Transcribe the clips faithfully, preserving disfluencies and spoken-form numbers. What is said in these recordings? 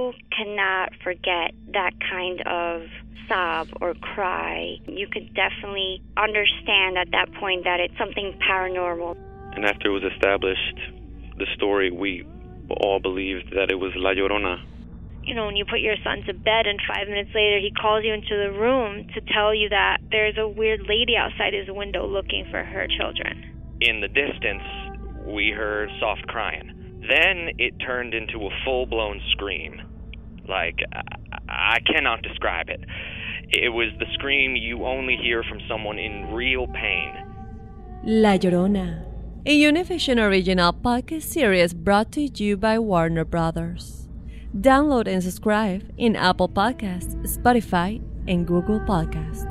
you cannot forget that kind of sob or cry. You could definitely understand at that point that it's something paranormal. And after it was established, the story, we all believed that it was La Llorona. You know, when you put your son to bed and five minutes later he calls you into the room to tell you that there's a weird lady outside his window looking for her children. In the distance, we heard soft crying. Then it turned into a full-blown scream. Like, I, I cannot describe it. It was the scream you only hear from someone in real pain. La Llorona, a Univision original podcast series brought to you by Warner Brothers. Download and subscribe in Apple Podcasts, Spotify, and Google Podcasts.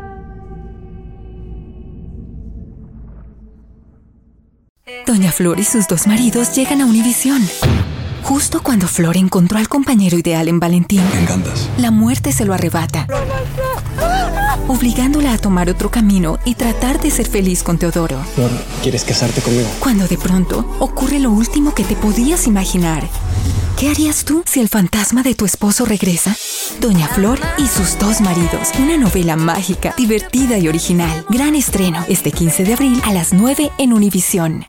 Doña Flor y sus dos maridos llegan a Univisión. Justo cuando Flor encontró al compañero ideal en Valentín, me encantas. La muerte se lo arrebata, obligándola a tomar otro camino y tratar de ser feliz con Teodoro. Flor, ¿quieres casarte conmigo? Cuando de pronto ocurre lo último que te podías imaginar. ¿Qué harías tú si el fantasma de tu esposo regresa? Doña Flor y sus dos maridos. Una novela mágica, divertida y original. Gran estreno este quince de abril a las nueve en Univisión.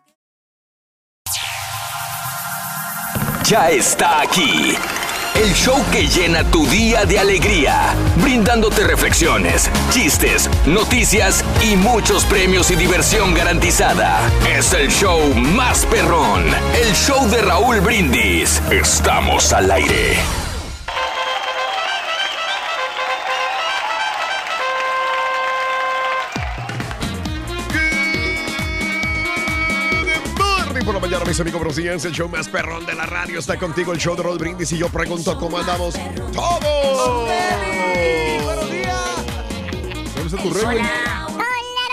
Ya está aquí. El show que llena tu día de alegría, brindándote reflexiones, chistes, noticias y muchos premios y diversión garantizada. Es el show más perrón, el show de Raúl Brindis. Estamos al aire. Por la mañana, mis amigos, buenos días. El show más perrón de la radio está contigo, el show de Raúl Brindis. Y yo pregunto, ¿cómo andamos todos? ¡Buenos días! ¿Dónde está tu rey? Con la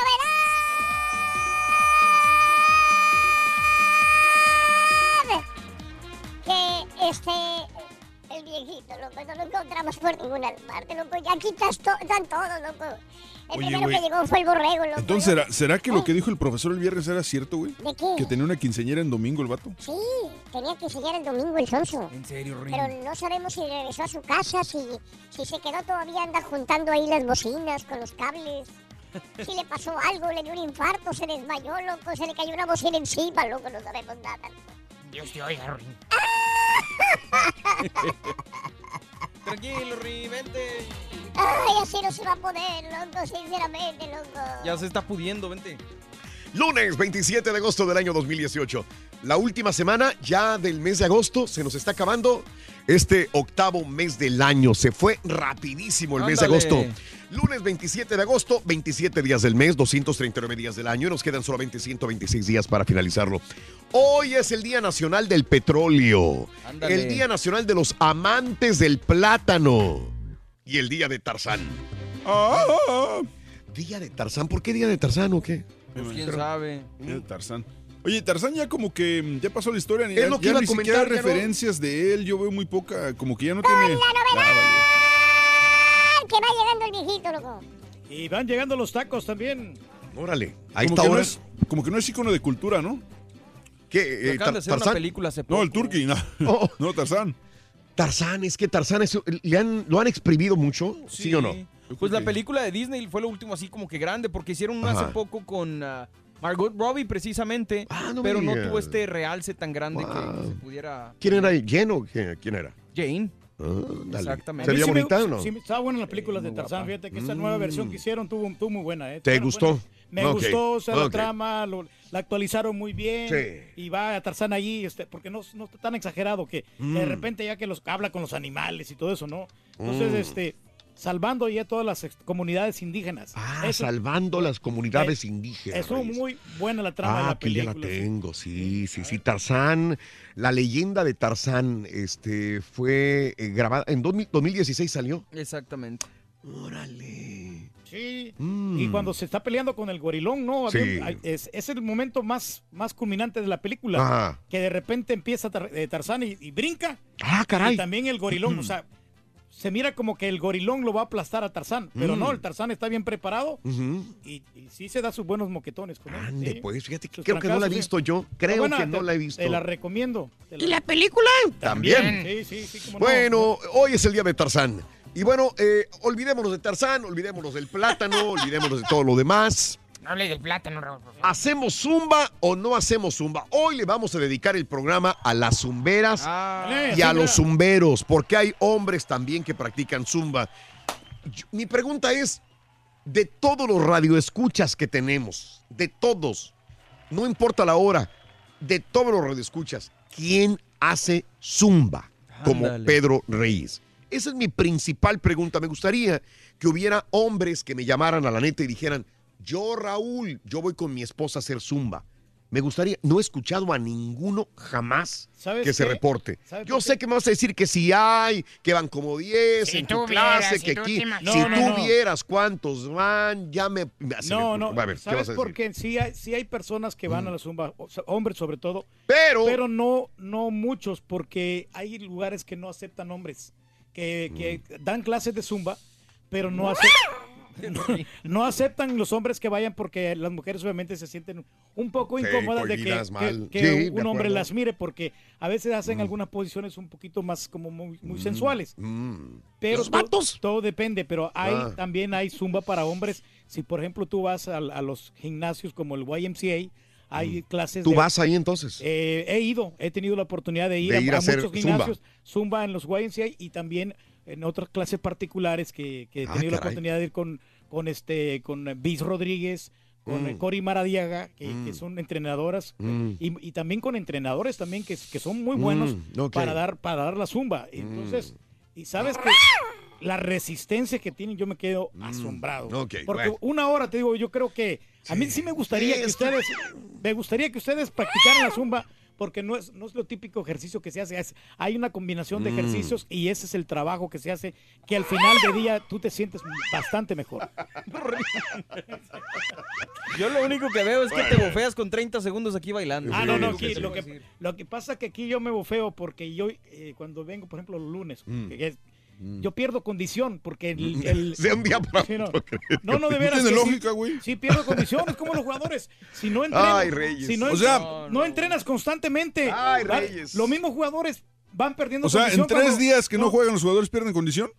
novedad que este, el viejito, loco, no lo encontramos por ninguna parte, loco. Ya aquí to- están todos, loco. El Oye, primero güey. que llegó fue el borrego, loco. Entonces, ¿será, ¿será que lo que dijo el profesor el viernes era cierto, güey? ¿De qué? Que tenía una quinceañera en domingo el vato. Sí, tenía que enseñar el domingo el sonso. ¿En serio, Rin? Pero no sabemos si regresó a su casa, si, si se quedó todavía, anda juntando ahí las bocinas con los cables. Si le pasó algo, le dio un infarto, se desmayó, loco, se le cayó una bocina encima, loco, no sabemos nada. Dios te oiga, Rin. Tranquilo, Rin, vente. Ay, así no se va a poder, loco, sinceramente, loco. Ya se está pudiendo, vente. Lunes veintisiete de agosto del año dos mil dieciocho. La última semana ya del mes de agosto. Se nos está acabando este octavo mes del año. Se fue rapidísimo el mes de Ándale. agosto. Lunes veintisiete de agosto, veintisiete días del mes, doscientos treinta y nueve días del año. Nos quedan solamente ciento veintiséis días para finalizarlo. Hoy es el Día Nacional del Petróleo. Ándale. El Día Nacional de los Amantes del Plátano. Y el Día de Tarzán. Ah, ah, ah. ¿Día de Tarzán? ¿Por qué Día de Tarzán o qué? Pues quién sabe. Eh, Tarzán. Oye, Tarzán ya como que mm, ya pasó la historia. Ni, Es ya, lo que ya iba a ni siquiera comentar, ya no. referencias de él. Yo veo muy poca, como que ya no tiene... ¡La novedad! Ah, Que va llegando el viejito, loco. Y van llegando los tacos también. Órale. Ahí como, está que no ahora. es, como que no es ícono de cultura, ¿no? ¿Qué? Eh, Acaban de Tar- hacer una ¿Tarzán? película hace poco. No, el Turqui, no. Oh. No, Tarzán. Tarzán, es que Tarzán es- le han, lo han exprimido mucho, ¿sí, o no? Pues la película de Disney fue lo último así como que grande, porque hicieron una Ajá. hace poco con uh, Margot Robbie precisamente, Ah, no me pero no digas. tuvo este realce tan grande Wow. que se pudiera... ¿Quién era? ¿Jen o quién, quién era? Jane. Ah, dale. Exactamente. A mí ¿Sería sí me- bonita o no? Sí, estaba buena la película de Muy Tarzán. guapa. Fíjate que esa nueva versión que hicieron tuvo, tuvo muy buena. ¿eh? ¿Te Bueno, gustó? bueno, me Ok, gustó, o sea, la ok. trama, lo- la actualizaron muy bien. Sí. Y va a Tarzán allí, este, porque no, no está tan exagerado que, que de Mm. repente ya que los habla con los animales y todo eso, ¿no? Entonces, Mm. este, salvando ya todas las ex- comunidades indígenas. Ah, Eso- salvando las comunidades eh, indígenas. Estuvo Reyes. muy buena la trama de Ah, la aquí ya película. la sí. tengo, sí, sí, sí. Tarzán, la leyenda de Tarzán, este, fue eh, grabada en dos mil dos mil dieciséis salió. Exactamente. Órale. Sí. Mm. Y cuando se está peleando con el gorilón, ¿no? Había Sí. un- hay- es, es el momento más, más culminante de la película. Ajá. Que de repente empieza Tar- eh, Tarzán y, y brinca. Ah, caray. Y también el gorilón, o sea, se mira como que el gorilón lo va a aplastar a Tarzán, pero Mm. no, el Tarzán está bien preparado Ujú. y, y sí se da sus buenos moquetones con él. Ande, sí. pues, fíjate que Sus creo que no la he trancazos, sí. visto yo. Está Creo buena, que no te- la he visto. Te la recomiendo. te ¿Y la película? También. Sí, sí, sí. cómo no. Bueno, hoy es el día de Tarzán. Y bueno, eh, olvidémonos de Tarzán, olvidémonos del plátano, olvidémonos de todo lo demás. No hable del plátano, Raúl. por favor. ¿Hacemos zumba o no hacemos zumba? Hoy le vamos a dedicar el programa a las zumberas Dale, y a zumba. los zumberos, porque hay hombres también que practican zumba. Yo- mi pregunta es, de todos los radioescuchas que tenemos, de todos, no importa la hora, de todos los radioescuchas, ¿quién hace zumba como Ándale. Pedro Reyes? Esa es mi principal pregunta. Me gustaría que hubiera hombres que me llamaran a la neta y dijeran, yo, Raúl, yo voy con mi esposa a hacer zumba. Me gustaría, no he escuchado a ninguno jamás ¿Sabes que se qué? reporte. ¿Sabes Yo por sé que me vas a decir que si hay, que van como diez Si en tú tu vieras, clase, si que tú aquí, te si imaginas. No, no, tú no. vieras cuántos van, ya me... me- se No, me- no, a ver, ¿qué vas ¿sabes a por decir? qué? Sí hay, sí hay personas que van a la zumba, o sea, hombres sobre todo, Pero, pero no, no muchos, porque hay lugares que no aceptan hombres, que, que Mm. dan clases de zumba, pero no aceptan... No, no aceptan los hombres que vayan porque las mujeres obviamente se sienten un poco Sí, incómodas de que, cohibidas, que- mal. que Sí, de un hombre acuerdo. las mire porque a veces hacen algunas posiciones un poquito más como muy, muy sensuales. mm, Pero ¿los to- vatos? Todo depende, pero hay Ah. también hay zumba para hombres. Si por ejemplo tú vas a, a los gimnasios como el Y M C A, hay clases. ¿Tú de- vas ahí entonces? eh, he ido, he tenido la oportunidad de ir, De a, ir a a hacer muchos zumba. gimnasios, zumba en los Y M C A y también en otras clases particulares que, que he Ah, tenido la caray. oportunidad de ir con, con este con Bis Rodríguez, con Mm. eh, Cori Maradiaga, que, Mm. que son entrenadoras, Mm. y, y también con entrenadores también que, que son muy buenos Mm, ok. para dar para dar la zumba. Entonces, y sabes que la resistencia que tienen, yo me quedo asombrado. Mm. ok, Porque bueno. una hora, te digo, yo creo que a mí sí me gustaría Sí, que es que- ustedes, me gustaría que ustedes practicaran la zumba, porque no es, no es lo típico ejercicio que se hace, es- hay una combinación de Mm. ejercicios y ese es el trabajo que se hace, que al final de día tú te sientes bastante mejor. Yo lo único que veo es que te bofeas con treinta segundos aquí bailando. Ah, no, no, Sí, aquí, sí, lo, sí. que, lo que pasa es que aquí yo me bofeo porque yo eh, cuando vengo, por ejemplo, los lunes, Mm. que es- yo pierdo condición porque el... el- De un día para Sí, no. otro, creo. No, no, de No veras. tiene que sí- lógica, güey. Sí, pierdo condición, es como los jugadores. Si no entrenas, Ay, Reyes. si no, O en- sea- no, no entrenas constantemente, Ay, ¿vale? Reyes. Los mismos jugadores van perdiendo O sea, en condición tres cuando- días que no juegan los jugadores pierden condición.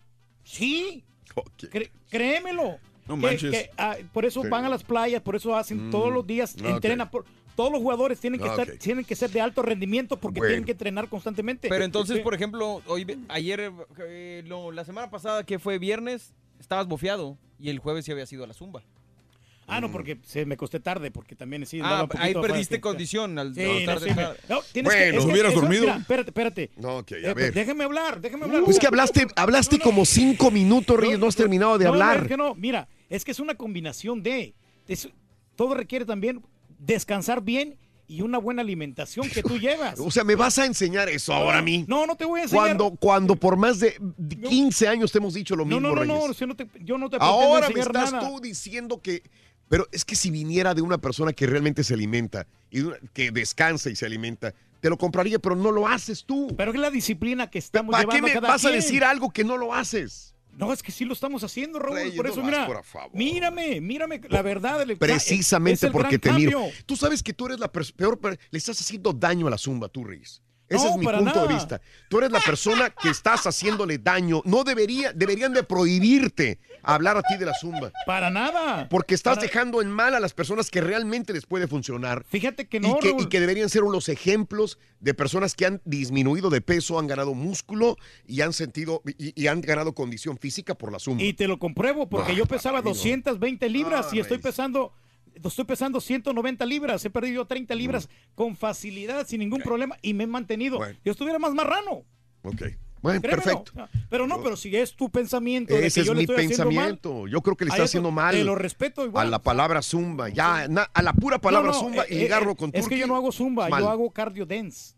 Sí, Ok. cre- créemelo. No Que- manches. que, ah, por eso Sí. van a las playas, por eso hacen Mm, todos los días, ok. entrenan. Por, todos los jugadores tienen que, Ok. estar, tienen que ser de alto rendimiento porque Bueno. tienen que entrenar constantemente. Pero entonces, Sí. por ejemplo, hoy, ayer, eh, no, la semana pasada, que fue viernes, estabas bofeado y el jueves sí había sido a la zumba. Ah, no, porque se me costé tarde, porque también sí. Ah, andaba un poquito ahí afuera de perdiste fiesta. condición al Sí, no, no, tarde, sí, me- tarde. no, tienes que- Bueno. es que Hubieras eso- dormido. mira, espérate, espérate. No, ok, a Eh, pues, ver. déjeme hablar, déjeme hablar. Pues que hablaste, hablaste como cinco minutos, Reyes, no has terminado de No, no, hablar. es que no, mira, es que es una combinación de, es- todo requiere también descansar bien y una buena alimentación que tú llevas. O sea, ¿me vas a enseñar eso ahora a mí? No, no te voy a enseñar. Cuando, cuando por más de quince años te hemos dicho lo no, mismo, no, no, no, Reyes. yo no te, yo no te pretendo Ahora me enseñar estás nada. tú diciendo que... Pero es que si viniera de una persona que realmente se alimenta y de una- que descansa y se alimenta, te lo compraría, pero no lo haces tú. Pero es la disciplina que estamos ¿Para qué llevando me cada vas a quien. decir algo que no lo haces? No, es que sí lo estamos haciendo, Raúl. Reyes, por no eso, más, mira, por favor. mírame, mírame, la verdad. el- es Precisamente el porque te gran miro. cambio. Tú sabes que tú eres la pers- peor, per- le estás haciendo daño a la zumba, tú, Reyes. Ese No, es mi para punto de nada. vista. Tú eres la persona que estás haciéndole daño. No debería, deberían de prohibirte hablar a ti de la zumba. Para nada. Porque estás Para- dejando en mal a las personas que realmente les puede funcionar. Fíjate que Y no, que, Raúl. y que deberían ser unos ejemplos de personas que han disminuido de peso, han ganado músculo y han sentido y, y han ganado condición física por la zumba. Y te lo compruebo porque No, yo pesaba para mí no. doscientas veinte libras Ah, y estoy Reyes. pesando estoy pesando ciento noventa libras, he perdido treinta libras con facilidad, sin ningún problema y me he mantenido. Bueno. Yo estuviera más marrano. Ok. Bueno, Créemelo. perfecto. Pero no, pero si es tu pensamiento de Ese que yo es le mi estoy haciendo mal, pensamiento. Yo creo que le a está eso haciendo mal te lo respeto igual. a la palabra zumba. Ya, na- a la pura palabra No, no, zumba eh, y ligarlo eh, con Es que yo no hago zumba, mal. yo hago cardio dance.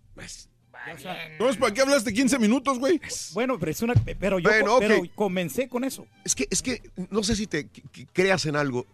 Entonces, ¿para qué hablaste quince minutos, güey? Bueno, pero es una pero yo Bueno, pero ok. comencé con eso. Es que, es que no sé si te que- que creas en algo.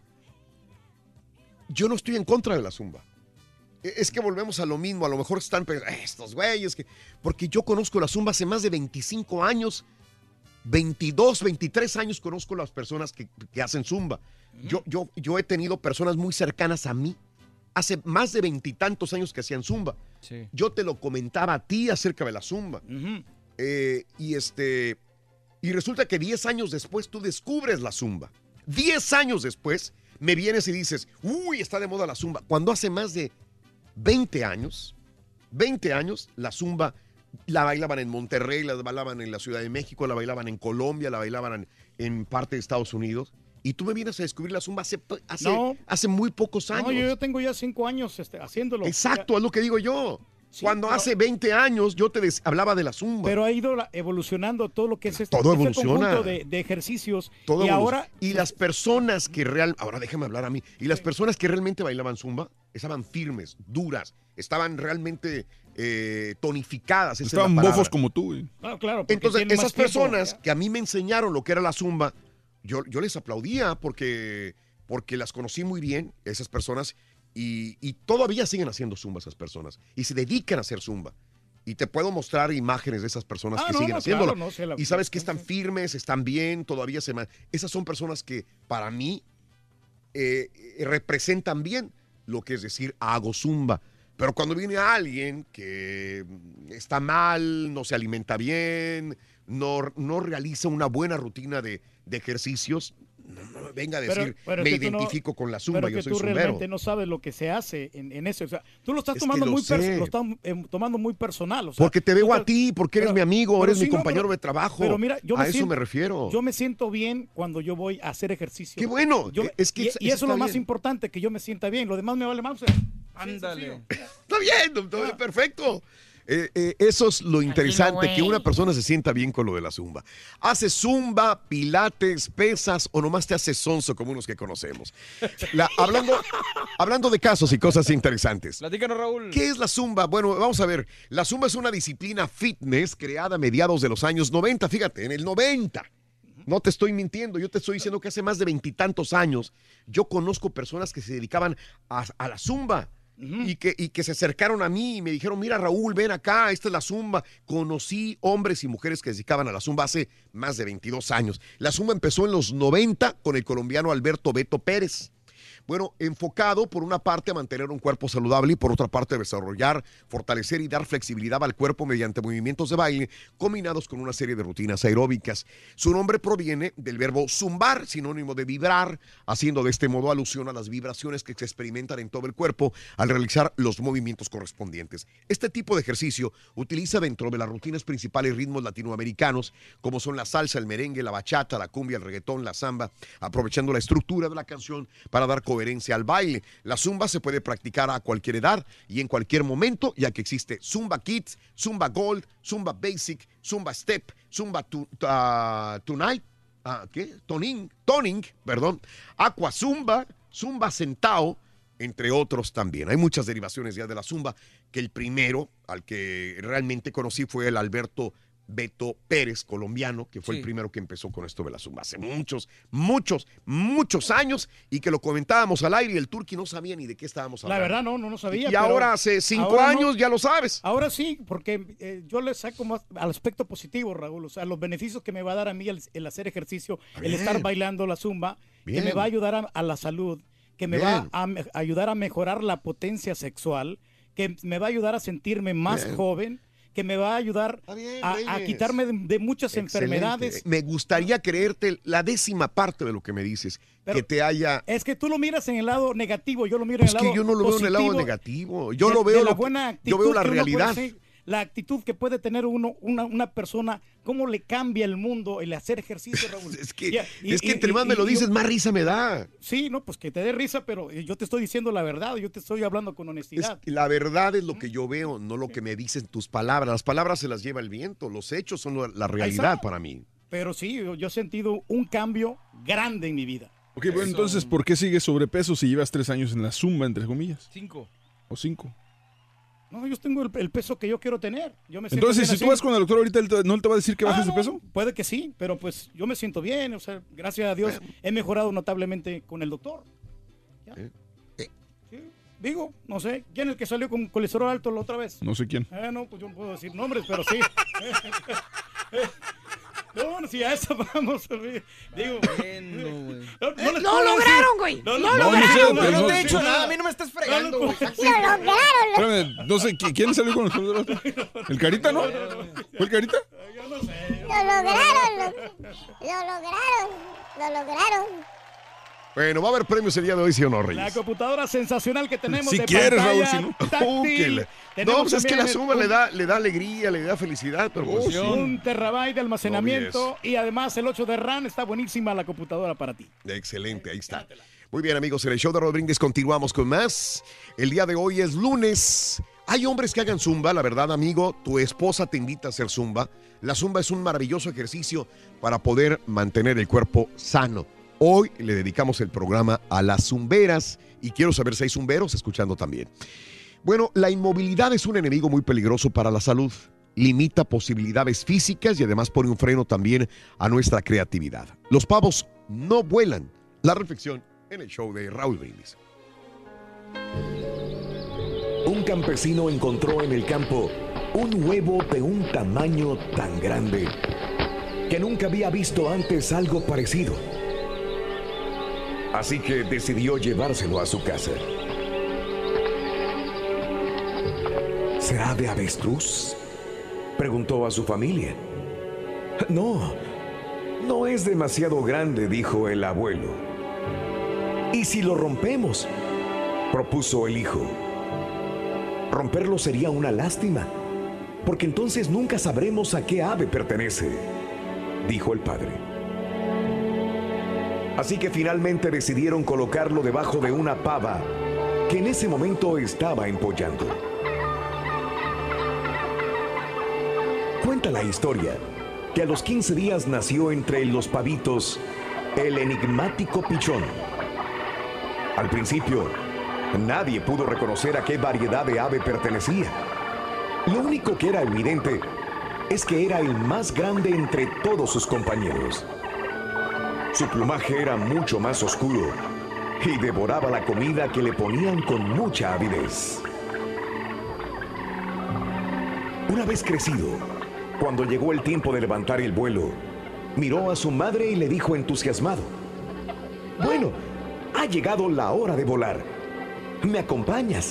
Yo no estoy en contra de la zumba. E- Es que volvemos a lo mismo. A lo mejor están pensando, "Eh, estos güeyes que. Porque yo conozco la zumba hace más de veinticinco años. veintidós, veintitrés años conozco las personas que, que hacen zumba. Yo, yo, yo he tenido personas muy cercanas a mí, hace más de veintitantos años que hacían zumba. Sí. Yo te lo comentaba a ti acerca de la zumba. Ujú. Eh, y este y resulta que diez años después tú descubres la zumba. diez años después me vienes y dices, uy, está de moda la zumba. Cuando hace más de veinte años, veinte años, la zumba la bailaban en Monterrey, la bailaban en la Ciudad de México, la bailaban en Colombia, la bailaban en, en parte de Estados Unidos. Y tú me vienes a descubrir la zumba hace, hace, No. hace muy pocos años. No, yo, yo tengo ya cinco años este, haciéndolo. Exacto, es lo que digo yo. Sí, Cuando pero- hace veinte años yo te des- hablaba de la zumba. Pero ha ido la- evolucionando todo lo que es este, Todo este evoluciona. conjunto de, de ejercicios. Todo y evoluciona. ahora, y las personas que real, ahora déjame hablar a mí, y las personas que realmente bailaban zumba estaban firmes, duras, estaban realmente eh, tonificadas. esa es la Estaban palabra. bofos como tú, güey. claro, claro, porque Entonces, tienen más esas tiempo, personas ¿ya? que a mí me enseñaron lo que era la zumba, yo, yo les aplaudía porque, porque las conocí muy bien, esas personas, y, y todavía siguen haciendo zumba esas personas, y se dedican a hacer zumba. Y te puedo mostrar imágenes de esas personas Ah, que no, siguen no, haciéndolo. claro, no, se la- y sabes que están firmes, están bien, todavía se... ma- Esas son personas que para mí eh, eh, representan bien lo que es decir, hago zumba. Pero cuando viene alguien que está mal, no se alimenta bien, no, no realiza una buena rutina de, de ejercicios, no, no venga a decir, Pero- pero me es que tú no- identifico con la zumba, pero yo que soy tú zumbero. realmente no sabes lo que se hace en, en eso. O sea, tú lo estás Es tomando que lo muy pers- sé. lo estás eh, tomando muy personal. O sea, Porque te veo tú a estás- ti, porque eres pero- mi amigo, pero eres sí, mi no, compañero pero- de trabajo. Pero mira, yo a me eso siento, me refiero. Yo me siento bien cuando yo voy a hacer ejercicio. Qué bueno, Yo- es que y, es- y eso es está lo más bien. importante, que yo me sienta bien. Lo demás me vale más. Ándale. Está bien, doctor, perfecto. Eh, eh, eso es lo interesante, que una persona se sienta bien con lo de la zumba. ¿Haces zumba, pilates, pesas o nomás te haces sonso como unos que conocemos? La- hablando, hablando de casos y cosas interesantes. Platícanos, Raúl. ¿Qué es la zumba? Bueno, vamos a ver. La zumba es una disciplina fitness creada a mediados de los años noventa. Fíjate, en el noventa. No te estoy mintiendo, yo te estoy diciendo que hace más de veintitantos años yo conozco personas que se dedicaban a, a la zumba. Y que, y que se acercaron a mí y me dijeron, mira Raúl, ven acá, esta es la zumba. Conocí hombres y mujeres que se dedicaban a la zumba hace más de veintidós años. La zumba empezó en los noventa con el colombiano Alberto Beto Pérez. Bueno, enfocado por una parte a mantener un cuerpo saludable y por otra parte a desarrollar, fortalecer y dar flexibilidad al cuerpo mediante movimientos de baile combinados con una serie de rutinas aeróbicas. Su nombre proviene del verbo zumbar, sinónimo de vibrar, haciendo de este modo alusión a las vibraciones que se experimentan en todo el cuerpo al realizar los movimientos correspondientes. Este tipo de ejercicio utiliza dentro de las rutinas principales ritmos latinoamericanos, como son la salsa, el merengue, la bachata, la cumbia, el reggaetón, la samba, aprovechando la estructura de la canción para dar coherencia al baile. La zumba se puede practicar a cualquier edad y en cualquier momento, ya que existe Zumba Kids, Zumba Gold, Zumba Basic, Zumba Step, Zumba tu, uh, Tonight, uh, ¿qué? Toning, Toning, perdón, Aqua Zumba, Zumba Sentao, entre otros también. Hay muchas derivaciones ya de la zumba, que el primero al que realmente conocí fue el Alberto Beto Pérez, colombiano, que fue Sí. el primero que empezó con esto de la zumba hace muchos, muchos, muchos años, y que lo comentábamos al aire y el Turqui no sabía ni de qué estábamos La hablando. verdad no, no, no sabía. Y pero ahora hace cinco ahora no. años ya lo sabes. Ahora sí, porque eh, yo le saco más al aspecto positivo, Raúl. O sea, los beneficios que me va a dar a mí el, el hacer ejercicio, el Bien. estar bailando la zumba, Bien. que me va a ayudar a, a la salud, que me Bien. va a, me- ayudar a mejorar la potencia sexual, que me va a ayudar a sentirme más Bien. joven, que me va a ayudar bien, a, a Reyes. quitarme de, de muchas Excelente. enfermedades. Me gustaría creerte la décima parte de lo que me dices, que te haya... Es que tú lo miras en el lado negativo, yo lo miro Es en el que lado yo no lo veo en el lado positivo. negativo. Yo de- lo veo de la lo que- buena actitud yo veo la que uno puede realidad. hacer, la actitud que puede tener uno, una, una persona, cómo le cambia el mundo el hacer ejercicio, Raúl. Es que, Y- y- es que y- entre y- más me lo y- dices, más risa me da. Sí, no, pues que te dé risa, pero yo te estoy diciendo la verdad, yo te estoy hablando con Es honestidad. que la verdad es lo que yo veo, no lo que me dicen tus palabras. Las palabras se las lleva el viento, los hechos son lo- la realidad está. para mí. Pero sí, yo, yo he sentido un cambio grande en mi vida. Ok, bueno, entonces, ¿por qué sigues sobrepeso si llevas tres años en la zumba, entre comillas? Cinco. O cinco. No, yo tengo el, el peso que yo quiero tener. Yo me siento Entonces, bien si tú así. vas con el doctor ahorita, él te- ¿no él te va a decir que Ah, bajes de no, peso? Puede que sí, pero pues yo me siento bien, o sea, gracias a Dios he mejorado notablemente con el doctor. ¿Ya? Sí, digo, no sé, ¿quién es el que salió con colesterol alto la otra vez? No sé quién. Eh, no, pues yo no puedo decir nombres, pero sí. No, no, si a eso vamos. Digo, bueno, güey. No, no, les ¡No puedo lograron, decir. güey! No, ¡No no, lograron! no, Yo no no, te he no, hecho no, nada, a mí no me estás fregando, güey. ¡Lo lograron! Espérame, no sé, ¿qui- ¿quién salió con los juegos del otro? ¿El Carita, no? ¿Fue el Carita? Yo no sé. ¡Lo lograron! Lo, lo lograron! ¡Lo lograron! Bueno, va a haber premios el día de hoy, ¿sí o no, La Reyes? computadora sensacional que tenemos Si de quieres, Raúl, pantalla si no. táctil. Uh, que le- Tenemos No, pues es que también la suma un- le da, le da alegría, le da felicidad, pero pues, sí. Un terabyte de almacenamiento y además el ocho de RAM. Está buenísima la computadora para ti. Excelente, ahí está. Muy bien, amigos, en el show de Raúl Brindis continuamos con más. El día de hoy es lunes. Hay hombres que hagan zumba, la verdad, amigo, tu esposa te invita a hacer zumba. La zumba es un maravilloso ejercicio para poder mantener el cuerpo sano. Hoy le dedicamos el programa a las zumberas y quiero saber si hay zumberos escuchando también. Bueno, la inmovilidad es un enemigo muy peligroso para la salud. Limita posibilidades físicas y además pone un freno también a nuestra creatividad. Los pavos no vuelan. La reflexión en el show de Raúl Brindis. Un campesino encontró en el campo un huevo de un tamaño tan grande que nunca había visto antes algo parecido. Así que decidió llevárselo a su casa. ¿Será de avestruz?, preguntó a su familia. No, no es demasiado grande, dijo el abuelo. ¿Y si lo rompemos?, propuso el hijo. Romperlo sería una lástima, porque entonces nunca sabremos a qué ave pertenece, dijo el padre. Así que finalmente decidieron colocarlo debajo de una pava que en ese momento estaba empollando. Cuenta la historia que a los quince días nació entre los pavitos el enigmático pichón. Al principio, nadie pudo reconocer a qué variedad de ave pertenecía. Lo único que era evidente es que era el más grande entre todos sus compañeros. Su plumaje era mucho más oscuro y devoraba la comida que le ponían con mucha avidez. Una vez crecido, cuando llegó el tiempo de levantar el vuelo, miró a su madre y le dijo entusiasmado: «Bueno, ha llegado la hora de volar. ¿Me acompañas?».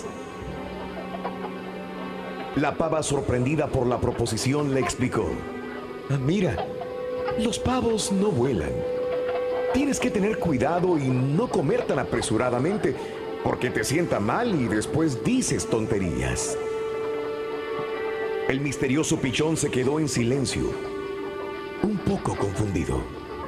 La pava, sorprendida por la proposición, le explicó: «Mira, los pavos no vuelan. Tienes que tener cuidado y no comer tan apresuradamente, porque te sienta mal y después dices tonterías». El misterioso pichón se quedó en silencio, un poco confundido.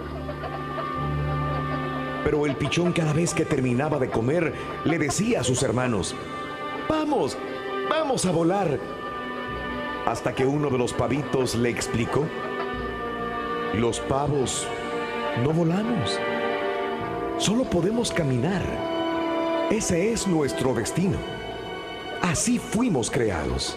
Pero el pichón, cada vez que terminaba de comer, le decía a sus hermanos: «Vamos, vamos a volar». Hasta que uno de los pavitos le explicó: «Los pavos no volamos, solo podemos caminar. Ese es nuestro destino. Así fuimos creados».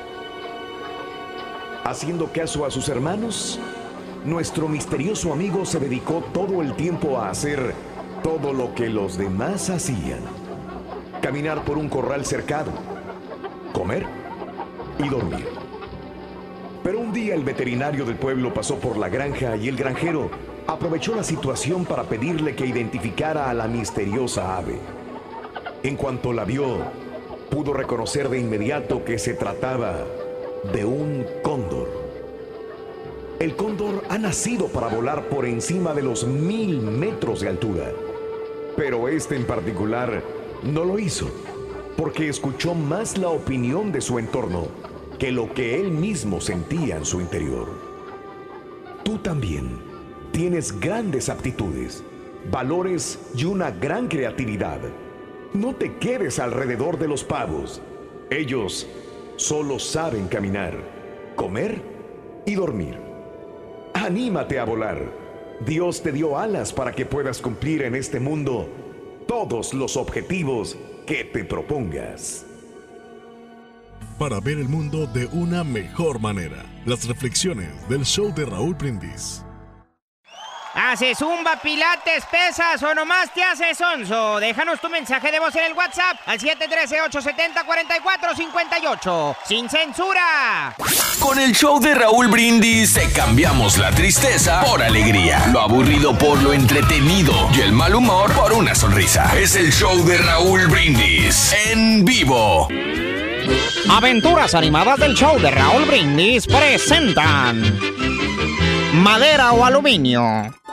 Haciendo caso a sus hermanos, nuestro misterioso amigo se dedicó todo el tiempo a hacer todo lo que los demás hacían: caminar por un corral cercado, comer y dormir. Pero un día el veterinario del pueblo pasó por la granja y el granjero aprovechó la situación para pedirle que identificara a la misteriosa ave. En cuanto la vio, pudo reconocer de inmediato que se trataba de un cóndor. El cóndor ha nacido para volar por encima de los mil metros de altura, pero este en particular no lo hizo, porque escuchó más la opinión de su entorno que lo que él mismo sentía en su interior. Tú también tienes grandes aptitudes, valores y una gran creatividad. No te quedes alrededor de los pavos. Ellos solo saben caminar, comer y dormir. Anímate a volar. Dios te dio alas para que puedas cumplir en este mundo todos los objetivos que te propongas. Para ver el mundo de una mejor manera, las reflexiones del show de Raúl Brindis. ¿Haces zumba, pilates, pesas o nomás te haces sonso? Déjanos tu mensaje de voz en el WhatsApp al siete uno tres, ocho siete cero, cuatro cuatro cinco ocho. ¡Sin censura! Con el show de Raúl Brindis te cambiamos la tristeza por alegría, lo aburrido por lo entretenido y el mal humor por una sonrisa. Es el show de Raúl Brindis en vivo. Aventuras animadas del show de Raúl Brindis presentan Madera o Aluminio.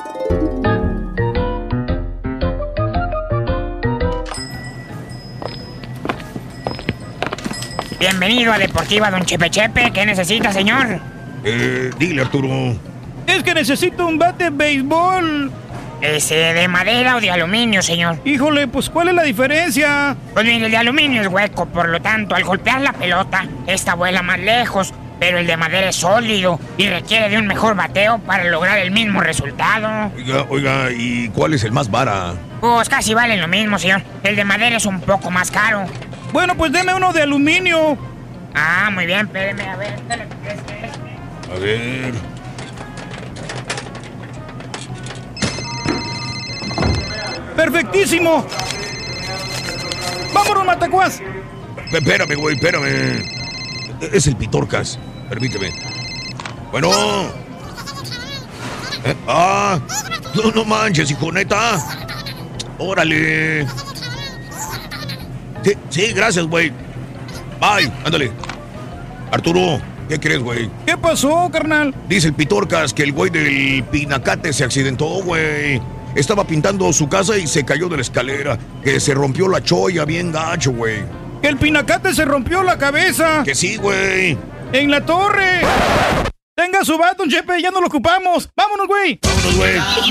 Bienvenido a Deportiva Don Chepe Chepe. ¿Qué necesita, señor? Eh, dile, Arturo. Es que necesito un bate de béisbol. ¿Ese de madera o de aluminio, señor? Híjole, pues ¿cuál es la diferencia? Pues mire, el de aluminio es hueco, por lo tanto, al golpear la pelota, esta vuela más lejos, pero el de madera es sólido y requiere de un mejor bateo para lograr el mismo resultado. Oiga, oiga, ¿y cuál es el más vara? Pues casi valen lo mismo, señor. El de madera es un poco más caro. Bueno, pues deme uno de aluminio. Ah, muy bien, espéreme, a ver. Este, este. A ver... ¡Perfectísimo! ¡Vámonos, Matacuás! Espérame, güey, espérame. Es el Pitorcas. Permíteme. Bueno. ¿Eh? Ah, no, no manches, hijo, neta. Órale. Sí, sí, gracias, güey. Bye, ándale. Arturo, ¿qué crees, güey? ¿Qué pasó, carnal? Dice el Pitorcas que el güey del Pinacate se accidentó, güey. Estaba pintando su casa y se cayó de la escalera. Que se rompió la cholla bien gacho, güey. ¡Que el Pinacate se rompió la cabeza! ¡Que sí, güey! ¡En la torre! ¡Tenga su bat, don Chepe! ¡Ya no lo ocupamos! ¡Vámonos, güey! ¡Vámonos, güey!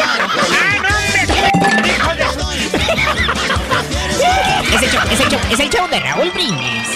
Es el show, es el show, es el show de Raúl Brindis.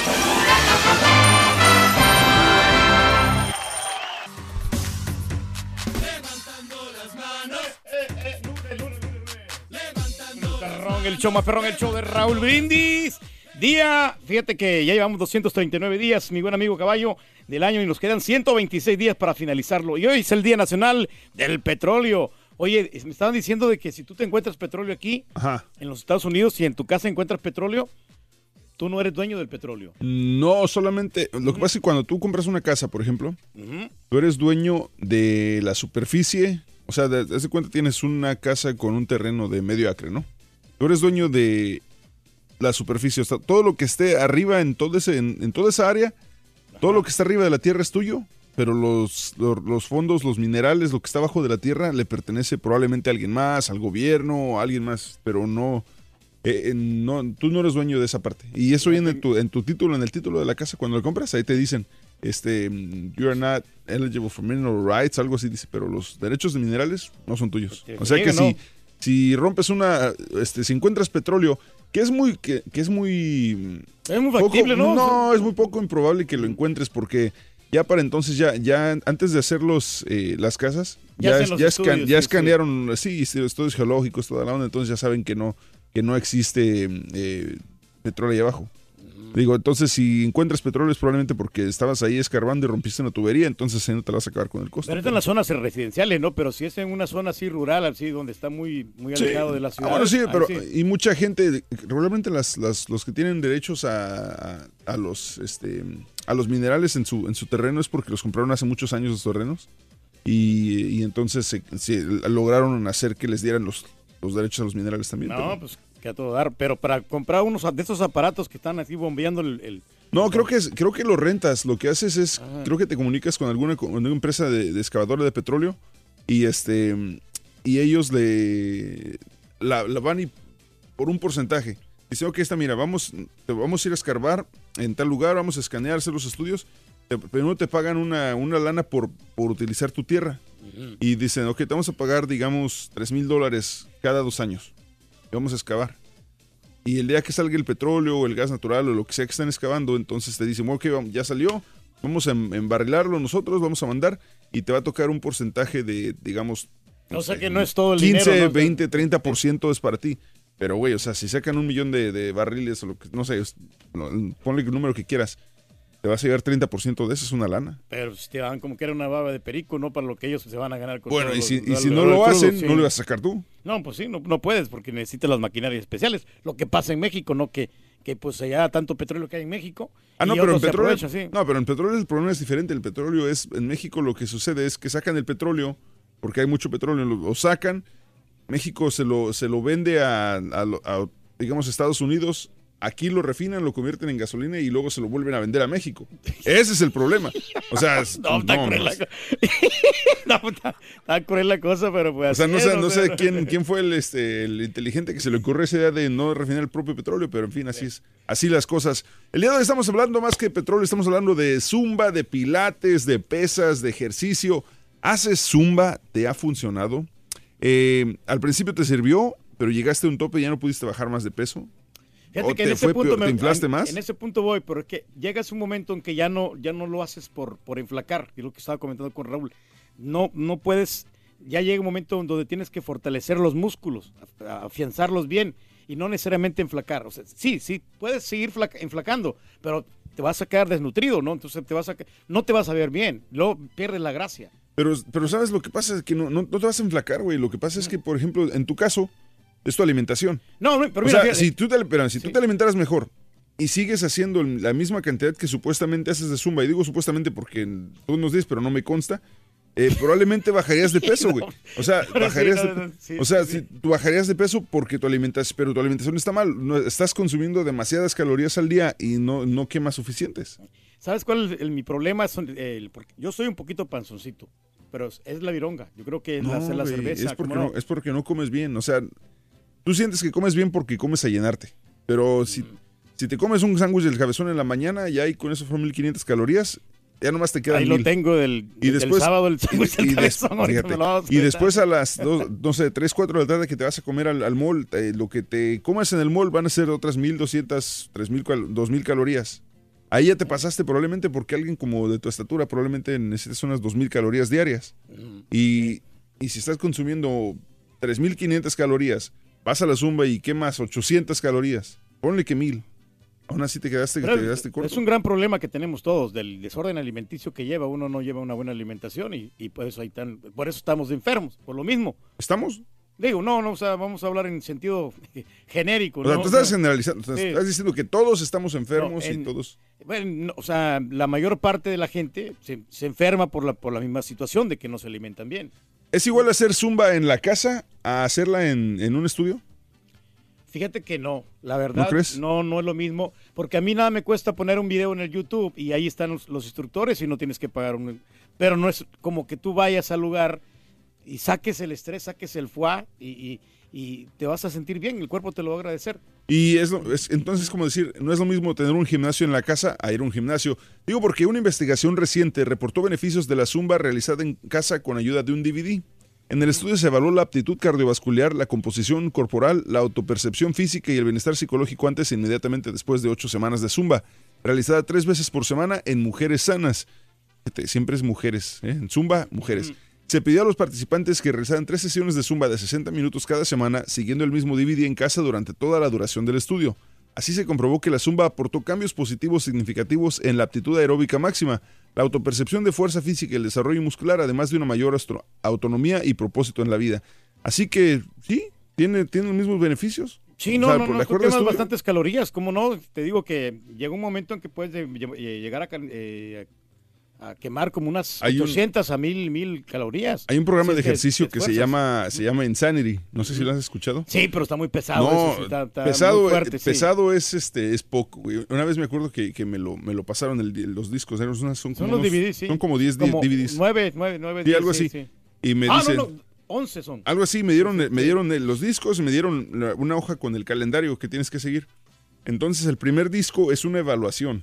El show más perrón, el show de Raúl Brindis. Día, fíjate que ya llevamos doscientos treinta y nueve días, mi buen amigo Caballo, del año y nos quedan ciento veintiséis días para finalizarlo. Y hoy es el Día Nacional del Petróleo. Oye, me estaban diciendo de que si tú te encuentras petróleo aquí, Ajá. en los Estados Unidos, si en tu casa encuentras petróleo, tú no eres dueño del petróleo. No, solamente, lo que pasa es que cuando tú compras una casa, por ejemplo, uh-huh. tú eres dueño de la superficie, o sea, de, de cuenta tienes una casa con un terreno de medio acre, ¿no? Tú eres dueño de la superficie, o sea, todo lo que esté arriba en, todo ese, en, en toda esa área, Ajá. todo lo que está arriba de la tierra es tuyo, pero los, los, los fondos, los minerales, lo que está abajo de la tierra le pertenece probablemente a alguien más, al gobierno, a alguien más, pero no, eh, no tú no eres dueño de esa parte. Y eso viene en tu, en tu título, en el título de la casa, cuando lo compras, ahí te dicen, este, you are not eligible for mineral rights, algo así dice, pero los derechos de minerales no son tuyos. O sea que si... Si rompes una, este, si encuentras petróleo, que es muy, que, que es muy... Es muy factible, poco, ¿no? No, es muy poco improbable que lo encuentres porque ya para entonces, ya, ya antes de hacer los, eh, las casas, ya, ya, ya, estudios, escan, ya sí, escanearon, sí. sí, estudios geológicos, toda la onda, entonces ya saben que no, que no existe eh, petróleo ahí abajo. Digo, entonces si encuentras petróleo es probablemente porque estabas ahí escarbando y rompiste una tubería, entonces no te la vas a acabar con el costo. Pero es en las zonas residenciales, ¿no? Pero si es en una zona así rural, así donde está muy, muy alejado sí. de la ciudad. Ah, bueno, sí, pero sí. y mucha gente, regularmente las, las, los que tienen derechos a, a, a los este a los minerales en su en su terreno es porque los compraron hace muchos años los terrenos y, y entonces se, se lograron hacer que les dieran los, los derechos a los minerales también. No, pero, pues que a todo dar, pero para comprar unos de esos aparatos que están así bombeando el... el... No, creo que es, creo que lo rentas, lo que haces es, Ajá. creo que te comunicas con alguna, con alguna empresa de, de excavadora de petróleo y este y ellos le la, la van y por un porcentaje. Dicen, ok, está, mira, vamos, te vamos a ir a escarbar en tal lugar, vamos a escanear, hacer los estudios, te, primero te pagan una, una lana por, por utilizar tu tierra. Uh-huh. Y dicen, ok, te vamos a pagar, digamos, tres mil dólares cada dos años. Vamos a excavar. Y el día que salga el petróleo o el gas natural o lo que sea que están excavando, entonces te dicen, ok, ya salió, vamos a embarrilarlo nosotros, vamos a mandar y te va a tocar un porcentaje de, digamos... No o sea sé, que no es todo el quince, dinero. quince, veinte, treinta por ciento es para ti. Pero, güey, o sea, si sacan un millón de, de barriles o lo que, no sé, ponle el número que quieras, te vas a llevar treinta por ciento de eso, es una lana. Pero si te dan como que era una baba de perico, no para lo que ellos se van a ganar. Con Bueno, y los, si, y los, si los, no los lo crudos, hacen, sí. no lo vas a sacar tú. No, pues sí, no, no puedes porque necesitas las maquinarias especiales. Lo que pasa en México, ¿no? Que, que pues allá tanto petróleo que hay en México. Ah, no, y pero en otros se petróleo, aprovechan, sí. no, pero en petróleo el problema es diferente. El petróleo es, en México lo que sucede es que sacan el petróleo, porque hay mucho petróleo, lo, lo sacan, México se lo, se lo vende a, a, a, digamos, Estados Unidos, aquí lo refinan, lo convierten en gasolina y luego se lo vuelven a vender a México. Ese es el problema. O sea, es, no, está no, cruel la no, co- no, está, está cruel la cosa, pero pues O sea, así no es, sé, no sé pero- quién, quién fue el, este, el inteligente que se le ocurrió esa idea de no refinar el propio petróleo, pero en fin, así es, así las cosas. El día de hoy estamos hablando más que petróleo, estamos hablando de zumba, de pilates, de pesas, de ejercicio. ¿Haces zumba? ¿Te ha funcionado? Eh, al principio te sirvió, pero llegaste a un tope y ya no pudiste bajar más de peso. Fíjate ¿O que te en ese fue punto peor? me- ¿Te inflaste en, más? En ese punto voy, pero es que llegas un momento en que ya no, ya no lo haces por, por enflacar, y lo que estaba comentando con Raúl. No, no puedes, ya llega un momento donde tienes que fortalecer los músculos, a- afianzarlos bien, y no necesariamente enflacar. O sea, sí, sí, puedes seguir flaca- enflacando, pero te vas a quedar desnutrido, ¿no? Entonces te vas a, no te vas a ver bien, luego pierdes la gracia. Pero, pero ¿sabes lo que pasa? Es que no, no, no te vas a enflacar, güey. Lo que pasa es que, por ejemplo, en tu caso, es tu alimentación. No, no, pero o mira, sea, fíjate- si tú te, espera, si tú te alimentaras mejor y sigues haciendo la misma cantidad que supuestamente haces de zumba, y digo supuestamente porque tú nos dices, pero no me consta, eh, probablemente bajarías de peso, güey. O sea, Pero sí, bajarías no, de, no, sí, o sea, sí, sí. si tú bajarías de peso porque tu alimentación, pero tu alimentación está mal. No, estás consumiendo demasiadas calorías al día y no, no quemas suficientes. ¿Sabes cuál es el- mi problema? Son, eh, el- porque yo soy un poquito panzoncito, pero es, es la vironga. Yo creo que es la, No, la güey, cerveza. es porque ¿cómo no, es porque no comes bien. O sea, tú sientes que comes bien porque comes a llenarte. Pero si, si te comes un sándwich del cabezón en la mañana, ya ahí con eso fueron mil quinientas calorías, ya nomás te quedan Ahí lo mil. tengo del, Y del después, sábado, el sándwich del y, des- cabezón, ahorita fíjate, me lo vamos a y contar. después a las dos, no sé, tres, cuatro de la tarde que te vas a comer al, al mall, eh, lo que te comas en el mall van a ser otras mil doscientas, tres mil, dos mil calorías. Ahí ya te pasaste probablemente porque alguien como de tu estatura probablemente necesitas unas dos mil calorías diarias. Y, y si estás consumiendo tres mil quinientas calorías, vas a la zumba y quemas ochocientas calorías. Ponle que mil. Aún así te quedaste, Pero te quedaste corto. es un gran problema que tenemos todos del desorden alimenticio que lleva. Uno no lleva una buena alimentación y, y por eso hay tan, por eso estamos enfermos, por lo mismo. ¿Estamos? Digo, no, no, o sea, vamos a hablar en sentido genérico. O sea, ¿no? tú estás O sea, generalizando, estás, sí. estás diciendo que todos estamos enfermos No, en- y todos... Bueno, no, o sea, la mayor parte de la gente se, se enferma por la, por la misma situación de que no se alimentan bien. ¿Es igual hacer zumba en la casa a hacerla en, en un estudio? Fíjate que no, la verdad, ¿No crees? no, no es lo mismo, porque a mí nada me cuesta poner un video en el YouTube y ahí están los, los instructores y no tienes que pagar un... Pero no es como que tú vayas al lugar y saques el estrés, saques el foie y, y- y te vas a sentir bien, el cuerpo te lo va a agradecer. Y es, lo- es entonces como decir, no es lo mismo tener un gimnasio en la casa a ir a un gimnasio. Digo porque una investigación reciente reportó beneficios de la zumba realizada en casa con ayuda de un D V D. En el estudio se evaluó la aptitud cardiovascular, la composición corporal, la autopercepción física y el bienestar psicológico antes e inmediatamente después de ocho semanas de zumba, realizada tres veces por semana en mujeres sanas. Fíjate, siempre es mujeres, ¿eh? En zumba, mujeres. Se pidió a los participantes que realizaran tres sesiones de zumba de sesenta minutos cada semana, siguiendo el mismo D V D en casa durante toda la duración del estudio. Así se comprobó que la zumba aportó cambios positivos significativos en la aptitud aeróbica máxima, la autopercepción de fuerza física y el desarrollo muscular, además de una mayor astro- autonomía y propósito en la vida. Así que, sí, tiene, tiene los mismos beneficios. Sí, O no, sea, no, por no, de tú acuerdo al quemas estudio, bastantes calorías, ¿cómo no? Te digo que llega un momento en que puedes de- eh, llegar a, ca- eh, a quemar como unas Hay un- ochocientas a mil, mil calorías. Hay un programa Sí, de te- ejercicio te que se esfuerzas. llama, se llama Insanity. No sé si lo has escuchado. Sí, pero está muy pesado. No, eso sí, está- está pesado, muy fuerte, eh, sí. pesado es este es poco, güey. Una vez me acuerdo que, que me lo me lo pasaron el di- los discos, eran unas- son, Son como los unos- D V Ds, sí. son como diez Como D V Ds. nueve, nueve, nueve, Sí, diez, algo sí, así. sí. Y me ah, dicen no, no, once son. algo así, me dieron me dieron eh, los discos y me dieron la- una hoja con el calendario que tienes que seguir. Entonces, el primer disco es una evaluación.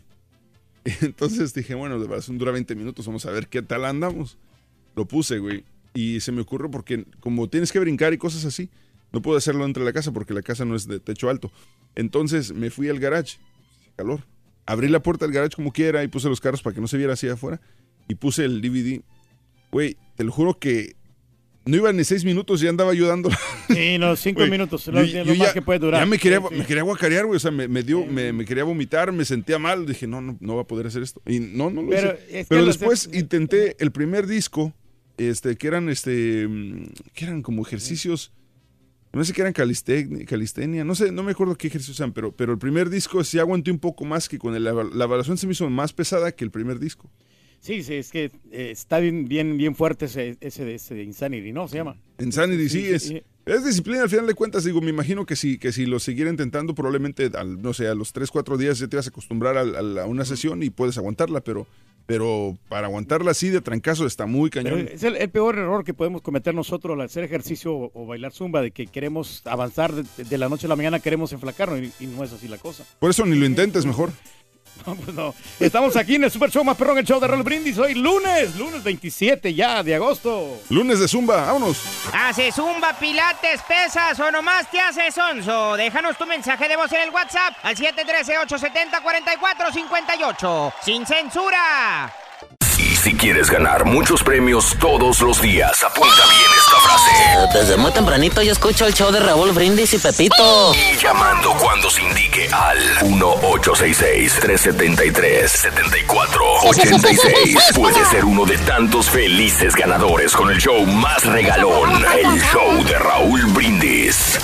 Entonces dije, bueno, la evaluación dura veinte minutos, vamos a ver qué tal andamos. Lo puse, güey. Y se me ocurrió porque como tienes que brincar y cosas así, no puedo hacerlo dentro de la casa porque la casa no es de techo alto. Entonces me fui al garage, calor. Abrí la puerta del garage como quiera y puse los carros para que no se viera hacia afuera. Y puse el D V D. Güey, te lo juro que No iba ni seis minutos, ya andaba ayudando. Sí, no, cinco Güey, minutos, yo- lo, yo lo más ya- que puede durar. Ya me quería, Sí, sí. me quería guacarear, güey. O sea, me, me dio, me, me quería vomitar, me sentía mal. Dije, no, no, no va a poder hacer esto. Y no, no lo Pero hice. es que Pero lo después intenté el primer disco, este, que eran, este, mm, que eran como ejercicios. No sé que eran calistenia, calistenia, no sé, no me acuerdo qué ejercicios eran, pero, pero el primer disco sí aguanté un poco más que con el, la, la evaluación se me hizo más pesada que el primer disco. Sí, sí, es que eh, está bien, bien, bien fuerte ese, ese de ese de Insanity, ¿no? Se llama. Insanity, sí, es, es disciplina al final de cuentas. Digo, me imagino que si, que si lo siguiera intentando, probablemente, al, no sé, a los tres, cuatro días ya te vas a acostumbrar a, a, a una sesión y puedes aguantarla, pero, pero para aguantarla así de trancazo está muy Pero cañón. es el, el peor error que podemos cometer nosotros al hacer ejercicio o, o bailar zumba, de que queremos avanzar de, de la noche a la mañana, queremos enflacarnos y, y no es así la cosa. Por eso ni lo intentes mejor. No, pues no. Estamos aquí en el Super Show más perrón, el show de Raúl Brindis. Hoy lunes, lunes veintisiete ya de agosto. Lunes de Zumba, vámonos. ¿Haces zumba, pilates, pesas o nomás te haces sonso? Déjanos tu mensaje de voz en el WhatsApp al siete uno tres, ocho siete cero, cuatro cuatro cinco ocho. ¡Sin censura! Y si quieres ganar muchos premios todos los días, apunta bien esta frase. Desde muy tempranito yo escucho el show de Raúl Brindis y Pepito. Y llamando cuando se indique al uno ocho seis seis, tres siete tres, siete cuatro ocho seis. Puedes ser uno de tantos felices ganadores con el show más regalón, el show de Raúl Brindis.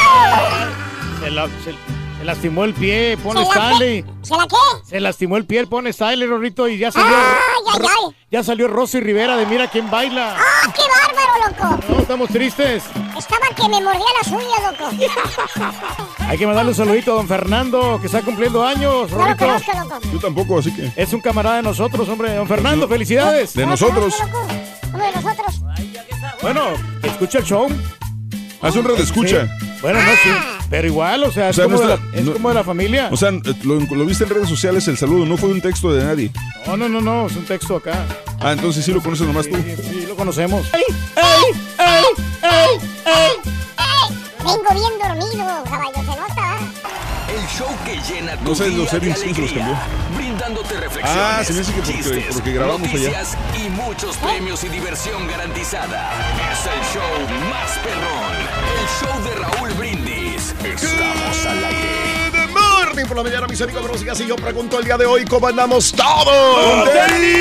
Se, la- se- se lastimó el pie, ponle ¿Se la Stanley. ¿Se la qué? Se lastimó el pie, pone Stanley, Rorrito, y ya salió. Ay, ay, ay. Ya salió Rosy Rivera de Mira quién baila. ¡Ah, qué bárbaro, loco! No, estamos tristes. Estaba que me mordía las uñas, loco. Hay que mandarle un saludito a don Fernando, que está cumpliendo años, No lo Rorrito. conozco, loco. Yo tampoco, así que. Es un camarada de nosotros, hombre. Don Fernando, felicidades. De nosotros. Uno de nosotros. Bueno, escucha el show. Haz un radio escucha. Sí. Bueno, no, sí. Pero igual, o sea, O es, sea, como, no de está- la, es no- como de la familia. O sea, lo, lo viste en redes sociales el saludo, no fue un texto de nadie. No, no, no, no, es un texto acá. Ah, entonces sí lo conoces nomás tú. Sí, sí, lo conocemos. ¡Ey, ey, ey! Vengo bien dormido, caballo, se nota. El show que llena tu No sé, día los de settings, ¿quién los alegría, cambió? brindándote reflexiones, Ah, se me hace que porque- chistes, porque grabamos allá. noticias y muchos premios y diversión garantizada. Es el show más perrón, el show de Raúl Brindis. Estamos al aire. Good morning por la mañana, mis amigos. Buenos días. Y yo pregunto el día de hoy, ¿cómo andamos todos?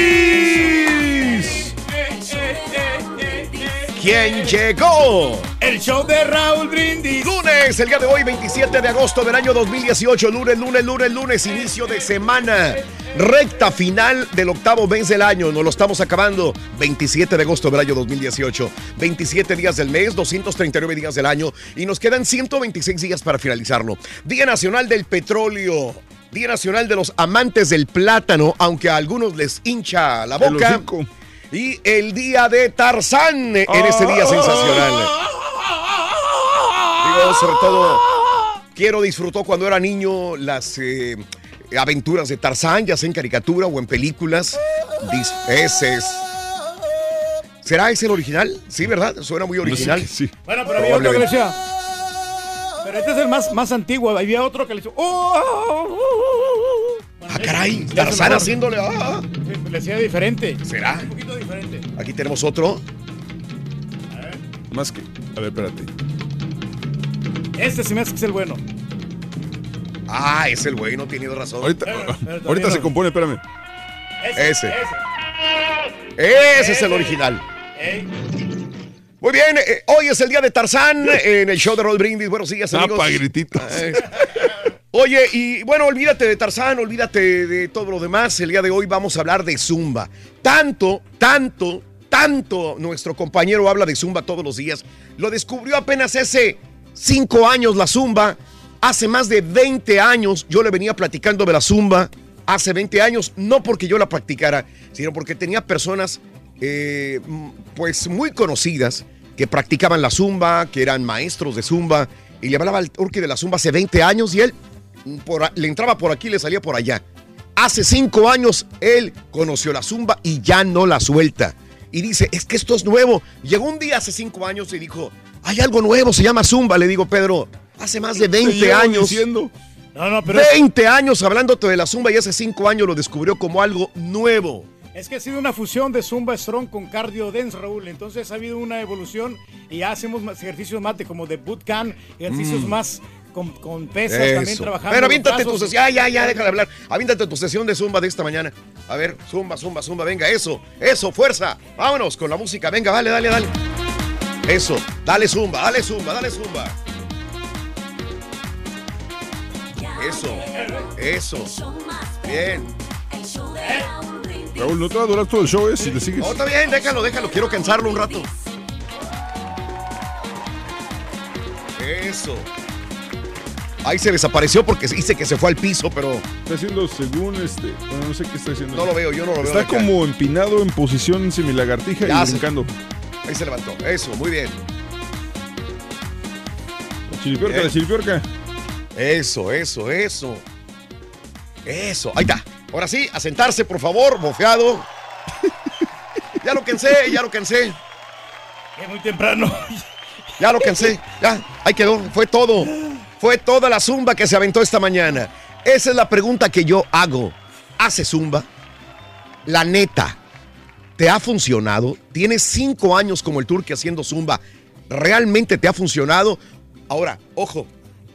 ¡Tenis! ¿Quién llegó? El show de Raúl Brindis. Lunes, el día de hoy, veintisiete de agosto del año dos mil dieciocho. Lunes, lunes, lunes, lunes, inicio de semana. Recta final del octavo mes del año. Nos lo estamos acabando. veintisiete de agosto del año dos mil dieciocho. veintisiete días del mes, doscientos treinta y nueve días del año. Y nos quedan ciento veintiséis días para finalizarlo. Día Nacional del Petróleo. Día Nacional de los Amantes del Plátano, aunque a algunos les hincha la El boca. hocico. Y el día de Tarzán en este día sensacional. Digo, sobre todo, quiero disfrutó cuando era niño las eh, aventuras de Tarzán, ya sea en caricatura o en películas. Dis- ese es. ¿Será ese el original? Sí, ¿verdad? Suena muy original. Sí. Bueno, pero había otro que le decía. Pero este es el más, más antiguo. Había otro que le decía. ¡Oh! Ah, caray, Tarzán haciéndole. Ah. Le decía diferente. ¿Será? Un poquito diferente. Aquí tenemos otro. Más que. A ver, espérate. Este se me hace que es el bueno. Ah, es el bueno, tenido razón. Ahorita, pero ahorita no. se compone, espérame. Ese. Ese es el original. Muy bien, eh, hoy es el día de Tarzán en el show de Raúl Brindis. Buenos días, amigos. Tapa, grititos. Ay. Oye, y bueno, olvídate de Tarzán, olvídate de todo lo demás. El día de hoy vamos a hablar de Zumba. Tanto, tanto, tanto nuestro compañero habla de Zumba todos los días. Lo descubrió apenas hace cinco años la Zumba. Hace más de veinte años yo le venía platicando de la Zumba. Hace veinte años, no porque yo la practicara, sino porque tenía personas eh, pues muy conocidas que practicaban la Zumba, que eran maestros de Zumba. Y le hablaba al turqui de la Zumba hace veinte años y él por, le entraba por aquí y le salía por allá. Hace cinco años él conoció la Zumba y ya no la suelta. Y dice, es que esto es nuevo. Llegó un día hace cinco años y dijo, hay algo nuevo, se llama Zumba. Le digo, Pedro, hace más de veinte años. Diciendo. No, no, pero veinte años hablándote de la Zumba y hace cinco años lo descubrió como algo nuevo. Es que ha sido una fusión de Zumba Strong con Cardio Dance, Raúl. Entonces ha habido una evolución y ya hacemos más ejercicios más de, como de bootcamp, ejercicios mm. más con, con pesas, Eso. también trabajando. Pero avíntate tu brazos. sesión. Ya, ya, ya, déjale hablar. Avíntate tu sesión de Zumba de esta mañana. A ver, Zumba, Zumba, Zumba. Venga, eso, eso, fuerza. Vámonos con la música. Venga, dale, dale, dale. Eso, dale Zumba, dale Zumba, dale Zumba. Eso, eso. Bien. Raúl, no te va a durar todo el show, ¿eh? Si le sigues. No, está bien, déjalo, déjalo. Quiero cansarlo un rato. Eso. Ahí se desapareció porque dice que se fue al piso, pero... Está haciendo según este... Bueno, no sé qué está haciendo. No lo veo, yo no lo veo. Está como empinado en posición semilagartija Ya y se- brincando. Ahí se levantó. Eso, muy bien. La chilipiorca, Bien. la chilipiorca. Eso, eso, eso. Eso, ahí está. Ahora sí, a sentarse, por favor, bofeado. Ya lo cansé, ya lo cansé. Es muy temprano. Ya lo cansé. Ya, ahí quedó. Fue todo. Fue toda la zumba que se aventó esta mañana. Esa es la pregunta que yo hago. ¿Hace zumba? La neta, ¿te ha funcionado? ¿Tienes cinco años como el Turqui haciendo zumba? ¿Realmente te ha funcionado? Ahora, ojo.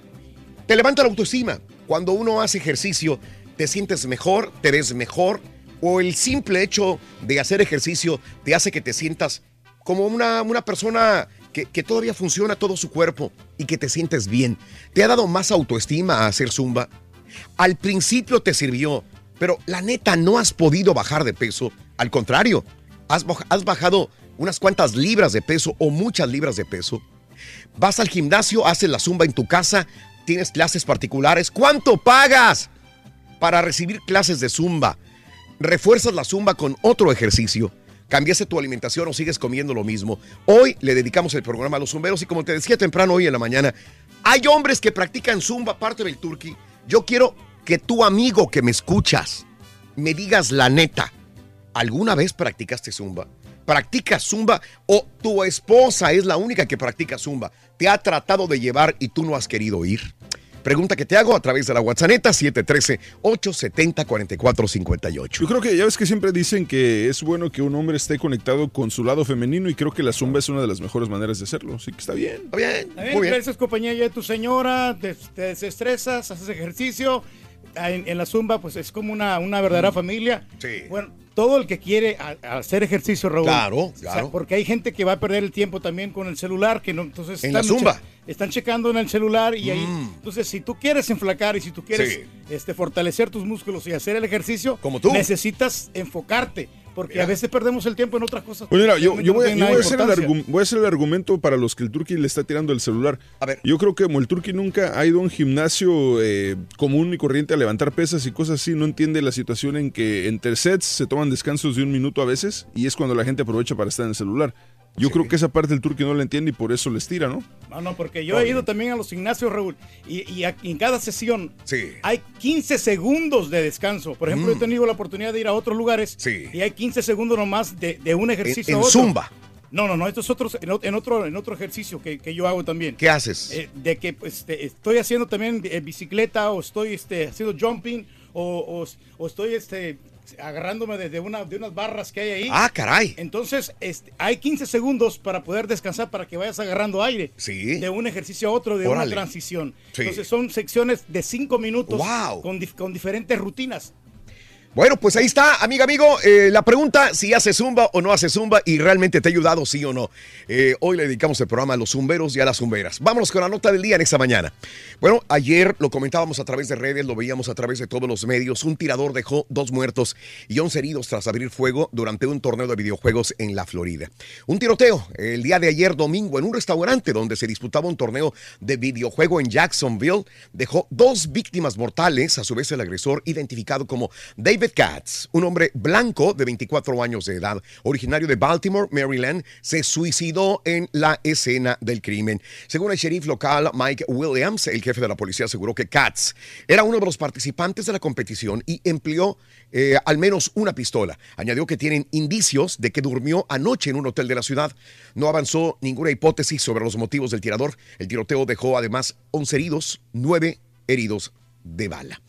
Te levanta la autoestima. Cuando uno hace ejercicio, te sientes mejor, te ves mejor, o el simple hecho de hacer ejercicio te hace que te sientas como una, una persona que, que todavía funciona todo su cuerpo y que te sientes bien. ¿Te ha dado más autoestima a hacer zumba? Al principio te sirvió, pero la neta no has podido bajar de peso. Al contrario, has, has bajado unas cuantas libras de peso o muchas libras de peso. Vas al gimnasio, haces la zumba en tu casa, tienes clases particulares. ¿Cuánto pagas para recibir clases de zumba? ¿Refuerzas la zumba con otro ejercicio? ¿Cambiaste tu alimentación o sigues comiendo lo mismo? Hoy le dedicamos el programa a los zumberos y como te decía temprano hoy en la mañana, hay hombres que practican zumba, aparte del Turqui. Yo quiero que tu amigo que me escuchas me digas la neta. ¿Alguna vez practicaste zumba? ¿Practicas zumba o tu esposa es la única que practica zumba? ¿Te ha tratado de llevar y tú no has querido ir? Pregunta que te hago a través de la WhatsApp siete uno tres, ocho siete cero, cuatro cuatro cinco ocho. Yo creo que ya ves que siempre dicen que es bueno que un hombre esté conectado con su lado femenino y creo que la zumba es una de las mejores maneras de hacerlo. Así que está bien. Está bien. Está bien, Muy bien. gracias compañía ya de tu señora, te, te desestresas, haces ejercicio. En, en la zumba, pues es como una, una verdadera mm. familia. Sí. Bueno, todo el que quiere a, a hacer ejercicio, Raúl. Claro, claro. O sea, porque hay gente que va a perder el tiempo también con el celular, que no, entonces En la están zumba. che- están checando en el celular y ahí. Mm. Entonces, si tú quieres enflacar y si tú quieres Sí. este, fortalecer tus músculos y hacer el ejercicio, Como tú. necesitas enfocarte. Porque Mira. a veces perdemos el tiempo en otras cosas. Pues mira, yo, que yo, no voy, tienen yo nada voy, de a hacer el importancia. argu- voy a hacer el argumento para los que el Turqui le está tirando el celular. A ver. Yo creo que como el Turqui nunca ha ido a un gimnasio eh, común y corriente a levantar pesas y cosas así, no entiende la situación en que entre sets se toman descansos de un minuto a veces y es cuando la gente aprovecha para estar en el celular. Yo Sí. creo que esa parte el Turqui no la entiende y por eso les tira, ¿no? No, no, porque yo he ido también a los gimnasios, Raúl, y, y aquí en cada sesión Sí. hay quince segundos de descanso. Por ejemplo, Mm. yo he tenido la oportunidad de ir a otros lugares Sí. y hay quince segundos nomás de, de un ejercicio En, a en otro. zumba. No, no, no, esto es otro, en, o- en otro, en otro ejercicio que, que yo hago también. ¿Qué haces? Eh, de que pues, este, estoy haciendo también eh, bicicleta o estoy este, haciendo jumping o, o- o estoy este, agarrándome de, de una, de unas barras que hay ahí. Ah, caray. Entonces, este, hay quince segundos para poder descansar, para que vayas agarrando aire. Sí. De un ejercicio a otro, de Órale. una transición. Sí. Entonces, son secciones de cinco minutos Wow. con, dif- con diferentes rutinas. Bueno, pues ahí está, amiga, amigo, eh, la pregunta si hace zumba o no hace zumba y realmente te ha ayudado, sí o no. Eh, hoy le dedicamos el programa a los zumberos y a las zumberas. Vámonos con la nota del día en esta mañana. Bueno, ayer lo comentábamos a través de redes, lo veíamos a través de todos los medios. Un tirador dejó dos muertos y once heridos tras abrir fuego durante un torneo de videojuegos en la Florida. Un tiroteo el día de ayer domingo en un restaurante donde se disputaba un torneo de videojuego en Jacksonville dejó dos víctimas mortales. A su vez, el agresor, identificado como David Katz, un hombre blanco de veinticuatro años de edad, originario de Baltimore, Maryland, se suicidó en la escena del crimen. Según el sheriff local Mike Williams, el jefe de la policía aseguró que Katz era uno de los participantes de la competición y empleó eh, al menos una pistola. Añadió que tienen indicios de que durmió anoche en un hotel de la ciudad. No avanzó ninguna hipótesis sobre los motivos del tirador. El tiroteo dejó además once heridos, nueve heridos de bala.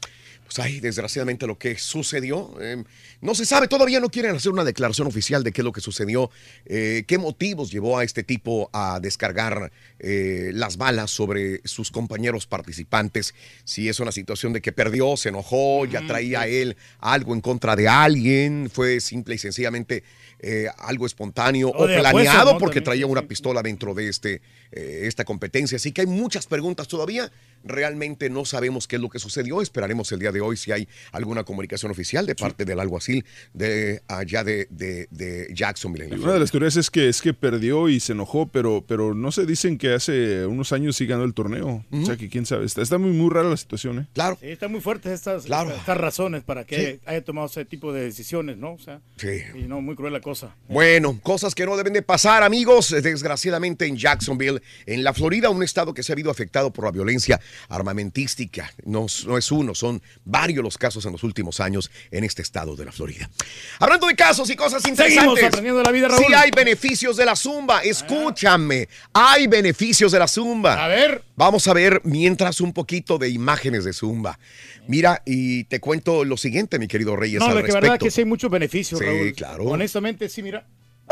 pues ahí desgraciadamente lo que sucedió. Eh, no se sabe, todavía no quieren hacer una declaración oficial de qué es lo que sucedió, eh, qué motivos llevó a este tipo a descargar eh, las balas sobre sus compañeros participantes. Si es una situación de que perdió, se enojó, ya traía él algo en contra de alguien, fue simple y sencillamente eh, algo espontáneo o, o planeado apuestas, ¿no? Porque También, traía una pistola dentro de este, eh, esta competencia. Así que hay muchas preguntas todavía. Realmente no sabemos qué es lo que sucedió. Esperaremos el día de hoy si hay alguna comunicación oficial de parte sí. del alguacil de allá de, de, de Jacksonville. Una de las teorías es que es que perdió y se enojó, pero, pero no se dicen que hace unos años sí ganó el torneo. Uh-huh. O sea que quién sabe. Está, está muy, muy rara la situación, ¿eh? Claro. Sí, están muy fuertes estas, claro. estas razones para que sí. haya tomado ese tipo de decisiones, ¿no? O sea, sí. Y no, muy cruel la cosa. Bueno, cosas que no deben de pasar, amigos. Desgraciadamente en Jacksonville, en la Florida, un estado que se ha habido afectado por la violencia armamentística. No, no es uno, son varios los casos en los últimos años en este estado de la Florida. Hablando de casos y cosas interesantes. Seguimos aprendiendo de la vida, Raúl. Sí hay beneficios de la zumba. Escúchame, hay beneficios de la zumba. A ver. Vamos a ver mientras un poquito de imágenes de zumba. Mira, y te cuento lo siguiente, mi querido Reyes, no, al de respecto. que verdad que sí hay muchos beneficios, sí, Raúl. Claro. Honestamente, sí, mira.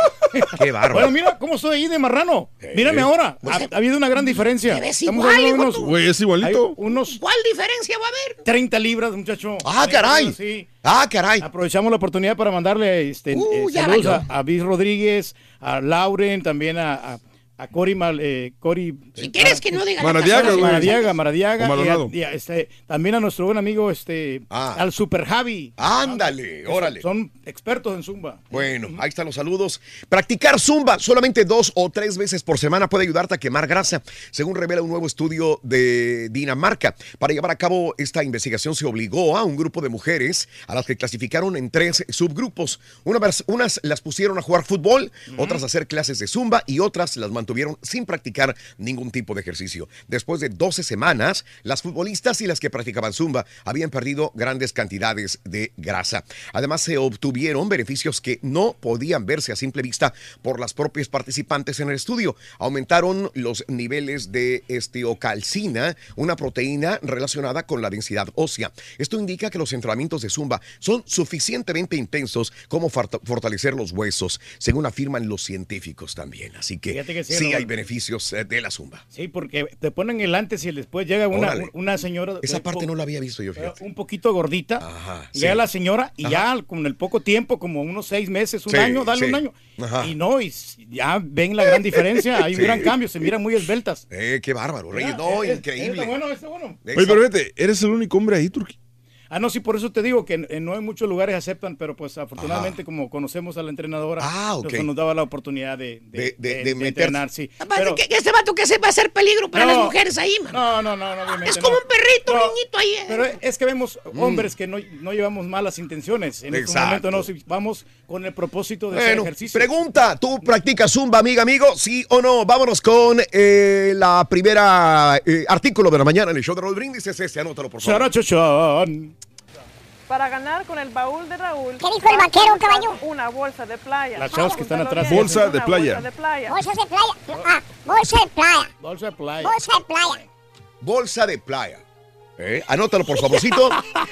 Qué bárbaro. Bueno, mira cómo soy ahí de marrano. Eh, Mírame ahora. Ha, ha habido una gran diferencia. Te ves igual, hijo unos, güey, es igualito. Unos ¿Cuál diferencia va a haber? treinta libras, muchacho. Ah, caray. Libras, sí. Ah, caray. Aprovechamos la oportunidad para mandarle este, Uh, eh, saludos a, a Bis Rodríguez, a Lauren, también a, a, a Cori, Mal, eh, Cori. Si eh, quieres que no diga Maradiaga, la Maradiaga, Maradiaga. Y a, y a, este, también a nuestro buen amigo, este, ah. al Super Javi. Ándale, ah, órale. Son, son expertos en zumba. Bueno, ahí están los saludos. Practicar zumba solamente dos o tres veces por semana puede ayudarte a quemar grasa, según revela un nuevo estudio de Dinamarca. Para llevar a cabo esta investigación se obligó a un grupo de mujeres a las que clasificaron en tres subgrupos. Una, unas las pusieron a jugar fútbol, uh-huh. otras a hacer clases de zumba y otras las mantuvieron sin practicar ningún tipo de ejercicio. Después de doce semanas, las futbolistas y las que practicaban zumba habían perdido grandes cantidades de grasa. Además, se obtuvieron beneficios que no podían verse a simple vista por las propias participantes en el estudio. Aumentaron los niveles de esteocalcina, una proteína relacionada con la densidad ósea. Esto indica que los entrenamientos de zumba son suficientemente intensos como fortalecer los huesos, según afirman los científicos también. Así que, que sí, sí hay beneficios de la zumba. Sí, porque te ponen el antes y el después. Llega una, una señora. Esa parte no la había visto yo, fíjate. Un poquito gordita. Ajá, llega sí. la señora y Ajá. ya con el poco tiempo, como unos seis meses, un sí, año, dale sí. un año. Ajá. Y no, y ya ven la gran diferencia. Hay sí. un gran cambio, se miran muy esbeltas. Eh, qué bárbaro, Reyes. No, es, increíble. Está bueno, está bueno. Oye, pero vete, eres el único hombre ahí, Turquía. Ah, no, sí, por eso te digo que en, no en muchos lugares aceptan, pero pues afortunadamente Ajá. como conocemos a la entrenadora, ah, okay. nos, nos daba la oportunidad de, de, de, de, de, de, de entrenar, sí. Pero, que, que este vato que se va a hacer peligro para no, las mujeres ahí, man. No, no, no, no obviamente Es como no. un perrito, no, un niñito ahí. Eh. Pero es que vemos hombres mm. que no, no llevamos malas intenciones. En este momento no, si vamos con el propósito de bueno, hacer ejercicio. Pregunta, ¿tú practicas zumba, amiga, amigo? ¿Sí o no? Vámonos con eh, la primera eh, artículo de la mañana en el show de Raúl Brindis. Es este, anótalo, por favor. Charachachan. Para ganar con el baúl de Raúl. ¿Qué dijo el vaquero, caballo? Una bolsa de playa. Las chavas que están atrás. Bolsa de playa. Bolsa de playa. Bolsa de playa. Ah, bolsa de playa. Bolsa de playa. Bolsa de playa. Bolsa de playa. Eh, anótalo, por favorcito.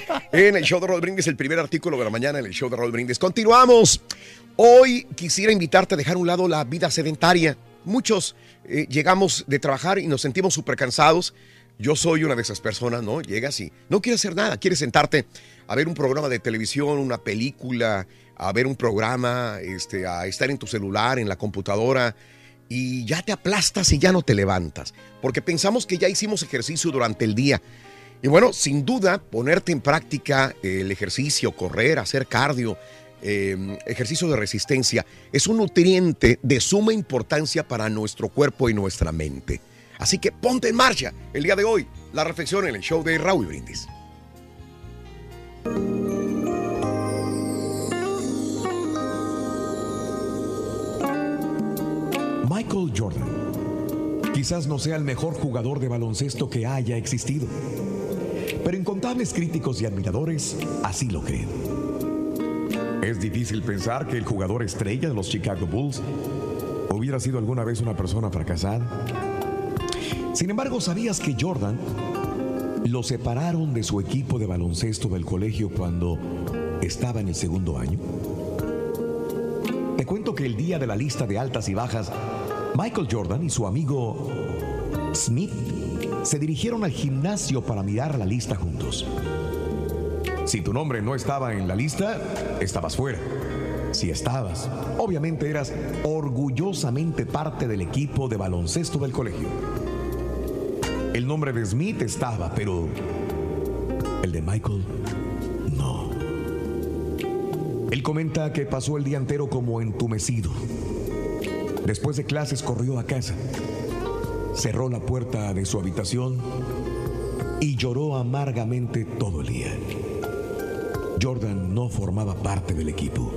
En el show de Raúl Brindis, el primer artículo de la mañana en el show de Raúl Brindis. Continuamos. Hoy quisiera invitarte a dejar a un lado la vida sedentaria. Muchos eh, llegamos de trabajar y nos sentimos súper cansados. Yo soy una de esas personas, ¿no? Llegas y no quieres hacer nada, quieres sentarte a ver un programa de televisión, una película, a ver un programa, este, a estar en tu celular, en la computadora, y ya te aplastas y ya no te levantas, porque pensamos que ya hicimos ejercicio durante el día. Y bueno, sin duda, ponerte en práctica el ejercicio, correr, hacer cardio, eh, ejercicio de resistencia, es un nutriente de suma importancia para nuestro cuerpo y nuestra mente. Así que ponte en marcha el día de hoy. La reflexión en el show de Raúl Brindis. Michael Jordan quizás no sea el mejor jugador de baloncesto que haya existido, pero incontables críticos y admiradores así lo creen. Es difícil pensar que el jugador estrella de los Chicago Bulls hubiera sido alguna vez una persona fracasada. Sin embargo, ¿sabías que Jordan lo separaron de su equipo de baloncesto del colegio cuando estaba en el segundo año? Te cuento que el día de la lista de altas y bajas, Michael Jordan y su amigo Smith se dirigieron al gimnasio para mirar la lista juntos. Si tu nombre no estaba en la lista, estabas fuera. Si estabas, obviamente eras orgullosamente parte del equipo de baloncesto del colegio. El nombre de Smith estaba, pero el de Michael, no. Él comenta que pasó el día entero como entumecido. Después de clases corrió a casa, cerró la puerta de su habitación y lloró amargamente todo el día. Jordan no formaba parte del equipo,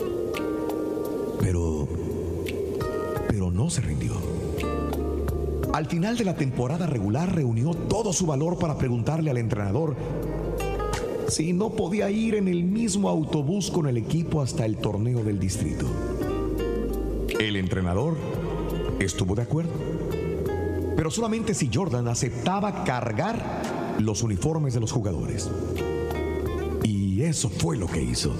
pero, pero no se rindió. Al final de la temporada regular reunió todo su valor para preguntarle al entrenador si no podía ir en el mismo autobús con el equipo hasta el torneo del distrito. El entrenador estuvo de acuerdo, pero solamente si Jordan aceptaba cargar los uniformes de los jugadores. Y eso fue lo que hizo.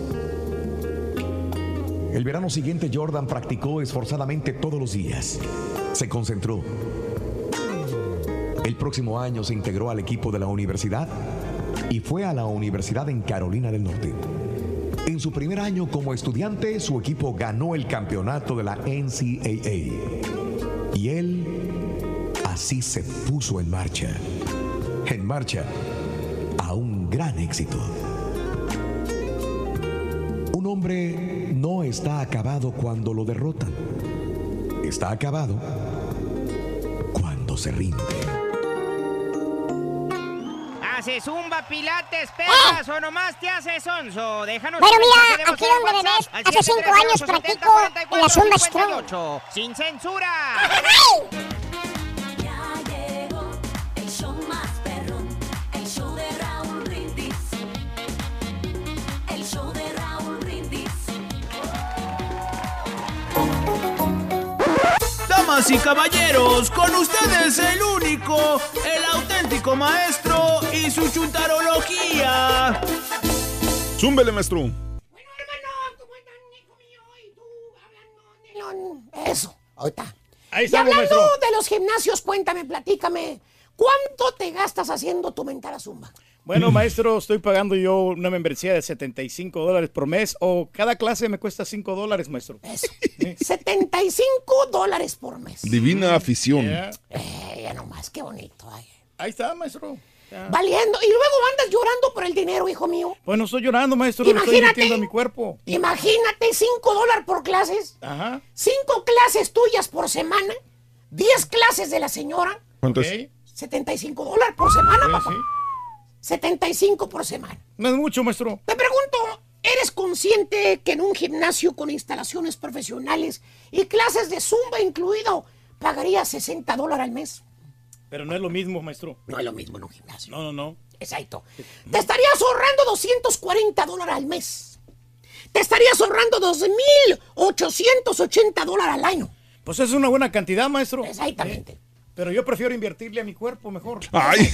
El verano siguiente Jordan practicó esforzadamente todos los días. Se concentró. El próximo año se integró al equipo de la universidad y fue a la universidad en Carolina del Norte. En su primer año como estudiante, su equipo ganó el campeonato de la N C A A. Y él así se puso en marcha. En marcha a un gran éxito. Un hombre no está acabado cuando lo derrotan. Está acabado cuando se rinde. ¿Haces zumba, pilates, pesas ¡Eh! o nomás te haces sonso? Déjanos bueno, un mira, de aquí donde me ves, hace cinco años practico en la Zumba Strong. ¡Sin censura! Ya llegó el show más perrón, el show de Raúl Brindis. El show de Raúl Brindis. Damas y caballeros, con ustedes el único, el auténtico maestro y su chuntarología. Zúmbele, maestro. Eso, ahorita. Ahí y estamos, hablando maestro. de los gimnasios, cuéntame, platícame, ¿cuánto te gastas haciendo tu mentada zumba? Bueno, maestro, estoy pagando yo una membresía de setenta y cinco dólares por mes, o cada clase me cuesta cinco dólares, maestro. Eso, setenta y cinco dólares por mes. Divina afición. Yeah. Eh, ya nomás, qué bonito. Ay. Ahí está, maestro. Ya. Valiendo. Y luego andas llorando por el dinero, hijo mío. Pues no estoy llorando, maestro, le estoy metiendo a mi cuerpo. Imagínate, cinco dólares por clases. Ajá. cinco clases tuyas por semana. diez clases de la señora. ¿Cuánto es? setenta y cinco dólares por semana, Sí, papá. sí. setenta y cinco por semana. No es mucho, maestro. Te pregunto, ¿eres consciente que en un gimnasio con instalaciones profesionales y clases de zumba incluido pagarías sesenta dólares al mes? Pero no es lo mismo, maestro. No es lo mismo en un gimnasio. No, no, no. Exacto. Te estarías ahorrando doscientos cuarenta dólares al mes. Te estarías ahorrando dos mil ochocientos ochenta dólares al año. Pues es una buena cantidad, maestro. Exactamente. Eh, pero yo prefiero invertirle a mi cuerpo mejor. Ay.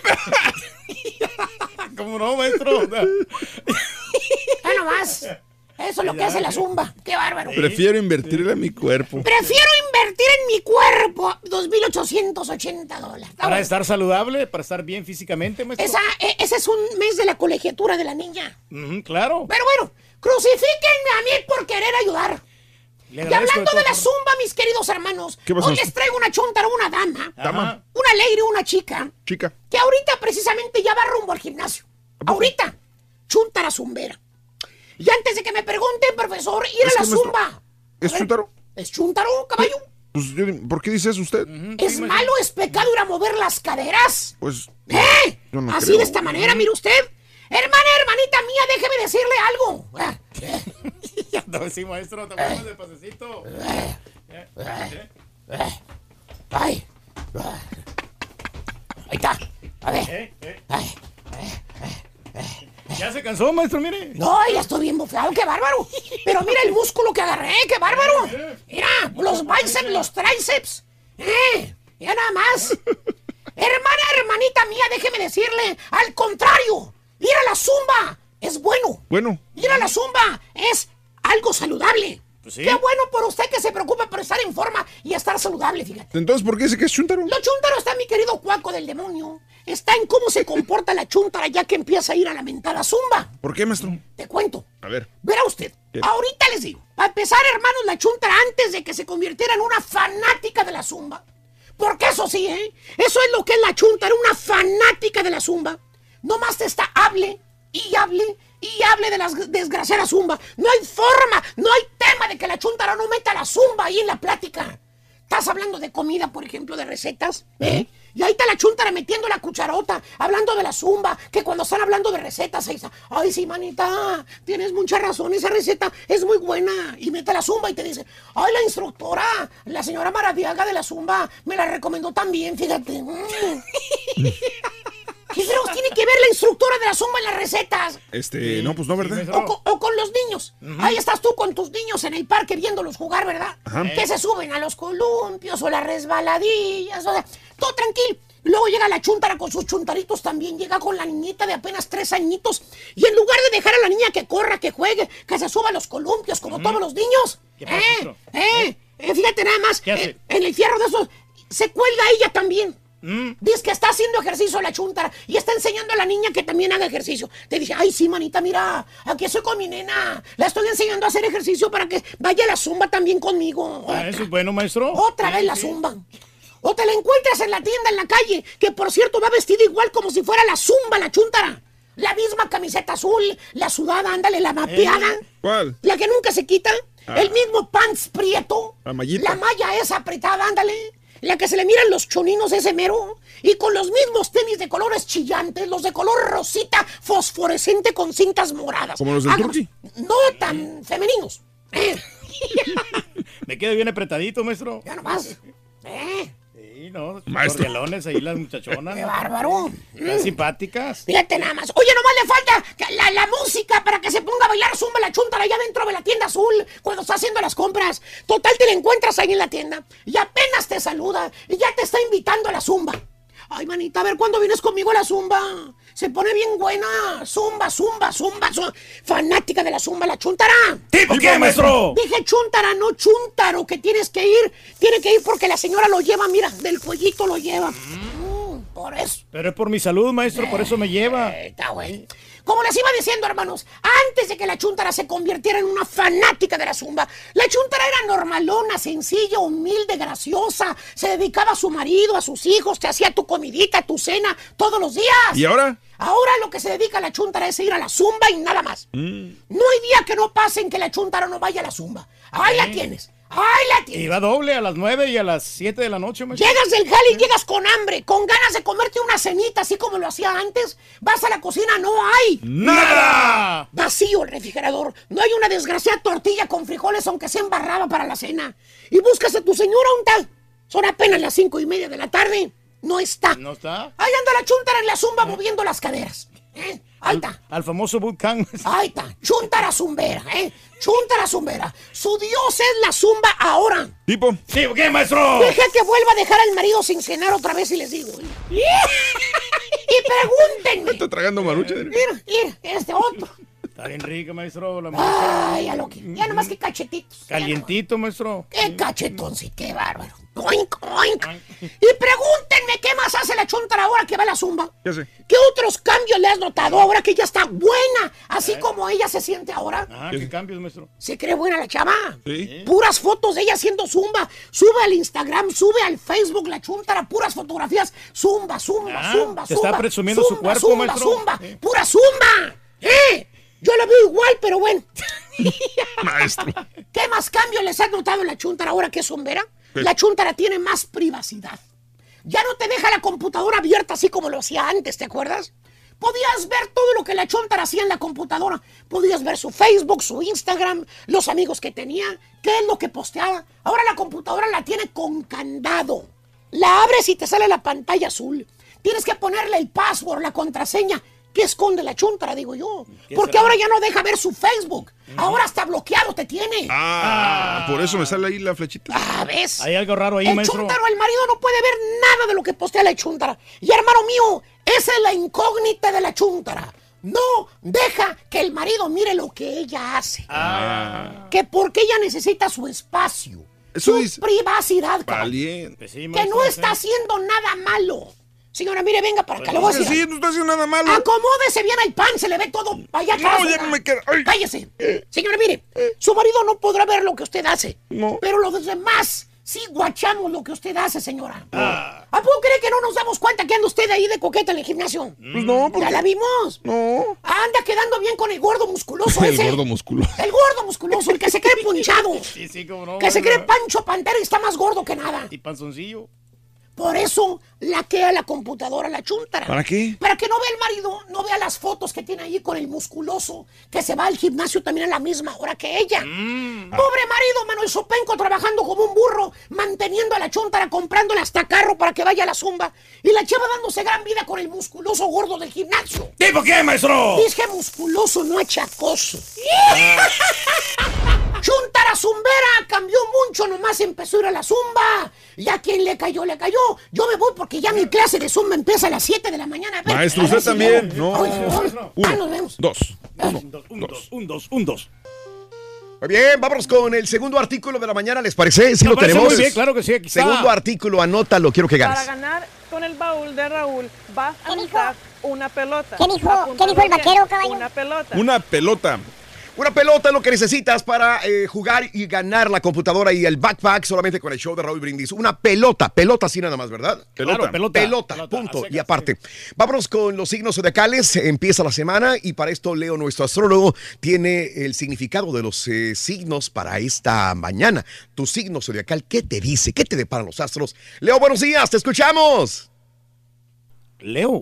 ¿Cómo no, maestro? Ya nomás. Eso es lo que hace la zumba. Qué bárbaro. Prefiero invertirle a mi cuerpo. Prefiero invertir en mi cuerpo dos mil ochocientos ochenta dólares. Para bueno. estar saludable, para estar bien físicamente, maestro. Esa, eh, ese es un mes de la colegiatura de la niña. Mm, claro. Pero bueno, crucifíquenme a mí por querer ayudar. Y hablando de, de la zumba, mis queridos hermanos, hoy les traigo una chuntara, una dama, Dama. una lady, una chica, Chica. que ahorita precisamente ya va rumbo al gimnasio. Ahorita, chuntara zumbera. Y antes de que me pregunten, profesor, ir a la zumba. ¿Es chuntaro? ¿Es chuntaro, caballo? Pues, ¿por qué dice eso usted? Uh-huh. ¿Es malo, es pecado ir a mover las caderas? Pues... ¿Eh? Yo no Así creo. de esta manera, mire usted. Hermana, hermanita mía, déjeme decirle algo. Ya no, sí, maestro, tomamos de pasecito. Ay. Ahí está. A ver. ¿Eh? ¿Eh? Ay. ¿Ya se cansó, maestro, mire? No, ya estoy bien bofeado, qué bárbaro. Pero mira el músculo que agarré, qué bárbaro. Mira, los bíceps, los tríceps. Eh, ya nada más. Hermana, hermanita mía, déjeme decirle, al contrario, ir a la zumba es bueno. Bueno. Ir a la zumba es algo saludable. Pues sí. Qué bueno por usted que se preocupa por estar en forma y estar saludable, fíjate. Entonces, ¿por qué dice que es chúntaro? Lo chúntaro está, mi querido cuaco del demonio. Está en cómo se comporta la chúntara ya que empieza a ir a la mentada zumba. ¿Por qué, maestro? Te cuento. A ver. Verá usted, ¿Qué? ahorita les digo, para empezar, hermanos, la chúntara antes de que se convirtiera en una fanática de la zumba. Porque eso sí, ¿eh? Eso es lo que es la chúntara, una fanática de la zumba. Nomás te está hable y hable y hable de la desgraciada zumba. No hay forma, no hay tema de que la chúntara no meta la zumba ahí en la plática. Estás hablando de comida, por ejemplo, de recetas, ¿eh? Y ahí está la chúntara metiendo la cucharota, hablando de la zumba, que cuando están hablando de recetas, ahí está, ay, sí, manita, tienes mucha razón, esa receta es muy buena. Y mete la zumba y te dice, ay, la instructora, la señora Maradiaga de la zumba, me la recomendó también, fíjate. Mm. ¿Qué fregados tiene que ver la instructora de la zumba en las recetas? Este, no, pues no, ¿verdad? O, co- o con los niños. Uh-huh. Ahí estás tú con tus niños en el parque viéndolos jugar, ¿verdad? Ajá. Que se suben a los columpios o las resbaladillas, o sea, todo tranquilo. Luego llega la chúntara con sus chuntaritos también, llega con la niñita de apenas tres añitos, y en lugar de dejar a la niña que corra, que juegue, que se suba a los columpios como uh-huh. todos los niños, ¿Qué eh, pasa, eh, eh, fíjate nada más, ¿Qué hace? eh, en el fierro de esos, se cuelga ella también. Mm. Dice que está haciendo ejercicio la chúntara y está enseñando a la niña que también haga ejercicio. Te dice, ay, sí, manita, mira, aquí estoy con mi nena. La estoy enseñando a hacer ejercicio para que vaya a la zumba también conmigo. Ah, eso es bueno, maestro. Otra Sí, vez la sí. zumba. O te la encuentras en la tienda, en la calle, que por cierto va vestida igual como si fuera la zumba, la chúntara. La misma camiseta azul, la sudada, ándale, la mapeada. ¿Eh? ¿Cuál? La que nunca se quita. Ah. El mismo pants prieto. La mallita. La malla esa apretada, ándale. La que se le miran los choninos ese mero. Y con los mismos tenis de colores chillantes, los de color rosita fosforescente con cintas moradas. ¿Como los del Ah, Turqui? No tan femeninos. Eh, Me queda bien apretadito, maestro. ya nomás. Eh, Sí, no, Maestro. cordialones ahí las muchachonas. qué bárbaro. Están Mm. simpáticas. Fíjate nada más. Oye, nomás le falta que la, la música para que se ponga a bailar zumba la chúntara allá dentro de la tienda azul cuando está haciendo las compras. Total, te la encuentras ahí en la tienda y apenas te saluda y ya te está invitando a la zumba. Ay, manita, a ver cuándo vienes conmigo a la zumba. Se pone bien buena. Zumba, zumba, zumba, zumba. Fanática de la zumba, la chúntara. ¿Tipo qué, maestro? Dije chúntara, no chúntaro, que tienes que ir. Tiene que ir porque la señora lo lleva, mira, del cuellito lo lleva. Mm, por eso. Pero es por mi salud, maestro, por eso me lleva. Eh, Está bueno. Como les iba diciendo, hermanos, antes de que la chúntara se convirtiera en una fanática de la zumba, la chúntara era normalona, sencilla, humilde, graciosa. Se dedicaba a su marido, a sus hijos, te hacía tu comidita, tu cena todos los días. ¿Y ahora? Ahora lo que se dedica a la chúntara es ir a la zumba y nada más. Mm. No hay día que no pase en que la chúntara no vaya a la zumba. Ahí la tienes. Ahí la tienes. Y va doble a las nueve y a las siete de la noche, maestro. Llegas del jale y llegas con hambre, con ganas de comerte una cenita así como lo hacía antes. Vas a la cocina, no hay. ¡Nada! Vacío el refrigerador. No hay una desgraciada tortilla con frijoles, aunque sea embarrada para la cena. Y buscas a tu señora un tal. Son apenas las cinco y media de la tarde. No está. ¿No está? Ahí anda la chúntara en la zumba moviendo las caderas. ¿Eh? Ahí está. Al famoso bootcamp. Ahí está. Chúntara zumbera, ¿eh? Chúntara zumbera. Su dios es la zumba ahora. ¿Tipo? ¿Sí, qué, maestro? Deja que vuelva a dejar al marido sin cenar otra vez y les digo. ¿eh? Y pregúntenme. Está tragando marucha. Mira, mira, este otro. Está bien rica, maestro. La marucha. Ay, ya lo que. Ya nomás que cachetitos. Calientito, maestro. Qué cachetón, sí, qué bárbaro. Oink, oink. Y pregúntenme qué más hace la chúntara ahora que va a la zumba. ¿Qué hace? ¿Qué otros cambios le has notado ahora que ella está buena? Así como ella se siente ahora. Ajá, ¿qué cambios, maestro? ¿Se cree buena la chava? Sí. Puras fotos de ella haciendo zumba. Sube al Instagram, sube al Facebook la chúntara, puras fotografías. Zumba, zumba, Ah, zumba, te zumba. está presumiendo su zumba, cuerpo, zumba, maestro. Zumba, Sí. pura zumba. ¿Eh? Yo la veo igual, pero bueno. Maestro. ¿Qué más cambios les has notado en la chúntara ahora que es zumbera? ¿Qué? La chúntara tiene más privacidad. Ya no te deja la computadora abierta así como lo hacía antes, ¿te acuerdas? Podías ver todo lo que la chúntara hacía en la computadora. Podías ver su Facebook, su Instagram, los amigos que tenía, qué es lo que posteaba. Ahora la computadora la tiene con candado. La abres y te sale la pantalla azul. Tienes que ponerle el password, la contraseña. ¿Qué esconde la chuntara, digo yo? ¿Qué Porque será? ahora ya no deja ver su Facebook. Ahora hasta bloqueado te tiene. Ah, por eso me sale ahí la flechita. Ah, ¿ves? Hay algo raro ahí, el maestro. chúntaro, el marido no puede ver nada de lo que postea la chuntara. Y hermano mío, esa es la incógnita de la chúntara. No deja que el marido mire lo que ella hace. Ah. Que porque ella necesita su espacio. Eso su dice- privacidad. cabrón. Valiente. Que no está haciendo nada malo. Señora, mire, venga para acá, le voy a Sí, decir. sí, no está haciendo nada malo. Acomódese bien al pan, se le ve todo allá No, atrás. ya ¿verdad? no me queda- ay. Cállese. Señora, mire, su marido no podrá ver lo que usted hace. Pero los demás sí guachamos lo que usted hace, señora. ¿A poco cree que no nos damos cuenta que anda usted ahí de coqueta en el gimnasio? Pues no, ¿Ya la vimos? No. Anda quedando bien con el gordo musculoso El ese. gordo musculoso. El gordo musculoso, el que se cree punchado. Sí, sí, cómo no. Que se maestro. cree Pancho Pantera y está más gordo que nada. Y panzoncillo. Por eso laquea la computadora la chúntara. ¿Para qué? Para que no vea el marido, no vea las fotos que tiene allí con el musculoso, que se va al gimnasio también a la misma hora que ella. Mm. Pobre marido, Manuel Sopenco, trabajando como un burro, manteniendo a la chúntara, comprándole hasta carro para que vaya a la zumba. Y la chava dándose gran vida con el musculoso gordo del gimnasio. ¿Tipo qué, maestro? Dije musculoso, no achacoso. Chuntara zumbera, cambió mucho, nomás empezó a ir a la zumba. Y a quien le cayó, le cayó. Yo me voy porque ya mi clase de zumba empieza a las siete de la mañana. A ver, Maestro, a ver usted si también. llego. No. Ay, ay, ah, Uno, nos vemos. dos. Un, dos, un, dos, un, dos, un, dos. Muy bien, vámonos con el segundo artículo de la mañana, ¿les parece? Sí Me lo parece tenemos. muy bien, claro que sí, aquí está. Segundo artículo, anótalo, quiero que Para ganes. ganar con el baúl de Raúl vas a necesitar una pelota. ¿Qué dijo? Apúntalo ¿Qué dijo el bien, vaquero, caballo? Una pelota. Una pelota. Una pelota es lo que necesitas para eh, jugar y ganar la computadora y el backpack solamente con el show de Raúl Brindis. Una pelota, pelota así nada más, ¿verdad? Pelota. Claro, pelota. Pelota, Pelota, punto. a secas, Y aparte, vámonos con los signos zodiacales. Empieza la semana y para esto Leo, nuestro astrólogo, tiene el significado de los eh, signos para esta mañana. Tu signo zodiacal, ¿qué te dice? ¿Qué te deparan los astros? Leo, buenos días, te escuchamos. Leo.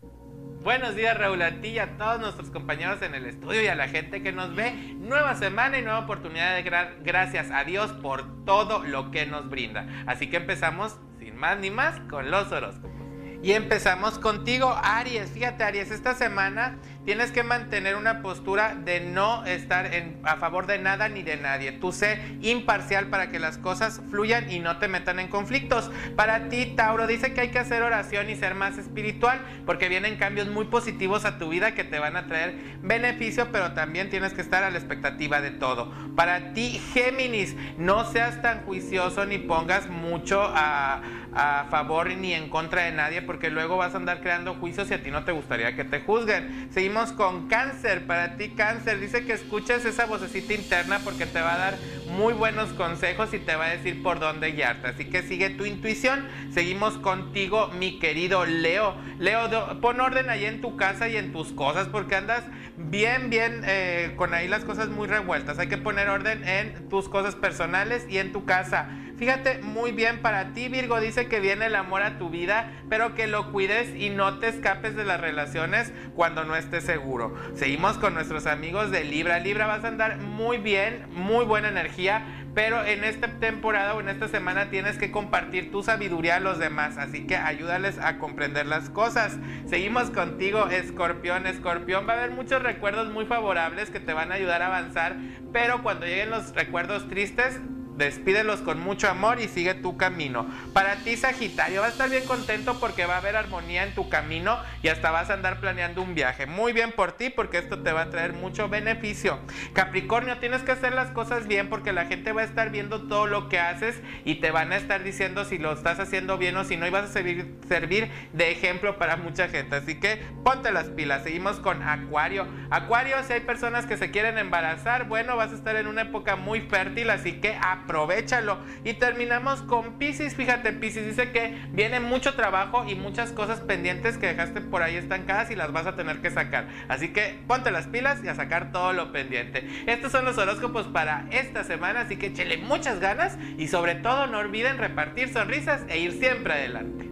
Buenos días, Raúl, a ti y a todos nuestros compañeros en el estudio y a la gente que nos ve. Nueva semana y nueva oportunidad de gra- gracias a Dios por todo lo que nos brinda. Así que empezamos, sin más ni más, con los horóscopos. Y empezamos contigo, Aries. Fíjate, Aries, esta semana tienes que mantener una postura de no estar en, a favor de nada ni de nadie. Tú sé imparcial para que las cosas fluyan y no te metan en conflictos. Para ti, Tauro, dice que hay que hacer oración y ser más espiritual porque vienen cambios muy positivos a tu vida que te van a traer beneficio, pero también tienes que estar a la expectativa de todo. Para ti, Géminis, no seas tan juicioso ni pongas mucho a, a favor ni en contra de nadie porque luego vas a andar creando juicios y a ti no te gustaría que te juzguen. Seguimos con Cáncer. Para ti, Cáncer, dice que escuches esa vocecita interna porque te va a dar muy buenos consejos y te va a decir por dónde guiarte, así que sigue tu intuición. Seguimos contigo, mi querido Leo. Leo, do, pon orden ahí en tu casa y en tus cosas porque andas bien, bien eh, con ahí las cosas muy revueltas. Hay que poner orden en tus cosas personales y en tu casa. Fíjate muy bien para ti, Virgo, dice que viene el amor a tu vida, pero que lo cuides y no te escapes de las relaciones cuando no estés seguro. Seguimos con nuestros amigos de Libra. Libra, vas a andar muy bien, muy buena energía, pero en esta temporada o en esta semana tienes que compartir tu sabiduría a los demás, así que ayúdales a comprender las cosas. Seguimos contigo, Escorpión. Escorpión, va a haber muchos recuerdos muy favorables que te van a ayudar a avanzar, pero cuando lleguen los recuerdos tristes, despídelos con mucho amor y sigue tu camino. Para ti, Sagitario, vas a estar bien contento porque va a haber armonía en tu camino y hasta vas a andar planeando un viaje. Muy bien por ti porque esto te va a traer mucho beneficio. Capricornio, tienes que hacer las cosas bien porque la gente va a estar viendo todo lo que haces y te van a estar diciendo si lo estás haciendo bien o si no, y vas a servir, servir de ejemplo para mucha gente. Así que ponte las pilas. Seguimos con Acuario. Acuario, si hay personas que se quieren embarazar, bueno, vas a estar en una época muy fértil, así que aprovéchalo. Y terminamos con Piscis. Fíjate, Piscis dice que viene mucho trabajo y muchas cosas pendientes que dejaste por ahí estancadas y las vas a tener que sacar. Así que ponte las pilas y a sacar todo lo pendiente. Estos son los horóscopos para esta semana, así que échele muchas ganas y sobre todo no olviden repartir sonrisas e ir siempre adelante.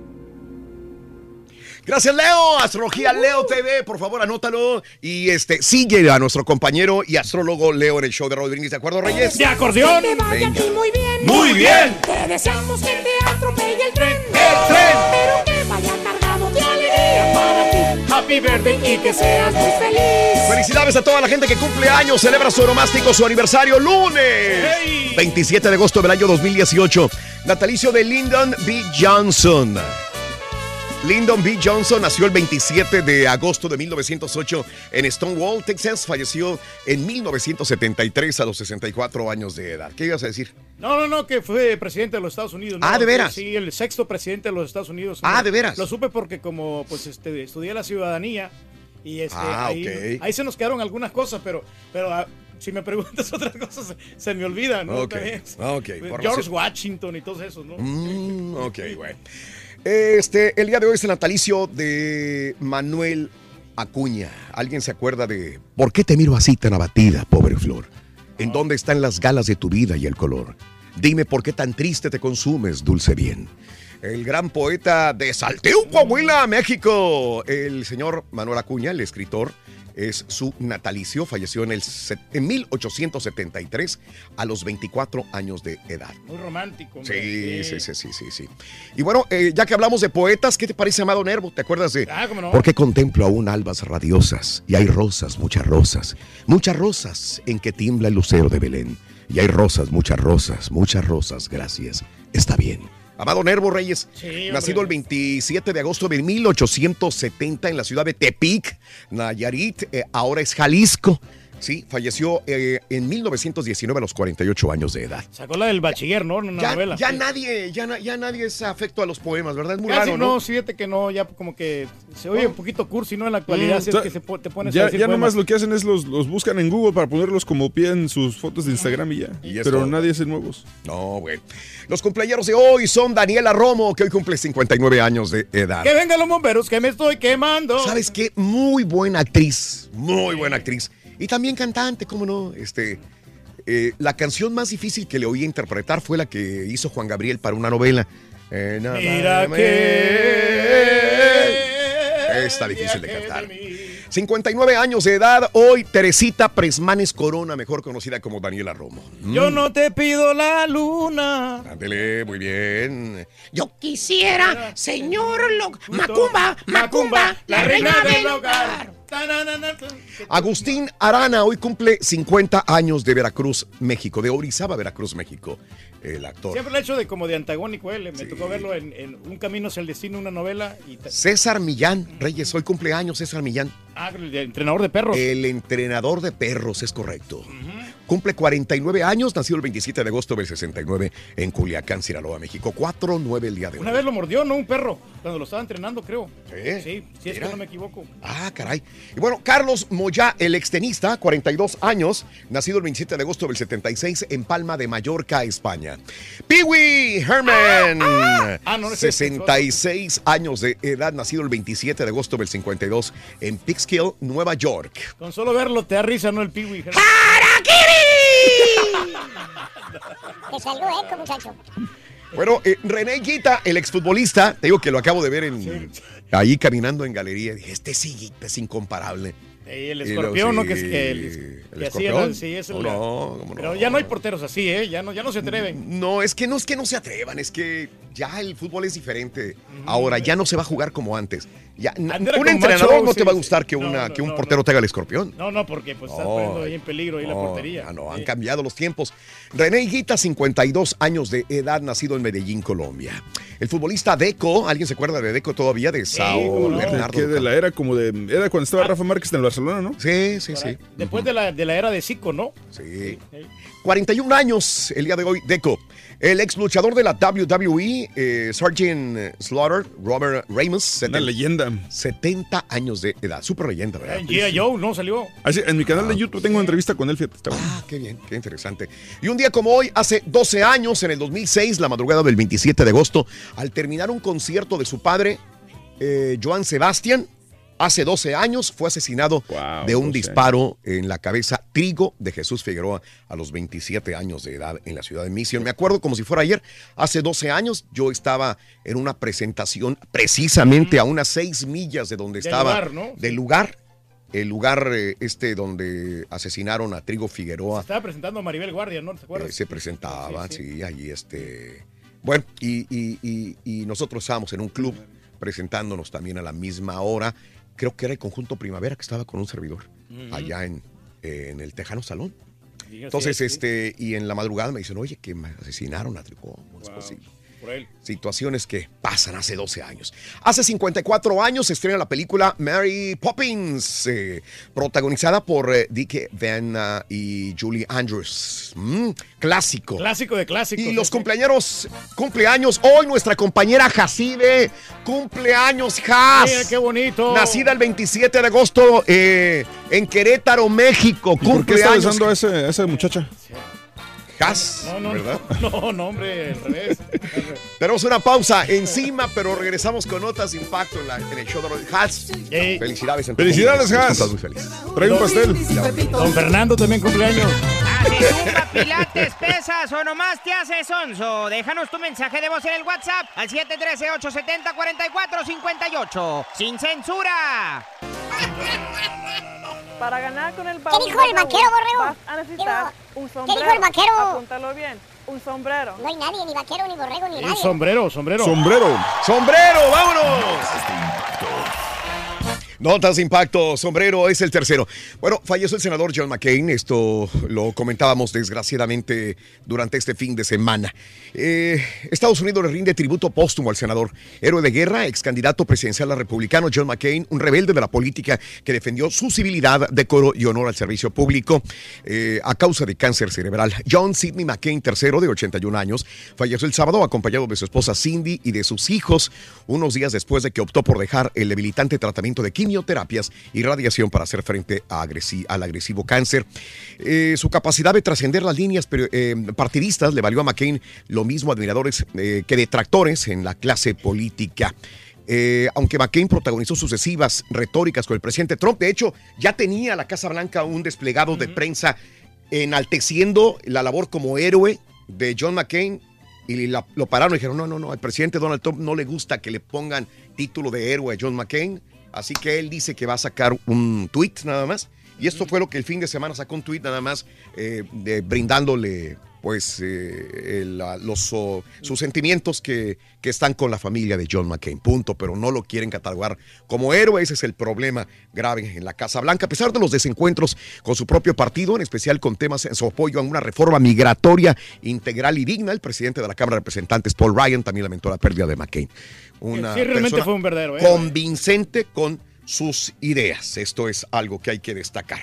Gracias, Leo. Astrología Leo T V, por favor, anótalo. Y este sigue a nuestro compañero y astrólogo Leo en el show de Raúl Brindis. ¿De acuerdo, Reyes? ¡De acordeón! Que te vaya a ti muy bien. ¡Muy bien! Te deseamos que te atropelle el tren. ¡El tren! Pero que vaya cargado de alegría para ti. happy birthday y que seas muy feliz. Felicidades a toda la gente que cumple años, celebra su onomástico, su aniversario lunes. Hey. veintisiete de agosto del año dos mil dieciocho. Natalicio de Lyndon B. Johnson. Lyndon B. Johnson nació el veintisiete de agosto de mil novecientos ocho en Stonewall, Texas. Falleció en mil novecientos setenta y tres a los sesenta y cuatro años de edad. ¿Qué ibas a decir? No, no, no, que fue presidente de los Estados Unidos. ¿no? Ah, ¿de veras? Sí, el sexto presidente de los Estados Unidos. Ah, Mira, ¿de veras? Lo supe porque como pues este estudié la ciudadanía y este Ah, ahí, ok. ahí se nos quedaron algunas cosas, pero pero ah, si me preguntas otras cosas se, se me olvidan, ¿no? Ok, También. ok, por George razón- Washington y todos esos, ¿no? Mm, ok, bueno. Este, el día de hoy es el natalicio de Manuel Acuña. ¿Alguien se acuerda de por qué te miro así tan abatida, pobre flor? ¿En dónde están las galas de tu vida y el color? Dime por qué tan triste te consumes, dulce bien. El gran poeta de Saltillo, Coahuila, México, el señor Manuel Acuña, el escritor, es su natalicio. Falleció en, el, set- en mil ochocientos setenta y tres a los veinticuatro años de edad. Muy romántico. hombre. Sí, sí, sí, sí, sí, sí. Y bueno, eh, ya que hablamos de poetas, ¿qué te parece, Amado Nervo? ¿Te acuerdas de? Ah, cómo no. Porque contemplo aún albas radiosas y hay rosas, muchas rosas, muchas rosas en que tiembla el lucero de Belén. Y hay rosas, muchas rosas, muchas rosas, gracias. Está bien. Amado Nervo Reyes, Sí, hombre. nacido el veintisiete de agosto de mil ochocientos setenta en la ciudad de Tepic, Nayarit, eh, ahora es Jalisco. Sí, falleció eh, en mil novecientos diecinueve a los cuarenta y ocho años de edad. Sacó la del bachiller, ¿no? Una Ya, novela. ya Sí. nadie, ya, na- ya nadie es afecto a los poemas, ¿verdad? Es muy Casi raro, no, ¿no? fíjate que no, ya como que se oye un poquito cursi, ¿no? En la actualidad, Mm. si es que se po- te pones a Ya, decir ya poemas. nomás lo que hacen es los, los buscan en Google para ponerlos como pie en sus fotos de Instagram y ya. Y es Pero todo. nadie hace nuevos. No, güey. Los cumpleaños de hoy son Daniela Romo, que hoy cumple cincuenta y nueve años de edad. Que vengan los bomberos, que me estoy quemando. ¿Sabes qué? Muy buena actriz, muy buena actriz. Y también cantante, ¿cómo no? Este, eh, la canción más difícil que le oí interpretar fue la que hizo Juan Gabriel para una novela. Eh, nada Mira me- que... Está difícil de cantar. cincuenta y nueve años de edad, hoy Teresita Presmanes Corona, mejor conocida como Daniela Romo. Yo no te pido la luna. Ándele, muy bien. Yo quisiera, señor Lo- Macumba, Macumba, la reina del hogar. Agustín Arana hoy cumple cincuenta años de Veracruz, México, de Orizaba, Veracruz, México, el actor. Siempre lo he hecho de como de antagónico él. Me tocó verlo en, en Un Camino hacia el Destino, una novela. Y ta- César Millán, Reyes, hoy cumpleaños César Millán. ah, el de entrenador de perros. El entrenador de perros, es correcto. Cumple cuarenta y nueve años, nació el veintisiete de agosto del sesenta y nueve en Culiacán, Sinaloa, México. cuatro nueve el día de hoy. Una vez lo mordió, ¿no? Un perro. Cuando lo estaba entrenando, creo. Sí, Sí, si es mira. que no me equivoco. Ah, caray. Y bueno, Carlos Moyá, el extenista, cuarenta y dos años, nacido el veintisiete de agosto del setenta y seis en Palma de Mallorca, España. Pee-wee Herman, Ah, no, no es ese, sesenta y seis años de edad, nacido el veintisiete de agosto del cincuenta y dos en Peekskill, Nueva York. Con solo verlo te da risa, ¿no? El piwi. Te salió eco, muchacho. Bueno, eh, René Guita, el exfutbolista, te digo que lo acabo de ver en, ahí caminando en galería. Dije, este sí, Guita es incomparable. Eh, el Y luego, escorpión, ¿no? sí, Que es que, el, ¿el que escorpión? hacían, sí, eso ¿Cómo la- no? ¿Cómo Pero no? ya no hay porteros así, ¿eh? Ya no, ya no se atreven. No, es que no es que no se atrevan, es que ya el fútbol es diferente. Ahora ya no se va a jugar como antes. Ya, na- Andar un con entrenador macho, no te sí, va a sí. gustar que, No, una, no, que un no, portero te haga el escorpión. No, no, porque pues estás No, poniendo ahí en peligro ahí la no, portería. ah, no, han Sí. cambiado los tiempos. René Higuita, cincuenta y dos años de edad, nacido en Medellín, Colombia. El futbolista Deco, ¿alguien se acuerda de Deco todavía? De Sao cómo no. Bernardo. Que de la era como de. Era cuando Ah. estaba Rafa Márquez en el Barcelona, ¿no? Sí, sí, sí. Después de, la, de la era de Zico, ¿no? Sí. cuarenta y un años el día de hoy, Deco. El ex luchador de la W W E, eh, Sergeant Slaughter, Robert Ramos. Una leyenda. setenta años de edad. Súper leyenda, ¿verdad? En G I. Joe, ¿no? Salió. Así, en mi canal de YouTube tengo una entrevista con él, fíjate. Está bueno. Ah, qué bien, qué interesante. Y un día como hoy, hace doce años, en el dos mil seis, la madrugada del veintisiete de agosto, al terminar un concierto de su padre, eh, Joan Sebastián, hace doce años fue asesinado Wow, de un doce disparo en la cabeza. Trigo de Jesús Figueroa a los veintisiete años de edad en la ciudad de Mission. Me acuerdo como si fuera ayer, hace doce años yo estaba en una presentación precisamente a unas seis millas de donde Del estaba, lugar, ¿no? del lugar, el lugar eh, este donde asesinaron a Trigo Figueroa. Estaba presentando a Maribel Guardia, ¿no? ¿Te acuerdas? Eh, se presentaba, sí, Sí, sí. ahí este. Bueno, y, y- y- y nosotros estábamos en un club presentándonos también a la misma hora creo que era el Conjunto Primavera que estaba con un servidor Ujú. allá en, en el Tejano Salón. Diga, Entonces, sí, sí. este, y en la madrugada me dicen, oye, que me asesinaron a Tricó. ¿Cómo es Wow. posible? Por él. Situaciones que pasan hace doce años. Hace cincuenta y cuatro años se estrena la película Mary Poppins, eh, protagonizada por eh, Dick Van uh, y Julie Andrews. Mm, clásico. Clásico de clásicos. Y los cumpleaños, cumpleaños, hoy nuestra compañera Jacibe, cumpleaños, Jas. Mira, qué bonito. Nacida el veintisiete de agosto eh, en Querétaro, México. ¿Y por qué está Cumpleaños. besando a, ese- a esa muchacha? Jas, No, no, ¿verdad? no, no, no, hombre, al revés. Tenemos una pausa encima, pero regresamos con notas de impacto en, la- en el show de Roy Has. Felicidades. en tu Felicidades, cumpleaños. Has. Estás muy feliz. Trae un pastel. Don Fernando también cumpleaños. ¿Haces zumba, pilates, pesas o nomás te haces sonso? Déjanos tu mensaje de voz en el WhatsApp al siete uno tres, ocho siete cero, cuatro cuatro cinco ocho. ¡Sin censura! Para ganar con el baúl ¿Qué dijo el de Raúl, vaquero, Borrego? vas a necesitar un sombrero. dijo el vaquero? Apúntalo bien. Un sombrero. No hay nadie, ni vaquero, ni borrego, ni Un nadie. sombrero, sombrero. Sombrero. ¡Sombrero! ¡Vámonos! Notas de impacto, sombrero es el tercero. Bueno, falleció el senador John McCain, esto lo comentábamos desgraciadamente durante este fin de semana. Eh, Estados Unidos le rinde tributo póstumo al senador, héroe de guerra, ex candidato presidencial republicano John McCain, un rebelde de la política que defendió su civilidad, decoro y honor al servicio público eh, a causa de cáncer cerebral. John Sidney McCain tercero, de ochenta y un años, falleció el sábado acompañado de su esposa Cindy y de sus hijos, unos días después de que optó por dejar el debilitante tratamiento de quimioterapias y radiación para hacer frente a agresi- al agresivo cáncer. Eh, su capacidad de trascender las líneas pero, eh, partidistas le valió a McCain lo mismo admiradores eh, que detractores en la clase política. Eh, aunque McCain protagonizó sucesivas retóricas con el presidente Trump, de hecho, ya tenía la Casa Blanca un desplegado de prensa enalteciendo la labor como héroe de John McCain, y la- lo pararon y dijeron, no, no, no, al presidente Donald Trump no le gusta que le pongan título de héroe a John McCain, así que él dice que va a sacar un tweet nada más, y esto fue lo que el fin de semana sacó, un tweet nada más eh, de- brindándole pues eh, el, la- los, oh, sus sentimientos que, que están con la familia de John McCain, punto, pero no lo quieren catalogar como héroe. Ese es el problema grave en la Casa Blanca, a pesar de los desencuentros con su propio partido, en especial con temas en su apoyo a una reforma migratoria integral y digna. El presidente de la Cámara de Representantes, Paul Ryan, también lamentó la pérdida de McCain. Una Sí, realmente persona fue un verdadero héroe. convincente con sus ideas. Esto es algo que hay que destacar.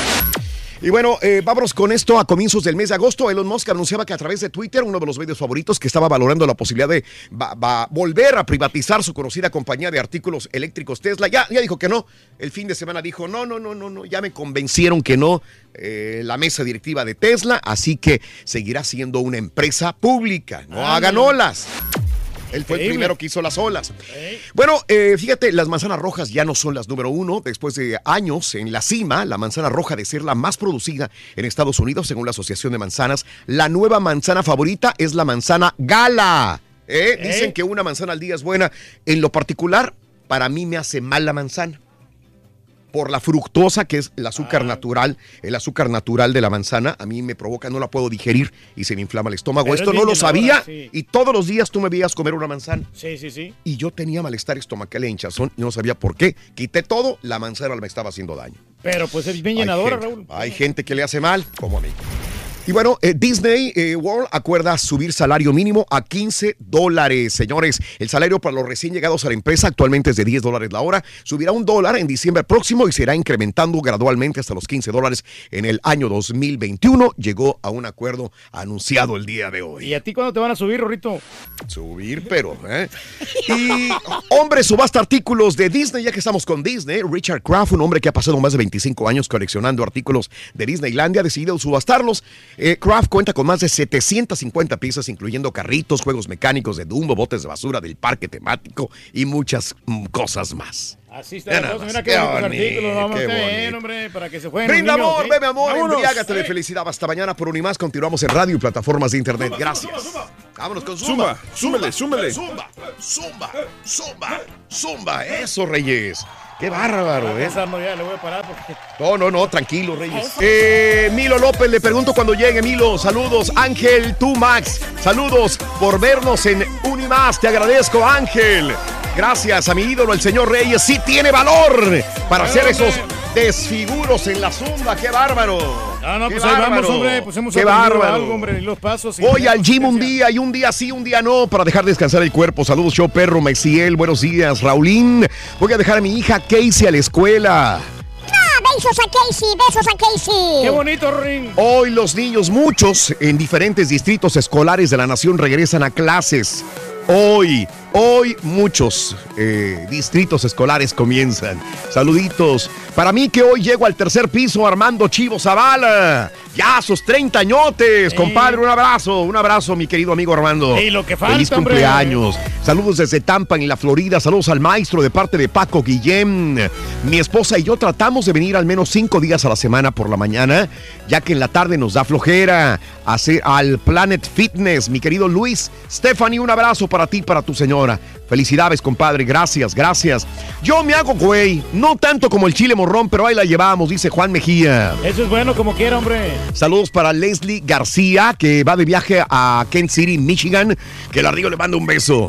Y bueno, eh, vámonos con esto. A comienzos del mes de agosto, Elon Musk anunciaba que a través de Twitter, uno de los medios favoritos, que estaba valorando la posibilidad de va- va- volver a privatizar su conocida compañía de artículos eléctricos Tesla. Ya, ya dijo que no. El fin de semana dijo, no, no, no, no, no, ya me convencieron que no, eh, la mesa directiva de Tesla, así que seguirá siendo una empresa pública. No Ándale. hagan olas. Él fue el Increíble. primero que hizo las olas. Bueno, eh, fíjate, las manzanas rojas ya no son las número uno. Después de años en la cima, la manzana roja de ser la más producida en Estados Unidos, según la Asociación de Manzanas, la nueva manzana favorita es la manzana Gala. ¿Eh? ¿Eh? Dicen que una manzana al día es buena. En lo particular, para mí me hace mal la manzana. Por la fructosa, que es el azúcar Ah. natural, el azúcar natural de la manzana, a mí me provoca, no la puedo digerir y se me inflama el estómago. Pero Esto es no bien lo sabía llenadora, sí. y todos los días tú me veías comer una manzana. Sí, sí, sí. Y yo tenía malestar estomacal e hinchazón y no sabía por qué. Quité todo, la manzana me estaba haciendo daño. Pero pues es bien Hay llenadora, gente- Raúl. Hay gente que le hace mal, como a mí. Y bueno, eh, Disney eh, World acuerda subir salario mínimo a quince dólares. Señores, el salario para los recién llegados a la empresa actualmente es de diez dólares la hora. Subirá un dólar en diciembre próximo y se irá incrementando gradualmente hasta los quince dólares en el año dos mil veintiuno. Llegó a un acuerdo anunciado el día de hoy. ¿Y a ti cuándo te van a subir, Rorrito? Subir, pero, ¿eh? Y hombre subasta artículos de Disney, ya que estamos con Disney. Richard Kraft, un hombre que ha pasado más de veinticinco años coleccionando artículos de Disneylandia, ha decidido subastarlos. Eh, Kraft cuenta con más de setecientas cincuenta piezas, incluyendo carritos, juegos mecánicos de Dumbo, botes de basura del parque temático y muchas mm, cosa más. Así está Ya la nada cosa. más. Mira Qué qué bonitos bonito, artículos. Vamos qué a ver, bonito. hombre, para que se jueguen. Brinda los niños, amor, ¿ok? bebe amor, Vámonos. embriágate de Eh. felicidad. Hasta mañana por un y más. Continuamos en radio y plataformas de internet. Gracias. Vámonos con Zumba. Zumba, súmele, súmele. Zumba, zumba, zumba, zumba. Eso, Reyes. Qué bárbaro, ¿eh? César, no, ya le voy a parar porque... No, no, no, tranquilo, Reyes. Eh, Milo López, le pregunto cuando llegue, Milo. Saludos, Ángel, tú, Max. Saludos por vernos en Unimás. Te agradezco, Ángel. Gracias a mi ídolo, el señor Reyes. Sí tiene valor para hacer esos desfiguros en la zumba. ¡Qué bárbaro! No, no, ¡Qué pues ahí bárbaro! vamos, hombre. Pues hemos ¡Qué aprendido bárbaro! algo, hombre, y los pasos. y Voy la al gym un consistencia. día y un día sí, un día no, para dejar descansar el cuerpo. Saludos, show perro, Maciel. Buenos días, Raulín. Voy a dejar a mi hija Casey a la escuela. Ah, besos a Casey, besos a Casey. ¡Qué bonito, Ring! Hoy los niños, muchos en diferentes distritos escolares de la nación, regresan a clases. Hoy, hoy muchos eh, distritos escolares comienzan. Saluditos. Para mí que hoy llego al tercer piso, Armando Chivo Zavala. Ya, sus treinta añotes, compadre. Un abrazo, un abrazo, mi querido amigo Armando. Y lo que falta, Feliz hombre. cumpleaños. Saludos desde Tampa, en la Florida. Saludos al maestro de parte de Paco Guillén. Mi esposa y yo tratamos de venir al menos cinco días a la semana por la mañana, ya que en la tarde nos da flojera. Hacer al Planet Fitness, mi querido Luis. Stephanie, un abrazo para ti, para tu señora. Felicidades, compadre. Gracias, gracias. Yo me hago güey, no tanto como el chile morrón, pero ahí la llevamos, dice Juan Mejía. Eso es bueno, como quiera, hombre. Saludos para Leslie García, que va de viaje a Kent City, Michigan. Que la Río le manda un beso.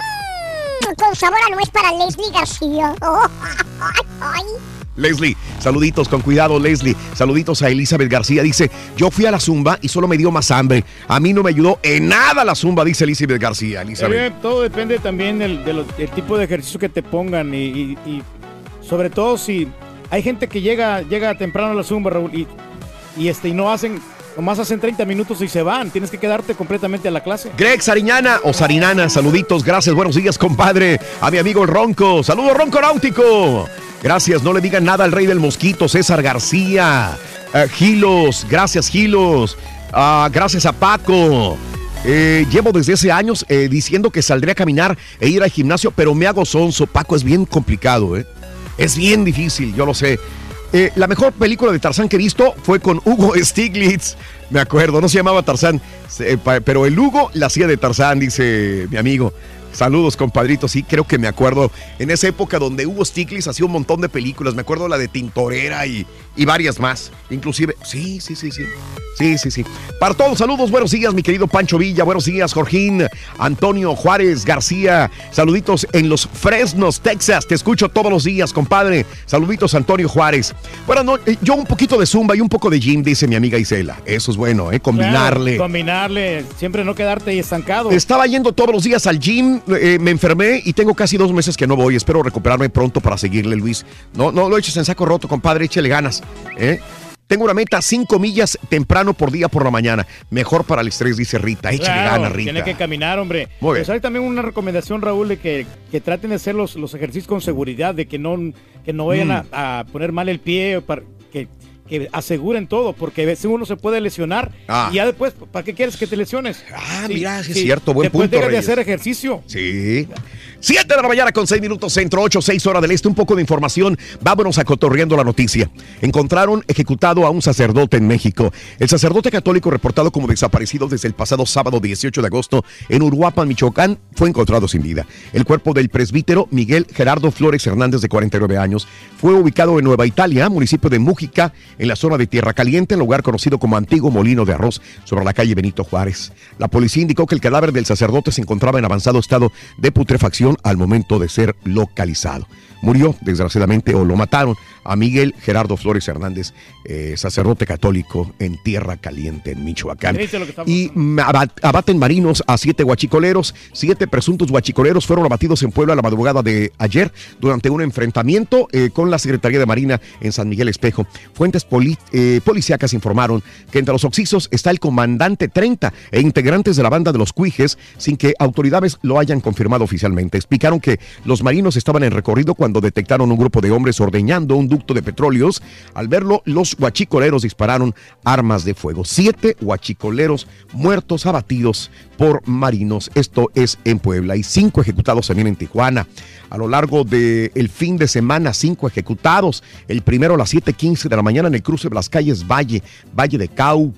Mm, con sabor a nuez para Leslie García. Oh, ay, ay. Leslie, saluditos, con cuidado, Leslie. Saluditos a Elizabeth García. Dice, yo fui a la zumba y solo me dio más hambre. A mí no me ayudó en nada la zumba, dice Elizabeth García. Elizabeth. Eh, todo depende también del, del- del tipo de ejercicio que te pongan y, y- y sobre todo si hay gente que llega, llega temprano a la zumba, Raúl, y, y, este, y no hacen, nomás hacen treinta minutos y se van. Tienes que quedarte completamente a la clase. Greg Sariñana o Sarinana, saluditos, gracias, buenos días, compadre. A mi amigo el Ronco, saludos, Ronco Náutico. Gracias, no le digan nada al rey del mosquito, César García. Eh, Gilos, gracias, Gilos. Ah, gracias a Paco. Eh, llevo desde hace años eh, diciendo que saldré a caminar e ir al gimnasio, pero me hago sonso. Paco, es bien complicado, ¿eh? Es bien difícil, yo lo sé. Eh, la mejor película de Tarzán que he visto fue con Hugo Stiglitz. Me acuerdo, no se llamaba Tarzán, se- pa- pero el Hugo la hacía de Tarzán, dice mi amigo. Saludos, compadrito. Sí, creo que me acuerdo en esa época donde Hugo Stiglitz hacía un montón de películas. Me acuerdo la de Tintorera y, y varias más. Inclusive, sí, sí, sí, sí. Sí, sí, sí. Para todos, saludos, buenos días, mi querido Pancho Villa. Buenos días, Jorgín, Antonio Juárez García. Saluditos en Los Fresnos, Texas. Te escucho todos los días, compadre. Saluditos, Antonio Juárez. Bueno, no, eh, yo un poquito de zumba y un poco de gym, dice mi amiga Isela. Eso es bueno, ¿eh? Combinarle. Claro, combinarle, siempre no quedarte ahí estancado. Estaba yendo todos los días al gym, eh, me enfermé y tengo casi dos meses que no voy. Espero recuperarme pronto para seguirle, Luis. No, no lo eches en saco roto, compadre, échale ganas. ¿eh? Tengo una meta, cinco millas temprano por día por la mañana. Mejor para el estrés, dice Rita. Échale Claro, ganas, Rita. Tiene que caminar, hombre. Muy bien. Pues hay también una recomendación, Raúl, de que, que traten de hacer los, los ejercicios con seguridad, de que no, que no vayan Mm. a, a poner mal el pie, para que, que aseguren todo, porque a veces uno se puede lesionar Ah. y ya después, ¿para qué quieres que te lesiones? Ah, mira, sí es cierto, buen después punto, dejas de Reyes. hacer ejercicio. Sí. siete de la mañana con seis minutos centro, ocho, seis hora del este. Un poco de información. Vámonos a cotorreando la noticia. Encontraron ejecutado a un sacerdote en México. El sacerdote católico reportado como desaparecido desde el pasado sábado dieciocho de agosto en Uruapan, Michoacán, fue encontrado sin vida. El cuerpo del presbítero Miguel Gerardo Flores Hernández, de cuarenta y nueve años, fue ubicado en Nueva Italia, municipio de Mújica, en la zona de Tierra Caliente, en lugar conocido como Antiguo Molino de Arroz, sobre la calle Benito Juárez. La policía indicó que el cadáver del sacerdote se encontraba en avanzado estado de putrefacción al momento de ser localizado. Murió, desgraciadamente, o lo mataron a Miguel Gerardo Flores Hernández, eh, sacerdote católico en Tierra Caliente, en Michoacán. Triste lo que está Y abat- abaten marinos a siete guachicoleros. Siete presuntos guachicoleros fueron abatidos en Puebla la madrugada de ayer durante un enfrentamiento eh, con la Secretaría de Marina en San Miguel Espejo. Fuentes poli- eh, policíacas informaron que entre los occisos está el comandante treinta e integrantes de la banda de los Cuijes, sin que autoridades lo hayan confirmado oficialmente. Explicaron que los marinos estaban en recorrido cuando detectaron un grupo de hombres ordeñando un ducto de petróleos. Al verlo, los guachicoleros dispararon armas de fuego. Siete guachicoleros muertos, abatidos por marinos. Esto es en Puebla. Y cinco ejecutados también en Tijuana. A lo largo del fin de semana, cinco ejecutados. El primero a las siete quince de la mañana en el cruce de las calles Valle, Valle de Cauca,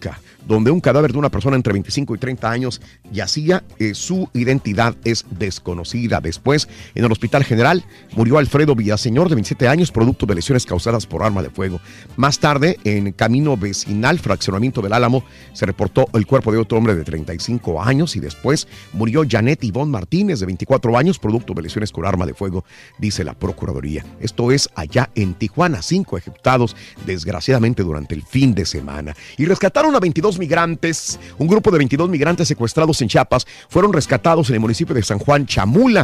donde un cadáver de una persona entre veinticinco y treinta años yacía. Eh, su identidad es desconocida. Después, en el Hospital General, murió Alfredo Villaseñor, de veintisiete años, producto de lesiones causadas por arma de fuego. Más tarde, en camino vecinal, fraccionamiento del Álamo, se reportó el cuerpo de otro hombre de treinta y cinco años, y después murió Janet Ivonne Martínez, de veinticuatro años, producto de lesiones con arma de fuego, dice la Procuraduría. Esto es allá en Tijuana, cinco ejecutados desgraciadamente durante el fin de semana. Y rescataron a veintidós migrantes. Un grupo de veintidós migrantes secuestrados en Chiapas fueron rescatados en el municipio de San Juan Chamula.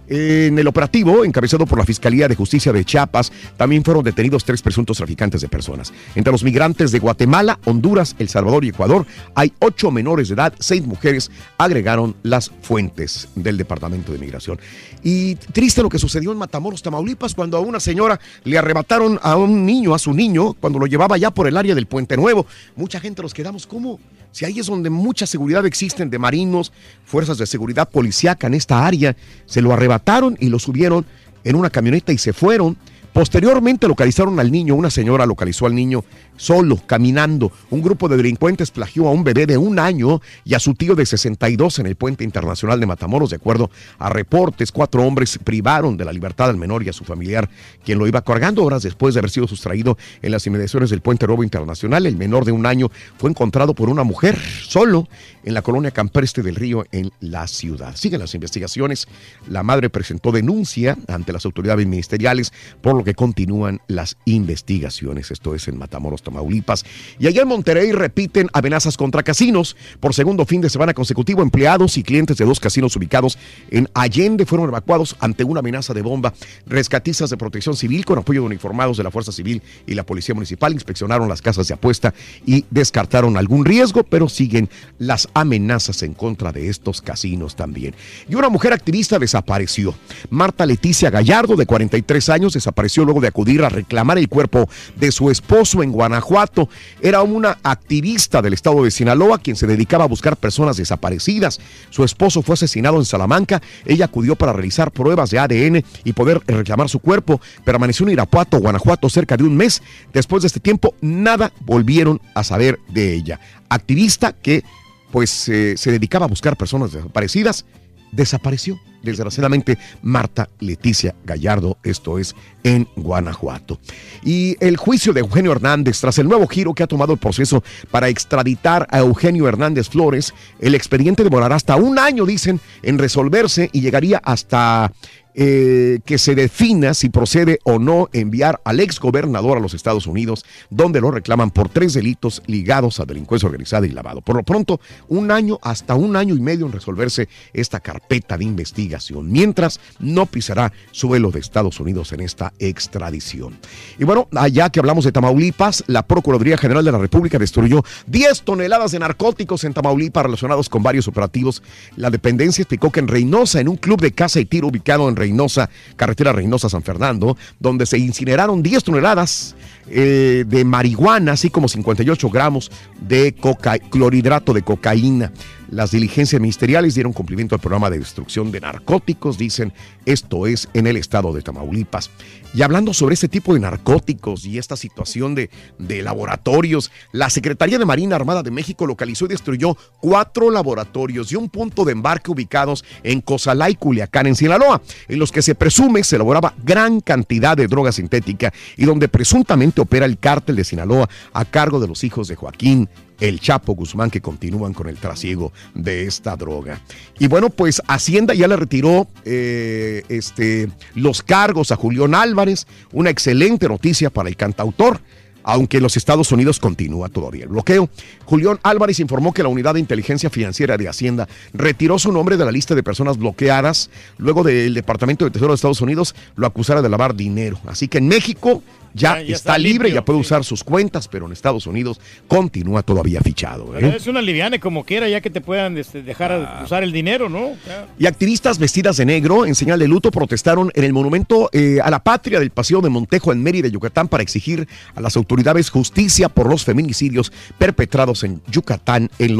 En el operativo, encabezado por la Fiscalía de Justicia de Chiapas, también fueron detenidos tres presuntos traficantes de personas. Entre los migrantes de Guatemala, Honduras, El Salvador y Ecuador, hay ocho menores de edad, seis mujeres, agregaron las fuentes del Departamento de Migración. Y triste lo que sucedió en Matamoros, Tamaulipas, cuando a una señora le arrebataron a un niño, a su niño, cuando lo llevaba ya por el área del Puente Nuevo. Mucha gente nos quedamos, ¿cómo? Si ahí es donde mucha seguridad existen de marinos, fuerzas de seguridad policíaca en esta área, se lo arrebataron y lo subieron en una camioneta y se fueron. Posteriormente localizaron al niño, una señora localizó al niño solo, caminando. Un grupo de delincuentes plagió a un bebé de un año y a su tío de sesenta y dos en el Puente Internacional de Matamoros. De acuerdo a reportes, cuatro hombres privaron de la libertad al menor y a su familiar, quien lo iba cargando. Horas después de haber sido sustraído en las inmediaciones del Puente Nuevo Internacional, el menor de un año fue encontrado por una mujer solo en la colonia Campestre del Río, en la ciudad. Siguen las investigaciones. La madre presentó denuncia ante las autoridades ministeriales, por lo que continúan las investigaciones. Esto es en Matamoros, Tamaulipas. Y allá en Monterrey repiten amenazas contra casinos. Por segundo fin de semana consecutivo, empleados y clientes de dos casinos ubicados en Allende fueron evacuados ante una amenaza de bomba. Rescatistas de Protección Civil, con apoyo de uniformados de la Fuerza Civil y la Policía Municipal, inspeccionaron las casas de apuesta y descartaron algún riesgo, pero siguen las amenazas en contra de estos casinos también. Y una mujer activista desapareció. Marta Leticia Gallardo, de cuarenta y tres años, desapareció luego de acudir a reclamar el cuerpo de su esposo en Guanajuato. Era una activista del estado de Sinaloa quien se dedicaba a buscar personas desaparecidas. Su esposo fue asesinado en Salamanca. Ella acudió para realizar pruebas de A D N y poder reclamar su cuerpo. Permaneció en Irapuato, Guanajuato, cerca de un mes. Después de este tiempo, nada volvieron a saber de ella. Activista que pues eh, se dedicaba a buscar personas desaparecidas, desapareció. Desgraciadamente, Marta Leticia Gallardo, esto es en Guanajuato. Y el juicio de Eugenio Hernández, tras el nuevo giro que ha tomado el proceso para extraditar a Eugenio Hernández Flores, el expediente demorará hasta un año, dicen, en resolverse, y llegaría hasta Eh, que se defina si procede o no enviar al exgobernador a los Estados Unidos, donde lo reclaman por tres delitos ligados a delincuencia organizada y lavado. Por lo pronto, un año, hasta un año y medio en resolverse esta carpeta de investigación, mientras no pisará suelo de Estados Unidos en esta extradición. Y bueno, allá que hablamos de Tamaulipas, la Procuraduría General de la República destruyó diez toneladas de narcóticos en Tamaulipas relacionados con varios operativos. La dependencia explicó que en Reynosa, en un club de caza y tiro ubicado en Reynosa, carretera Reynosa-San Fernando, donde se incineraron diez toneladas eh, de marihuana, así como cincuenta y ocho gramos de coca clorhidrato de cocaína. Las diligencias ministeriales dieron cumplimiento al programa de destrucción de narcóticos, dicen, esto es en el estado de Tamaulipas. Y hablando sobre este tipo de narcóticos y esta situación de, de laboratorios, la Secretaría de Marina Armada de México localizó y destruyó cuatro laboratorios y un punto de embarque ubicados en Cozalá y Culiacán, en Sinaloa, en los que se presume se elaboraba gran cantidad de droga sintética y donde presuntamente opera el cártel de Sinaloa a cargo de los hijos de Joaquín El Chapo Guzmán, que continúan con el trasiego de esta droga. Y bueno, pues Hacienda ya le retiró eh, este, los cargos a Julián Álvarez, una excelente noticia para el cantautor, aunque en los Estados Unidos continúa todavía el bloqueo. Julián Álvarez informó que la Unidad de Inteligencia Financiera de Hacienda retiró su nombre de la lista de personas bloqueadas luego del Departamento de Tesoro de Estados Unidos lo acusara de lavar dinero. Así que en México ya, ya, ya está, está libre, limpio, ya puede sí. usar sus cuentas, pero en Estados Unidos continúa todavía fichado. ¿eh? Es una liviana como quiera, ya que te puedan este, dejar ah. usar el dinero, ¿no? Ya. Y activistas vestidas de negro en señal de luto protestaron en el monumento eh, a la patria del Paseo de Montejo en Mérida, Yucatán, para exigir a las autoridades justicia por los feminicidios perpetrados en Yucatán en los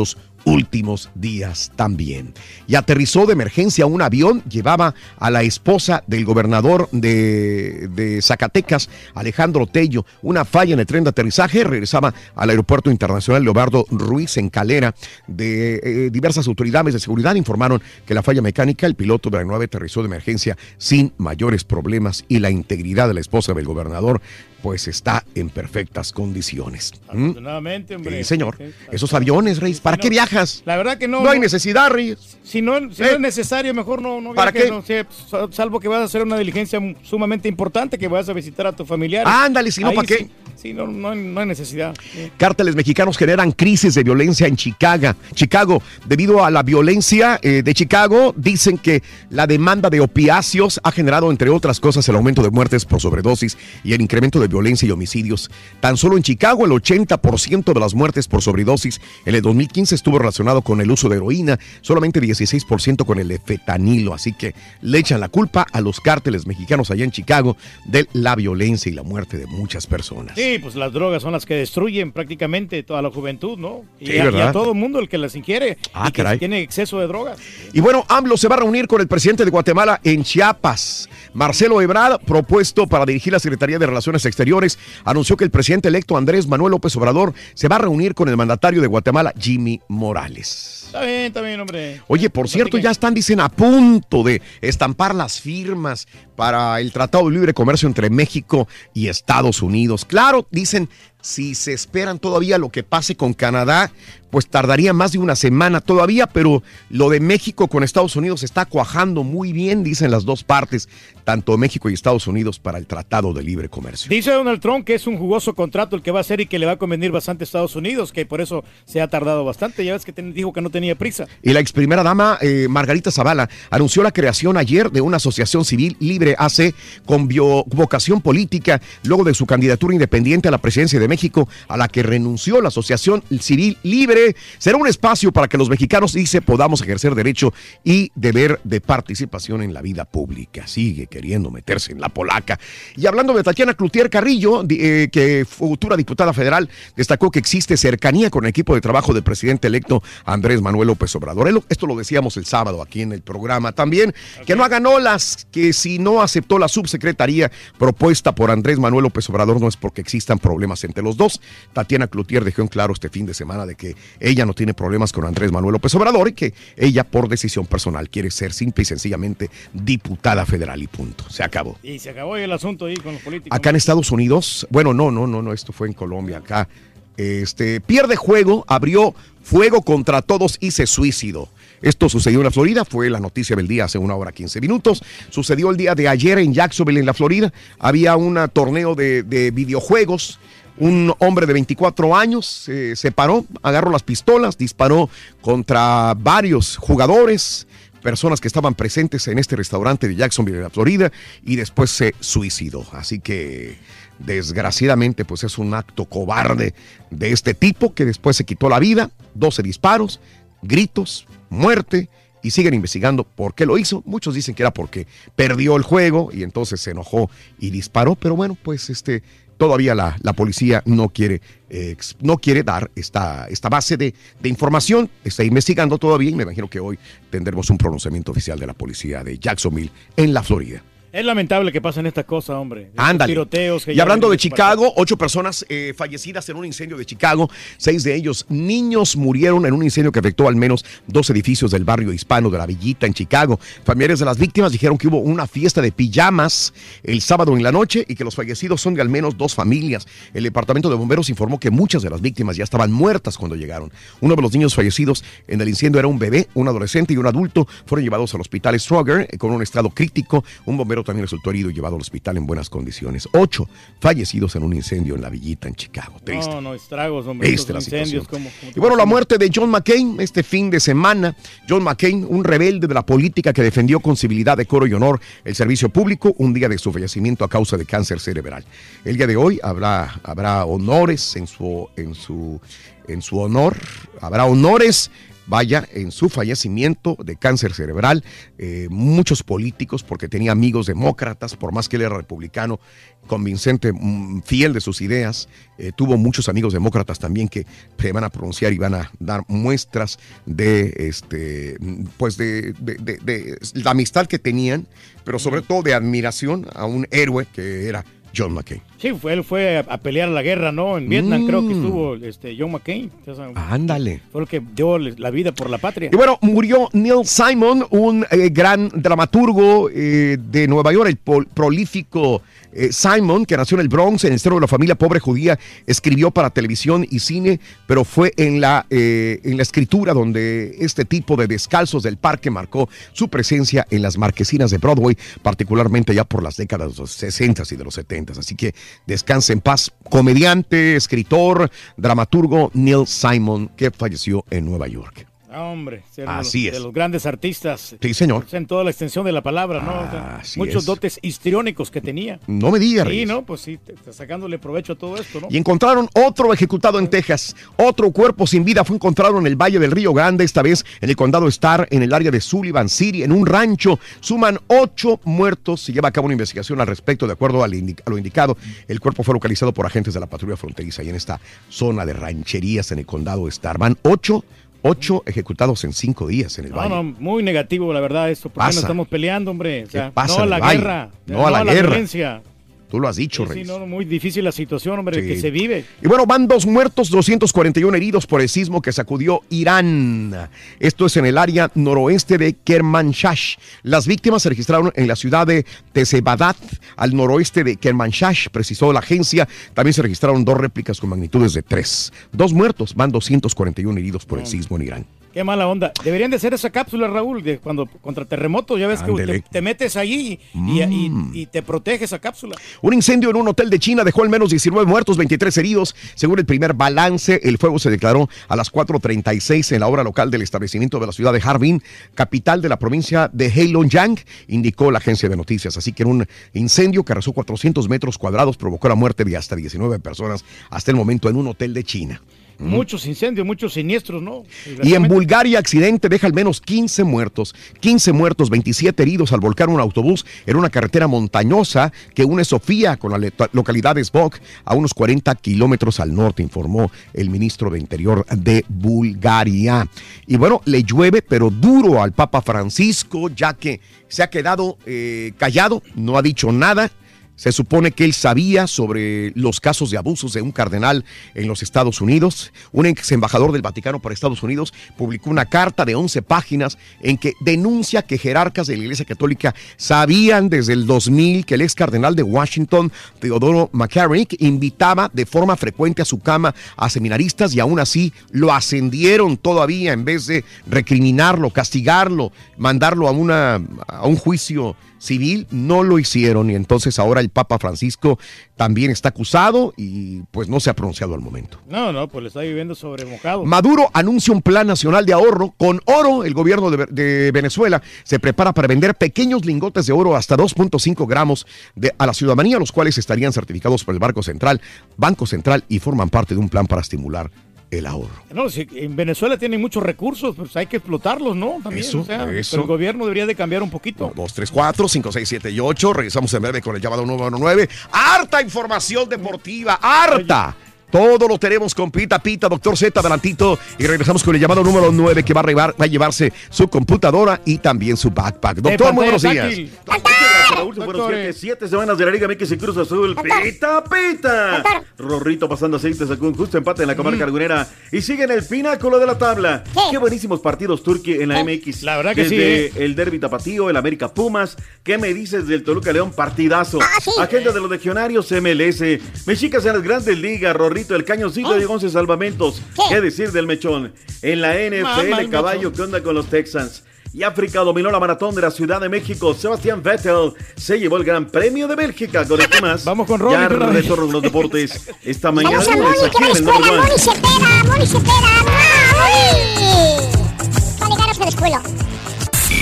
últimos días también. Y aterrizó de emergencia un avión, llevaba a la esposa del gobernador de, de Zacatecas, Alejandro Tello. Una falla en el tren de aterrizaje, regresaba al aeropuerto internacional Leobardo Ruiz en Calera. De eh, diversas autoridades de seguridad informaron que la falla mecánica, el piloto de la nueve aterrizó de emergencia sin mayores problemas y la integridad de la esposa del gobernador pues está en perfectas condiciones. Afortunadamente, hombre. Sí, señor. Esos aviones, Reyes, ¿para qué viajas? La verdad que no. No hay necesidad, Reyes. Si no, si ¿Eh? no es necesario, mejor no, no ¿Para viajes, qué? no sé, salvo que vas a hacer una diligencia sumamente importante, que vas a visitar a tu familiar. Ándale, si no, ¿para qué? Sí, sí, no, no, hay, no hay necesidad. Sí. Cárteles mexicanos generan crisis de violencia en Chicago. Chicago, debido a la violencia eh, de Chicago, dicen que la demanda de opiáceos ha generado, entre otras cosas, el aumento de muertes por sobredosis y el incremento de violencia y homicidios. Tan solo en Chicago, el ochenta por ciento de las muertes por sobredosis en el dos mil quince estuvo relacionado con el uso de heroína, solamente dieciséis por ciento con el de fentanilo. Así que le echan la culpa a los cárteles mexicanos allá en Chicago de la violencia y la muerte de muchas personas. Sí, pues las drogas son las que destruyen prácticamente toda la juventud, ¿no? Y, Sí, a, y ¿verdad? a todo el mundo el que las ingiere Ah, y que caray. tiene exceso de drogas. Y bueno, AMLO se va a reunir con el presidente de Guatemala en Chiapas. Marcelo Ebrard, propuesto para dirigir la Secretaría de Relaciones Exteriores, anunció que el presidente electo Andrés Manuel López Obrador se va a reunir con el mandatario de Guatemala, Jimmy Morales. Está bien, está bien, hombre. Oye, por cierto, ya están, dicen, a punto de estampar las firmas para el Tratado de Libre Comercio entre México y Estados Unidos. Claro, dicen, si se esperan todavía lo que pase con Canadá, pues tardaría más de una semana todavía, pero lo de México con Estados Unidos está cuajando muy bien, dicen las dos partes, tanto México y Estados Unidos, para el Tratado de Libre Comercio. Dice Donald Trump que es un jugoso contrato el que va a hacer y que le va a convenir bastante a Estados Unidos, que por eso se ha tardado bastante. Ya ves que ten, dijo que no tenía prisa. Y la ex primera dama, eh, Margarita Zavala, anunció la creación ayer de una asociación civil libre A C con bio- vocación política, luego de su candidatura independiente a la presidencia de México, a la que renunció. La Asociación Civil Libre será un espacio para que los mexicanos, dice, podamos ejercer derecho y deber de participación en la vida pública. Sigue queriendo meterse en la polaca. Y hablando de Tatiana Cloutier Carrillo, eh, que futura diputada federal, destacó que existe cercanía con el equipo de trabajo del presidente electo Andrés Manuel López Obrador. Esto lo decíamos el sábado aquí en el programa también, okay. Que no hagan olas, que si no aceptó la subsecretaría propuesta por Andrés Manuel López Obrador no es porque existan problemas entre los dos. Tatiana Cloutier dejó en claro este fin de semana de que ella no tiene problemas con Andrés Manuel López Obrador y que ella por decisión personal quiere ser simple y sencillamente diputada federal y punto. Se acabó. Y se acabó el asunto ahí con los políticos. Acá en Estados Unidos, bueno, no, no, no, no, esto fue en Colombia, acá, este, pierde juego, abrió fuego contra todos y se suicidó. Esto sucedió en la Florida, fue la noticia del día hace una hora quince minutos. Sucedió el día de ayer en Jacksonville, en la Florida. Había un torneo de, de videojuegos. Un hombre de veinticuatro años eh, se paró, agarró las pistolas, disparó contra varios jugadores, personas que estaban presentes en este restaurante de Jacksonville, en la Florida, y después se suicidó. Así que, desgraciadamente, pues es un acto cobarde de este tipo que después se quitó la vida. doce disparos, gritos, muerte, y siguen investigando por qué lo hizo. Muchos dicen que era porque perdió el juego y entonces se enojó y disparó, pero bueno, pues este... Todavía la, la policía no quiere, eh, no quiere dar esta, esta base de, de información, está investigando todavía y me imagino que hoy tendremos un pronunciamiento oficial de la policía de Jacksonville en la Florida. Es lamentable que pasen estas cosas, hombre. Ándale. Tiroteos que y ya hablando de vienen Chicago, ocho personas eh, fallecidas en un incendio de Chicago, seis de ellos niños murieron en un incendio que afectó al menos dos edificios del barrio hispano de La Villita en Chicago. Familiares de las víctimas dijeron que hubo una fiesta de pijamas el sábado en la noche y que los fallecidos son de al menos dos familias. El departamento de bomberos informó que muchas de las víctimas ya estaban muertas cuando llegaron. Uno de los niños fallecidos en el incendio era un bebé, un adolescente y un adulto. Fueron llevados al hospital Stroger eh, con un estado crítico. Un bombero también resultó herido y llevado al hospital en buenas condiciones. Ocho fallecidos en un incendio en La Villita, en Chicago. Triste. No, no, estragos, hombre. Triste la Incendios, situación. como, como Y bueno, la muerte de John McCain este fin de semana. John McCain, un rebelde de la política que defendió con civilidad, decoro y honor el servicio público, un día de su fallecimiento a causa de cáncer cerebral. El día de hoy habrá, habrá honores en su, en su, en su honor. Habrá honores vaya, en su fallecimiento de cáncer cerebral, eh, muchos políticos, porque tenía amigos demócratas, por más que él era republicano, convincente, fiel de sus ideas, eh, tuvo muchos amigos demócratas también que se van a pronunciar y van a dar muestras de, este, pues de, de, de, de la amistad que tenían, pero sobre todo de admiración a un héroe que era John McCain. Sí, fue, él fue a, a pelear la guerra, ¿no? En Vietnam Mm. creo que estuvo este, John McCain. O sea, Ándale. fue el que dio la vida por la patria. Y bueno, murió Neil Simon, un eh, gran dramaturgo eh, de Nueva York, el pol- prolífico eh, Simon, que nació en el Bronx, en el seno de la familia pobre judía, escribió para televisión y cine, pero fue en la, eh, en la escritura donde este tipo de descalzos del parque marcó su presencia en las marquesinas de Broadway, particularmente ya por las décadas de los sesenta y de los setenta. Así que descanse en paz. Comediante, escritor, dramaturgo Neil Simon, que falleció en Nueva York. Ah, hombre, ser Así de, es. los, de los grandes artistas. Sí, señor. En toda la extensión de la palabra, ¿no? O sea, Así muchos es. dotes histriónicos que tenía. No me digas, Sí, Reyes. ¿no? Pues sí, te- te sacándole provecho a todo esto, ¿no? Y encontraron otro ejecutado en Texas. Otro cuerpo sin vida fue encontrado en el Valle del Río Grande, esta vez en el condado Starr, en el área de Sullivan City, en un rancho. Suman ocho muertos. Se lleva a cabo una investigación al respecto, de acuerdo al indi- a lo indicado. El cuerpo fue localizado por agentes de la patrulla fronteriza y en esta zona de rancherías en el condado Starr. Van ocho, ocho ejecutados en cinco días en el No, Valle. no, muy negativo, la verdad, esto. ¿Por qué Pasa. no estamos peleando, hombre? O sea, pasa no a en la el Valle? guerra. No a la guerra. violencia. Tú lo has dicho, Sí, Reyes. no, no, muy difícil la situación, hombre, Sí. que se vive. Y bueno, van dos muertos, doscientos cuarenta y uno heridos por el sismo que sacudió Irán. Esto es en el área noroeste de Kermanshah. Las víctimas se registraron en la ciudad de Tezebadat, al noroeste de Kermanshah, precisó la agencia. También se registraron dos réplicas con magnitudes de tres. Dos muertos, van doscientos cuarenta y uno heridos por el sismo en Irán. Qué mala onda. Deberían de hacer esa cápsula, Raúl, de cuando contra terremotos, ya ves Ándele. que te, te metes allí y, y- y te protege esa cápsula. Un incendio en un hotel de China dejó al menos diecinueve muertos, veintitrés heridos. Según el primer balance, el fuego se declaró a las cuatro treinta y seis en la hora local del establecimiento de la ciudad de Harbin, capital de la provincia de Heilongjiang, indicó la agencia de noticias. Así que en un incendio que arrasó cuatrocientos metros cuadrados provocó la muerte de hasta diecinueve personas hasta el momento en un hotel de China. Muchos incendios, muchos siniestros, ¿no? Y en Bulgaria, accidente deja al menos quince muertos. quince muertos, veintisiete heridos al volcar un autobús en una carretera montañosa que une Sofía con la le- localidad de Zbog a unos cuarenta kilómetros al norte, informó el ministro de Interior de Bulgaria. Y bueno, le llueve, pero duro al Papa Francisco, ya que se ha quedado eh, callado, no ha dicho nada. Se supone que él sabía sobre los casos de abusos de un cardenal en los Estados Unidos. Un ex embajador del Vaticano para Estados Unidos publicó una carta de once páginas en que denuncia que jerarcas de la Iglesia Católica sabían desde el dos mil que el ex cardenal de Washington, Teodoro McCarrick, invitaba de forma frecuente a su cama a seminaristas y aún así lo ascendieron todavía en vez de recriminarlo, castigarlo, mandarlo a, una, a un juicio civil. No lo hicieron y entonces ahora el Papa Francisco también está acusado y pues no se ha pronunciado al momento. No, no, pues le está viviendo sobre mojado. Maduro anuncia un plan nacional de ahorro. Con oro, el gobierno de, de Venezuela se prepara para vender pequeños lingotes de oro hasta dos punto cinco gramos de, a la ciudadanía, los cuales estarían certificados por el Banco Central, Banco Central y forman parte de un plan para estimular el ahorro. No, si en Venezuela tienen muchos recursos, pues hay que explotarlos, ¿no? También, Eso, o sea, eso. pero el gobierno debería de cambiar un poquito. dos, tres, cuatro, cinco, seis, siete y ocho. Regresamos en breve con el llamado número nueve. ¡Harta información deportiva! ¡Harta! Todo lo tenemos con Pita Pita, Doctor Z, adelantito. Y regresamos con el llamado número nueve que va a, revar- va a llevarse su computadora y también su backpack. Doctor, muy buenos días. Raúl, se fueron siete, siete semanas de la Liga M X y Cruz Azul. Pita, pita. Rorrito pasando aceite, sacó un justo empate en la comarca lagunera y sigue en el pináculo de la tabla. Qué buenísimos partidos Turqui en la M X. La verdad que Desde sí, el Derby Tapatío, el América Pumas. ¿Qué me dices del Toluca León? Partidazo. Agenda de los legionarios M L S. Mexicas en las grandes ligas. Rorrito, el cañoncito de once salvamentos. ¿Qué decir del mechón? En la N F L, Mamá, el caballo, mechón. ¿qué onda con los Texans? Y África dominó la maratón de la Ciudad de México. Sebastián Vettel se llevó el Gran Premio de Bélgica. Con esto y más. Vamos con Ronnie Ya de una vez. retorno en los deportes. Esta mañana Vamos a lunes Moni, que aquí va a la en el escuela. Number One. Moni se pega, Moni se pega. ¡Ah, Moni! Vale, ganas de la escuela.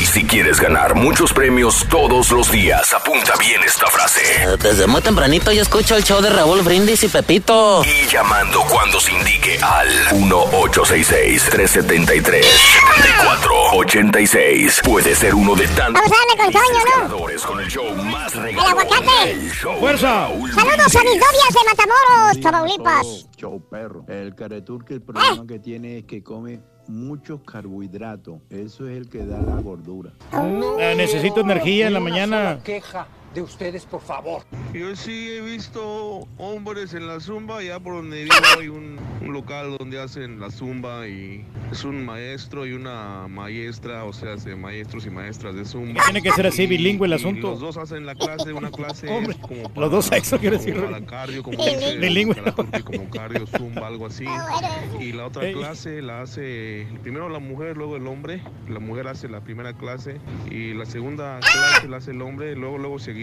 Si quieres ganar muchos premios todos los días, apunta bien esta frase. Desde muy tempranito yo escucho el show de Raúl Brindis y Pepito. Y llamando cuando se indique al uno ocho seis seis, tres siete tres, siete cuatro ocho seis. Puede ser uno de tantos Vamos a darle con Toño, ¿no? ganadores con el show más El regalón. aguacate. El show de ¡Fuerza! Raúl Saludos a mis novias de Matamoros, Tamaulipas. Show perro. El careturque, el problema que tiene es que come muchos carbohidratos. Eso es el que da la gordura. Eh, necesito energía en la mañana. Queja de ustedes, por favor. Yo sí he visto hombres en la zumba, ya por donde vivo hay un, un local donde hacen la zumba y es un maestro y una maestra, o sea, de maestros y maestras de zumba. Tiene que ser así, bilingüe el Y asunto. los dos hacen la clase, una clase Hombre, es como para, los dos sexos, quiero como decir. para cardio, como dice, Bilingüe. para como cardio, zumba, algo así. Y la otra Ey. clase la hace primero la mujer, luego el hombre. La mujer hace la primera clase y la segunda clase la hace el hombre, luego luego seguiditas.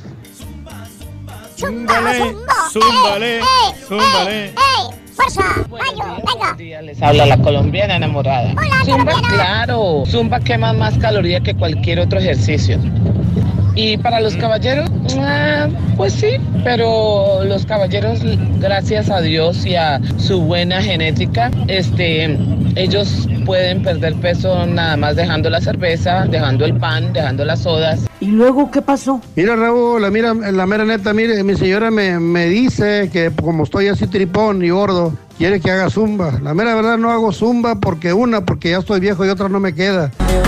Zúmbale, zúmbale, zúmbale. ¡Ey! ¡Fuerza! ¡Rayo! ¡Venga! Les habla la colombiana enamorada. Hola, Zumba, colombiana. claro. Zumba quema más calorías que cualquier otro ejercicio. Y para los caballeros, ah, pues sí, pero los caballeros, gracias a Dios y a su buena genética, este, ellos pueden perder peso nada más dejando la cerveza, dejando el pan, dejando las sodas. ¿Y luego qué pasó? Mira, Raúl, la, mira, la mera neta, mire, mi señora me, me dice que como estoy así tripón y gordo, quiere que haga zumba. La mera verdad no hago zumba porque una, porque ya estoy viejo y otra no me queda.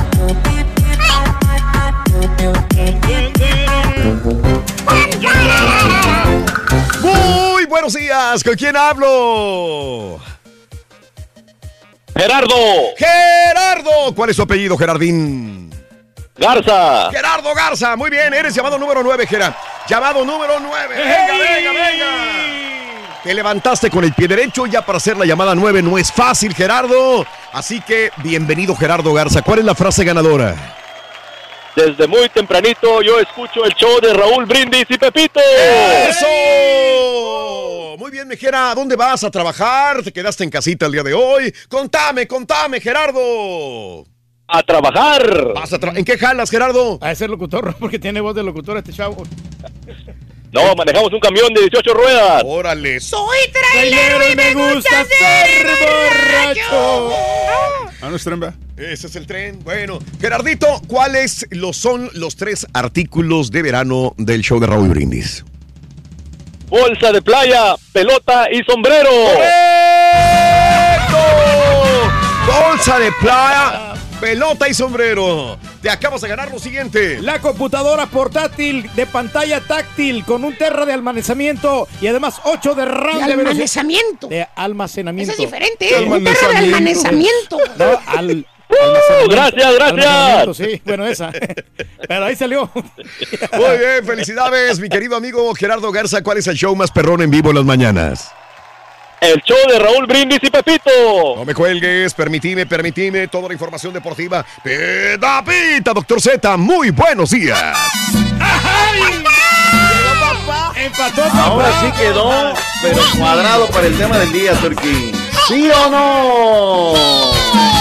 Muy buenos días, ¿con quién hablo? Gerardo. Gerardo, ¿cuál es su apellido, Gerardín? Garza. Gerardo Garza, muy bien, eres llamado número nueve, Gerard. Llamado número nueve, venga, venga, venga. Te levantaste con el pie derecho ya para hacer la llamada nueve, no es fácil, Gerardo. Así que, bienvenido, Gerardo Garza. ¿Cuál es la frase ganadora? Desde muy tempranito yo escucho el show de Raúl Brindis y Pepito. ¡Eso! Muy bien, Mejera, ¿a dónde vas a trabajar? ¿Te quedaste en casita el día de hoy? Contame, contame, Gerardo. A trabajar. Vas a tra- ¿En qué jalas, Gerardo? A ser locutor, porque tiene voz de locutor este chavo. No, manejamos un camión de dieciocho ruedas. Órale. Soy trailero y me gusta ser borracho. Ah, no es tren, ¿verdad? Ese es el tren. Bueno, Gerardito, ¿cuáles los son los tres artículos de verano del show de Raúl Brindis? Bolsa de playa, pelota y sombrero. ¡Correcto! Bolsa de playa, pelota y sombrero. Te acabas de ganar lo siguiente. La computadora portátil de pantalla táctil con un terra de almacenamiento y además ocho de RAM De de velocidad- almacenamiento. De almacenamiento. Eso es diferente, ¿eh? Un perro de almacenamiento. No, al, Uh, gracias, gracias. almacenamiento, sí, bueno, esa. Pero ahí salió. Muy bien, felicidades, mi querido amigo Gerardo Garza. ¿Cuál es el show más perrón en vivo en las mañanas? El show de Raúl Brindis y Pepito. No me cuelgues, permitime, permitime, toda la información deportiva. Pita, pita, doctor Z, muy buenos días. Empató, Ahora sí quedó, pero cuadrado para el tema del día, Turquí. ¿Sí o no?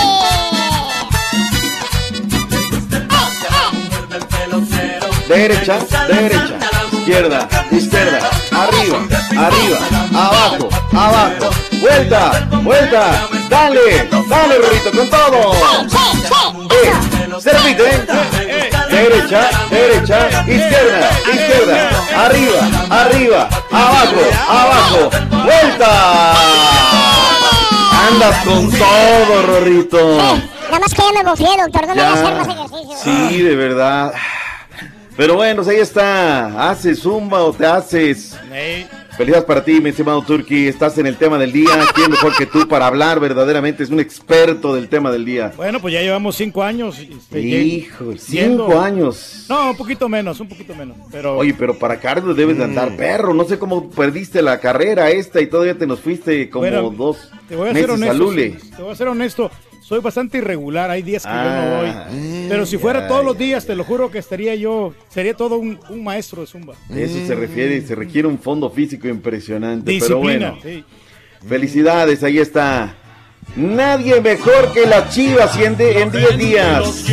Derecha, derecha, izquierda, izquierda, arriba, arriba, abajo, abajo, vuelta, vuelta, dale, dale, Rorrito, con todo. Eh, se repite, ¿eh? Derecha, derecha, izquierda, izquierda, arriba, arriba, abajo, abajo, vuelta. Andas con todo, Rorrito. Nada más que ya me bofié, doctor. No me voy a hacer más Ya, ejercicio. sí, de verdad. Pero bueno, pues ahí está. ¿Haces zumba o te haces? Felicidades para ti, mi estimado Turki. Estás en el tema del día. ¿Quién mejor que tú para hablar? Verdaderamente es un experto del tema del día. Bueno, pues ya llevamos cinco años. este, Hijo, ye- cinco yendo- años. No, un poquito menos, un poquito menos. Pero Oye, pero para cardio debes de andar perro. No sé cómo perdiste la carrera esta y todavía te nos fuiste como Bueno, dos te voy a ser meses a honesto. Lule. sí, te voy a ser honesto. Soy bastante irregular. Hay días que yo Ah, no voy. Pero si fuera ya, todos los días, te lo juro que estaría yo. Sería todo un, un maestro de zumba. De eso se refiere, se requiere un fondo físico impresionante. Disciplina. Pero bueno, sí. felicidades, ahí está. Nadie mejor que las Chivas y en diez días.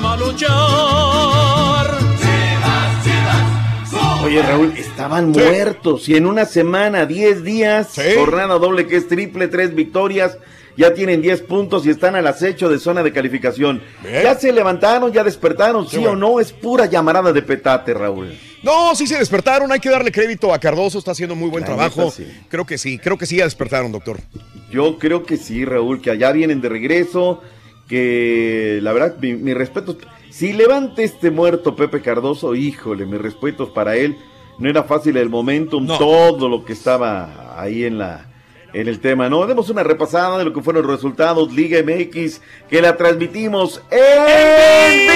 Oye, Raúl, estaban sí. muertos y en una semana, diez días, sí. jornada doble que es triple, tres victorias, ya tienen diez puntos y están al acecho de zona de calificación. Bien. Ya se levantaron, ya despertaron, sí, sí bueno. o no, es pura llamarada de petate, Raúl. No, sí se despertaron, hay que darle crédito a Cardoso, está haciendo muy buen La trabajo. Neta, sí. Creo que sí, creo que sí ya despertaron, doctor. Yo creo que sí, Raúl, que allá vienen de regreso, que la verdad, mi, mi respeto... Si levanta este muerto Pepe Cardoso, híjole, mis respetos para él. No era fácil el momentum, no. todo lo que estaba ahí en la en el tema, ¿no? Demos una repasada de lo que fueron los resultados. Liga M X, que la transmitimos en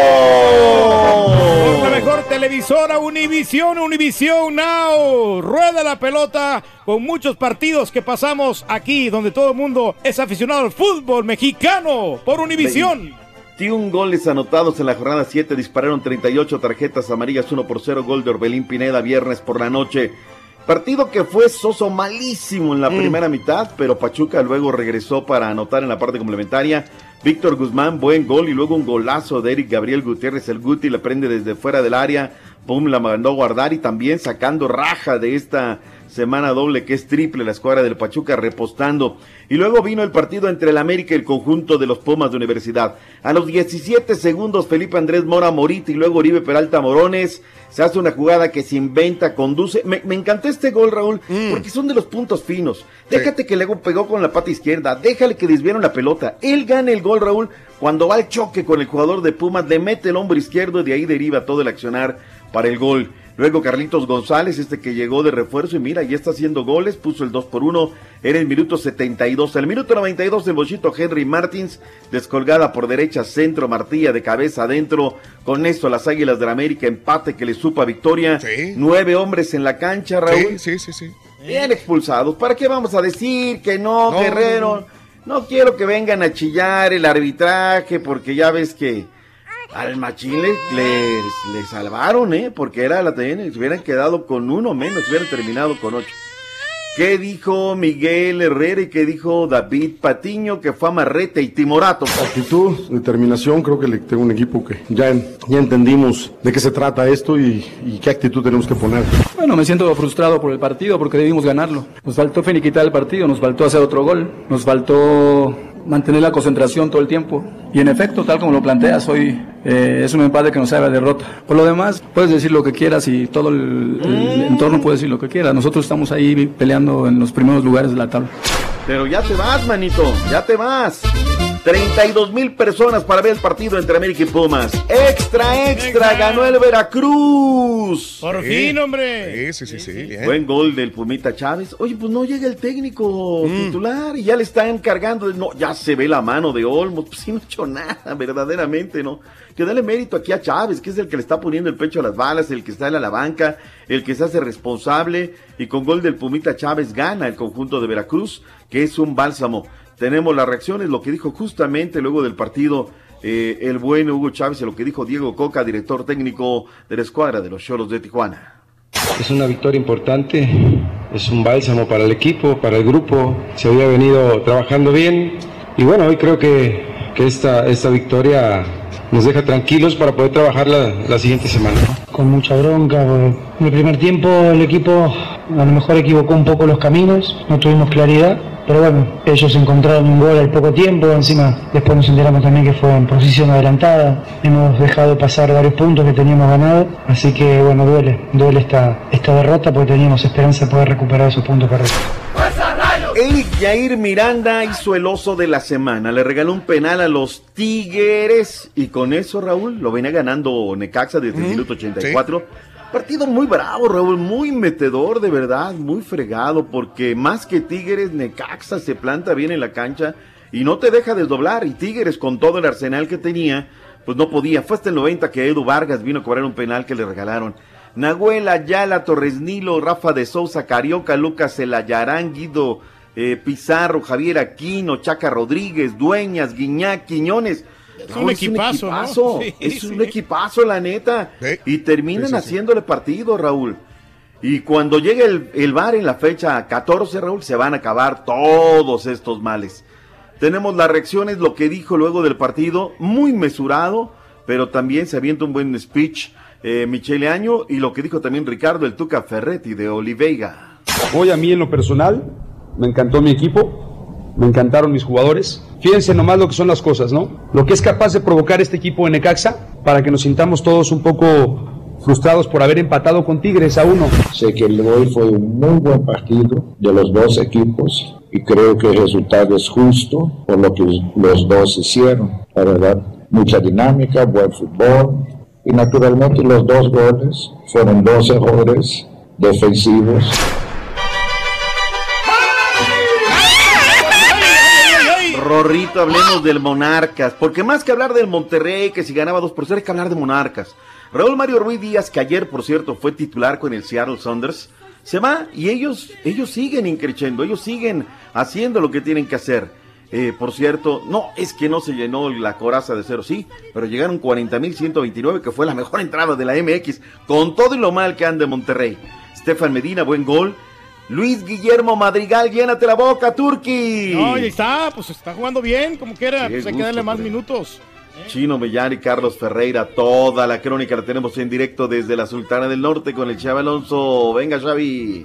vivo. Por la mejor televisora, Univisión, Univisión Now. Rueda la pelota con muchos partidos que pasamos aquí, donde todo el mundo es aficionado al fútbol mexicano por Univisión. veintiún goles anotados en la jornada siete, dispararon treinta y ocho tarjetas amarillas, uno por cero, gol de Orbelín Pineda viernes por la noche. Partido que fue soso, malísimo en la mm. primera mitad, pero Pachuca luego regresó para anotar en la parte complementaria. Víctor Guzmán, buen gol, y luego un golazo de Eric Gabriel Gutiérrez, el Guti la prende desde fuera del área, pum, la mandó a guardar, y también sacando raja de esta semana doble que es triple, la escuadra del Pachuca repostando. Y luego vino el partido entre el América y el conjunto de los Pumas de Universidad. A los diecisiete segundos, Felipe Andrés Mora Morita y luego Oribe Peralta Morones, se hace una jugada que se inventa, conduce. Me, me encantó este gol, Raúl, mm. porque son de los puntos finos. Déjate sí. que luego pegó con la pata izquierda, déjale que desviaron la pelota. Él gana el gol, Raúl, cuando va al choque con el jugador de Pumas, le mete el hombro izquierdo y de ahí deriva todo el accionar para el gol. Luego Carlitos González, este que llegó de refuerzo y mira, ya está haciendo goles, puso el dos por uno, era el minuto setenta y dos. El minuto noventa y dos, el bochito Henry Martins, descolgada por derecha, centro, Martilla de cabeza adentro. Con esto las Águilas del América, empate que le supa victoria. Sí. Nueve hombres en la cancha, Raúl. Sí, sí, sí, sí. Bien expulsados. ¿Para qué vamos a decir que no, no Guerrero? No, no. no quiero que vengan a chillar el arbitraje, porque ya ves que al Machín le, le, le salvaron, ¿eh? Porque era la T N, se hubieran quedado con uno menos, hubieran terminado con ocho. ¿Qué dijo Miguel Herrera y qué dijo David Patiño, que fue amarrete y timorato? Actitud, determinación, creo que le tengo un equipo que ya, ya entendimos de qué se trata esto y, y qué actitud tenemos que poner. Bueno, me siento frustrado por el partido porque debimos ganarlo. Nos faltó finiquitar el partido, nos faltó hacer otro gol, nos faltó mantener la concentración todo el tiempo. Y en efecto, tal como lo planteas, hoy eh, es un empate que nos sabe a derrota. Por lo demás, puedes decir lo que quieras y todo el, el entorno puede decir lo que quiera. Nosotros estamos ahí peleando en los primeros lugares de la tabla. Pero ya te vas, manito, ya te vas. treinta y dos mil personas para ver el partido entre América y Pumas. Extra, extra, ganó el Veracruz. Por sí. fin, hombre. Sí, sí, sí, sí. Bien. Buen gol del Pumita Chávez. Oye, pues no llega el técnico mm. titular y ya le están encargando. No, ya se ve la mano de Olmos. Pues sí, no ha hecho nada, verdaderamente, ¿no? Que dale mérito aquí a Chávez, que es el que le está poniendo el pecho a las balas, el que está en la banca, el que se hace responsable. Y con gol del Pumita Chávez gana el conjunto de Veracruz, que es un bálsamo. Tenemos las reacciones, lo que dijo justamente luego del partido eh, el buen Hugo Chávez y lo que dijo Diego Coca, director técnico de la escuadra de los Xolos de Tijuana. Es una victoria importante, es un bálsamo para el equipo, para el grupo, se había venido trabajando bien y bueno, hoy creo que, que esta, esta victoria nos deja tranquilos para poder trabajar la, la siguiente semana. Con mucha bronca, porque en el primer tiempo el equipo a lo mejor equivocó un poco los caminos, no tuvimos claridad. Pero bueno, ellos encontraron un gol al poco tiempo, encima después nos enteramos también que fue en posición adelantada, hemos dejado pasar varios puntos que teníamos ganado, así que bueno, duele, duele esta, esta derrota porque teníamos esperanza de poder recuperar esos puntos perdidos. Eric Jair Miranda hizo el oso de la semana, le regaló un penal a los Tigres y con eso, Raúl, lo venía ganando Necaxa desde mm, el minuto ochenta y cuatro. ¿Sí? Partido muy bravo, Raúl, muy metedor, de verdad, muy fregado, porque más que Tigres, Necaxa se planta bien en la cancha y no te deja desdoblar, y Tigres con todo el arsenal que tenía, pues no podía. Fue hasta el noventa que Edu Vargas vino a cobrar un penal que le regalaron. Nahuel Ayala, Torres Nilo, Rafa de Sousa, Carioca, Lucas Elayarán, Guido eh, Pizarro, Javier Aquino, Chaca Rodríguez, Dueñas, Guiñac, Quiñones. Es un, equipazo, es un equipazo, ¿no? Sí, es un sí. equipazo, la neta. ¿Sí? Y terminan sí, sí, haciéndole sí. partido, Raúl. Y cuando llegue el, el V A R en la fecha catorce, Raúl, se van a acabar todos estos males. tenemos las reacciones, lo que dijo luego del partido, muy mesurado, pero también se avienta un buen speech eh, Michele Año, y lo que dijo también Ricardo el Tuca Ferretti de Oliveiga. Hoy a mí en lo personal me encantó mi equipo, me encantaron mis jugadores. Fíjense nomás lo que son las cosas, ¿no? Lo que es capaz de provocar este equipo de Necaxa para que nos sintamos todos un poco frustrados por haber empatado con Tigres a uno. Sé que el hoy fue un muy buen partido de los dos equipos y creo que el resultado es justo por lo que los dos hicieron. La verdad, mucha dinámica, buen fútbol y naturalmente los dos goles fueron dos errores defensivos. Rorrito, hablemos del Monarcas, porque más que hablar del Monterrey, que si ganaba dos por cero, hay que hablar de Monarcas. Raúl Mario Ruiz Díaz, que ayer, por cierto, fue titular con el Seattle Sounders, se va y ellos, ellos siguen increciendo, ellos siguen haciendo lo que tienen que hacer. Eh, por cierto, no, es que no se llenó la coraza de cero, sí, pero llegaron cuarenta mil ciento veintinueve, que fue la mejor entrada de la M X, con todo y lo mal que anda Monterrey. Estefan Medina, buen gol. Luis Guillermo Madrigal, llénate la boca, Turqui. No, ahí está, pues está jugando bien, como quiera, pues hay que darle más minutos. Chino Mellán y Carlos Ferreira, toda la crónica la tenemos en directo desde la Sultana del Norte con el Xavi Alonso. Venga, Xavi.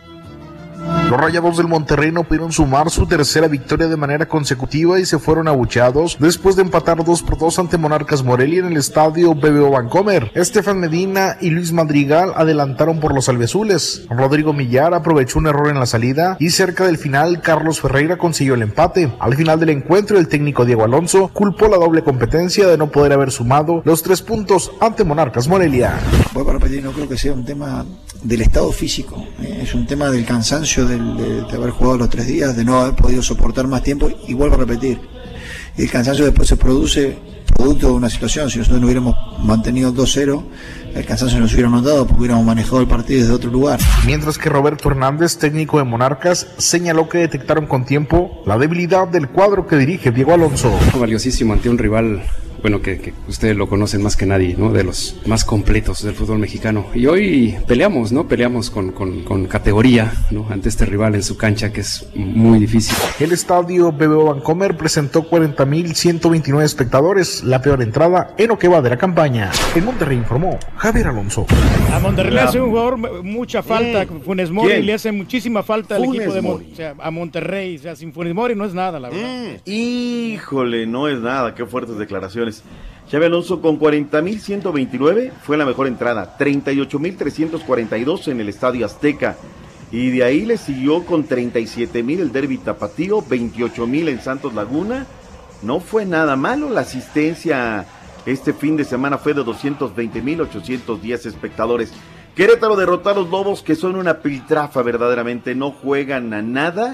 Los Rayados del Monterrey no pudieron sumar su tercera victoria de manera consecutiva y se fueron abucheados después de empatar dos por dos ante Monarcas Morelia en el estadio B B O Bancomer. Estefan Medina y Luis Madrigal adelantaron por los albiazules. Rodrigo Millar aprovechó un error en la salida y cerca del final Carlos Ferreira consiguió el empate. Al final del encuentro el técnico Diego Alonso culpó la doble competencia de no poder haber sumado los tres puntos ante Monarcas Morelia. Voy para repetir, no creo que sea un tema del estado físico, eh, es un tema del cansancio del, de, de haber jugado los tres días, de no haber podido soportar más tiempo, y vuelvo a repetir, el cansancio después se produce producto de una situación. Si nosotros no hubiéramos mantenido dos cero, el cansancio nos hubiera notado porque hubiéramos manejado el partido desde otro lugar. Mientras que Roberto Hernández, técnico de Monarcas, señaló que detectaron con tiempo la debilidad del cuadro que dirige Diego Alonso. Valiosísimo ante un rival, bueno, que, que ustedes lo conocen más que nadie, ¿no? De los más completos del fútbol mexicano. Y hoy peleamos, ¿no? Peleamos con, con, con categoría, ¿no? Ante este rival en su cancha, que es muy difícil. El estadio B B O Bancomer presentó cuarenta mil ciento veintinueve espectadores, la peor entrada en lo que va de la campaña. En Monterrey informó Javier Alonso. A Monterrey le hace un jugador mucha falta, mm. Funes Mori. ¿Quién? Le hace muchísima falta al equipo de Monterrey. O sea, a Monterrey, o sea, sin Funes Mori no es nada, la verdad. Mm. Híjole, no es nada, qué fuertes declaraciones. Xabi Alonso con cuarenta mil ciento veintinueve fue la mejor entrada, treinta y ocho mil trescientos cuarenta y dos en el Estadio Azteca, y de ahí le siguió con treinta y siete mil el Derby Tapatío, veintiocho mil en Santos Laguna. No fue nada malo, la asistencia este fin de semana fue de doscientos veinte mil ochocientos diez espectadores. Querétaro derrotó a los Lobos, que son una piltrafa verdaderamente, no juegan a nada.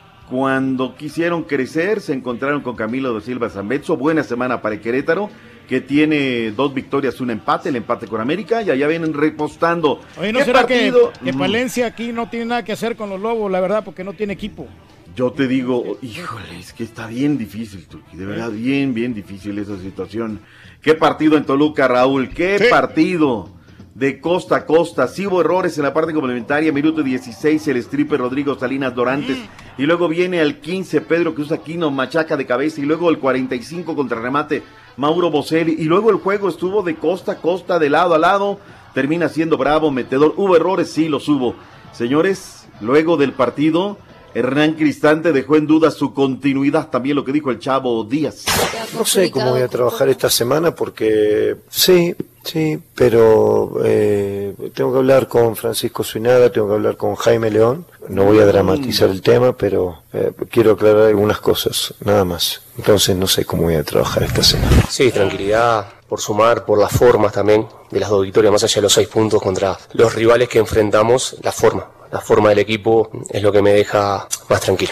Cuando quisieron crecer, se encontraron con Camilo da Silva Zambetso. Buena semana para el Querétaro, que tiene dos victorias, un empate, el empate con América, y allá vienen repostando. Oye, ¿no será partido? que, que Palencia aquí no tiene nada que hacer con los Lobos, la verdad, porque no tiene equipo? Yo te digo, híjole, es que está bien difícil, Turqui, de verdad, bien, bien difícil esa situación. ¿Qué partido en Toluca, Raúl? ¿Qué sí. partido? De costa a costa, sí hubo errores en la parte complementaria, minuto dieciséis, el stripper Rodrigo Salinas Dorantes, mm. y luego viene al quince, Pedro Cruz Aquino, machaca de cabeza, y luego el cuarenta y cinco, contrarremate, Mauro Boselli, y luego el juego estuvo de costa a costa, de lado a lado, termina siendo bravo, metedor. ¿Hubo errores? Sí, los hubo. Señores, luego del partido, Hernán Cristante dejó en duda su continuidad, también lo que dijo el Chavo Díaz. No sé cómo voy a trabajar esta semana porque sí, sí, pero eh, tengo que hablar con Francisco Zuinaga, tengo que hablar con Jaime León. No voy a dramatizar el tema, pero eh, quiero aclarar algunas cosas, nada más. Entonces no sé cómo voy a trabajar esta semana. Sí, tranquilidad, por sumar, por las formas también de las dos victorias, más allá de los seis puntos contra los rivales que enfrentamos, la forma. La forma del equipo es lo que me deja más tranquilo.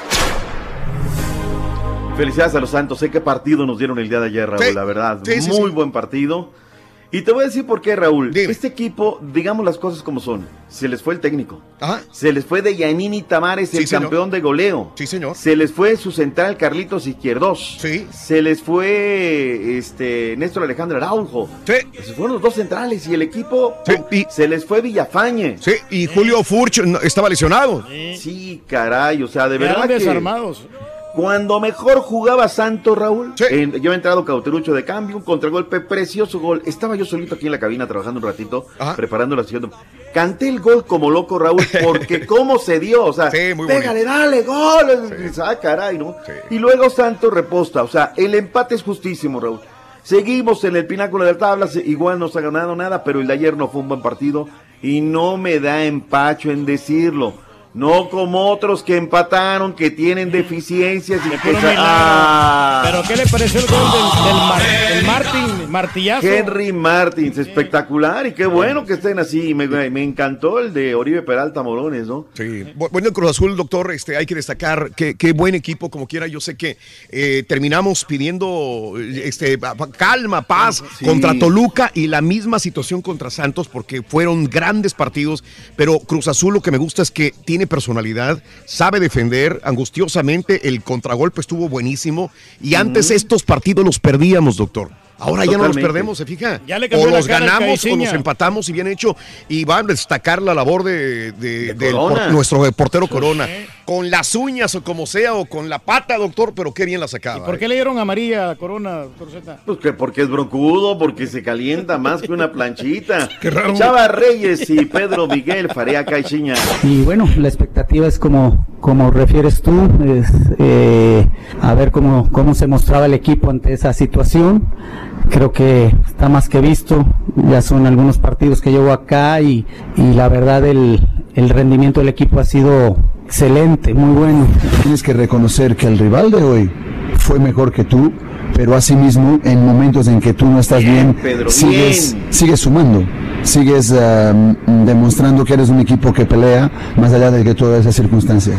Felicidades a los Santos, sé qué partido nos dieron el día de ayer, Raúl, sí, la verdad, sí, sí, muy sí. buen partido. Y te voy a decir por qué, Raúl. Dime. Este equipo, digamos las cosas como son, se les fue el técnico. Ajá. Se les fue de Yanini Tamares, el sí, campeón de goleo. Sí, señor. Se les fue su central Carlitos Izquierdos. Sí. Se les fue este Néstor Alejandro Araujo. Sí. Se fueron los dos centrales y el equipo sí. y, se les fue Villafañe. Sí, y Julio Furch estaba lesionado. Sí, sí caray, o sea, de verdad que desarmados. Cuando mejor jugaba Santos, Raúl, sí. en, yo he entrado Cauterucho de cambio, un contragolpe, precioso gol. Estaba yo solito aquí en la cabina trabajando un ratito, Ajá. preparando la siguiente. Canté el gol como loco, Raúl, porque cómo se dio, o sea, sí, pégale, dale, gol. Sí. Ah, caray, ¿no? Sí. Y luego Santos reposta, o sea, el empate es justísimo, Raúl. Seguimos en el pináculo de la tabla, igual no se ha ganado nada, pero el de ayer no fue un buen partido y no me da empacho en decirlo. No como otros que empataron, que tienen deficiencias y que... Ah. ¿Pero qué le pareció el gol del, del, Mar, del Martín, Martillazo? Henry Martins, espectacular y qué bueno que estén así. Me, me encantó el de Oribe Peralta Morones, ¿no? Sí, bueno, el Cruz Azul, doctor, este, hay que destacar que qué buen equipo, como quiera. Yo sé que eh, terminamos pidiendo este, calma, paz sí. contra Toluca y la misma situación contra Santos porque fueron grandes partidos, pero Cruz Azul lo que me gusta es que tiene personalidad, sabe defender angustiosamente, el contragolpe estuvo buenísimo y antes mm. estos partidos los perdíamos, doctor. Ahora Totalmente. ya no los perdemos, ¿se fija? O los ganamos o los empatamos y bien hecho. Y van a destacar la labor de, de, de del por, nuestro portero Corona. ¿Eh? Con las uñas o como sea, o con la pata, doctor, pero qué bien la sacaba. ¿Y por qué eh? le dieron amarilla a Corona, doctor Z? Pues que porque es broncudo, porque se calienta más que una planchita. Qué raro. Chava Reyes y Pedro Miguel Farea Caixinha. Y bueno, la expectativa es como, como refieres tú, es, eh, a ver cómo, cómo se mostraba el equipo ante esa situación. Creo que está más que visto, ya son algunos partidos que llevo acá y, y la verdad el, el rendimiento del equipo ha sido excelente, muy bueno. Tienes que reconocer que el rival de hoy fue mejor que tú, pero asimismo en momentos en que tú no estás bien, bien Pedro, sigues, bien. sigues sumando, sigues uh, demostrando que eres un equipo que pelea más allá de que toda esa circunstancia.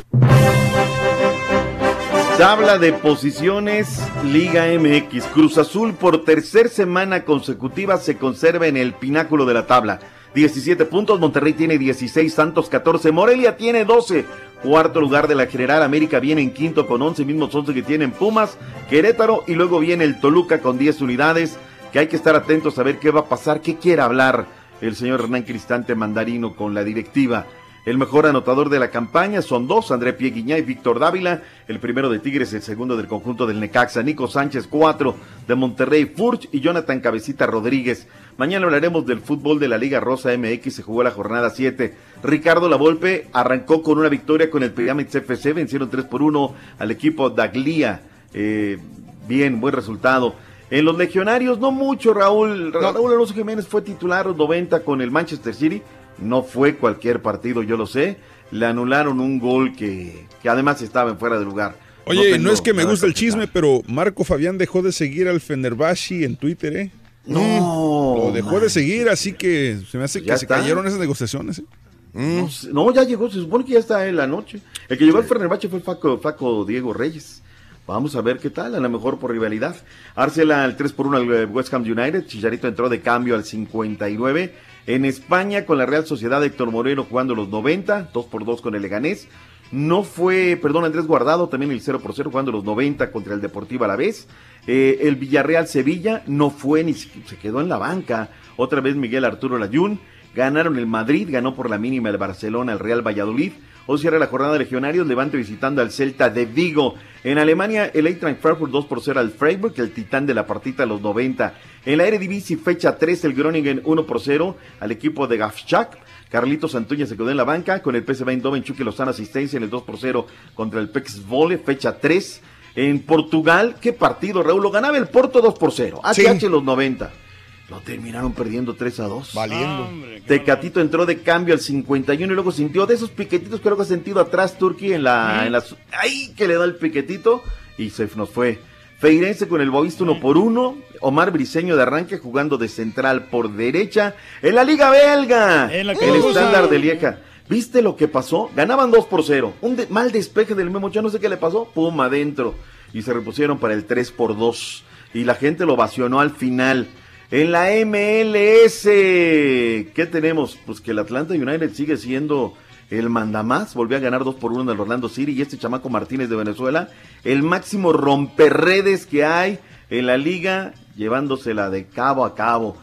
Tabla de posiciones, Liga M X. Cruz Azul por tercer semana consecutiva se conserva en el pináculo de la tabla. diecisiete puntos, Monterrey tiene dieciséis, Santos catorce, Morelia tiene doce. Cuarto lugar de la general, América viene en quinto con once, mismos once que tienen Pumas, Querétaro y luego viene el Toluca con diez unidades, que hay que estar atentos a ver qué va a pasar, qué quiere hablar el señor Hernán Cristante Mandarino con la directiva. El mejor anotador de la campaña son dos, André Pieguiñá y Víctor Dávila, el primero de Tigres, el segundo del conjunto del Necaxa, Nico Sánchez, cuatro de Monterrey, Furch y Jonathan Cabecita Rodríguez. Mañana hablaremos del fútbol de la Liga Rosa M X, se jugó la jornada siete. Ricardo Lavolpe arrancó con una victoria con el Pyramids F C, vencieron tres por uno al equipo Daglia, eh, bien, buen resultado. En los legionarios, no mucho, Raúl, no. Raúl Alonso Jiménez fue titular noventa con el Manchester City. No fue cualquier partido, yo lo sé. Le anularon un gol que, que además estaba en fuera de lugar. Oye, no, no es que me gusta el chisme, pero Marco Fabián dejó de seguir al Fenerbahce en Twitter, ¿eh? No. Lo dejó man. de seguir, así que se me hace que se está. cayeron esas negociaciones, ¿eh? Mm. No, no, ya llegó, se supone que ya está en la noche. El que llegó sí. al Fenerbahce fue el Faco, Faco Diego Reyes. Vamos a ver qué tal, a lo mejor por rivalidad. Arsenal al tres por uno al West Ham United, Chicharito entró de cambio al cincuenta y nueve. En España, con la Real Sociedad, Héctor Moreno jugando los noventa, dos por dos con el Leganés. No fue, perdón, Andrés Guardado, también el cero por cero jugando los noventa contra el Deportivo Alavés. Eh, el Villarreal Sevilla no fue ni se quedó en la banca. Otra vez Miguel Arturo Layún. Ganaron el Madrid, ganó por la mínima el Barcelona, el Real Valladolid. Hoy cierra la jornada de legionarios, Levante visitando al Celta de Vigo. En Alemania, el Eintracht Frankfurt dos por cero al Freiburg, el titán de la partita a los noventa. En la Eredivisie, fecha tres, el Groningen uno por cero al equipo de Gafschak. Carlitos Santuña se quedó en la banca, con el P S V Eindhoven, Chucky Lozano asistencia en el dos por cero contra el P E X Volle, fecha tres. En Portugal, ¿qué partido, Raúl? Lo ganaba el Porto dos por cero, H H sí. los noventa. Lo terminaron perdiendo tres a dos. Valiendo. Ah, hombre, Tecatito entró de cambio al cincuenta y uno y luego sintió de esos piquetitos que luego ha sentido atrás Turquía en la, ¿Eh? en la... ¡Ay! Que le da el piquetito y se nos fue. Feirense con el Boavista uno por uno. Omar Briseño de arranque jugando de central por derecha. En la Liga Belga. En la el estándar de Lieja. ¿Viste lo que pasó? Ganaban dos por cero. Un de... mal despeje del Memo Ochoa, no sé qué le pasó. Pum, adentro. Y se repusieron para el tres por dos. Y la gente lo ovacionó al final. En la M L S, ¿qué tenemos? Pues que el Atlanta United sigue siendo el mandamás, volvió a ganar dos por uno en el Orlando City, y este chamaco Martínez de Venezuela, el máximo romperredes que hay en la liga, llevándosela de cabo a cabo.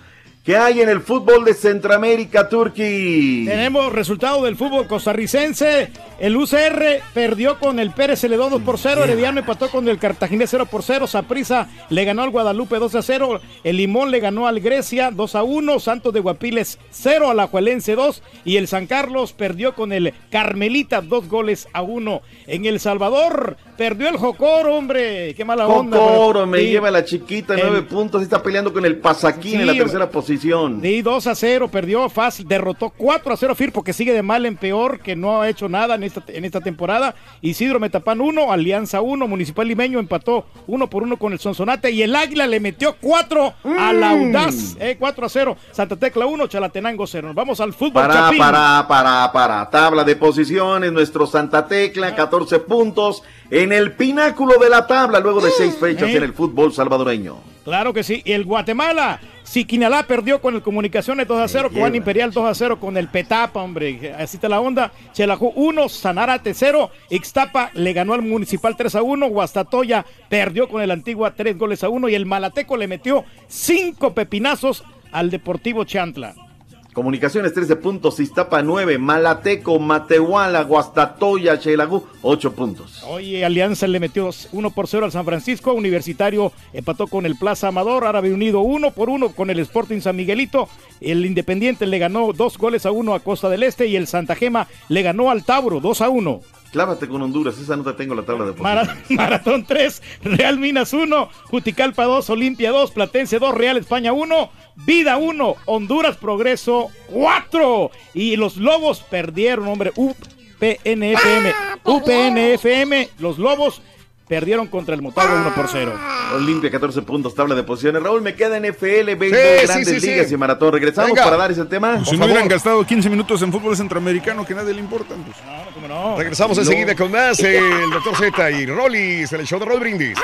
¿Qué hay en el fútbol de Centroamérica, Turquí? Tenemos resultado del fútbol costarricense. El U C R perdió con el Pérez Celedón dos por cero. Herediano empató con el Cartaginés cero por cero. Saprissa le ganó al Guadalupe dos a cero. El Limón le ganó al Grecia dos a uno. Santos de Guapiles cero, Alajuelense dos. Y el San Carlos perdió con el Carmelita dos goles a uno. En El Salvador perdió el Jocoro, hombre. Qué mala onda. Jocoro me sí. lleva la chiquita, nueve el... puntos. Está peleando con el Pasaquín sí, en la tercera posición. Sí, dos a cero, perdió fácil, derrotó cuatro a cero Firpo, que sigue de mal en peor, que no ha hecho nada en esta, en esta temporada. Isidro Metapán uno, Alianza uno, Municipal Limeño empató uno por uno con el Sonsonate y el Águila le metió cuatro mm. a la Audaz, eh, cuatro a cero, Santa Tecla uno, Chalatenango cero. Nos vamos al fútbol. Para, Chapín. para, para, para, tabla de posiciones, nuestro Santa Tecla, catorce puntos en el pináculo de la tabla, luego de seis fechas eh. en el fútbol salvadoreño. Claro que sí, y el Guatemala, Siquinalá perdió con el Comunicaciones dos a cero, Cobán Imperial dos a cero con el Petapa, hombre, así está la onda. Chelajú uno, Sanarate cero, Ixtapa le ganó al Municipal tres a uno, Guastatoya perdió con el Antigua tres goles a uno y el Malateco le metió cinco pepinazos al Deportivo Chantla. Comunicaciones trece puntos, Iztapa nueve, Malateco, Matehuala, Guastatoya, Xelajú ocho puntos. Oye, Alianza le metió uno por cero al San Francisco, Universitario empató con el Plaza Amador, Árabe Unido uno por uno con el Sporting San Miguelito, el Independiente le ganó dos goles a uno a Costa del Este y el Santa Gema le ganó al Tauro dos a uno. Clávate con Honduras, esa no te tengo la tabla de posiciones. Mar Maratón tres, Real Minas uno, Juticalpa dos, Olimpia dos, Platense dos, Real España uno, Vida uno, Honduras Progreso cuatro. Y los Lobos perdieron, hombre, U P N F M. U P N F M, los Lobos perdieron contra el Motagua uno por cero. Olimpia catorce puntos, tabla de posiciones. Raúl, me queda N F L, béisbol, sí, Grandes sí, sí, Ligas sí. y Maratón. Regresamos Venga. para dar ese tema. Pues si no hubieran gastado quince minutos en fútbol centroamericano que a nadie le importa. Pues. No, cómo no. Regresamos no. enseguida con más el doctor Z y Rollis en el show de Raúl Brindis.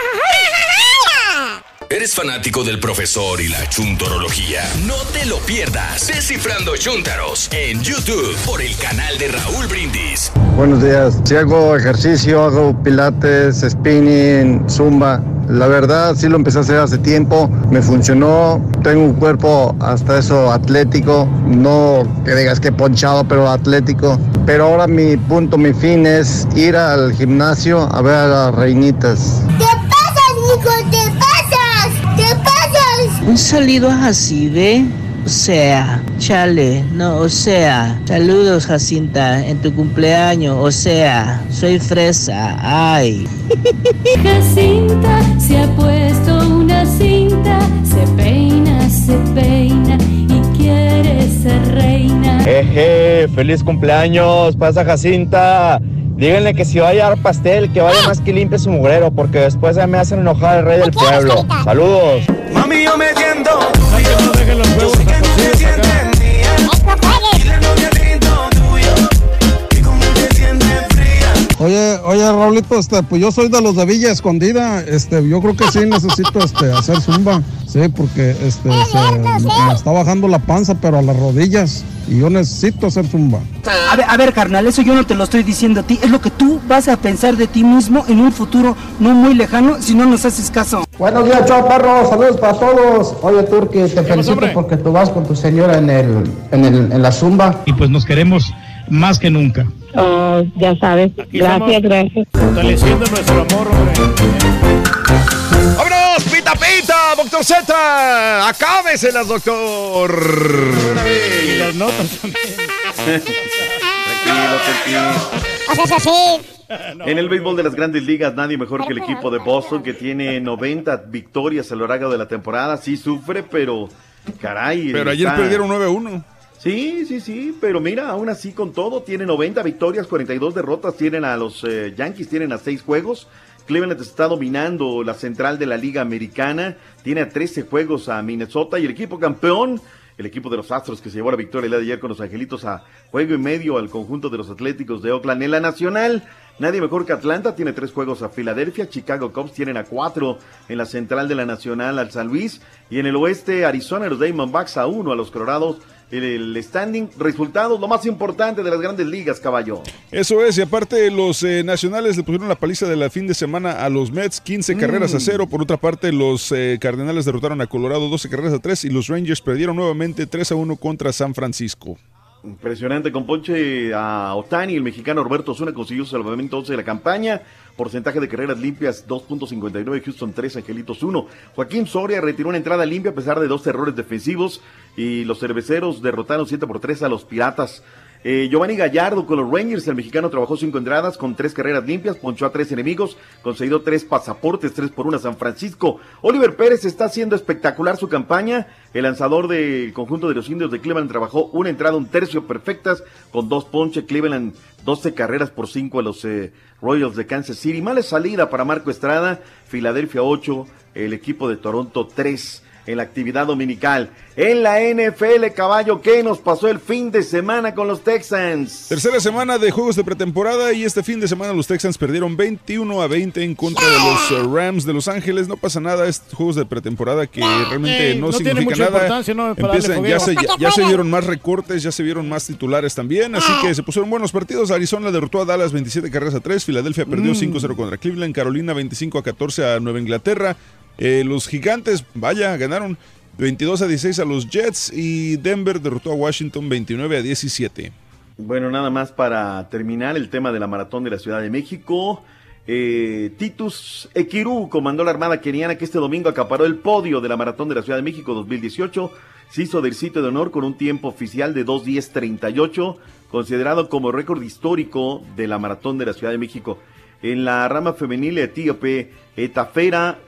¿Eres fanático del profesor y la chuntorología? No te lo pierdas. Descifrando Chúntaros en YouTube por el canal de Raúl Brindis. Buenos días. Si hago ejercicio, hago pilates, spinning, zumba. La verdad, sí lo empecé a hacer hace tiempo. Me funcionó. Tengo un cuerpo hasta eso atlético. No que digas que ponchado, pero atlético. Pero ahora mi punto, mi fin es ir al gimnasio a ver a las reinitas. ¿Qué pasa, Nico? ¿Qué pasa? ¿Qué pasas? Un saludo a Jacibe, o sea, chale, no, o sea, saludos Jacinta, en tu cumpleaños, o sea, soy fresa, ay. Jacinta se ha puesto una cinta, se peina, se peina y quiere ser reina. Eje, feliz cumpleaños, pasa Jacinta. Díganle que si va a llevar pastel, que vaya más que limpie su mugrero, porque después ya me hacen enojar el rey del pueblo. Saludos. Mami, yo me tiendo. Oye, oye, Raulito, este, pues yo soy de los de Villa Escondida, este, yo creo que sí necesito, este, hacer zumba, sí, porque, este, se, me está bajando la panza, pero a las rodillas, y yo necesito hacer zumba. A ver, a ver, carnal, eso yo no te lo estoy diciendo a ti, es lo que tú vas a pensar de ti mismo en un futuro no muy lejano, si no nos haces caso. Buenos días, chao, perro, saludos para todos. Oye, Turqui, te felicito porque tú vas con tu señora en el, en el, en la zumba. Y pues nos queremos más que nunca. Oh, ya sabes. Aquí gracias, gracias. Fortaleciendo nuestro amor, hombre. ¡Vámonos, pita, pita, doctor Z! ¡Acábeselas, doctor! Y las notas también. Haces así. En el béisbol de las Grandes Ligas, nadie mejor que el equipo de Boston, que tiene noventa victorias a lo largo de la temporada. Sí sufre, pero caray. Pero ayer está... perdieron nueve a uno. Sí, sí, sí, pero mira, aún así con todo, tiene noventa victorias, cuarenta y dos derrotas, tienen a los eh, Yankees, tienen a seis juegos. Cleveland está dominando la central de la Liga Americana, tiene a trece juegos a Minnesota y el equipo campeón, el equipo de los Astros que se llevó la victoria el día de ayer con los Angelitos a juego y medio al conjunto de los Atléticos de Oakland en la Nacional. Nadie mejor que Atlanta, tiene tres juegos a Filadelfia. Chicago Cubs tienen a cuatro en la central de la Nacional al San Luis. Y en el oeste, Arizona, los Diamondbacks a uno a los Colorados. El standing, resultados, lo más importante de las grandes ligas, caballo. Eso es, y aparte los eh, nacionales le pusieron la paliza de la fin de semana a los Mets, quince mm. carreras a cero. Por otra parte, los eh, Cardenales derrotaron a Colorado doce carreras a tres y los Rangers perdieron nuevamente tres a uno contra San Francisco. Impresionante, con ponche a Ohtani, el mexicano Roberto Osuna consiguió su salvamento once de la campaña, porcentaje de carreras limpias dos punto cincuenta y nueve, Houston tres, Angelitos uno. Joaquín Soria retiró una entrada limpia a pesar de dos errores defensivos y los cerveceros derrotaron siete por tres a los Piratas. Eh, Giovanni Gallardo con los Rangers, el mexicano trabajó cinco entradas con tres carreras limpias, ponchó a tres enemigos, concedió tres pasaportes, tres por una a San Francisco. Oliver Pérez está haciendo espectacular su campaña, el lanzador del conjunto de los Indios de Cleveland trabajó una entrada, un tercio perfectas, con dos ponches. Cleveland doce carreras por cinco a los eh, Royals de Kansas City. Mala salida para Marco Estrada, Filadelfia ocho, el equipo de Toronto tres. En la actividad dominical. En la N F L, caballo, ¿qué nos pasó el fin de semana con los Texans? Tercera semana de juegos de pretemporada y este fin de semana los Texans perdieron veintiuno a veinte en contra de los uh, Rams de Los Ángeles. No pasa nada, es juegos de pretemporada que realmente eh, no, no significa nada. ¿No? Empiezan, ya, se, ya, ya se vieron más recortes, ya se vieron más titulares también, así que se pusieron buenos partidos. Arizona derrotó a Dallas veintisiete carreras a tres, Filadelfia perdió mm. cinco a cero contra Cleveland, Carolina veinticinco a catorce a Nueva Inglaterra. Eh, los Gigantes, vaya, ganaron veintidós a dieciséis a los Jets y Denver derrotó a Washington veintinueve a diecisiete. Bueno, nada más para terminar el tema de la maratón de la Ciudad de México. Eh, Titus Ekiru comandó la Armada Keniana que este domingo acaparó el podio de la maratón de la Ciudad de México dos mil dieciocho. Se hizo del sitio de honor con un tiempo oficial de dos diez treinta y ocho, considerado como récord histórico de la maratón de la Ciudad de México. En la rama femenil etíope, Etafera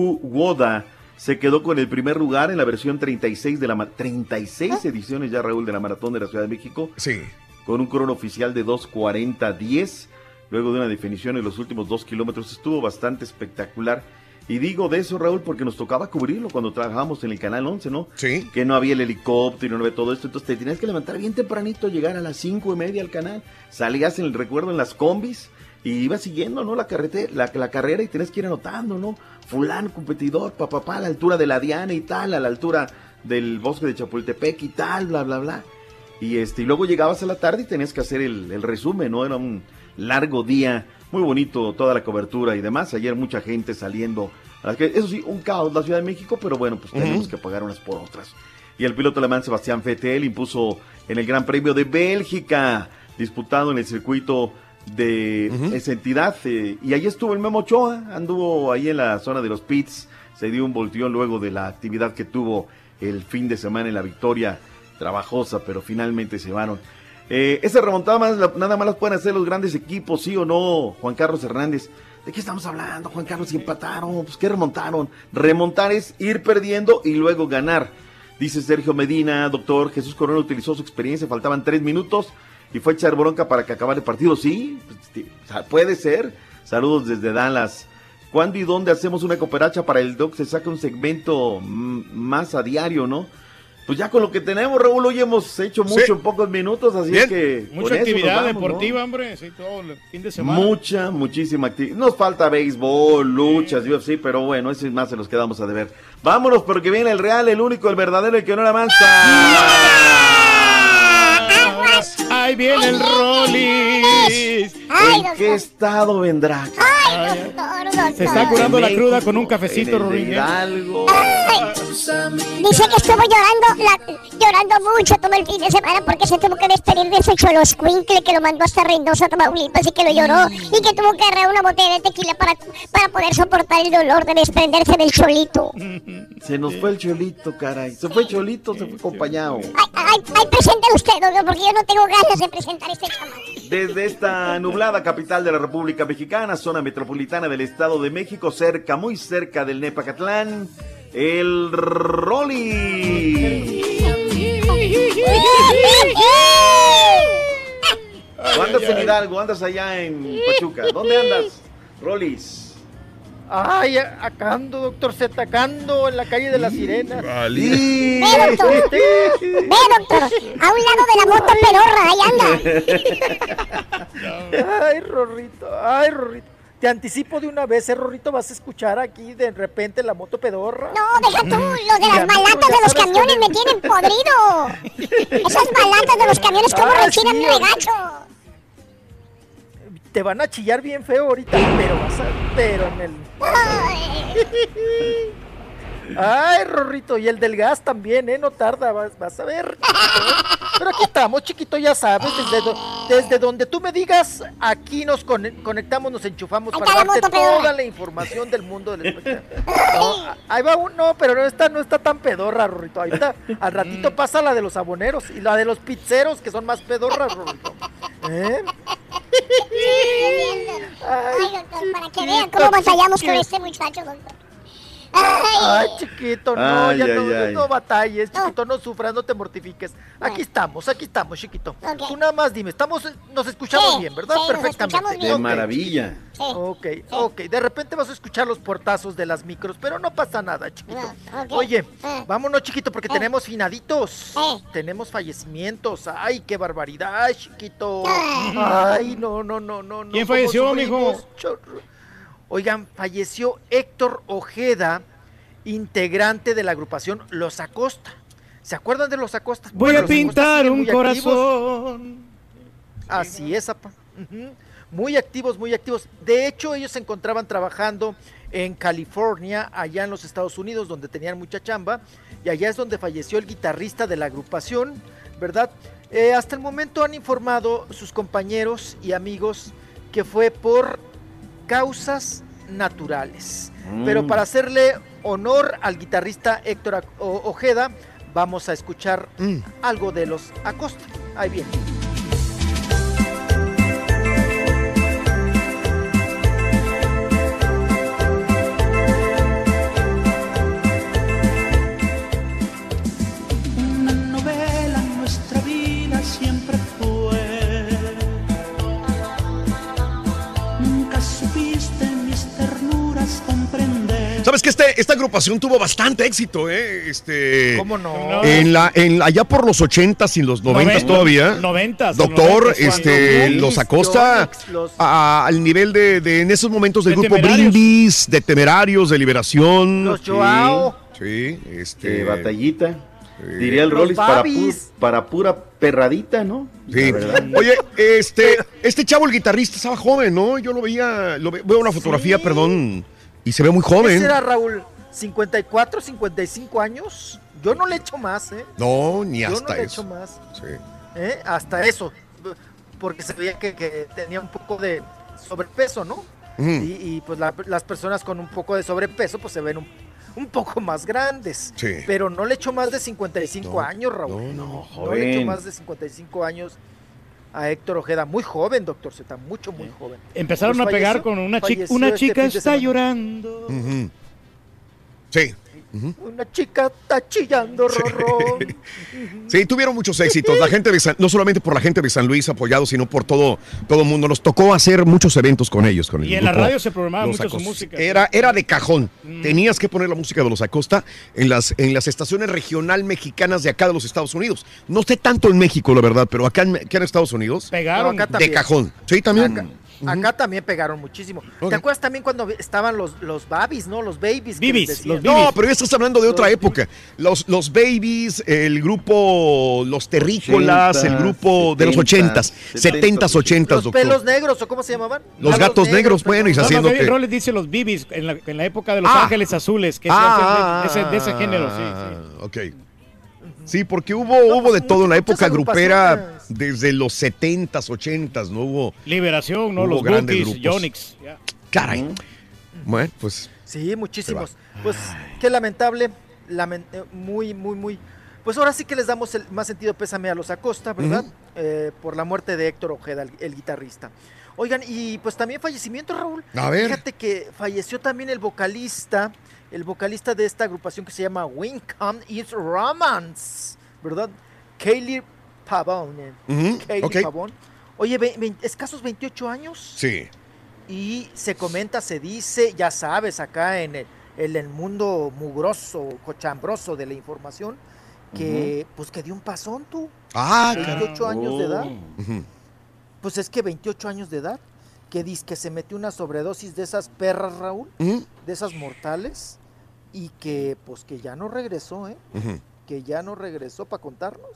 Juwoda se quedó con el primer lugar en la versión treinta y seis de la treinta y seis ediciones ya, Raúl, de la maratón de la Ciudad de México. Sí. Con un crono oficial de dos cuarenta diez, luego de una definición en los últimos dos kilómetros. Estuvo bastante espectacular. Y digo de eso, Raúl, porque nos tocaba cubrirlo cuando trabajábamos en el Canal once, ¿no? Sí. Que no había el helicóptero, no había todo esto. Entonces te tenías que levantar bien tempranito, llegar a las cinco y media al canal. Salías en el recuerdo en las combis y ibas siguiendo, ¿no? La carretera, la, la carrera y tenías que ir anotando, ¿no? Fulano, competidor, papá, pa, pa, a la altura de la Diana y tal, a la altura del bosque de Chapultepec y tal, bla, bla, bla. Y este, y luego llegabas a la tarde y tenías que hacer el, el resumen, ¿no? Era un largo día, muy bonito toda la cobertura y demás. Ayer mucha gente saliendo. Eso sí, un caos la Ciudad de México, pero bueno, pues uh-huh. tenemos que pagar unas por otras. Y el piloto alemán Sebastián Vettel impuso en el Gran Premio de Bélgica, disputado en el circuito de uh-huh. esa entidad, eh, y ahí estuvo el Memo Ochoa, anduvo ahí en la zona de los pits, se dio un volteón luego de la actividad que tuvo el fin de semana en la victoria trabajosa, pero finalmente se van. Eh, esa remontada más, la, nada más las pueden hacer los grandes equipos, ¿sí o no, Juan Carlos Hernández? ¿De qué estamos hablando, Juan Carlos? Si empataron, pues ¿qué remontaron? Remontar es ir perdiendo y luego ganar. Dice Sergio Medina, doctor Jesús Corona utilizó su experiencia, faltaban tres minutos y fue a echar bronca para que acabara el partido. Sí, pues, puede ser. Saludos desde Dallas. ¿Cuándo y dónde hacemos una cooperacha para el doc? Se saca un segmento m- más a diario, ¿no? Pues ya con lo que tenemos, Raúl, hoy hemos hecho mucho sí. en pocos minutos, así es que... Mucha actividad vamos, deportiva, ¿no? Hombre, sí, todo el fin de semana. Mucha, muchísima actividad. Nos falta béisbol, luchas, sí. U F C, pero bueno, ese más se los quedamos a deber. Vámonos, porque viene el real, el único, el verdadero, el que no la avanza. Ahí viene el Rollis. ¿En qué estado vendrá? Ay, doctor, doctor. Se está curando la cruda con un cafecito, Rollis. Algo. Dice que estuvo llorando, la, llorando mucho todo el fin de semana porque se tuvo que despedir de ese choloscuincle que lo mandó hasta Reynosa, Tamaulipas, y que lo lloró y que tuvo que agarrar una botella de tequila para, para poder soportar el dolor de desprenderse del cholito. Se nos fue el cholito, caray. Se fue cholito, se fue acompañado. Ay, ay, ay, presente usted, doctor, porque yo no tengo ganas de presentar este chamaco. Desde esta nublada capital de la República Mexicana, zona metropolitana del Estado de México, cerca, muy cerca del Nepacatlán, el Rolly. ¿O andas en Hidalgo? ¿Andas allá en Pachuca? ¿Dónde andas, Rollis? Ay, acá ando, doctor Z, acá ando en la calle de las Sirenas. Ve, doctor. Ve, doctor. A un lado de la moto pedorra, ahí anda. Ay, Rorrito, ay, Rorrito. Te anticipo de una vez, eh, Rorrito, vas a escuchar aquí de repente la moto pedorra. No, deja tú, los de las balatas de los camiones me tienen podrido. Esas balatas de los camiones, ¿cómo Ah, rechinan sí, mi regacho? Te van a chillar bien feo ahorita, pero vas a... Pero en el... Ay, Rorrito, y el del gas también, ¿eh? No tarda, vas, vas a ver. Pero aquí estamos, chiquito, ya sabes, desde, do, desde donde tú me digas, aquí nos con, conectamos, nos enchufamos para darte toda pedorra. La información del mundo del espectáculo. No, ahí va uno, pero no está, no está tan pedorra, Rorrito. Ahorita, al ratito pasa la de los aboneros y la de los pizzeros, que son más pedorras, Rorrito. ¿Eh? Ay, doctor, para que vean cómo batallamos con este muchacho, doctor. Ay, ay, chiquito, no, ay, ya ay, no, ay. no batalles, chiquito, no sufras, no te mortifiques. Aquí estamos, aquí estamos, chiquito. Okay. Tú nada más dime, estamos, nos escuchamos sí, bien, ¿verdad? Sí, perfectamente. Bien. De maravilla. Sí. Ok, ok. De repente vas a escuchar los portazos de las micros, pero no pasa nada, chiquito. No, okay. Oye, eh. vámonos, chiquito, porque eh. tenemos finaditos. Eh. Tenemos fallecimientos. Ay, qué barbaridad, chiquito. Eh. Ay, no, no, no, no. ¿Quién falleció, mijo? Oigan, falleció Héctor Ojeda, integrante de la agrupación Los Acosta. ¿Se acuerdan de Los Acosta? Voy bueno, a pintar un corazón. Activos. Así es, apa. Uh-huh. Muy activos, muy activos. De hecho, ellos se encontraban trabajando en California, allá en los Estados Unidos, donde tenían mucha chamba, y allá es donde falleció el guitarrista de la agrupación, ¿verdad? Eh, hasta el momento han informado sus compañeros y amigos que fue por causas naturales. Mm. Pero para hacerle honor al guitarrista Héctor Ojeda, vamos a escuchar mm. algo de Los Acosta. Ahí viene. Una novela en nuestra vida siempre fue. Nunca supiste mis ternuras comprender. ¿Sabes que este, esta agrupación tuvo bastante éxito, eh? Este, ¿Cómo no? En la, en, allá por los ochentas y los noventas todavía. Noventas. Doctor, noventas, este, los Acosta los... a, al nivel de, de, en esos momentos del de grupo Temerarios. Brindis, de Temerarios, de Liberación. Los Joao. Sí, sí este. Eh, batallita. Sí. Diría el Rollis para, pu para pura perradita, ¿no? Sí. Oye, este, este chavo, el guitarrista, estaba joven, ¿no? Yo lo veía, lo ve, veo una fotografía, sí. perdón, y se ve muy joven. ¿Ese era, Raúl? ¿cincuenta y cuatro, cincuenta y cinco años? Yo no le echo más, ¿eh? No, ni hasta eso. Yo no le echo más. Sí. ¿Eh? Hasta eso. Porque se veía que, que tenía un poco de sobrepeso, ¿no? Uh-huh. y, y pues la, las personas con un poco de sobrepeso, pues se ven un un poco más grandes, sí. Pero no le echo más de cincuenta y cinco no, años, Raúl. No, no, no, no le echo más de cincuenta y cinco años a Héctor Ojeda, muy joven, doctor Z, mucho, muy joven. Empezaron pues a pegar falleció, con una chica, una chica este está llorando. Uh-huh. Sí. Uh-huh. Una chica está chillando, Rorrón. Sí, tuvieron muchos éxitos. La gente de San, no solamente por la gente de San Luis apoyado, sino por todo todo el mundo. Nos tocó hacer muchos eventos con ellos. Con el y en la radio se programaba mucho su música. Era, era de cajón. Mm. Tenías que poner la música de Los Acosta en las, en las estaciones regional mexicanas de acá de los Estados Unidos. No sé tanto en México, la verdad, pero acá en, acá en Estados Unidos. Pegaron. No, de cajón. Sí, también. Acá. Uh-huh. Acá también pegaron muchísimo. Okay. ¿Te acuerdas también cuando estaban los, los babies, no? Los babies. Bibis, los no, pero ya estás hablando de otra los época. Los, los babies, el grupo Los Terrícolas, ochenta, el grupo setenta, de los ochentas, setentas, ochentas, Los doctor. pelos negros, ¿o cómo se llamaban? Los gatos, gatos negros, negros bueno, y haciendo no, que... Roles dice los bibis, en la, en la época de Los ah. Ángeles Azules, que ah, es de, ese, de ese género, sí, sí. Ok. Sí, porque hubo, no, hubo de todo en la época grupera desde los setentas, ochentas, ¿no? Hubo Liberación, ¿no? Hubo los Bookies, Yonix. Yeah. Caray. Mm. Bueno, pues. Sí, muchísimos. Pues qué lamentable, lament muy, muy, muy. Pues ahora sí que les damos el más sentido pésame a Los Acosta, ¿verdad? Uh-huh. eh, por la muerte de Héctor Ojeda, el, el guitarrista. Oigan, y pues también fallecimiento, Raúl. A ver. Fíjate que falleció también el vocalista. El vocalista de esta agrupación que se llama When Come It's Romance, ¿verdad? Kaylee Pavone. Uh-huh. Kaylee okay. Pavone. Oye, ve, ve, escasos veintiocho años. Sí. y se comenta, se dice, ya sabes, acá en el, en el mundo mugroso, cochambroso de la información, que uh-huh. pues que dio un pasón tú. Ah, veintiocho cara. años oh. de edad. Uh-huh. Pues es que veintiocho años de edad, que dice que se metió una sobredosis de esas perras, Raúl, uh-huh. de esas mortales, y que pues que ya no regresó, ¿eh? Uh-huh. Que ya no regresó para contarnos,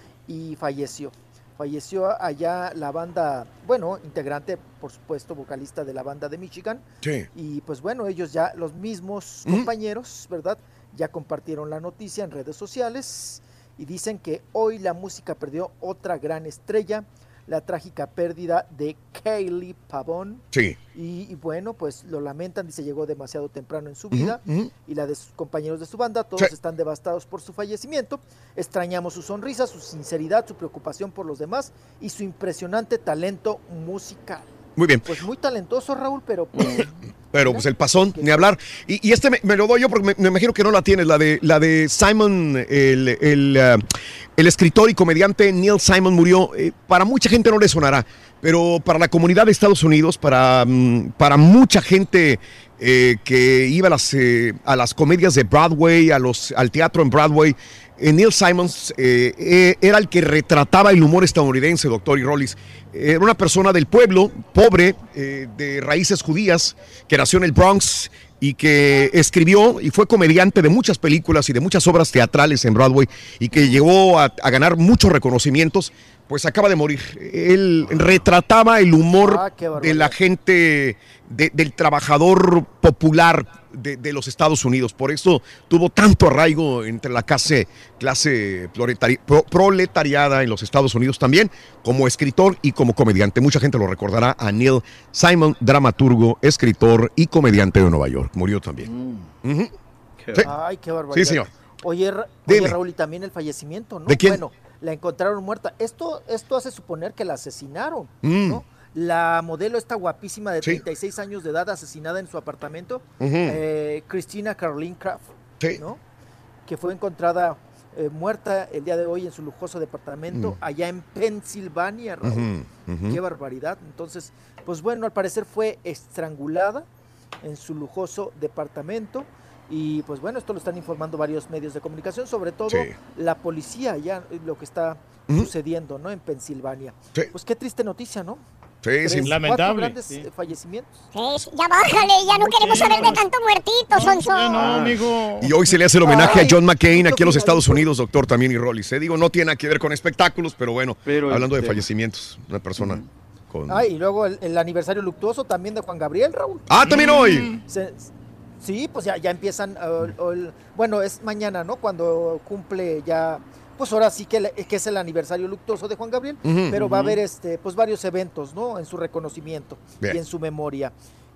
y falleció. Falleció allá la banda, bueno, integrante, por supuesto, vocalista de la banda de Michigan. Sí. Y pues bueno, ellos ya, los mismos uh-huh. compañeros, ¿verdad? Ya compartieron la noticia en redes sociales y dicen que hoy la música perdió otra gran estrella, la trágica pérdida de Kaylee Pavón. Sí. Y, y bueno, pues lo lamentan, dice, llegó demasiado temprano en su vida, uh-huh, uh-huh. y la de sus compañeros de su banda, todos sí. están devastados por su fallecimiento. Extrañamos su sonrisa, su sinceridad, su preocupación por los demás y su impresionante talento musical. Muy bien. Pues muy talentoso, Raúl, pero pues... Pero pues el pasón, ni hablar. Y, y este me, me lo doy yo porque me, me imagino que no la tienes, la de, la de Simon, el, el, uh, el escritor y comediante Neil Simon murió. Eh, para mucha gente no le sonará, pero para la comunidad de Estados Unidos, para, um, para mucha gente eh, que iba a las, eh, a las comedias de Broadway, a los, al teatro en Broadway, eh, Neil Simon eh, eh, era el que retrataba el humor estadounidense, doctor y Rollis. Era una persona del pueblo, pobre, eh, de raíces judías, que nació en el Bronx y que escribió y fue comediante de muchas películas y de muchas obras teatrales en Broadway y que llegó a, a ganar muchos reconocimientos, pues acaba de morir. Él retrataba el humor ah, de la gente, de, del trabajador popular de, de los Estados Unidos. Por eso tuvo tanto arraigo entre la clase, clase proletari, pro, proletariada en los Estados Unidos también, como escritor y como comediante. Mucha gente lo recordará a Neil Simon, dramaturgo, escritor y comediante de Nueva York. Murió también. Mm. Uh-huh. Qué sí. Ay, qué barbaridad. Sí, señor. Oye, oye Raúl, y también el fallecimiento, ¿no? ¿De quién? Bueno, la encontraron muerta. Esto, esto hace suponer que la asesinaron, mm. ¿no? La modelo esta guapísima de treinta y seis sí. años de edad, asesinada en su apartamento, uh-huh. eh, Christina Caroline Kraft, sí. ¿no? Que fue encontrada eh, muerta el día de hoy en su lujoso departamento, uh-huh. allá en Pensilvania, Raúl. Uh-huh. Uh-huh. Qué barbaridad. Entonces, pues bueno, al parecer fue estrangulada en su lujoso departamento. Y pues bueno, esto lo están informando varios medios de comunicación, sobre todo sí. la policía, ya lo que está uh-huh. sucediendo, ¿no? En Pensilvania. Sí. Pues qué triste noticia, ¿no? Sí, Tres, sí. Lamentable. Grandes sí. fallecimientos. Sí, ya bájale, ya no queremos saber de tanto muertito, Sonso. No, no, amigo. Y hoy se le hace el homenaje Ay, a John McCain aquí en los Estados Unidos, doctor, también y Rollis. Eh, digo, no tiene nada que ver con espectáculos, pero bueno, pero hablando este... de fallecimientos, una persona uh-huh. con... Ah, y luego el, el aniversario luctuoso también de Juan Gabriel, Raúl. Ah, también mm. hoy. Se, sí, pues ya, ya empiezan, uh, uh, bueno, es mañana, ¿no? Cuando cumple ya... Pues ahora sí que, que es el aniversario luctuoso de Juan Gabriel, uh-huh, pero uh-huh. va a haber este, pues varios eventos, ¿no? En su reconocimiento Bien. y en su memoria.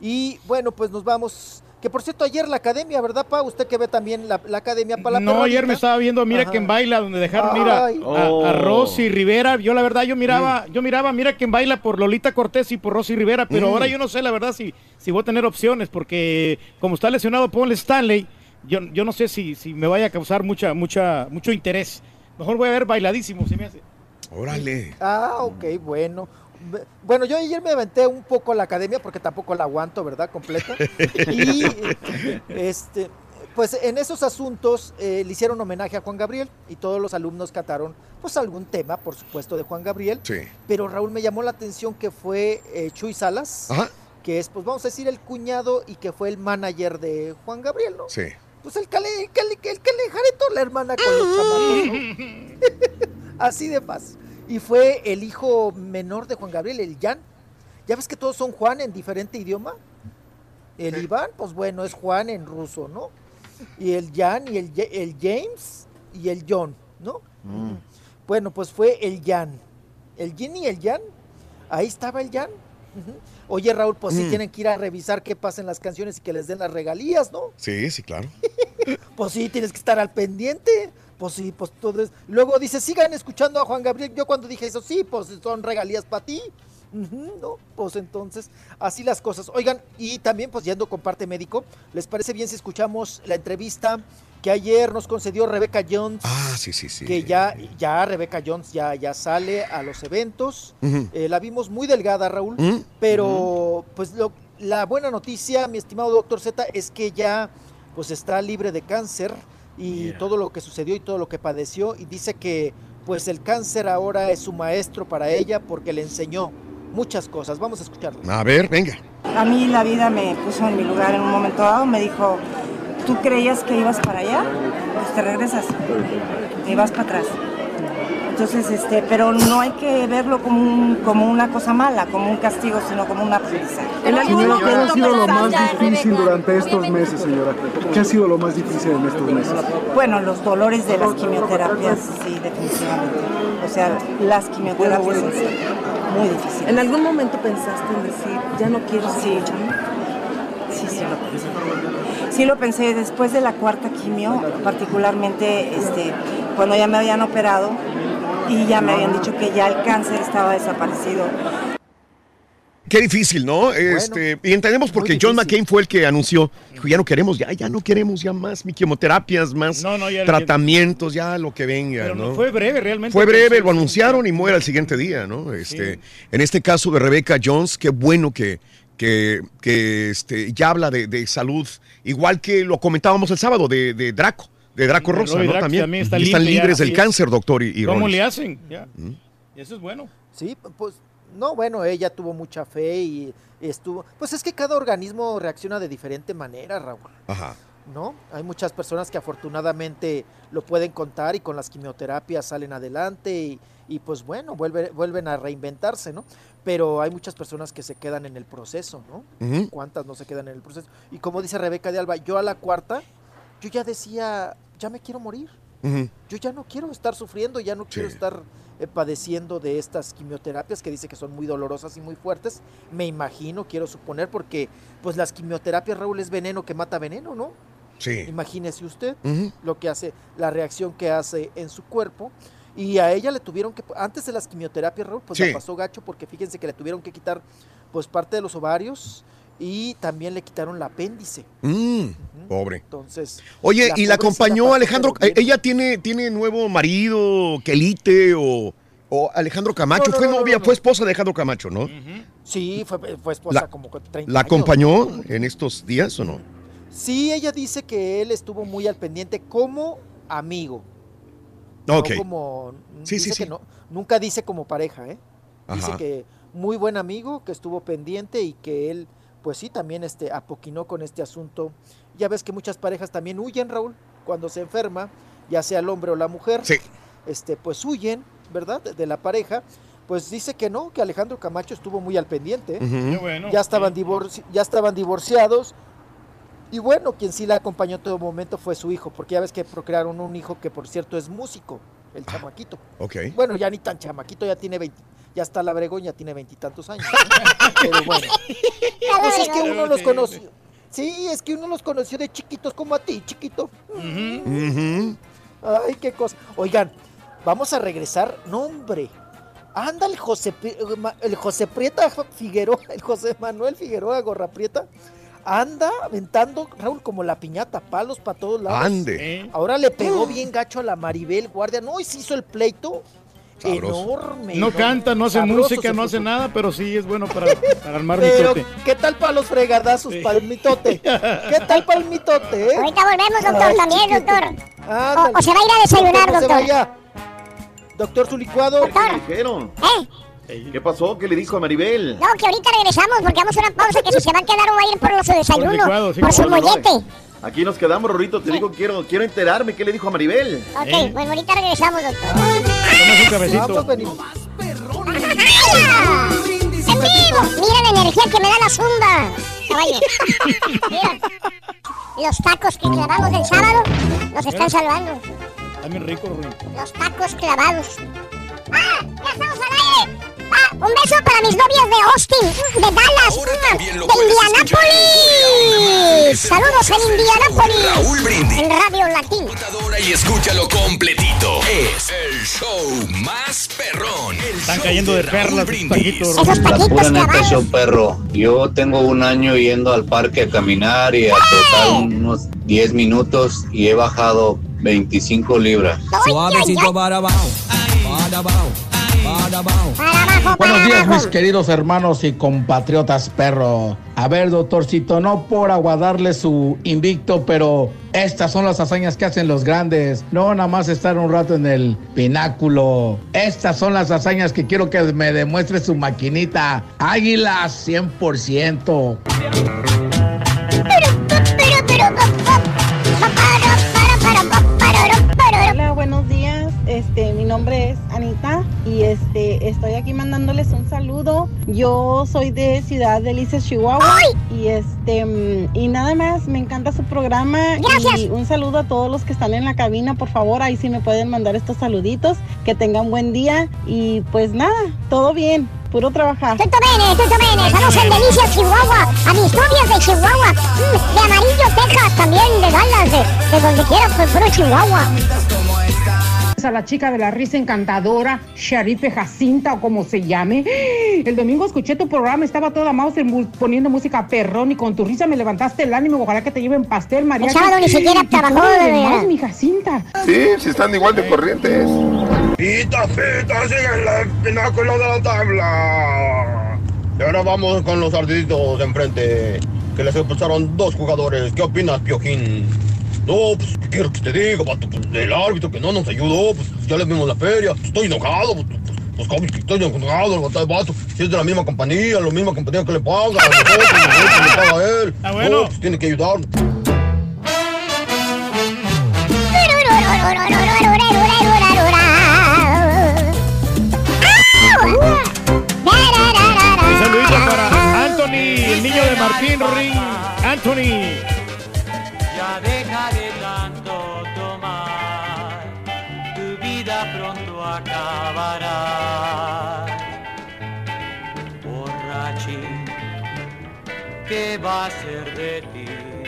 Y bueno, pues nos vamos, que por cierto ayer la academia, ¿verdad, Pa? Usted que ve también la, la academia para la No, perronita. Ayer me estaba viendo Mira Ajá. quién baila, donde dejaron, mira, a, oh. a Rosy Rivera. Yo la verdad, yo miraba, mm. yo miraba Mira quién baila por Lolita Cortés y por Rosy Rivera, pero mm. ahora yo no sé la verdad si, si voy a tener opciones, porque como está lesionado Paul Stanley, yo, yo no sé si, si me vaya a causar mucha, mucha, mucho interés. Mejor voy a ver Bailadísimo, se me hace. Órale. Ah, ok, bueno. Bueno, yo ayer me aventé un poco a la academia porque tampoco la aguanto, ¿verdad? Completa. Y este, pues en esos asuntos eh, le hicieron homenaje a Juan Gabriel y todos los alumnos cantaron pues algún tema, por supuesto, de Juan Gabriel. Sí. Pero Raúl, me llamó la atención que fue eh, Chuy Salas, Ajá. que es, pues vamos a decir, el cuñado y que fue el manager de Juan Gabriel, ¿no? Sí. Pues el que le, el que le, el que le jaretó la hermana con los chamacos, ¿no? Así de paz. Y fue el hijo menor de Juan Gabriel, el Jan. Ya ves que todos son Juan en diferente idioma. El sí. Iván, pues bueno, es Juan en ruso, ¿no? Y el Jan y el, el James y el John, ¿no? Mm. Bueno, pues fue el Jan. El Jin y el Jan. Ahí estaba el Jan. Uh-huh. Oye, Raúl, pues mm. sí tienen que ir a revisar qué pasa en las canciones y que les den las regalías, ¿no? Sí, sí, claro. Pues sí, tienes que estar al pendiente. Pues sí, pues todo es... Luego dice, sigan escuchando a Juan Gabriel. Yo cuando dije eso, sí, pues son regalías para ti. Uh-huh, ¿no? Pues entonces, así las cosas. Oigan, y también, pues yendo con parte médico, ¿les parece bien si escuchamos la entrevista que ayer nos concedió Rebecca Jones? Ah, sí, sí, sí. Que ya, ya Rebecca Jones ya, ya sale a los eventos. Uh-huh. Eh, la vimos muy delgada, Raúl, uh-huh. pero uh-huh. pues lo, la buena noticia, mi estimado doctor Z, es que ya pues está libre de cáncer y yeah. todo lo que sucedió y todo lo que padeció, y dice que pues el cáncer ahora es su maestro para ella porque le enseñó muchas cosas. Vamos a escucharlo. A ver, venga. A mí la vida me puso en mi lugar en un momento dado, me dijo, ¿tú creías que ibas para allá? Pues te regresas y vas para atrás. Entonces, este, pero no hay que verlo como, un, como una cosa mala, como un castigo, sino como un aprendizaje. Señora, ¿qué ha sido lo más difícil durante estos meses, señora? ¿Qué ha sido lo más difícil en estos meses? Bueno, los dolores de las quimioterapias, sí, definitivamente. O sea, las quimioterapias son muy difíciles. ¿En algún momento pensaste en decir, ya no quiero seguir luchando? Sí, sí lo pensé. Sí lo pensé después de la cuarta quimio, particularmente este, cuando ya me habían operado, y ya me habían dicho que ya el cáncer estaba desaparecido. Qué difícil, ¿no? Bueno, este, y entendemos porque John McCain fue el que anunció, dijo, ya no queremos, ya, ya no queremos ya más mi quimioterapias, más no, no, tratamientos, ya lo que venga, pero ¿no? no fue breve, realmente. Fue breve, lo anunciaron y muere al siguiente día, ¿no? Este, sí. En este caso de Rebecca Jones, qué bueno que, que, que este, ya habla de, de salud, igual que lo comentábamos el sábado de, de Draco. De Draco Rosa, ¿no? Draco también, también está están libres ya, del cáncer, doctor. Y, y ¿Cómo Rollins. le hacen? Ya. ¿Mm? Eso es bueno. Sí, pues, no, bueno, ella tuvo mucha fe y estuvo... Pues es que cada organismo reacciona de diferente manera, Raúl. Ajá. ¿No? Hay muchas personas que afortunadamente lo pueden contar y con las quimioterapias salen adelante y, y pues bueno, vuelve, vuelven a reinventarse, ¿no? Pero hay muchas personas que se quedan en el proceso, ¿no? Uh-huh. ¿Cuántas no se quedan en el proceso? Y como dice Rebeca de Alba, yo a la cuarta, yo ya decía... ya me quiero morir, uh-huh. yo ya no quiero estar sufriendo, ya no sí. quiero estar eh, padeciendo de estas quimioterapias que dice que son muy dolorosas y muy fuertes, me imagino, quiero suponer, porque pues las quimioterapias, Raúl, es veneno que mata veneno, ¿no? Sí. Imagínese usted uh-huh. lo que hace, la reacción que hace en su cuerpo, y a ella le tuvieron que, antes de las quimioterapias, Raúl, pues sí. la pasó gacho, porque fíjense que le tuvieron que quitar pues parte de los ovarios, y también le quitaron el apéndice. Mm, uh-huh. Pobre. Entonces. Oye, la ¿y la acompañó Alejandro? ¿Ella tiene, tiene nuevo marido, Quelite o, o Alejandro Camacho? No, no, fue novia, no, no, no. fue esposa de Alejandro Camacho, ¿no? Uh-huh. Sí, fue, fue esposa la, como treinta ¿La años. acompañó en estos días o no? Sí, ella dice que él estuvo muy al pendiente como amigo. Ok. No como, sí, dice sí, sí. Que no, nunca dice como pareja, ¿eh? Dice Ajá. que muy buen amigo, que estuvo pendiente y que él... pues sí, también este, apoquinó con este asunto. Ya ves que muchas parejas también huyen, Raúl, cuando se enferma, ya sea el hombre o la mujer, sí. este, pues huyen, ¿verdad?, de, de la pareja. Pues dice que no, que Alejandro Camacho estuvo muy al pendiente. Uh-huh. Bueno, ya, estaban sí. divorci- ya estaban divorciados. Y bueno, quien sí la acompañó en todo momento fue su hijo, porque ya ves que procrearon un hijo que, por cierto, es músico, el ah, chamaquito. Okay. Bueno, ya ni tan chamaquito, ya tiene veinte, ya está la Obregón, ya tiene veintitantos años, ¿no? Pero bueno, pues es que uno los conoció. Sí, es que uno los conoció de chiquitos como a ti, chiquito. Uh-huh. Uh-huh. Ay, qué cosa. Oigan, vamos a regresar. No, hombre. Anda el José, el José Prieta Figueroa, el José Manuel Figueroa Gorra Prieta. Anda aventando, Raúl, como la piñata, palos para todos lados. Ande. ¿Eh? Ahora le pegó bien gacho a la Maribel Guardia. No, y se hizo el pleito. Sabroso. Enorme. No enorme. canta, no hace Sabroso música, no hace nada, pero sí es bueno para, para armar pero, mitote. ¿qué tal para los fregadazos, sí. para el mitote? ¿Qué tal para el mitote? Eh? Ahorita volvemos, doctor, Ay, también, chiquito. doctor. Ándale. O, o se va a ir a desayunar, doctor. No doctor. Se vaya. Doctor, su licuado. Doctor. ¿Qué dijeron? ¿Eh? ¿Qué pasó? ¿Qué le dijo a Maribel? No, que ahorita regresamos porque vamos a una pausa, que si se va a quedar o va a ir por los desayunos, por, licuado, sí, por su mollete. No, aquí nos quedamos, Rorrito, te sí. digo, quiero, quiero enterarme qué le dijo a Maribel. Ok, ¿Eh? Bueno, ahorita regresamos, doctor. Tomas un cafecito. Vamos, venimos. ¡En vivo! Mira la energía que me da la zumba, caballo. Mira, los tacos que clavamos el sábado nos están ¿Eh? salvando. Está bien rico, Rubén. Los tacos clavados. ¡Ah! ¡Ya estamos al aire! Ah, un beso para mis novias de Austin, de Dallas, de Indianápolis. Saludos en Indianápolis. Raúl Brindis. En Radio Latín. Y escúchalo completito. Es el show más perrón. El Están cayendo de perlas taquitos. Esos taquitos pura neta, show perro. Yo tengo un año yendo al parque a caminar y a trotar unos diez minutos y he bajado veinticinco libras. Suavecito para abajo, para abajo. Para abajo, Buenos para días, abajo. mis queridos hermanos y compatriotas perro. A ver, doctorcito, no por aguadarle su invicto, pero estas son las hazañas que hacen los grandes. No nada más estar un rato en el pináculo. Estas son las hazañas que quiero que me demuestre su maquinita. Águila cien por ciento. Hola, buenos días. Este, mi nombre es Anita y este, estoy aquí mandándoles un saludo. Yo soy de Ciudad Delicias, Chihuahua. Y este, mm, y nada más, me encanta su programa. Gracias. Y un saludo a todos los que están en la cabina, por favor, ahí sí me pueden mandar estos saluditos. Que tengan buen día y pues nada, todo bien. Puro trabajar. Tutto bene, tutto bene. Estamos en Delicias, Chihuahua. A mis novias de Chihuahua. Mm, de Amarillo, Texas. También de Dallas. De, de donde quiera, pues puro Chihuahua. A la chica de la risa encantadora, Sharife Jacinta o como se llame. El domingo escuché tu programa, estaba toda Mauser mu- poniendo música perrón y con tu risa me levantaste el ánimo. Ojalá que te lleven pastel, María. El sábado ni siquiera trabajó, de verdad. mi Jacinta. Sí, si están igual de corrientes. Pita, pita, sigue en el pináculo de la tabla. Y ahora vamos con los ardiditos de enfrente, que les expulsaron dos jugadores. ¿Qué opinas, Piojín? No, pues, ¿qué quiero que te diga, vato? Pues, el árbitro que no nos ayudó, pues, ya les vimos la feria. Pues, estoy enojado, pues, pues, pues, ¿cómo que estoy enojado, el vato, vato? Si es de la misma compañía, la misma compañía que le paga, a nosotros, nosotros le paga a él. Ah, bueno. No, pues, tiene que ayudar. Un saludito para Anthony, el niño de Martín Ring. Anthony. Ya deja de tanto tomar, tu vida pronto acabará. Borrachín, ¿qué va a ser de ti?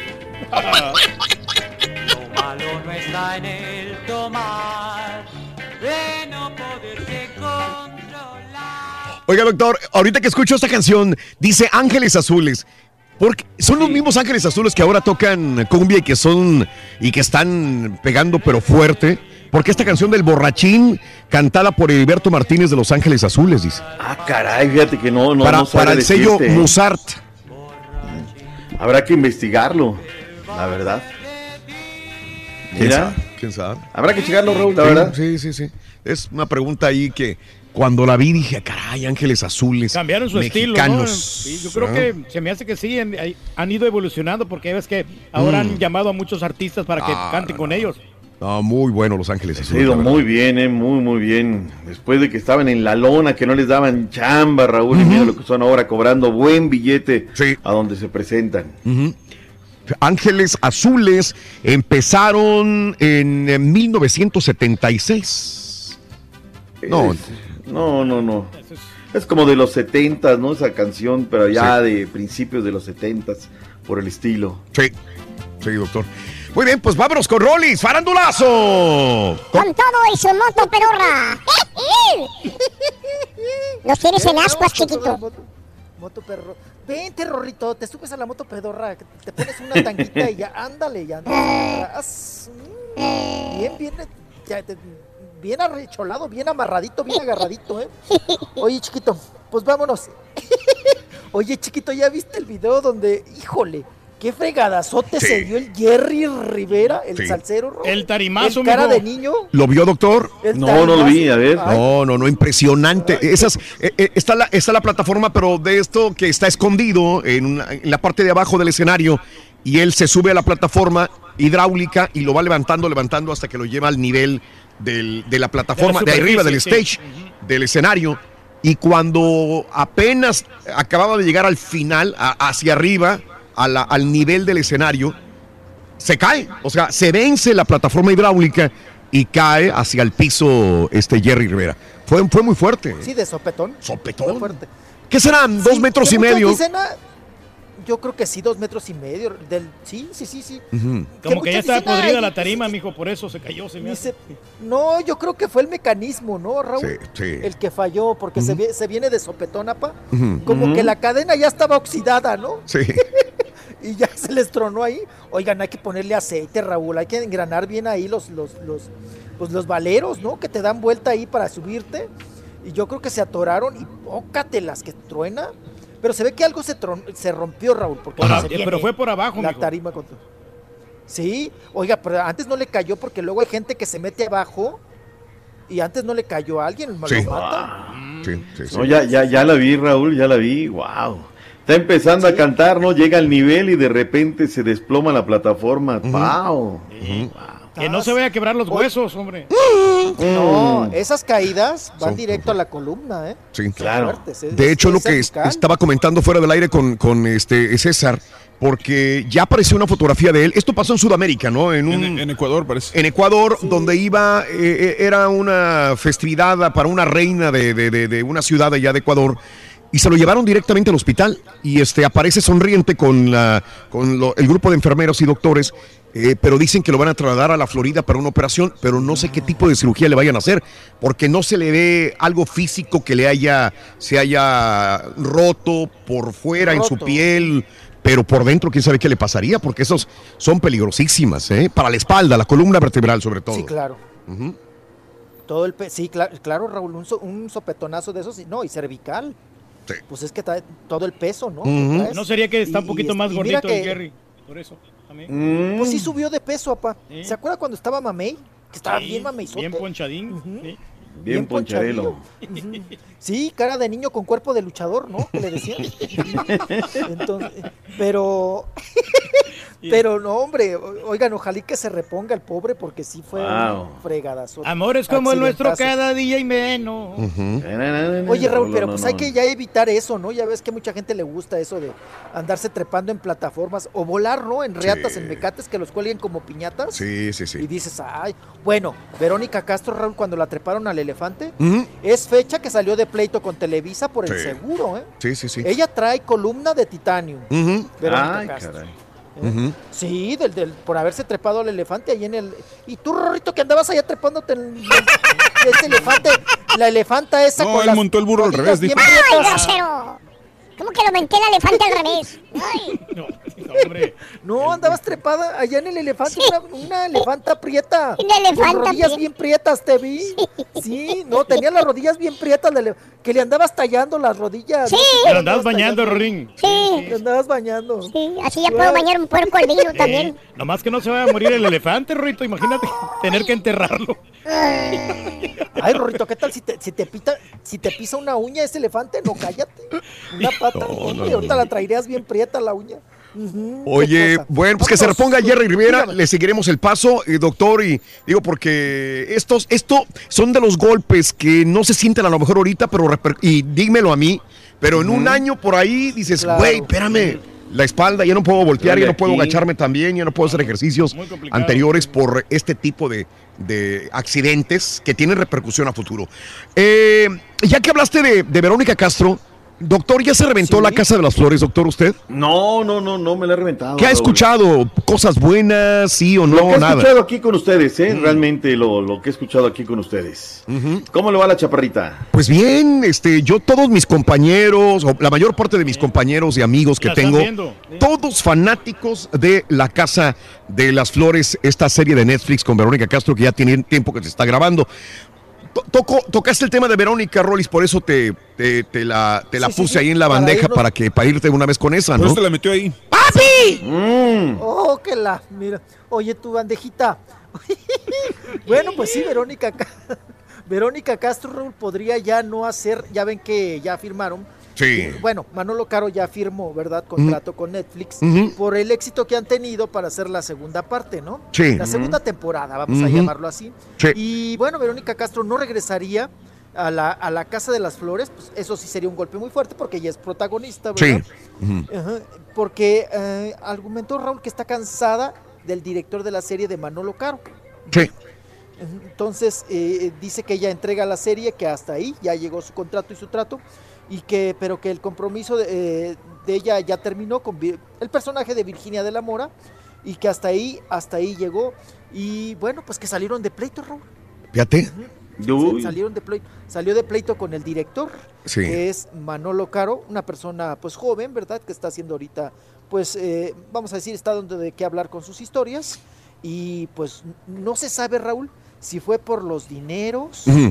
Lo malo no está en el tomar, de no poderse controlar. Oiga, doctor, ahorita que escucho esta canción, dice Ángeles Azules. Porque son los mismos Ángeles Azules que ahora tocan cumbia y que son y que están pegando pero fuerte. Porque esta canción del Borrachín, cantada por Heriberto Martínez de Los Ángeles Azules, dice. Ah, caray, fíjate que no, no, para, no sabe para el sello decirte, ¿eh? Mozart. Habrá que investigarlo, la verdad. ¿Quién Mira, sabe? ¿Quién sabe? habrá que checarlo, Raúl, la Sí, verdad. Sí, sí, sí. Es una pregunta ahí que cuando la vi dije, caray, Ángeles Azules. Cambiaron su mexicanos. estilo, ¿no? Sí, yo creo ¿Ah? que se me hace que sí, han, han ido evolucionando porque ves que ahora Mm. han llamado a muchos artistas para que Ah, canten no, con no. ellos. No, muy bueno Los Ángeles Ha Azules. ido la verdad. muy bien, eh, muy, muy bien. Después de que estaban en la lona, que no les daban chamba, Raúl, y mira lo que son ahora cobrando buen billete a donde se presentan. Ujú. Ángeles Azules empezaron en, en mil novecientos setenta y seis. No, Es- no, no, no. Es como de los setentas, ¿no? Esa canción, pero ya Sí. de principios de los setentas, por el estilo. sí, sí, doctor. Muy bien, pues vámonos con Rolis, farandulazo. Con todo y su moto pedorra. Los tienes en ascuas, chiquito. Moto, moto perro. Vente, Rorrito, te subes a la moto pedorra, que te pones una tanguita y ya, ándale, ya. Andas, mm, bien, bien, ya, te- bien arrecholado, bien amarradito, bien agarradito, ¿eh? Oye, chiquito, pues vámonos. Oye, chiquito, ¿ya viste el video donde, híjole, qué fregadazote Sí. se dio el Jerry Rivera, el Sí. salsero, Ro? El tarimazo, El cara mijo. de niño. ¿Lo vio, doctor? El No, no lo vi, a ver. No, no, no, impresionante. Esas, eh, eh, está, la, está la plataforma, pero de esto que está escondido en, una- en la parte de abajo del escenario y él se sube a la plataforma hidráulica y lo va levantando, levantando hasta que lo lleva al nivel del- de la plataforma, de, arriba del superficie, stage, del escenario. Y cuando apenas acababa de llegar al final, a- hacia arriba, a la- al nivel del escenario, se cae, o sea, se vence la plataforma hidráulica y cae hacia el piso este Jerry Rivera. Fue, fue muy fuerte. Sí, de sopetón. Sopetón. Fue fuerte. ¿Qué serán? ¿Dos Sí, metros que y muchos medio? dicen, ah, yo creo que sí, dos metros y medio. Del, sí, sí, sí, sí. Ujú. Como que ya muchos estaba dicen, ay, podrida la pues, tarima, mijo, por eso se cayó, se me hace. Dice, no, yo creo que fue el mecanismo, ¿no, Raúl? Sí, sí. El que falló, porque se, ve- se viene de sopetón, apa. Ujú. Como Ujú. que la cadena ya estaba oxidada, ¿no? Sí. Y ya se les tronó ahí. Oigan, hay que ponerle aceite, Raúl. Hay que engranar bien ahí los, los, los, pues los valeros, ¿no? Que te dan vuelta ahí para subirte. y yo creo que se atoraron y pócatelas que truena, pero se ve que algo se, tron, se rompió, Raúl, porque por no a, se pero fue por abajo, la mijo. tarima con... Sí, oiga, pero antes no le cayó porque luego hay gente que se mete abajo y antes no le cayó a alguien, Sí. lo mata. Sí, sí, sí. No, ya, ya, ya la vi, Raúl, ya la vi, wow. Está empezando sí. a cantar, ¿no? Llega al nivel y de repente se desploma la plataforma. Uh-huh. Wow. Sí. Wow. Que no se vaya a quebrar los huesos, hombre. No, esas caídas van Son directo a la columna, ¿eh? Sí, claro. Fuertes, es, de hecho, es lo que cervical. estaba comentando fuera del aire con, con este César, porque ya apareció una fotografía de él. Esto pasó en Sudamérica, ¿no? En, un, en, en Ecuador, parece. En Ecuador, sí. donde iba, eh, era una festividad para una reina de, de, de, de una ciudad allá de Ecuador. Y se lo llevaron directamente al hospital y este aparece sonriente con, la, con lo, el grupo de enfermeros y doctores, eh, pero dicen que lo van a trasladar a la Florida para una operación, pero no sé qué tipo de cirugía le vayan a hacer, porque no se le ve algo físico que le haya, se haya roto por fuera roto. en su piel, pero por dentro quién sabe qué le pasaría, porque esos son peligrosísimas, ¿eh? Para la espalda, la columna vertebral sobre todo. Sí, claro. Uh-huh. Todo el pe- sí, claro, claro, Raúl, un, so- un sopetonazo de esos, no, y cervical. Sí. Pues es que trae todo el peso, ¿no? Uh-huh. ¿No sería que está un poquito y, más y gordito el que, Jerry? Por eso, mm. Pues sí subió de peso, papá. ¿Sí? ¿Se acuerda cuando estaba mamey? Que estaba sí, bien mameyzote. Bien ponchadín. Uh-huh. Bien, Sí. bien poncharelo. Uh-huh. Sí, cara de niño con cuerpo de luchador, ¿no? Que le decían. Entonces, pero... Pero no, hombre, oigan, ojalá que se reponga el pobre porque sí fue wow. un fregadazo. Amores como el nuestro cada día y menos. Uh-huh. Oye, Raúl, no, pero no, pues no, hay no. que ya evitar eso, ¿no? Ya ves que mucha gente le gusta eso de andarse trepando en plataformas o volar, ¿no? En reatas, sí. en mecates que los cuelguen como piñatas. Sí, sí, sí. Y dices, ay, bueno, Verónica Castro, Raúl, cuando la treparon al elefante, uh-huh. es fecha que salió de pleito con Televisa por el sí. seguro, ¿eh? Sí, sí, sí. Ella trae columna de titanio. Uh-huh. Verónica ay, Castro. Caray. ¿Eh? Uh-huh. Sí, del, del, por haberse trepado al elefante ahí en el... Y tú, Rorrito, que andabas allá trepándote en el, ese elefante, la elefanta esa no, con él las montó el burro al revés, dijo. ¡Ay, grosero! ¿Cómo que lo menté el elefante al revés? Ay. No, no, hombre. No, andabas trepada allá en el elefante, sí. una, una elefanta prieta. Una elefanta con rodillas bien prietas, te vi. Sí, sí no, tenía las rodillas bien prietas, le, que le andabas tallando las rodillas. Sí. ¿no? Le andabas bañando, Rorín. Sí. Le andabas bañando. Sí, así ya puedo bañar un puerco al vino también. Eh, nomás que no se vaya a morir el elefante, Rorrito, imagínate tener que enterrarlo. Ay, Rorrito, ¿qué tal si te, si te pita, si te pisa una uña ese elefante? No, cállate. Una pata. No, no, ahorita no. la traerías bien prieta la uña. Uh-huh. Oye, bueno, pues Vámonos. que se reponga Jerry Rivera, Dígame. le seguiremos el paso, eh, doctor, y digo porque estos, esto son de los golpes que no se sienten a lo mejor ahorita, pero reper- y dímelo a mí, pero uh-huh. en un año por ahí dices, güey, claro. espérame, la espalda, ya no puedo voltear, ya no puedo agacharme también, ya no puedo hacer ejercicios anteriores por este tipo de, de accidentes que tienen repercusión a futuro. Eh, ya que hablaste de, de Verónica Castro, doctor, ¿ya se reventó ¿Sí? la Casa de las Flores, doctor, usted? No, no, no, no me la he reventado. ¿Qué ha escuchado? ¿Cosas buenas, sí o no? Lo que he nada. escuchado aquí con ustedes, ¿eh? Mm. Realmente lo, lo que he escuchado aquí con ustedes. Uh-huh. ¿Cómo le va a la chaparrita? Pues bien, este, yo todos mis compañeros, o la mayor parte de mis compañeros y amigos que tengo, todos fanáticos de la Casa de las Flores, esta serie de Netflix con Verónica Castro que ya tiene tiempo que se está grabando. Toco, tocaste el tema de Verónica, Rollis, por eso te, te, te la, te la sí, puse sí, sí. ahí en la para bandeja irnos... para que para irte una vez con esa, ¿no? Por eso te la metió ahí. ¡Papi! Mm. Oh, que la, mira, oye tu bandejita. Bueno, pues sí, Verónica, Verónica Castro, Raúl, podría ya no hacer, ya ven que ya firmaron. Sí. Bueno, Manolo Caro ya firmó, ¿verdad? Contrato uh-huh. con Netflix uh-huh. por el éxito que han tenido para hacer la segunda parte, ¿no? Sí. La segunda uh-huh. temporada, vamos uh-huh. a llamarlo así. Sí. Y bueno, Verónica Castro no regresaría a la, a la Casa de las Flores, pues eso sí sería un golpe muy fuerte porque ella es protagonista, ¿verdad? Sí. Uh-huh. Uh-huh. Porque eh, argumentó Raúl que está cansada del director de la serie de Manolo Caro. Sí. Entonces eh, dice que ella entrega la serie, que hasta ahí ya llegó su contrato y su trato, y que pero que el compromiso de, eh, de ella ya terminó con el personaje de Virginia de la Mora, y que hasta ahí, hasta ahí llegó, y bueno, pues que salieron de pleito, Raúl. Fíjate. Uh-huh. Salieron de pleito, salió de pleito con el director, sí. que es Manolo Caro, una persona pues joven, ¿verdad? Que está haciendo ahorita, pues eh, vamos a decir, está dando de qué hablar con sus historias, y pues no se sabe, Raúl, si fue por los dineros, uh-huh.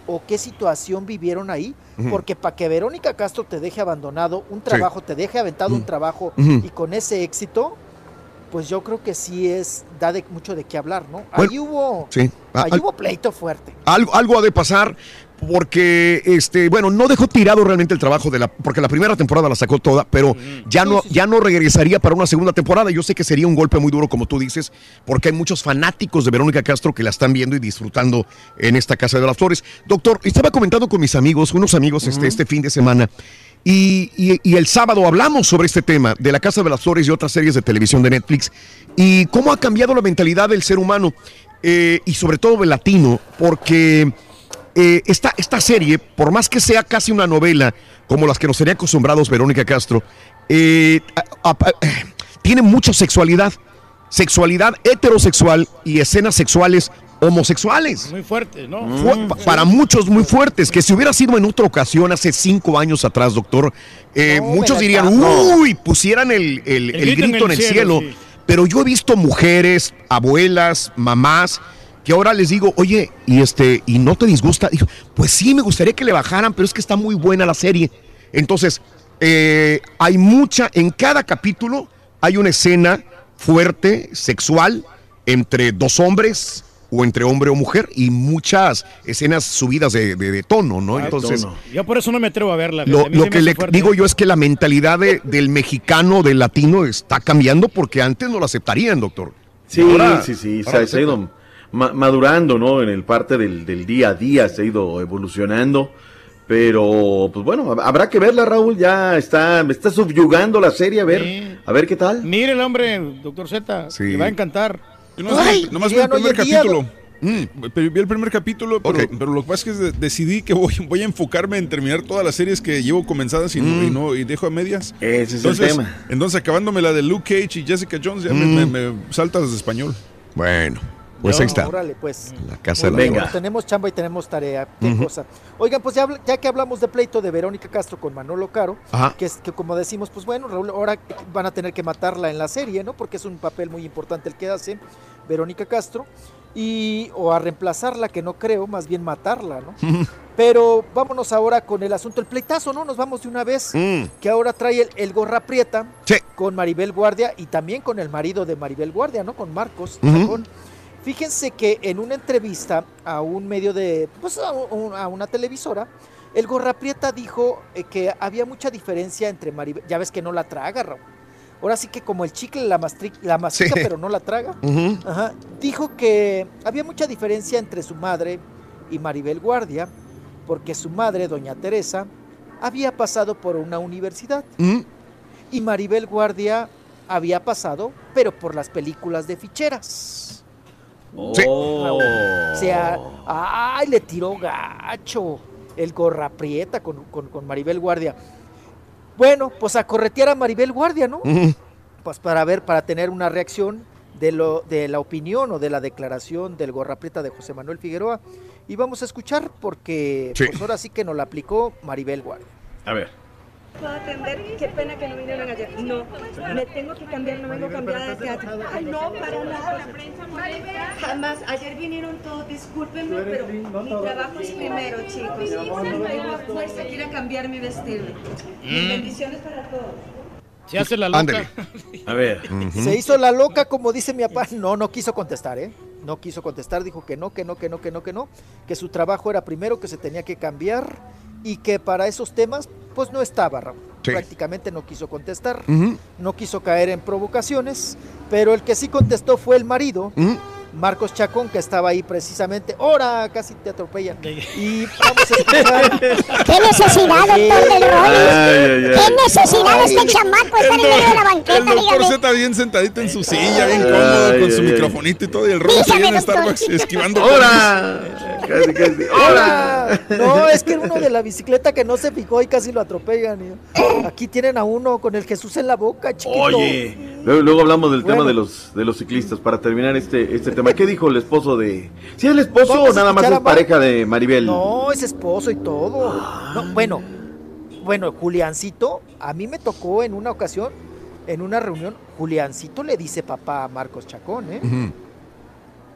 o qué situación vivieron ahí, Ujú. porque para que Verónica Castro te deje abandonado un trabajo, te deje aventado un trabajo Ujú. y con ese éxito, pues yo creo que sí es, da de, mucho de qué hablar, ¿no? Bueno, ahí hubo, sí. ahí Al- hubo pleito fuerte. Algo, algo ha de pasar porque, este, bueno, no dejó tirado realmente el trabajo de la, porque la primera temporada la sacó toda, pero ya no, ya no regresaría para una segunda temporada. Yo sé que sería un golpe muy duro, como tú dices, porque hay muchos fanáticos de Verónica Castro que la están viendo y disfrutando en esta Casa de las Flores. Doctor, estaba comentando con mis amigos, unos amigos este, este fin de semana, y, y- y el sábado hablamos sobre este tema de la Casa de las Flores y otras series de televisión de Netflix, y cómo ha cambiado la mentalidad del ser humano, eh, y sobre todo del latino, porque... Eh, esta, esta serie, por más que sea casi una novela, como las que nos tenía acostumbrados Verónica Castro, eh, a- a- eh, tiene mucha sexualidad, sexualidad heterosexual y escenas sexuales homosexuales. Muy fuerte, ¿no? Fu- pa- para muchos muy fuertes, que si hubiera sido en otra ocasión, hace cinco años atrás, doctor, eh, No, muchos me la dirían, tapo. uy, pusieran el, el- el grito en el cielo, sí. pero yo he visto mujeres, abuelas, mamás, que ahora les digo, oye, y este, ¿y no te disgusta? Dijo, pues sí, me gustaría que le bajaran, pero es que está muy buena la serie. Entonces, eh, hay mucha, en cada capítulo hay una escena fuerte, sexual, entre dos hombres o entre hombre o mujer, y muchas escenas subidas de, de- de tono, ¿no? Entonces, Yo por eso no me atrevo a verla. lo, a mí lo se me que hace le fuerte. digo yo es que la mentalidad de- del mexicano, del latino, está cambiando porque antes no lo aceptarían, doctor. Sí, Ahora- sí, sí, ahora se, se ha ido ma- madurando, ¿no? En el parte del, del día a día se ha ido evolucionando, pero pues bueno, hab- habrá que verla, Raúl, ya está, me está subyugando la serie, a ver, Sí. a ver qué tal. Mire el hombre, doctor Z, Sí. le va a encantar. Yo nomás, Ay, nomás vi digan, el primer oye, día, capítulo. Mm, pero vi el primer capítulo, pero, Ok. pero lo que pasa es que de- decidí que voy, voy a enfocarme en terminar todas las series que llevo comenzadas y, no, y, no- y dejo a medias. Ese es Entonces, el tema. entonces acabándome la de Luke Cage y Jessica Jones, ya me, Mm. me- me saltas de español. Bueno, pues No, ahí está. Órale, pues. La casa Muy de bien, la Venga. pues tenemos chamba y tenemos tarea. Qué Ujú. cosa. Oigan, pues ya, habla- ya que hablamos de pleito de Verónica Castro con Manolo Caro, Ajá. que es que como decimos, pues bueno, Raúl, ahora van a tener que matarla en la serie, ¿no? Porque es un papel muy importante el que hace Verónica Castro. Y, o a reemplazarla, que no creo, más bien matarla, ¿no? Pero vámonos ahora con el asunto, el pleitazo, ¿no? Nos vamos de una vez, Mm. que ahora trae el, el Gorra Prieta Sí. con Maribel Guardia y también con el marido de Maribel Guardia, ¿no? Con Marcos Ujú. Chacón. Fíjense que en una entrevista a un medio de, pues a, un- a una televisora, el Gorra Prieta dijo eh, que había mucha diferencia entre Maribel, ya ves que no la traga, Raúl. Ahora sí que como el chicle la, mastri- la mastica, Sí. pero no la traga. Ujú. Ajá. Dijo que había mucha diferencia entre su madre y Maribel Guardia, porque su madre, doña Teresa, había pasado por una universidad Mm. y Maribel Guardia había pasado, pero por las películas de ficheras. Sí. Oh. O sea, ay, le tiró gacho el Gorra Prieta con, con, con Maribel Guardia. Bueno, pues a corretear a Maribel Guardia, ¿no? Ujú. Pues para ver, para tener una reacción de, lo, de la opinión o de la declaración del Gorra Prieta de José Manuel Figueroa. Y vamos a escuchar porque Sí. pues ahora sí que nos la aplicó Maribel Guardia. A ver. ¿Puedo atender? Qué pena que no vinieron ayer. No, me tengo que cambiar, no vengo cambiada de teatro. Ay, no, para nada. Jamás. Ayer vinieron todos, discúlpenme, pero mi trabajo es primero, chicos. Tengo fuerza, quiero cambiar mi vestido. Mm. Bendiciones para todos. Se hace la loca. Ándale. A ver. Se hizo la loca, como dice mi papá. No, no quiso contestar, ¿eh? No quiso contestar, dijo que no, que no, que no, que no, que no. Que su trabajo era primero, que se tenía que cambiar y que para esos temas, pues no estaba, Raúl. Sí. Prácticamente no quiso contestar, Ujú. no quiso caer en provocaciones, pero el que sí contestó fue el marido, Ujú. Marcos Chacón, que estaba ahí precisamente. ¡Hora! Casi te atropellan. Y vamos a escuchar. ¿Qué necesidad, doctor del Rollis? Ay, ay, ay. ¿Qué necesidad este chamaco estar en medio de la banqueta? El doctor Dígame. Z bien sentadito en su silla, bien cómodo, Ay, con su ay, ay. microfonito y todo, y el rollo Dígame, ahí en doctor. Starbucks esquivando. ¡Hola! Casi, casi. ¡Hola! No, es que era uno de la bicicleta que no se fijó y casi lo atropellan. y- Aquí tienen a uno con el Jesús en la boca, chiquito. Oye, luego, luego hablamos del Bueno. tema de los de los ciclistas para terminar este este tema. ¿Qué dijo el esposo de? ¿Sí es el esposo Vamos o a nada más escuchar es a Mar- pareja de Maribel? No, es esposo y todo. No, bueno, bueno, Juliancito, a mí me tocó en una ocasión, en una reunión, Juliancito le dice papá a Marcos Chacón, ¿eh? Ujú.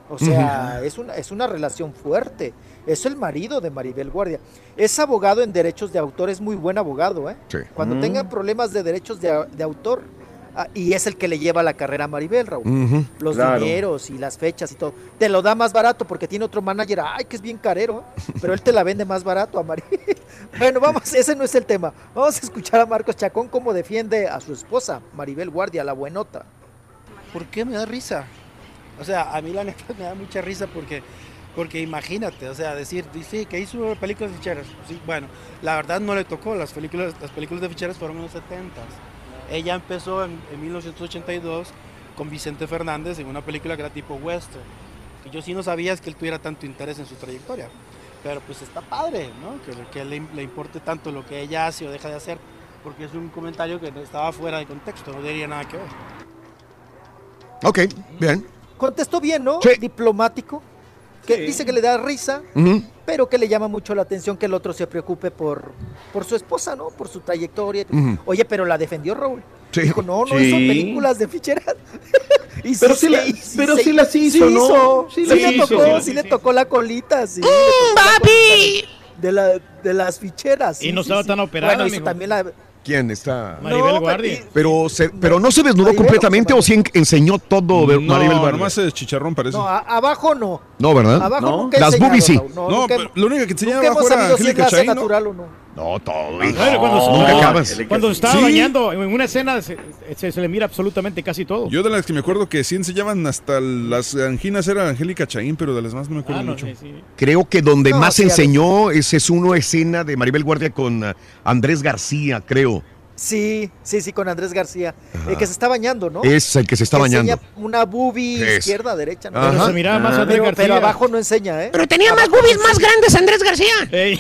O sea, uh-huh. es, una, es una relación fuerte. Es el marido de Maribel Guardia. Es abogado en derechos de autor, es muy buen abogado, ¿eh? Sí. Cuando uh-huh. tengan problemas de derechos de, de autor, ah, y es el que le lleva la carrera a Maribel, Raúl. Uh-huh. Los claro. dineros y las fechas y todo. Te lo da más barato porque tiene otro manager, ay, que es bien carero, ¿eh? Pero él te la vende más barato a Maribel. Bueno, vamos, ese no es el tema. Vamos a escuchar a Marcos Chacón cómo defiende a su esposa, Maribel Guardia, la buenota. ¿Por qué me da risa? O sea, a mí la neta me da mucha risa porque, porque imagínate, o sea, decir, sí, que hizo películas de ficheras. Sí, bueno, la verdad no le tocó, las películas, las películas de ficheras fueron en los setentas. Ella empezó en, en mil novecientos ochenta y dos con Vicente Fernández en una película que era tipo western. Y yo sí no sabía que él tuviera tanto interés en su trayectoria. Pero pues está padre, ¿no? Que, que le, le importe tanto lo que ella hace o deja de hacer, porque es un comentario que estaba fuera de contexto, no tenía nada que ver. Ok, bien. Contestó bien, ¿no? Sí. Diplomático. Que sí. Dice que le da risa, uh-huh. pero que le llama mucho la atención que el otro se preocupe por, por su esposa, ¿no? Por su trayectoria. Uh-huh. Oye, pero la defendió Raúl. Sí. Dijo, no, no sí. son películas de ficheras. Y pero sí, sí, la, sí, pero sí, sí las hizo, sí ¿no? Hizo, sí, sí, le hizo, tocó, sí, sí, sí le sí. tocó la colita, sí. ¡Mmm, papi! De, la, de las ficheras. Sí, y no sí, estaba sí. tan operada, Bueno, hizo amigo. también la... ¿Quién está? Maribel no, Guardia. Pero, se, pero no se desnudó Maribel, completamente o sí en, enseñó todo de no, Maribel Guardia. nomás es chicharrón parece. No, a, abajo no. No, ¿verdad? Abajo no. nunca he Las boobies sí. No, no nunca, pero lo único que enseñaba nunca abajo era Angélica si Chaín, ¿no? natural o no. No, todo. No, cuando, nunca no, acabas. Cuando se estaba ¿Sí? bañando en una escena se, se, se le mira absolutamente casi todo. Yo de las que me acuerdo que sí enseñaban hasta las anginas era Angélica Chaín, pero de las más no me acuerdo ah, no, mucho. Sí, sí. Creo que donde no, más sí, enseñó esa es una escena de Maribel Guardia con uh, Andrés García, creo. Sí, sí, sí, con Andrés García. El que se está bañando, ¿no? Es el que se está que bañando. Enseña una boobie es. izquierda, derecha. ¿no? Pero se miraba más Andrés pero, García. Pero abajo no enseña, ¿eh? Pero tenía abajo más boobies no más grandes Andrés García.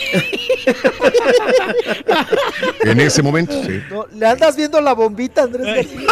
En ese momento, sí. No, le andas viendo la bombita, Andrés García.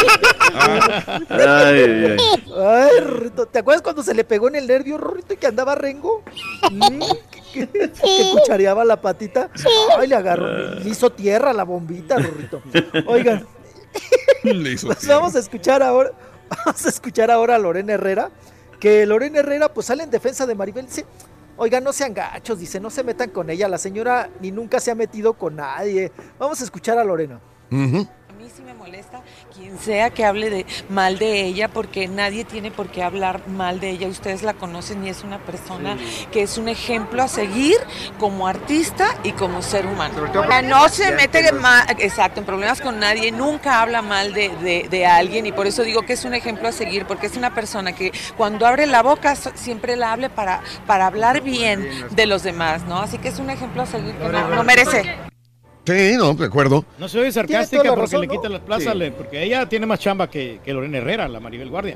Ay, ay, ay. Ay, Rorrito, ¿te acuerdas cuando se le pegó en el nervio, Rorrito, y que andaba rengo? Mm, que, que, sí. que cuchareaba la patita. Sí. Ay, le agarró, le hizo tierra la bombita, Rorrito. Oigan, pues vamos a escuchar ahora, vamos a escuchar ahora a Lorena Herrera, que Lorena Herrera pues sale en defensa de Maribel, dice, oigan, no sean gachos, dice, no se metan con ella, la señora ni nunca se ha metido con nadie. Vamos a escuchar a Lorena. Uh-huh. A mí sí me molesta quien sea que hable de, mal de ella, porque nadie tiene por qué hablar mal de ella. Ustedes la conocen y es una persona sí. que es un ejemplo a seguir como artista y como ser humano. No se mete ma, exacto, en problemas con nadie, nunca habla mal de, de, de alguien, y por eso digo que es un ejemplo a seguir, porque es una persona que cuando abre la boca siempre la hable para, para hablar bien de los demás, ¿no? Así que es un ejemplo a seguir que no, no merece. Sí, no, de acuerdo. No soy sarcástica porque razón, le ¿no? quita las plazas, sí. porque ella tiene más chamba que, que Lorena Herrera, la Maribel Guardia.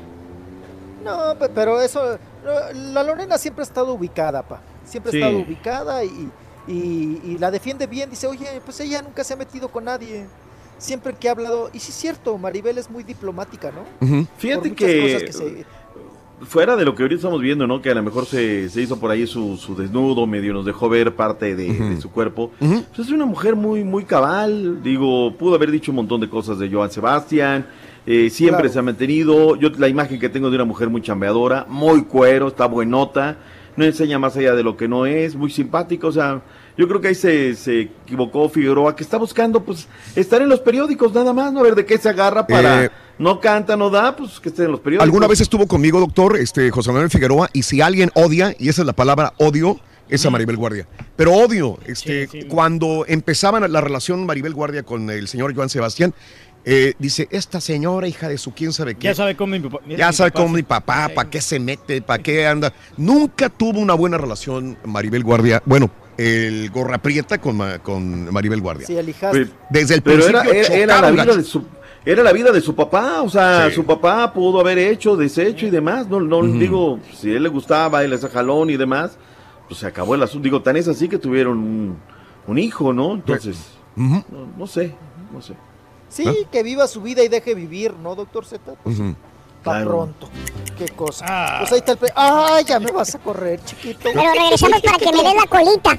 No, pero eso, la Lorena siempre ha estado ubicada, pa. Siempre ha sí. estado ubicada y, y, y la defiende bien. Dice, oye, pues ella nunca se ha metido con nadie. Siempre que ha hablado, y sí es cierto, Maribel es muy diplomática, ¿no? Uh-huh. Fíjate que, que se... fuera de lo que ahorita estamos viendo, ¿no? Que a lo mejor se, se hizo por ahí su, su desnudo, medio nos dejó ver parte de, uh-huh. de su cuerpo. Uh-huh. Pues es una mujer muy, muy cabal. Digo, pudo haber dicho un montón de cosas de Joan Sebastián. Eh, siempre claro. se ha mantenido. Yo la imagen que tengo de una mujer muy chambeadora, muy cuero, está buenota, no enseña más allá de lo que no es, muy simpática. O sea, yo creo que ahí se, se equivocó Figueroa, que está buscando pues estar en los periódicos nada más, no a ver de qué se agarra para... Eh... No canta, no da, pues que esté en los periódicos. Alguna vez estuvo conmigo, doctor, este José Manuel Figueroa, y si alguien odia, y esa es la palabra odio, es a Maribel Guardia. Pero odio, este, sí, sí. cuando empezaban la relación Maribel Guardia con el señor Joan Sebastián, eh, dice, esta señora, hija de su quién sabe qué. Ya sabe cómo mi papá. Ya mi sabe papá cómo mi papá, para qué se mete, para qué anda. Nunca tuvo una buena relación Maribel Guardia. Bueno, el Gorra Prieta con, con Maribel Guardia. Sí, el hijastro. Desde el Pero principio era, era, era la vida de su... Era la vida de su papá, o sea, sí. su papá pudo haber hecho, deshecho y demás, no, no uh-huh. digo, si a él le gustaba, él ese jalón y demás, pues se acabó el asunto, digo, tan es así que tuvieron un, un hijo, ¿no? Entonces, uh-huh. no, no sé, no sé. Sí, ¿no? Que viva su vida y deje vivir, ¿no, doctor Z? Pues, uh-huh. Pa' claro. pronto, qué cosa. Ah. Pues ahí está el... Pe- ¡Ay, ya me vas a correr, chiquito! Pero regresamos para que me des la colita.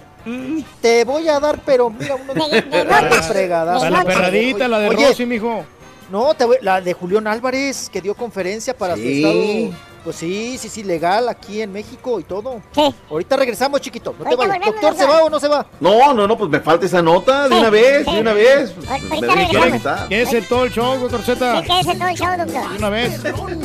Te voy a dar, pero mira, unos de, de para, fregadas. Para la perradita, la de Oye, Rosy, mijo. No, te voy, la de Julián Álvarez, que dio conferencia para sí. su estado Pues sí, sí, sí, legal aquí en México y todo. Sí. Ahorita regresamos, chiquito. No te Ahorita vayas. volvemos, Doctor, ¿se doctor. va o no se va? No, no, no, pues me falta esa nota de Sí, una vez, sí. de una vez. Ahorita Me debe regresamos. conectar. ¿Qué es el todo el show, doctor Z? Sí, que ese todo el show, doctor. De una vez.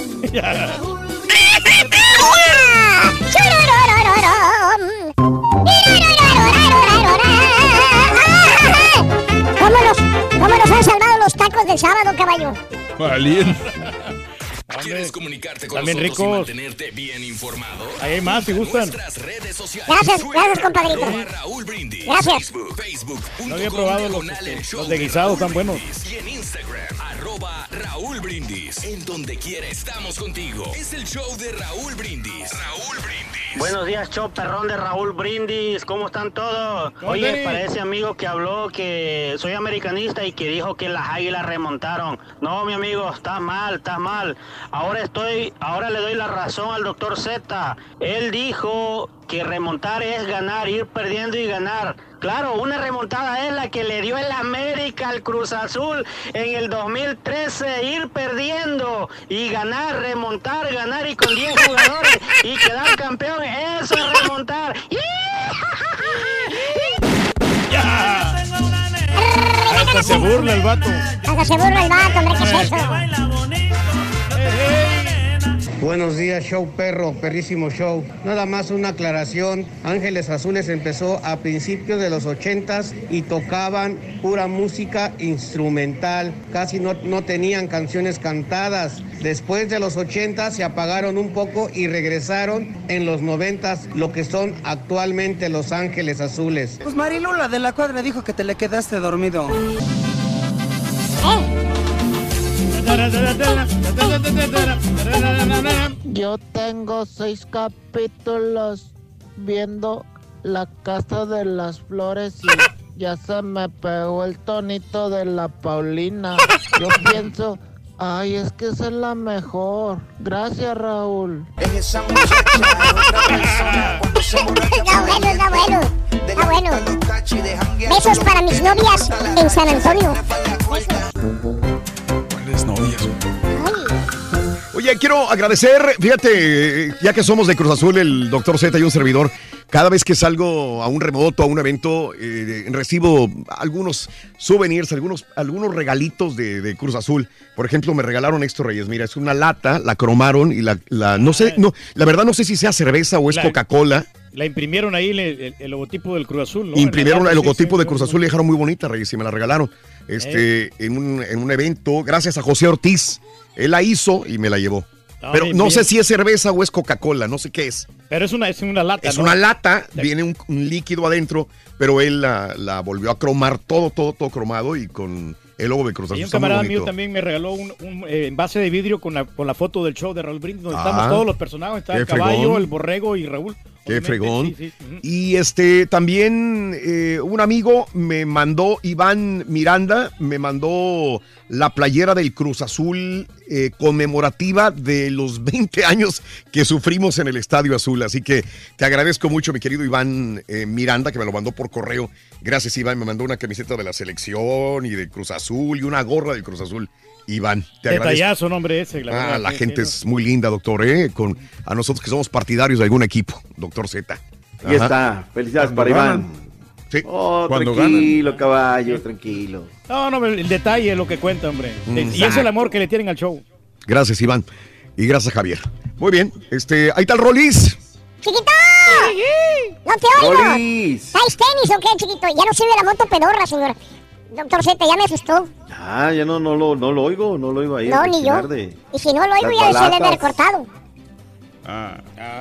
¿Cómo nos, ¿Cómo nos han salvado los tacos del sábado, caballo? Alien. ¿Quieres comunicarte con También nosotros y ricos. mantenerte bien informado? Hay más si gustan. Nuestras redes sociales. Gracias, gracias, compadrito. Arroba Raúl Brindis. Gracias. Facebook, Facebook. No había probado los, este, los de guisados tan buenos. Y en Instagram, arroba Raúl Brindis. En donde quiera estamos contigo. Es el show de Raúl Brindis. Raúl Brindis. Buenos días, show perrón de Raúl Brindis. ¿Cómo están todos? Oye, Dani? para ese amigo que habló que soy americanista y que dijo que las águilas remontaron. No, mi amigo, estás mal, estás mal. Ahora estoy, ahora le doy la razón al doctor Z. Él dijo que remontar es ganar, ir perdiendo y ganar. Claro, una remontada es la que le dio el América al Cruz Azul en el dos mil trece, ir perdiendo y ganar, remontar, ganar y con diez jugadores y quedar campeón. Eso es remontar. ¡Ya! Hasta se burla el vato. Hasta se burla el vato, hombre, ¿qué es eso? Buenos días, show perro, perrísimo show. Nada más una aclaración. Ángeles Azules empezó a principios de los ochentas y tocaban pura música instrumental. Casi no, no tenían canciones cantadas. Después de los ochentas se apagaron un poco y regresaron en los noventas, lo que son actualmente Los Ángeles Azules. Pues Marilula de la cuadra dijo que te le quedaste dormido. Yo tengo seis capítulos viendo La Casa de las Flores y ya se me pegó el tonito de la Paulina. Yo pienso, ay, es que esa es la mejor. Gracias, Raúl. Está bueno, está bueno. Está bueno. Besos para mis novias en San Antonio. ¿Cuáles novias? Oye, quiero agradecer, fíjate, ya que somos de Cruz Azul, el doctor Z y un servidor, cada vez que salgo a un remoto, a un evento, eh, recibo algunos souvenirs, algunos, algunos regalitos de, de Cruz Azul. Por ejemplo, me regalaron esto, Reyes. Mira, es una lata, la cromaron y la, la no sé, no, la verdad no sé si sea cerveza o es La- Coca-Cola. La imprimieron ahí el, el- el logotipo del Cruz Azul, ¿no? Imprimieron En la el lata, logotipo sí, de sí, Cruz sí. Azul y dejaron muy bonita, Reyes, y me la regalaron. Este, en un, en un evento, gracias a José Ortiz. Él la hizo y me la llevó. Ah, Pero bien, no bien. sé si es cerveza o es Coca-Cola, no sé qué es. Pero es una, es una lata, Es ¿no? una lata, viene un, un líquido adentro, pero él la, la volvió a cromar todo, todo, todo cromado y con el logo de Cruz Azul. Y un Está muy camarada mío bonito. también me regaló un, un eh, envase de vidrio con la, con la foto del show de Raúl Brindis, donde Ah, estamos todos los personajes. Está qué el caballo, fregón. el borrego y Raúl. Qué Obviamente, fregón. sí, sí, ujú. Y este también eh, un amigo me mandó, Iván Miranda, me mandó la playera del Cruz Azul eh, conmemorativa de los veinte años que sufrimos en el Estadio Azul. Así que te agradezco mucho, mi querido Iván eh, Miranda, que me lo mandó por correo. Gracias, Iván. Me mandó una camiseta de la selección y de Cruz Azul y una gorra del Cruz Azul. Iván, te agradezco. Detallazo, nombre ese. La Ah, verdad, la sí, gente sí, es muy linda, doctor, ¿eh? Con, a nosotros que somos partidarios de algún equipo, doctor Z. Ahí está. Felicidades para Iván. Sí. Oh, Cuando tranquilo, caballo, tranquilo. No, no, el detalle es lo que cuenta, hombre. Mm. Y es el amor que le tienen al show. Gracias, Iván. Y gracias, Javier. Muy bien, este, ahí está el Rolis. ¡Chiquito! ¡No te oigo! Rolis. ¿Traes tenis o qué, chiquito? Ya no sirve la moto pedorra, señor. Doctor Z, ya me asustó. Ah, ya no, no, lo, no lo oigo, no lo oigo ahí. No, al ni yo. rechinar de Y si no lo oigo, las ya se debe balatas. haber cortado. Ah.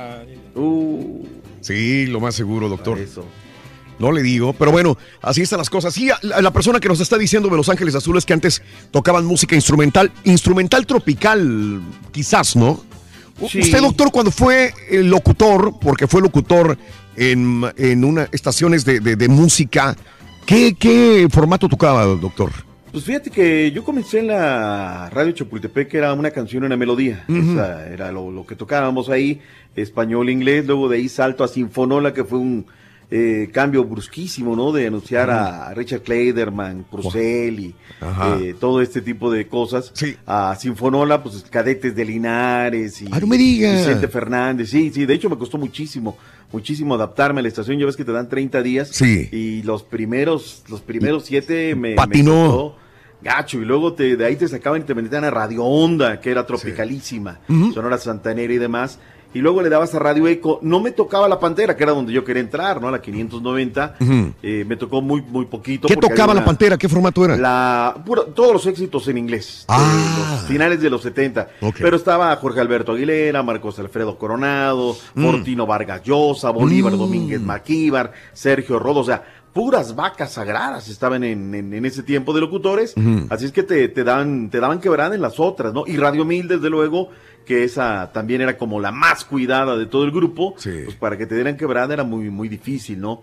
Uh, Sí, lo más seguro, doctor. No le digo, pero bueno, así están las cosas. Sí, la, la persona que nos está diciendo de Los Ángeles Azules que antes tocaban música instrumental, instrumental tropical, quizás, ¿no? U- Sí. Usted, doctor, cuando fue el locutor, porque fue locutor en, en una estaciones de, de- de música, ¿qué, ¿qué formato tocaba, doctor? Pues fíjate que yo comencé en la radio Chapultepec, que era una canción, una melodía. Ujú. O sea, era lo, lo que tocábamos ahí, español, inglés. Luego de ahí salto a Sinfonola, que fue un eh, cambio brusquísimo, ¿no? De anunciar a Richard Clayderman, Purcell y eh, todo este tipo de cosas. Sí. A Sinfonola, pues cadetes de Linares y ah, no me digas. Vicente Fernández. Sí, sí, de hecho me costó muchísimo, muchísimo adaptarme a la estación. Ya ves que te dan treinta días. Sí. Y los primeros, los primeros siete me, patinó. me costó gacho, y luego te, de ahí te sacaban y te metían a Radio Onda, que era tropicalísima, sí. uh-huh. Sonora Santanera y demás, y luego le dabas a Radio Eco. No me tocaba la Pantera, que era donde yo quería entrar, ¿no? La quinientos noventa, uh-huh. eh, me tocó muy, muy poquito. ¿Qué tocaba una, la Pantera? ¿Qué formato era? La, pura, todos los éxitos en inglés, ah. los finales de los setenta, okay. Pero estaba Jorge Alberto Aguilera, Marcos Alfredo Coronado, mm. Fortino Vargas Llosa, Bolívar mm. Domínguez Maquíbar, Sergio Rodo, o sea, puras vacas sagradas estaban en, en, en ese tiempo de locutores, uh-huh. Así es que te, te, dan, te daban quebrada en las otras, ¿no? Y Radio Mil, desde luego, que esa también era como la más cuidada de todo el grupo, sí. Pues para que te dieran quebrada era muy, muy difícil, ¿no?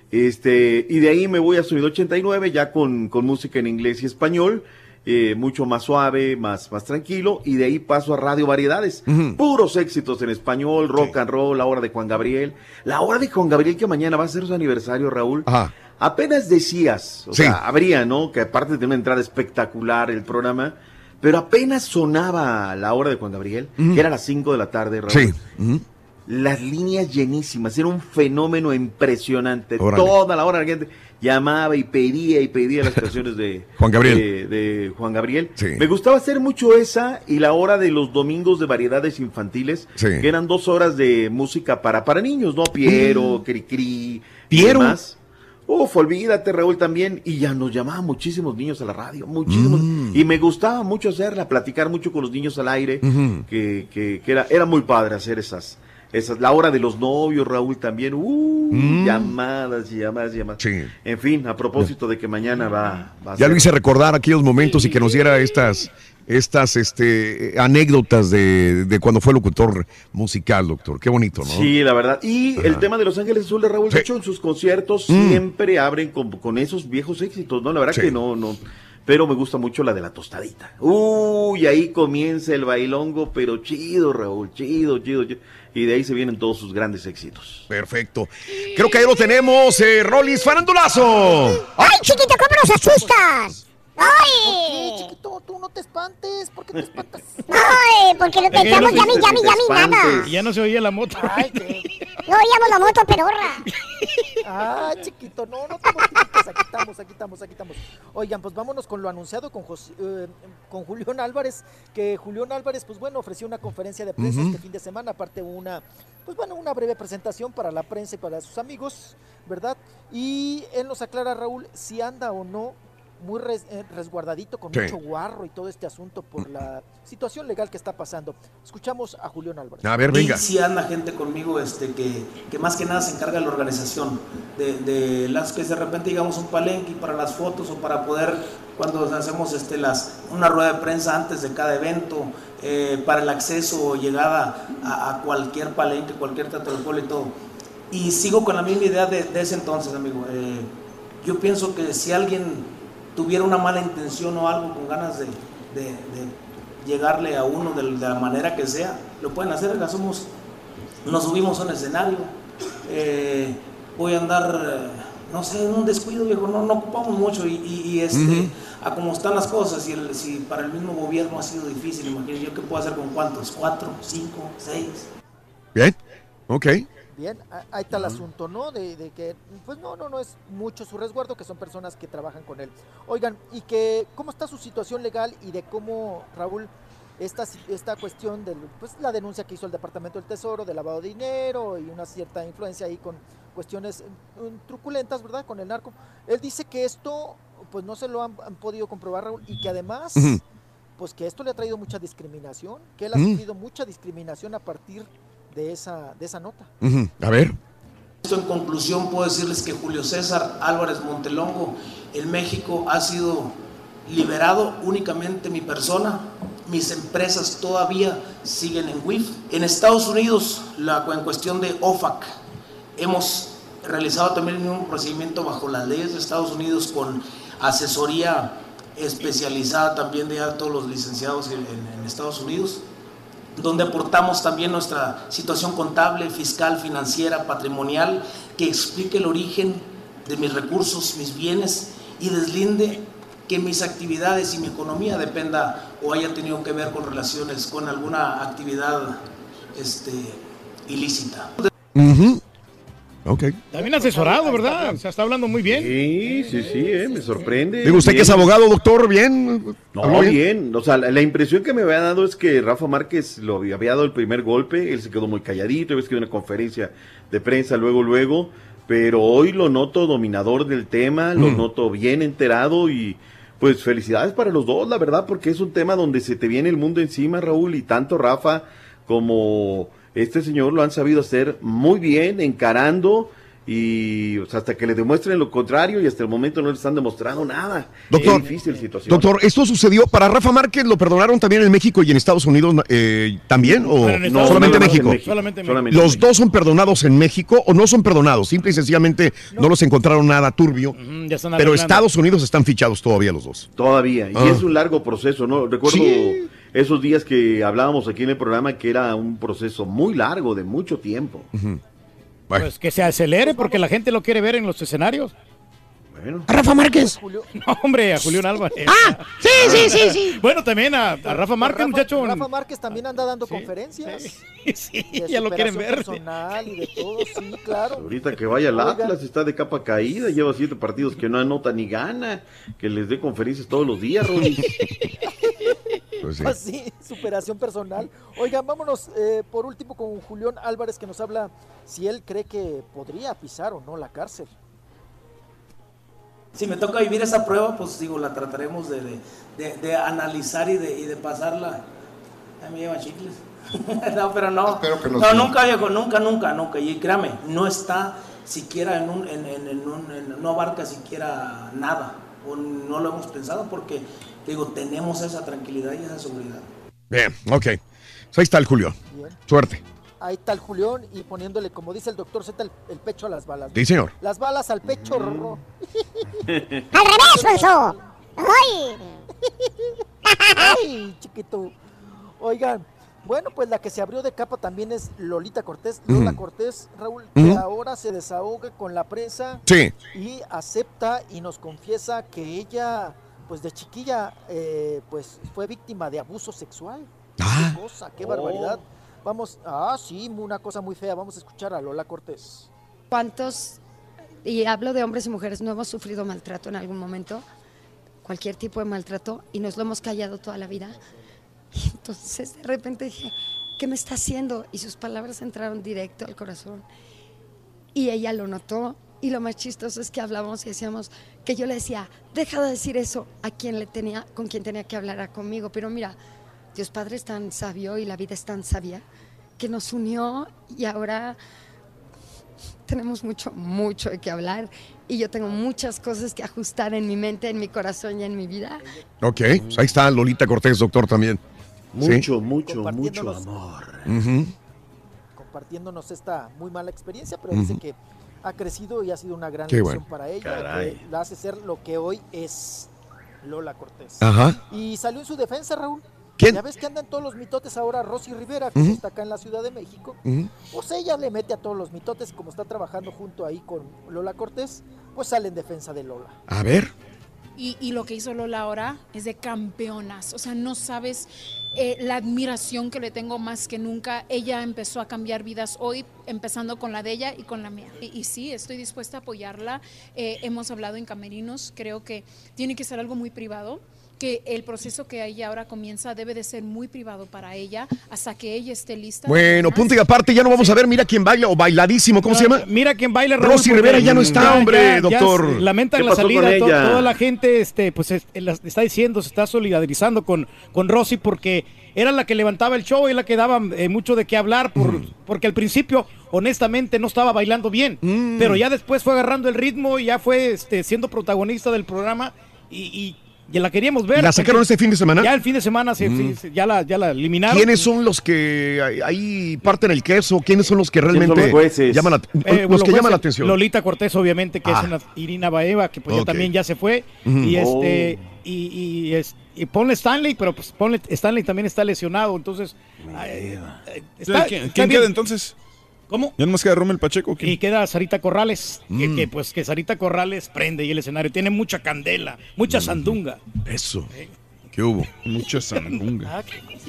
Este, y de ahí me voy a Sonido ochenta y nueve, ya con, con música en inglés y español, eh, mucho más suave, más, más tranquilo, y de ahí paso a Radio Variedades, uh-huh. Puros éxitos en español, rock sí. and roll, La Hora de Juan Gabriel, La Hora de Juan Gabriel, que mañana va a ser su aniversario, Raúl. Ajá. Apenas decías, o sí. sea, habría, ¿no? Que aparte de una entrada espectacular el programa, pero apenas sonaba La Hora de Juan Gabriel, uh-huh. que era a las cinco de la tarde, Raúl. Sí. Uh-huh. Las líneas llenísimas, era un fenómeno impresionante. Órale. Toda la hora la gente llamaba y pedía y pedía las canciones de Juan Gabriel. De, de Juan Gabriel. Sí. Me gustaba hacer mucho esa y la hora de los domingos de variedades infantiles, sí. Que eran dos horas de música para, para niños, ¿no? Piero, mm. Cricri, Piero. Y demás. Uf, olvídate, Raúl, también. Y ya nos llamaban muchísimos niños a la radio, muchísimos. Mm. Y me gustaba mucho hacerla, platicar mucho con los niños al aire, uh-huh. que, que, que era, era muy padre hacer esas, esas. La hora de los novios, Raúl, también. Uh, mm. Llamadas y llamadas y llamadas. Sí. En fin, a propósito de que mañana va, va a Ya ser. lo hice recordar aquellos momentos y que nos diera estas... estas este, anécdotas de, de cuando fue locutor musical, doctor. Qué bonito, ¿no? Sí, la verdad. Y Ajá. el tema de Los Ángeles Azules, Raúl, sí. de hecho, en sus conciertos mm. siempre abren con, con esos viejos éxitos, ¿no? La verdad sí. que no, no. Pero me gusta mucho la de La Tostadita. Uy, ahí comienza el bailongo, pero chido, Raúl, chido, chido, chido. Y de ahí se vienen todos sus grandes éxitos. Perfecto. Creo que ahí lo tenemos, eh, Rolis Farandulazo. ¡Ay, chiquito, cómo nos asustas! ¡Ay! ¿Qué, chiquito? Tú no te espantes. ¿Por qué te espantas? ¡Ay! Porque lo pensamos, llame, llame, llame, nada. Y ya no se oía la moto. Ay, qué... No oíamos la moto, pedorra. Ah, chiquito, no, no te mortifiques. Aquí estamos, aquí estamos, aquí estamos. Oigan, pues vámonos con lo anunciado con, José, eh, con Julián Álvarez. Que Julián Álvarez, pues bueno, ofreció una conferencia de prensa uh-huh. este fin de semana. Aparte una, pues bueno, una breve presentación para la prensa y para sus amigos, ¿verdad? Y él nos aclara, Raúl, si anda o no muy res, eh, resguardadito, con sí. mucho guarro y todo este asunto por la situación legal que está pasando. Escuchamos a Julián Álvarez. A ver, venga. Y si anda gente conmigo este, que, que más que nada se encarga de la organización, de, de las que de repente digamos un palenque para las fotos o para poder, cuando hacemos este, las, una rueda de prensa antes de cada evento, eh, para el acceso o llegada a, a cualquier palenque, cualquier teatro del pueblo y todo. Y sigo con la misma idea de, de ese entonces, amigo. Eh, yo pienso que si alguien tuviera una mala intención o algo con ganas de, de, de llegarle a uno de, de la manera que sea, lo pueden hacer. Somos, nos subimos a un escenario, eh, voy a andar, no sé, en un descuido, viejo, no, no ocupamos mucho y, y, y este, uh-huh. a como están las cosas, y el, si para el mismo gobierno ha sido difícil, imagínate yo qué puedo hacer con cuántos, cuatro, cinco, seis. Bien, ok. Bien, ahí está el asunto, ¿no? De, de que, pues no, no, no es mucho su resguardo, que son personas que trabajan con él. Oigan, y que, ¿cómo está su situación legal y de cómo, Raúl, esta, esta cuestión de, pues, la denuncia que hizo el Departamento del Tesoro de lavado de dinero y una cierta influencia ahí con cuestiones um, truculentas, ¿verdad? Con el narco. Él dice que esto, pues no se lo han, han podido comprobar, Raúl, y que además, uh-huh. pues que esto le ha traído mucha discriminación, que él ha uh-huh. sufrido mucha discriminación a partir de esa, de esa nota. Uh-huh. A ver. En conclusión puedo decirles que Julio César Álvarez Montelongo en México ha sido liberado, únicamente mi persona, mis empresas todavía siguen en W I F. En Estados Unidos, la, en cuestión de O F A C, hemos realizado también el mismo procedimiento bajo las leyes de Estados Unidos con asesoría especializada también de todos los licenciados en, en, en Estados Unidos. donde aportamos también nuestra situación contable, fiscal, financiera, patrimonial, que explique el origen de mis recursos, mis bienes, y deslinde que mis actividades y mi economía dependa o haya tenido que ver con relaciones con alguna actividad este, ilícita. Uh-huh. Ok. También asesorado, ¿verdad? O sea, está hablando muy bien. Sí, sí, sí, eh, me sorprende. Digo, usted bien. que es abogado, doctor, ¿bien? No, bien? bien. O sea, la, la impresión que me había dado es que Rafa Márquez lo había, había dado el primer golpe, él se quedó muy calladito, ves que dio una conferencia de prensa luego, luego, pero hoy lo noto dominador del tema, lo mm. noto bien enterado y pues felicidades para los dos, la verdad, porque es un tema donde se te viene el mundo encima, Raúl, y tanto Rafa como este señor lo han sabido hacer muy bien, encarando, y o sea, hasta que le demuestren lo contrario, y hasta el momento no le están demostrando nada. Doctor, es difícil situación. Doctor, ¿esto sucedió para Rafa Márquez? ¿Lo perdonaron también en México y en Estados Unidos eh, también? ¿O no, solamente en México? México? Solamente en México. ¿Los México. dos son perdonados en México o no son perdonados? Simple y sencillamente no, no los encontraron nada turbio. Mm, ya están pero Estados Unidos están fichados todavía los dos. Todavía, y ah. es un largo proceso, ¿no? Recuerdo sí. esos días que hablábamos aquí en el programa que era un proceso muy largo, de mucho tiempo. Uh-huh. Bueno. Pues que se acelere porque la gente lo quiere ver en los escenarios. Bueno. ¿A Rafa Márquez? No, hombre, a Julián Álvarez. ¡Ah! Sí, sí, sí, sí. Bueno, también a, a Rafa Márquez, Rafa, muchacho. Rafa Márquez también anda dando sí, conferencias. Sí, sí ya lo quieren ver. Personal y de todo, sí, claro. Ahorita que vaya al Atlas, está de capa caída, lleva siete partidos que no anota ni gana, que les dé conferencias todos los días, Rodri. Pues sí. Así, superación personal. Oigan, vámonos eh, por último con Julián Álvarez, que nos habla si él cree que podría pisar o no la cárcel. Si me toca vivir esa prueba, pues digo, la trataremos de, de, de, de analizar y de, y de pasarla. Ay, me llevan chicles. No, pero no. Espero que no, no nunca, viejo, nunca, nunca, nunca. Y créame, no está siquiera en un, en, en, en un, en, no abarca siquiera nada. O no lo hemos pensado porque, digo, tenemos esa tranquilidad y esa seguridad. Bien, ok. Pues ahí está el Julián. Bien. Suerte. Ahí está el Julián y poniéndole, como dice el doctor Z, el, el pecho a las balas. Sí, señor. Las balas al pecho. Mm. ¡Al revés, eso! ¡Ay! ¡Ay, chiquito! Oigan, bueno, pues la que se abrió de capa también es Lolita Cortés. Mm. Lola Cortés, Raúl, mm. que ahora se desahoga con la prensa. Sí. Y acepta y nos confiesa que ella, pues de chiquilla, eh, pues fue víctima de abuso sexual. Ah. ¡Qué cosa, qué barbaridad! Vamos, ah, sí, una cosa muy fea. Vamos a escuchar a Lola Cortés. ¿Cuántos, y hablo de hombres y mujeres, no hemos sufrido maltrato en algún momento? Cualquier tipo de maltrato, y nos lo hemos callado toda la vida. Y entonces de repente dije, ¿qué me está haciendo? Y sus palabras entraron directo al corazón. Y ella lo notó. Y lo más chistoso es que hablábamos y decíamos que yo le decía, deja de decir eso a quien le tenía, con quien tenía que hablar conmigo. Pero mira, Dios Padre es tan sabio y la vida es tan sabia que nos unió y ahora tenemos mucho, mucho de qué hablar y yo tengo muchas cosas que ajustar en mi mente, en mi corazón y en mi vida. Ok, pues ahí está Lolita Cortés, doctor, también. Mucho, ¿sí? mucho, mucho amor. Uh-huh. Compartiéndonos esta muy mala experiencia, pero uh-huh. dice que ha crecido y ha sido una gran Qué lección bueno. para ella, Caray. que la hace ser lo que hoy es Lola Cortés. Ajá. Y salió en su defensa, Raúl. ¿Quién? Ya ves que andan todos los mitotes ahora, Rosy Rivera, que uh-huh. está acá en la Ciudad de México. Uh-huh. Pues ella le mete a todos los mitotes, como está trabajando junto ahí con Lola Cortés, pues sale en defensa de Lola. A ver. Y, y lo que hizo Lola ahora es de campeonas, o sea, no sabes eh, la admiración que le tengo más que nunca. Ella empezó a cambiar vidas hoy, empezando con la de ella y con la mía. Y, y sí, estoy dispuesta a apoyarla. Eh, hemos hablado en camerinos, creo que tiene que ser algo muy privado, que el proceso que ella ahora comienza debe de ser muy privado para ella hasta que ella esté lista. Bueno, punto y aparte, ya no vamos a ver Mira quién baila o Bailadísimo, ¿cómo no, se llama? Mira quién baila, Raúl, Rosy Rivera ya no está, ya, hombre, ya, doctor. Ya lamentan la salida, to, toda la gente este, pues es, está diciendo, se está solidarizando con, con Rosy porque era la que levantaba el show y la que daba eh, mucho de qué hablar, por, mm. porque al principio, honestamente, no estaba bailando bien, mm. pero ya después fue agarrando el ritmo y ya fue este, siendo protagonista del programa y... y ya la queríamos ver. ¿Y la sacaron este fin de semana? Ya el fin de semana se, Mm. se- ya, la, ya la eliminaron. ¿Quiénes son los que ahí- ahí parten el queso? ¿Quiénes son los que realmente los jueces? llaman la, Eh, los los que llaman jueces, la atención? Lolita Cortés, obviamente, que Ah. es una Irina Baeva, que pues Ok. ya también ya se fue. Ujú. Y Oh. este, y, y, es- y ponle Stanley, pero pues ponle Stanley también está lesionado, entonces. ay, eh, está- ¿Quién, está quién bien. queda entonces? ¿Cómo? ¿Ya nomás queda Rommel Pacheco? ¿quién? Y queda Sarita Corrales, que, Mm. que, pues que Sarita Corrales prende ahí el escenario, tiene mucha candela, mucha sandunga. Eso. ¿Qué hubo? Mucha sandunga. Ah,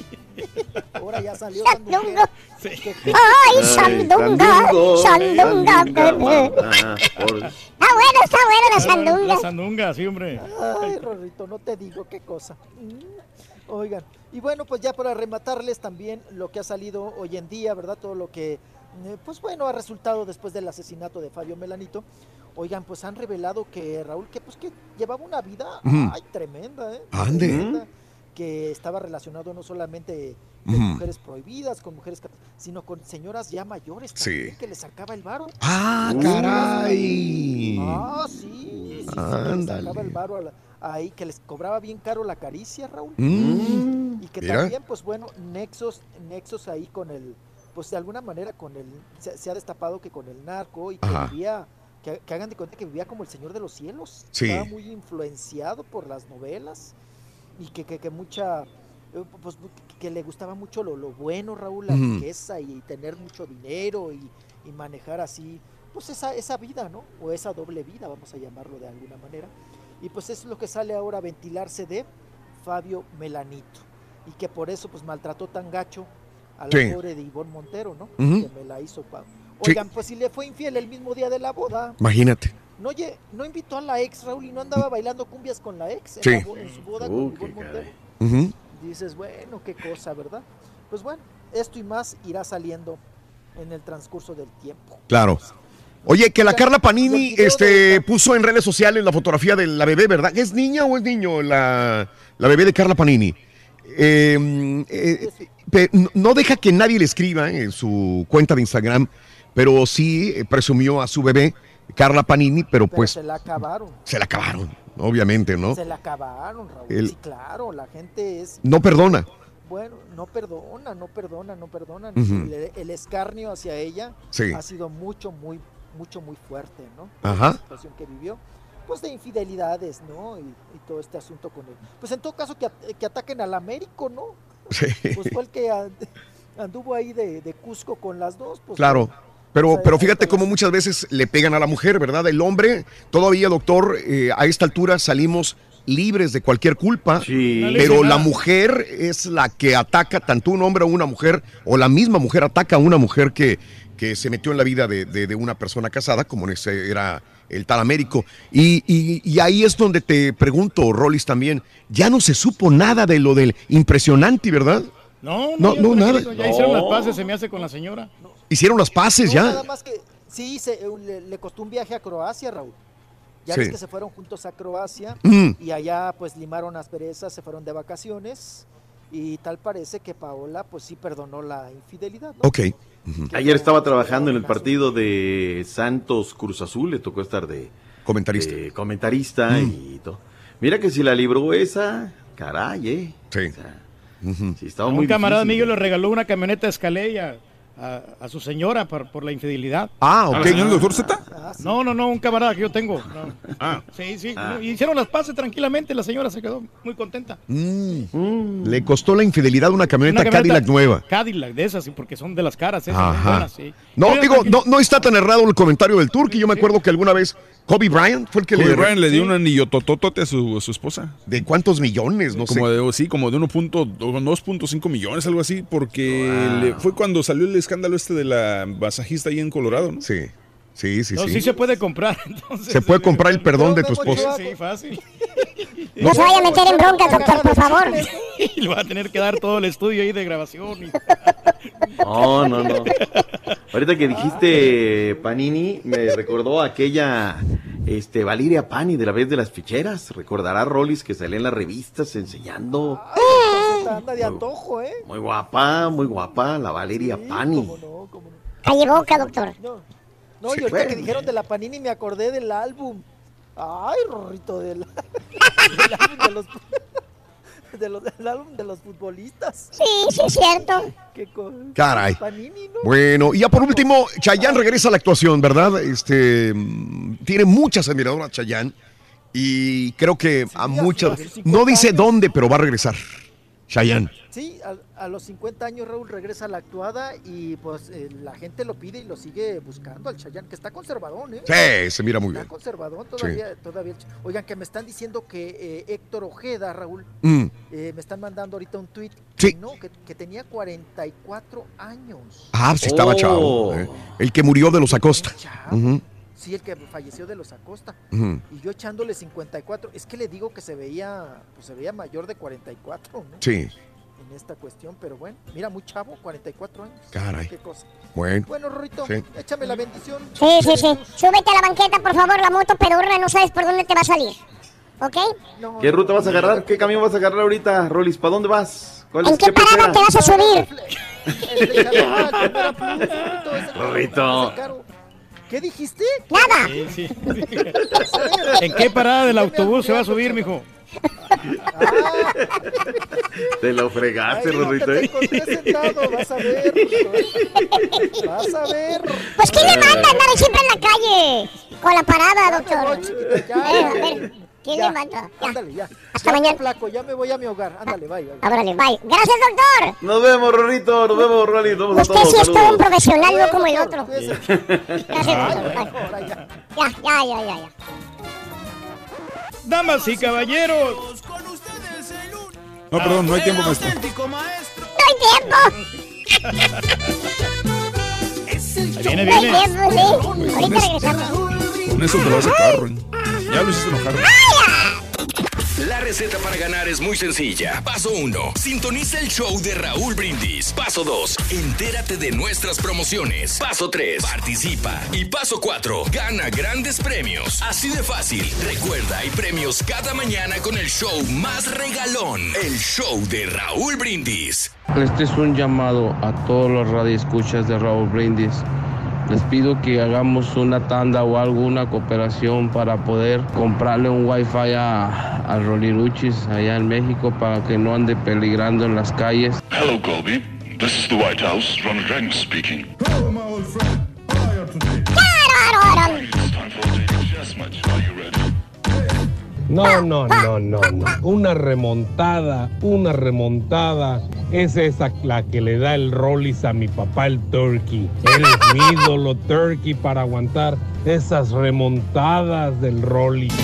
ahora ya salió Sandunga. Sí. Ay, sandunga, sandunga. Ah, por- Está bueno, está bueno la sandunga. La sandunga, sí, hombre. Ay, Rorrito, no te digo qué cosa. Mm. Oigan, y bueno, pues ya para rematarles también lo que ha salido hoy en día, ¿verdad? Todo lo que, eh, pues bueno, ha resultado después del asesinato de Fabio Melanito. Oigan, pues han revelado que Raúl, que pues que llevaba una vida, Ujú. ay, tremenda, ¿eh? Ande. Tremenda, que estaba relacionado no solamente con Ujú. mujeres prohibidas, con mujeres, cat- sino con señoras ya mayores también, Sí. que le sacaba el varo. Ah, caray. Ah, sí, sí, sí, que les Ándale. sacaba el varo a la- ahí, que les cobraba bien caro la caricia, Raúl. Mm, Y que mira. también, pues bueno, nexos, nexos ahí con el, pues de alguna manera con el, se, se ha destapado que con el narco y que Ajá. vivía, que, que hagan de cuenta que vivía como el Señor de los Cielos. Sí. Estaba muy influenciado por las novelas y que, que, que mucha, eh, pues que, que le gustaba mucho lo, lo bueno, Raúl, la Ujú. riqueza y tener mucho dinero y, y manejar así, pues esa, esa vida, ¿no? O esa doble vida, vamos a llamarlo de alguna manera. Y pues eso es lo que sale ahora a ventilarse de Fabio Melanito. Y que por eso pues maltrató tan gacho a la Sí. pobre de Ivonne Montero, ¿no? Ujú. Que me la hizo pa- Sí. Oigan, pues si le fue infiel el mismo día de la boda. Imagínate. No, oye, no invitó a la ex, Raúl, y no andaba bailando cumbias con la ex en, Sí. la bo- en su boda Uh, con qué Ivonne Montero. Ujú. Dices, bueno, qué cosa, ¿verdad? Pues bueno, esto y más irá saliendo en el transcurso del tiempo. Claro. Oye, que la Carla Panini Y el video este, puso en redes sociales la fotografía de la bebé, ¿verdad? ¿Es niña o es niño la, la bebé de Carla Panini? Eh, eh, pe- no- no deja que nadie le escriba en su cuenta de Instagram, pero sí eh, presumió a su bebé, Carla Panini, pero Pero pues se la acabaron. se la acabaron, obviamente, ¿no? Se la acabaron, Raúl. El- Sí, claro, la gente es. No perdona. Bueno, no perdona, no perdona, no perdona. Ujú. el, el escarnio hacia ella Sí. ha sido mucho, muy, mucho, muy fuerte, ¿no? Ajá. La situación que vivió, pues de infidelidades, ¿no? Y, y todo este asunto con él. Pues en todo caso que, at- que ataquen al Américo, ¿no? Sí. Pues fue el que and- anduvo ahí de, de Cusco con las dos. Pues, Claro. pues, Pero, ahí- pero ahí fíjate está cómo muchas veces le pegan a la mujer, ¿verdad? El hombre, todavía, doctor, eh, a esta altura salimos libres de cualquier culpa, pero la mujer es la que ataca, tanto un hombre o una mujer, o la misma mujer ataca a una mujer que, que se metió en la vida de, de- de una persona casada, como ese era el tal Américo. Y, y- y ahí es donde te pregunto, Rolis, también, ya no se supo nada de lo del impresionante, ¿verdad? No, No, ya no, nada. tranquilo, Ya hicieron las No. paces, se me hace con la señora. Hicieron las paces No, ya. Nada más que sí, se, eh, le, le costó un viaje a Croacia, Raúl. Ya Sí. ves que se fueron juntos a Croacia Mm. y allá pues limaron asperezas, se fueron de vacaciones y tal parece que Paola pues sí perdonó la infidelidad, ¿no? Ok. Ayer estaba trabajando en el partido de Santos Cruz Azul, le tocó estar de comentarista, de comentarista Mm. y todo. Mira que si la libró esa, caray, eh. Sí. Sí, estaba Un muy camarada difícil. mío le regaló una camioneta Escalade a, a, a su señora por, por la infidelidad. Ah, ok. ¿Al señor doctor Z? No, no, no, un camarada que yo tengo. no. Ah. Sí, sí. Ah. no, y hicieron las paces tranquilamente, la señora se quedó muy contenta. Mm. Le costó la infidelidad una camioneta, Una camioneta Cadillac nueva. Cadillac, de esas, sí, porque son de las caras, esas, Ajá. son buenas, sí. No, Pero digo, tranquilo. no, no está tan errado el comentario del Turqui. Yo me acuerdo que alguna vez Kobe Bryant fue el que Kobe le... Bryant le dio Sí. un anillo tototote a su, a su esposa. ¿De cuántos millones? No como sé. De, sí, como de uno punto dos punto cinco millones, algo así, porque Wow. le- fue cuando salió el escándalo este de la masajista ahí en Colorado, ¿no? Sí, sí, sí, No, sí. se puede comprar, entonces. Se puede comprar el perdón de tu esposa. Sí, fácil. No se vaya a meter en bronca, doctor, por favor. Y le va a tener que dar todo el estudio ahí de grabación. y- No, no, no. Ahorita que dijiste Panini, me recordó aquella este, Valeria Pani de la vez de las ficheras. Recordará Rolis que salía en las revistas enseñando. Anda de antojo, ¿eh? Muy guapa, muy guapa, la Valeria Pani. Calle boca, doctor. No, Sí, y ahorita que bueno. dijeron de la Panini me acordé del álbum. Ay, Rorrito, del, El álbum de los, de los, el álbum de los futbolistas. Sí, sí, es cierto. Qué co- Caray. Panini, ¿no? Bueno, y ya por último, Chayanne regresa a la actuación, ¿verdad? Este, mm, tiene muchas admiradoras Chayanne y creo que a muchas, no dice dónde, pero va a regresar. Chayanne. Sí, a, a los cincuenta años Raúl regresa a la actuada y pues eh, la gente lo pide y lo sigue buscando al Chayanne, que está conservadón, ¿eh? Sí, se mira muy bien. Está conservadón todavía, todavía. Oigan, que me están diciendo que eh, Héctor Ojeda, Raúl, Mm. eh, me están mandando ahorita un tuit, Sí. que no, que, que tenía cuarenta y cuatro años. Ah, sí estaba Oh. chavo. eh. El que murió de los Acosta. Ujú, Sí, el que falleció de los Acosta. ujú. Y yo echándole cincuenta y cuatro, es que le digo que se veía, pues se veía mayor de cuarenta y cuatro, ¿no? Sí. En esta cuestión, pero bueno, mira, muy chavo, cuarenta y cuatro años. Caray. Qué cosa. Bueno. Bueno, Rorrito, Sí. échame la bendición. Sí, sí, sí. Súbete a la banqueta, por favor, la moto pedorra, no sabes por dónde te va a salir. ¿Ok? ¿Qué ruta vas a agarrar? ¿Qué camión vas a agarrar ahorita, Rolis? ¿Para dónde vas? ¿Cuál ¿En es- qué parada pecera? te vas a subir? Rorrito. ¿Qué dijiste? Nada. Sí, sí. ¿En qué parada del autobús se va a subir, mijo? Te lo fregaste, Ay, no, Rorrito. que te ¿eh? encontré sentado, vas a ver, Rorrito. Vas a ver. Pues ¿quién le manda andar siempre en la calle? Con la parada, doctor. Eh, a ver, ¿quién Ya, le manda? Ya. Ándale, ya. Hasta Ya, mañana. flaco, ya me voy a mi hogar. Ándale, bye, bye. Ábrale, bye. Gracias, doctor. Nos vemos, Rorrito. Nos vemos, Rolis. Nos vemos a Usted todos. sí es todo un Saludos. profesional, no como el otro. Gracias, doctor. Bye. Ahora ya. Ya, ya, ya, ya, ya. Damas y caballeros. No, perdón, no hay tiempo, maestro. No hay tiempo. Ahí viene, No hay viene. tiempo, sí. Ahorita regresamos. Con eso te vas a carro. ¿eh? Ya lo hiciste enojar. La receta para ganar es muy sencilla. Paso uno. Sintoniza el show de Raúl Brindis. Paso dos. Entérate de nuestras promociones. Paso tres. Participa. Y paso cuatro. Gana grandes premios. Así de fácil. Recuerda, hay premios cada mañana con el show más regalón. El show de Raúl Brindis. Este es un llamado a todos los radioescuchas de Raúl Brindis. Les pido que hagamos una tanda o alguna cooperación para poder comprarle un wifi a, a Roliruchis allá en México para que no ande peligrando en las calles. Hello, Colby. This is the White House. Ronald Reagan speaking. No, no, no, no, no. Una remontada, una remontada. Es esa la que le da el Rollis a mi papá, el Turkey. Él es mi ídolo Turkey para aguantar esas remontadas del Rollis.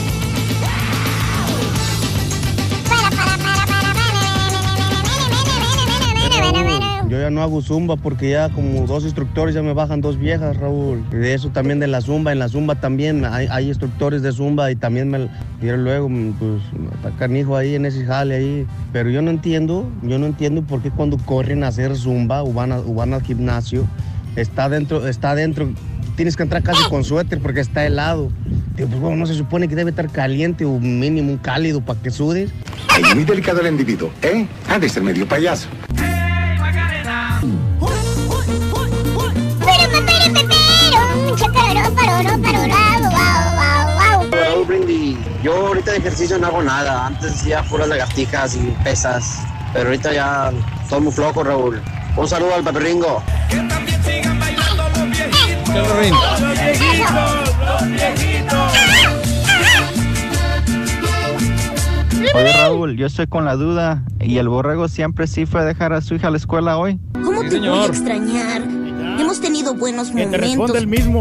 Yo ya no hago zumba porque ya como dos instructores ya me bajan dos viejas, Raúl. Y de eso también de la zumba, en la zumba también hay, hay instructores de zumba y también me dieron luego, pues, está canijo ahí en ese jale ahí. Pero yo no entiendo, yo no entiendo por qué cuando corren a hacer zumba o van, a, o van al gimnasio, está dentro, está dentro, tienes que entrar casi con suéter porque está helado. Digo, pues bueno, no se supone que debe estar caliente o mínimo un cálido para que sudes. Es muy delicado el individuo, ¿eh? Ha de ser medio payaso. Raúl Brindis, yo ahorita de ejercicio no hago nada. Antes hacía puras lagartijas y pesas, pero ahorita ya estoy muy flojo, Raúl. Un saludo al Paperringo. Oye Raúl, yo estoy con la duda. ¿Y el borrego siempre sí fue a dejar a su hija a la escuela hoy? ¿Cómo te voy a extrañar? Hemos tenido buenos Que te momentos. responde el mismo.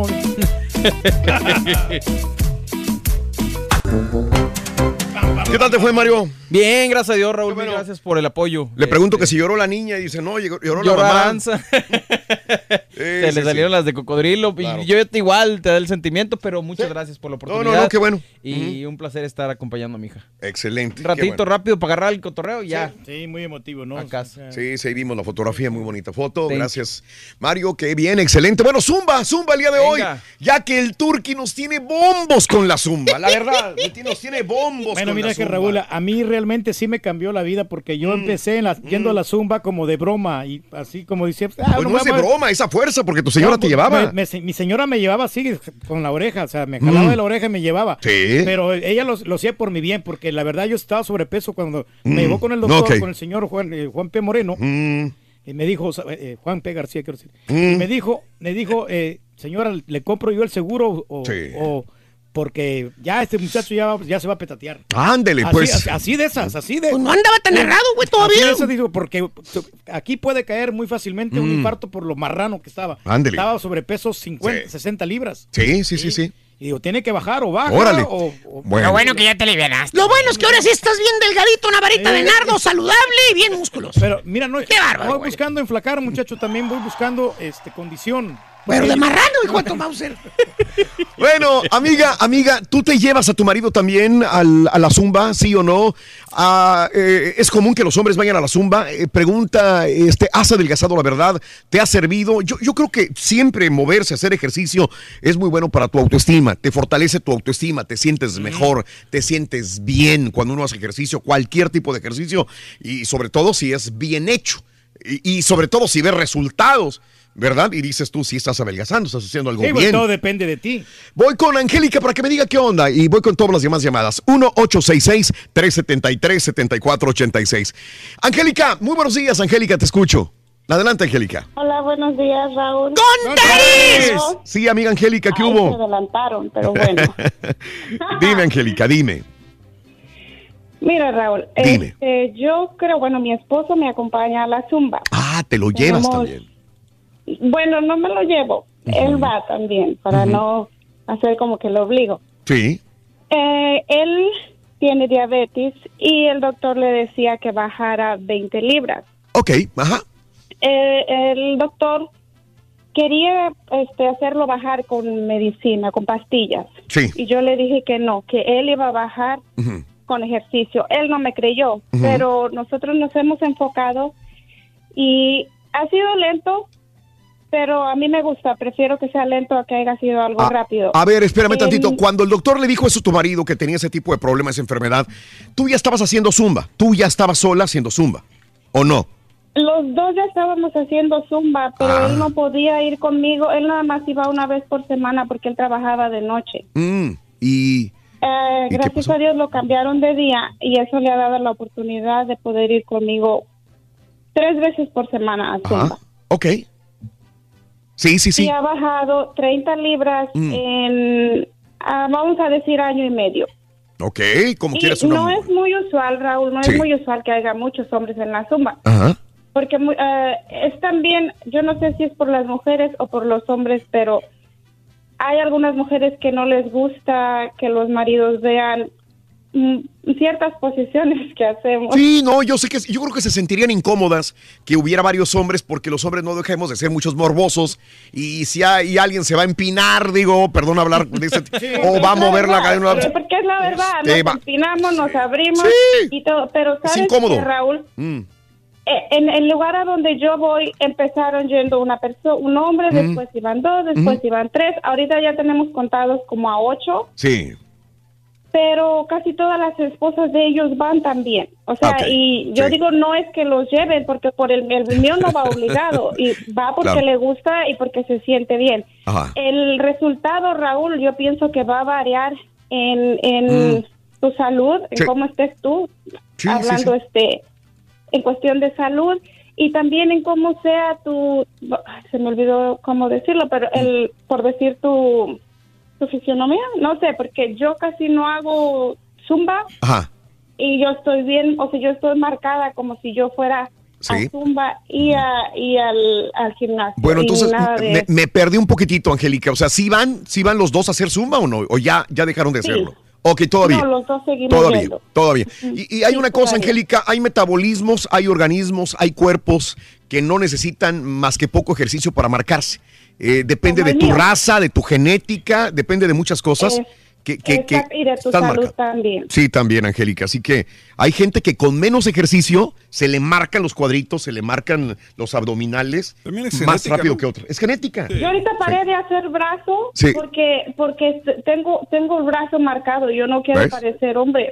¿Qué tal te fue, Mario? Bien, gracias a Dios, Raúl. Mil gracias por el apoyo. Le pregunto que si lloró la niña y dice, no, lloró, lloró la Lloró mamá. Aranza. Se sí, le salieron sí. las de cocodrilo. Claro. Y yo igual te da el sentimiento, pero muchas gracias por la oportunidad. no, no, qué bueno. Y un placer estar acompañando a mi hija. Excelente. Un ratito qué bueno. rápido para agarrar el cotorreo y ya. Sí, muy emotivo, ¿no? A casa. Sí, sí, vimos la fotografía, muy bonita foto. Thank Gracias, Mario, qué bien, excelente. Bueno, Zumba, Zumba el día de Venga. hoy, ya que el Turqui nos tiene bombos con la Zumba, la verdad, nos tiene bombos Bueno, con mira la que Zumba. Raúl, a mí realmente realmente sí me cambió la vida porque yo mm. empecé en la, yendo mm. a la zumba como de broma y así como decía... Ah, pues no es de broma, esa fuerza porque tu señora no, te llevaba. Me, me, mi señora me llevaba así con la oreja, o sea, me jalaba mm. de la oreja y me llevaba. Sí. Pero ella lo, lo hacía por mi bien porque la verdad yo estaba sobrepeso cuando mm. me llevó con el doctor, okay. con el señor Juan, eh, Juan P. Moreno. Mm. Y me dijo, eh, Juan P. García, quiero decir. Mm. Me dijo, me dijo, eh, señora, ¿le compro yo el seguro o...? Sí. o porque ya este muchacho ya, ya se va a petatear. Ándele, así, pues. Así, así de esas, así de... Pues no andaba tan errado, güey, todavía. Así de esas, digo, porque aquí puede caer muy fácilmente mm. un infarto por lo marrano que estaba. Ándele. Estaba sobrepeso cincuenta, sí. sesenta libras. Sí, sí, sí, sí. Y digo, tiene que bajar o baja. Órale. O, o, bueno. Lo bueno que ya te alivianaste. Lo bueno es que ahora sí estás bien delgadito, una varita eh, de nardo, saludable y bien músculos. Pero mira, no, Qué bárbaro, voy güey. buscando enflacar, muchacho, también voy buscando este condición. Pero de marrano, hijo de tu Mauser. Bueno, amiga, amiga, ¿tú te llevas a tu marido también al, a la zumba, sí o no? Ah, eh, ¿Es común que los hombres vayan a la zumba? Eh, pregunta, este, ¿has adelgazado la verdad? ¿Te ha servido? Yo, yo creo que siempre moverse, hacer ejercicio es muy bueno para tu autoestima. Te fortalece tu autoestima, te sientes mejor, te sientes bien cuando uno hace ejercicio, cualquier tipo de ejercicio, y sobre todo si es bien hecho. Y, y sobre todo si ves resultados, ¿verdad? Y dices tú, si estás adelgazando, estás haciendo algo sí, bien. Todo depende de ti. Voy con Angélica para que me diga qué onda y voy con todas las demás llamadas. uno ocho seis seis, tres siete tres, siete cuatro ocho seis. Angélica, muy buenos días, Angélica, te escucho. Adelante, Angélica. Hola, buenos días, Raúl. ¡Con Teris! Sí, amiga Angélica, ¿qué Ay, hubo? Se adelantaron, pero bueno. Dime, Angélica, dime. Mira, Raúl, Dime. Este, yo creo, bueno, mi esposo me acompaña a la zumba. Ah, te lo llevas Tenemos, también. Bueno, no me lo llevo. Uh-huh. Él va también, para uh-huh. no hacer como que lo obligo. Sí. Eh, él tiene diabetes y el doctor le decía que bajara veinte libras. Ok, ajá. Eh, el doctor quería este, hacerlo bajar con medicina, con pastillas. Sí. Y yo le dije que no, que él iba a bajar uh-huh. con ejercicio. Él no me creyó, uh-huh. pero nosotros nos hemos enfocado y ha sido lento, pero a mí me gusta, prefiero que sea lento a que haya sido algo a, rápido. A ver, espérame el, tantito, cuando el doctor le dijo eso a tu marido, que tenía ese tipo de problemas, esa enfermedad, tú ya estabas haciendo zumba, tú ya estabas sola haciendo zumba, ¿o no? Los dos ya estábamos haciendo zumba, pero ah. él no podía ir conmigo, él nada más iba una vez por semana porque él trabajaba de noche. Mm, y... Eh, gracias a Dios lo cambiaron de día y eso le ha dado la oportunidad de poder ir conmigo tres veces por semana a zumba. Ajá. Ok. Sí, sí, sí. Y ha bajado treinta libras mm. en, uh, vamos a decir, año y medio. Ok, como y quieras una... no es muy usual, Raúl, no sí. es muy usual que haya muchos hombres en la zumba. Ajá. Porque uh, es también, yo no sé si es por las mujeres o por los hombres, pero hay algunas mujeres que no les gusta que los maridos vean mm, ciertas posiciones que hacemos. Sí, no, yo sé que yo creo que se sentirían incómodas que hubiera varios hombres porque los hombres no dejemos de ser muchos morbosos y si hay alguien se va a empinar, digo, perdón hablar de ese sí, o va a mover la cadena. Porque es la verdad, nos va. empinamos, nos abrimos sí. y todo, pero sabes es incómodo. que, Raúl, mm. en el lugar a donde yo voy empezaron yendo una persona, un hombre, mm. después iban dos, después mm. iban tres, ahorita ya tenemos contados como a ocho. Sí. Pero casi todas las esposas de ellos van también. O sea, okay. y yo sí. digo, no es que los lleven, porque por el, el mío no va obligado, y va porque claro. le gusta y porque se siente bien. Ajá. El resultado, Raúl, yo pienso que va a variar en, en mm. tu salud, en sí. cómo estés tú, sí, hablando sí, sí. este en cuestión de salud, y también en cómo sea tu, se me olvidó cómo decirlo, pero el por decir tu... ¿Tu fisionomía? No sé, porque yo casi no hago zumba. Ajá. Y yo estoy bien, o sea, yo estoy marcada como si yo fuera ¿sí? a zumba y, a, y al, al gimnasio. Bueno, entonces me, me perdí un poquitito, Angélica. O sea, ¿sí van, sí van los dos a hacer zumba o no? ¿O ya, ya dejaron de hacerlo? Sí. Ok, todavía. No, los dos seguimos Todavía, yendo. todavía. Y, y hay sí, una cosa, todavía. Angélica, hay metabolismos, hay organismos, hay cuerpos que no necesitan más que poco ejercicio para marcarse. Eh, depende de tu mío. raza, de tu genética, depende de muchas cosas. Eh, que, que, que y de tu salud marcado. También. Sí, también, Angélica. Así que hay gente que con menos ejercicio se le marcan los cuadritos, se le marcan los abdominales más rápido ¿no? que otros. Es genética. Sí. Yo ahorita paré sí. de hacer brazo sí. porque porque tengo tengo el brazo marcado. Yo no quiero ¿ves? Parecer hombre.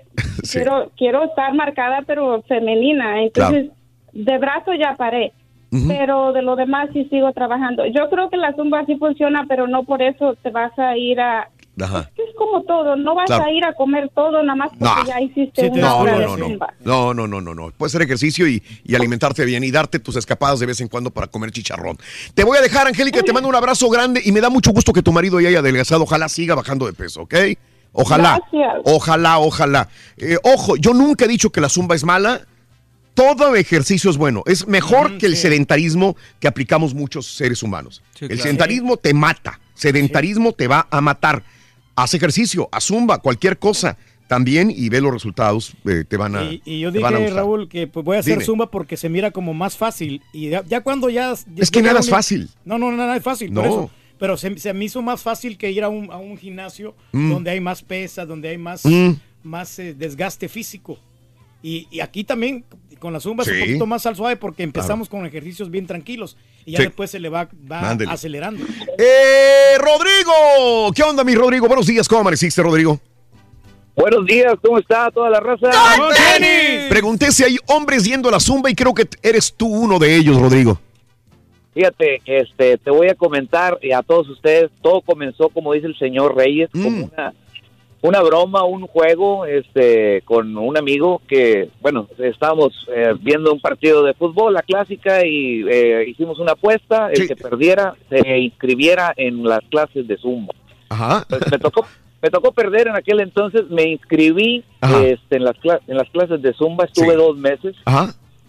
Sí. quiero quiero estar marcada, pero femenina. Entonces, de brazo ya paré. Uh-huh. Pero de lo demás sí sigo trabajando. Yo creo que la zumba sí funciona, pero no por eso te vas a ir a... Ajá. Es, es como todo, no vas claro. a ir a comer todo nada más porque no. ya hiciste sí, una no, hora no, de no, zumba. No, no, no, no, no. Puedes hacer ejercicio y, y alimentarte bien y darte tus escapadas de vez en cuando para comer chicharrón. Te voy a dejar, Angélica, te mando un abrazo grande y me da mucho gusto que tu marido ya haya adelgazado. Ojalá siga bajando de peso, ¿ok? Ojalá, Gracias. ojalá, ojalá. Eh, ojo, yo nunca he dicho que la zumba es mala. Todo ejercicio es bueno. Es mejor mm, que el sí. sedentarismo que aplicamos muchos seres humanos. Sí, el claro. sedentarismo te mata. Sedentarismo sí. te va a matar. Haz ejercicio, haz zumba, cualquier cosa también y ve los resultados, eh, te van a Y, y yo dije, Raúl, que pues voy a hacer Dime. zumba porque se mira como más fácil. Y ya, ya cuando ya... ya es que nada es fácil. No, no, nada es fácil, no. por eso. Pero se, se me hizo más fácil que ir a un, a un gimnasio mm. donde hay más pesas, donde hay más, mm. más eh, desgaste físico. Y, y aquí también con la zumba sí. es un poquito más al suave porque empezamos claro. con ejercicios bien tranquilos y ya sí. después se le va, va acelerando. Eh, Rodrigo, ¿qué onda, mi Rodrigo? Buenos días, ¿cómo amaneciste, Rodrigo? Buenos días, ¿cómo está toda la raza? Pregunté si hay hombres yendo a la zumba y creo que eres tú uno de ellos, Rodrigo. Fíjate, este, te voy a comentar a todos ustedes, todo comenzó, como dice el señor Reyes, mm. como una... una broma, un juego este con un amigo que, bueno, estábamos eh, viendo un partido de fútbol, la clásica, y eh, hicimos una apuesta, el sí. que perdiera se inscribiera en las clases de zumba. Ajá. Pues me tocó me tocó perder en aquel entonces, me inscribí este, en las cla- en las clases de zumba, estuve sí. dos meses. Ajá.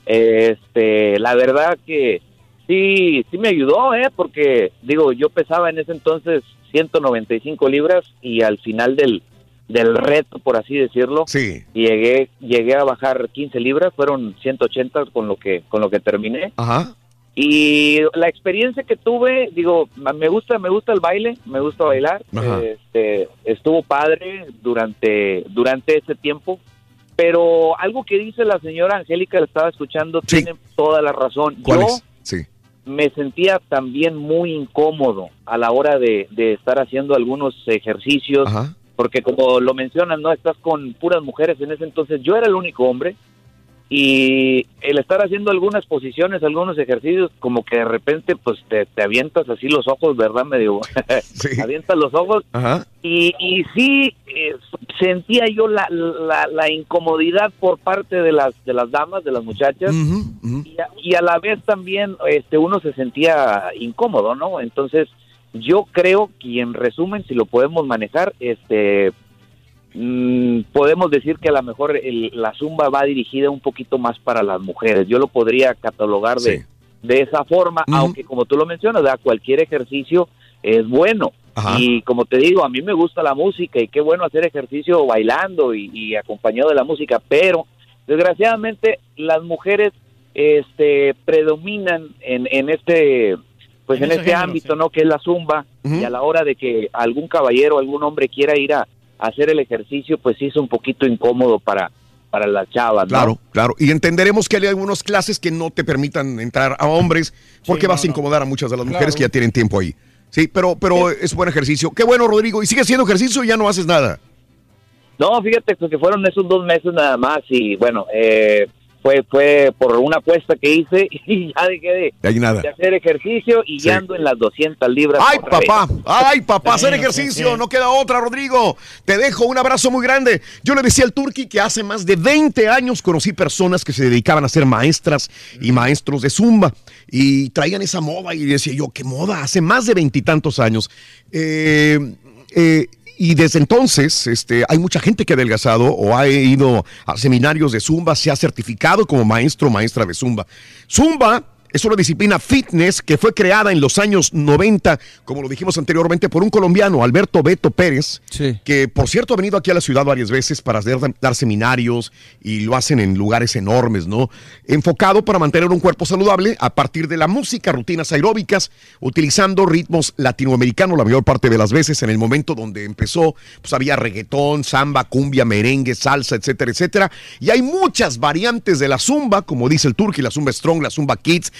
Este, la verdad que sí, sí me ayudó, eh, porque digo, yo pesaba en ese entonces ciento noventa y cinco libras y al final del del reto, por así decirlo, sí. llegué llegué a bajar quince libras, fueron ciento ochenta con lo que con lo que terminé. Ajá. Y la experiencia que tuve, digo, me gusta me gusta el baile, me gusta bailar. Ajá. Este estuvo padre durante durante ese tiempo, pero algo que dice la señora Angélica, la estaba escuchando, sí. tiene toda la razón. ¿Cuál Yo es? Sí. me sentía también muy incómodo a la hora de, de estar haciendo algunos ejercicios. Ajá. Porque como lo mencionan, no estás con puras mujeres en ese entonces. Yo era el único hombre y el estar haciendo algunas posiciones, algunos ejercicios, como que de repente pues te, te avientas así los ojos, ¿verdad? Medio sí. avientas los ojos. Ajá. Y, y sí eh, sentía yo la, la, la incomodidad por parte de las de las damas, de las muchachas, uh-huh, uh-huh. Y, a, y a la vez también este uno se sentía incómodo, ¿no? Entonces yo creo que en resumen, si lo podemos manejar, este, mmm, podemos decir que a lo mejor el, la zumba va dirigida un poquito más para las mujeres. Yo lo podría catalogar de, sí. de esa forma, uh-huh. aunque como tú lo mencionas, ¿verdad? Cualquier ejercicio es bueno. Ajá. Y como te digo, a mí me gusta la música y qué bueno hacer ejercicio bailando y, y acompañado de la música, pero desgraciadamente las mujeres este, predominan en, en este... pues en, en este género, ámbito, sí. ¿no? Que es la zumba, uh-huh. y a la hora de que algún caballero, algún hombre quiera ir a, a hacer el ejercicio, pues sí es un poquito incómodo para, para las chavas, ¿no? Claro, claro, y entenderemos que hay algunas clases que no te permitan entrar a hombres, porque sí, vas no, a incomodar no. a muchas de las mujeres claro. que ya tienen tiempo ahí. Sí, pero, pero sí. es buen ejercicio. Qué bueno, Rodrigo, ¿y sigues haciendo ejercicio y ya no haces nada? No, fíjate que fueron esos dos meses nada más, y bueno, eh... Fue, fue por una apuesta que hice y ya dejé de, de, nada. de hacer ejercicio y sí. ya ando en las doscientas libras. ¡Ay, papá! Vez. ¡Ay, papá! Hacer ejercicio, no queda otra, Rodrigo. Te dejo un abrazo muy grande. Yo le decía al Turqui que hace más de veinte años conocí personas que se dedicaban a ser maestras y maestros de zumba y traían esa moda y decía yo, ¿qué moda? Hace más de veintitantos años. Eh, eh, Y desde entonces este, hay mucha gente que ha adelgazado o ha ido a seminarios de Zumba, se ha certificado como maestro o maestra de Zumba. Zumba es una disciplina fitness que fue creada en los años noventa, como lo dijimos anteriormente, por un colombiano, Alberto Beto Pérez, sí. que por cierto ha venido aquí a la ciudad varias veces para dar, dar seminarios y lo hacen en lugares enormes, ¿no? Enfocado para mantener un cuerpo saludable a partir de la música, rutinas aeróbicas, utilizando ritmos latinoamericanos la mayor parte de las veces. En el momento donde empezó, pues había reggaetón, samba, cumbia, merengue, salsa, etcétera, etcétera. Y hay muchas variantes de la zumba, como dice el Turqui, la zumba strong, la zumba kids,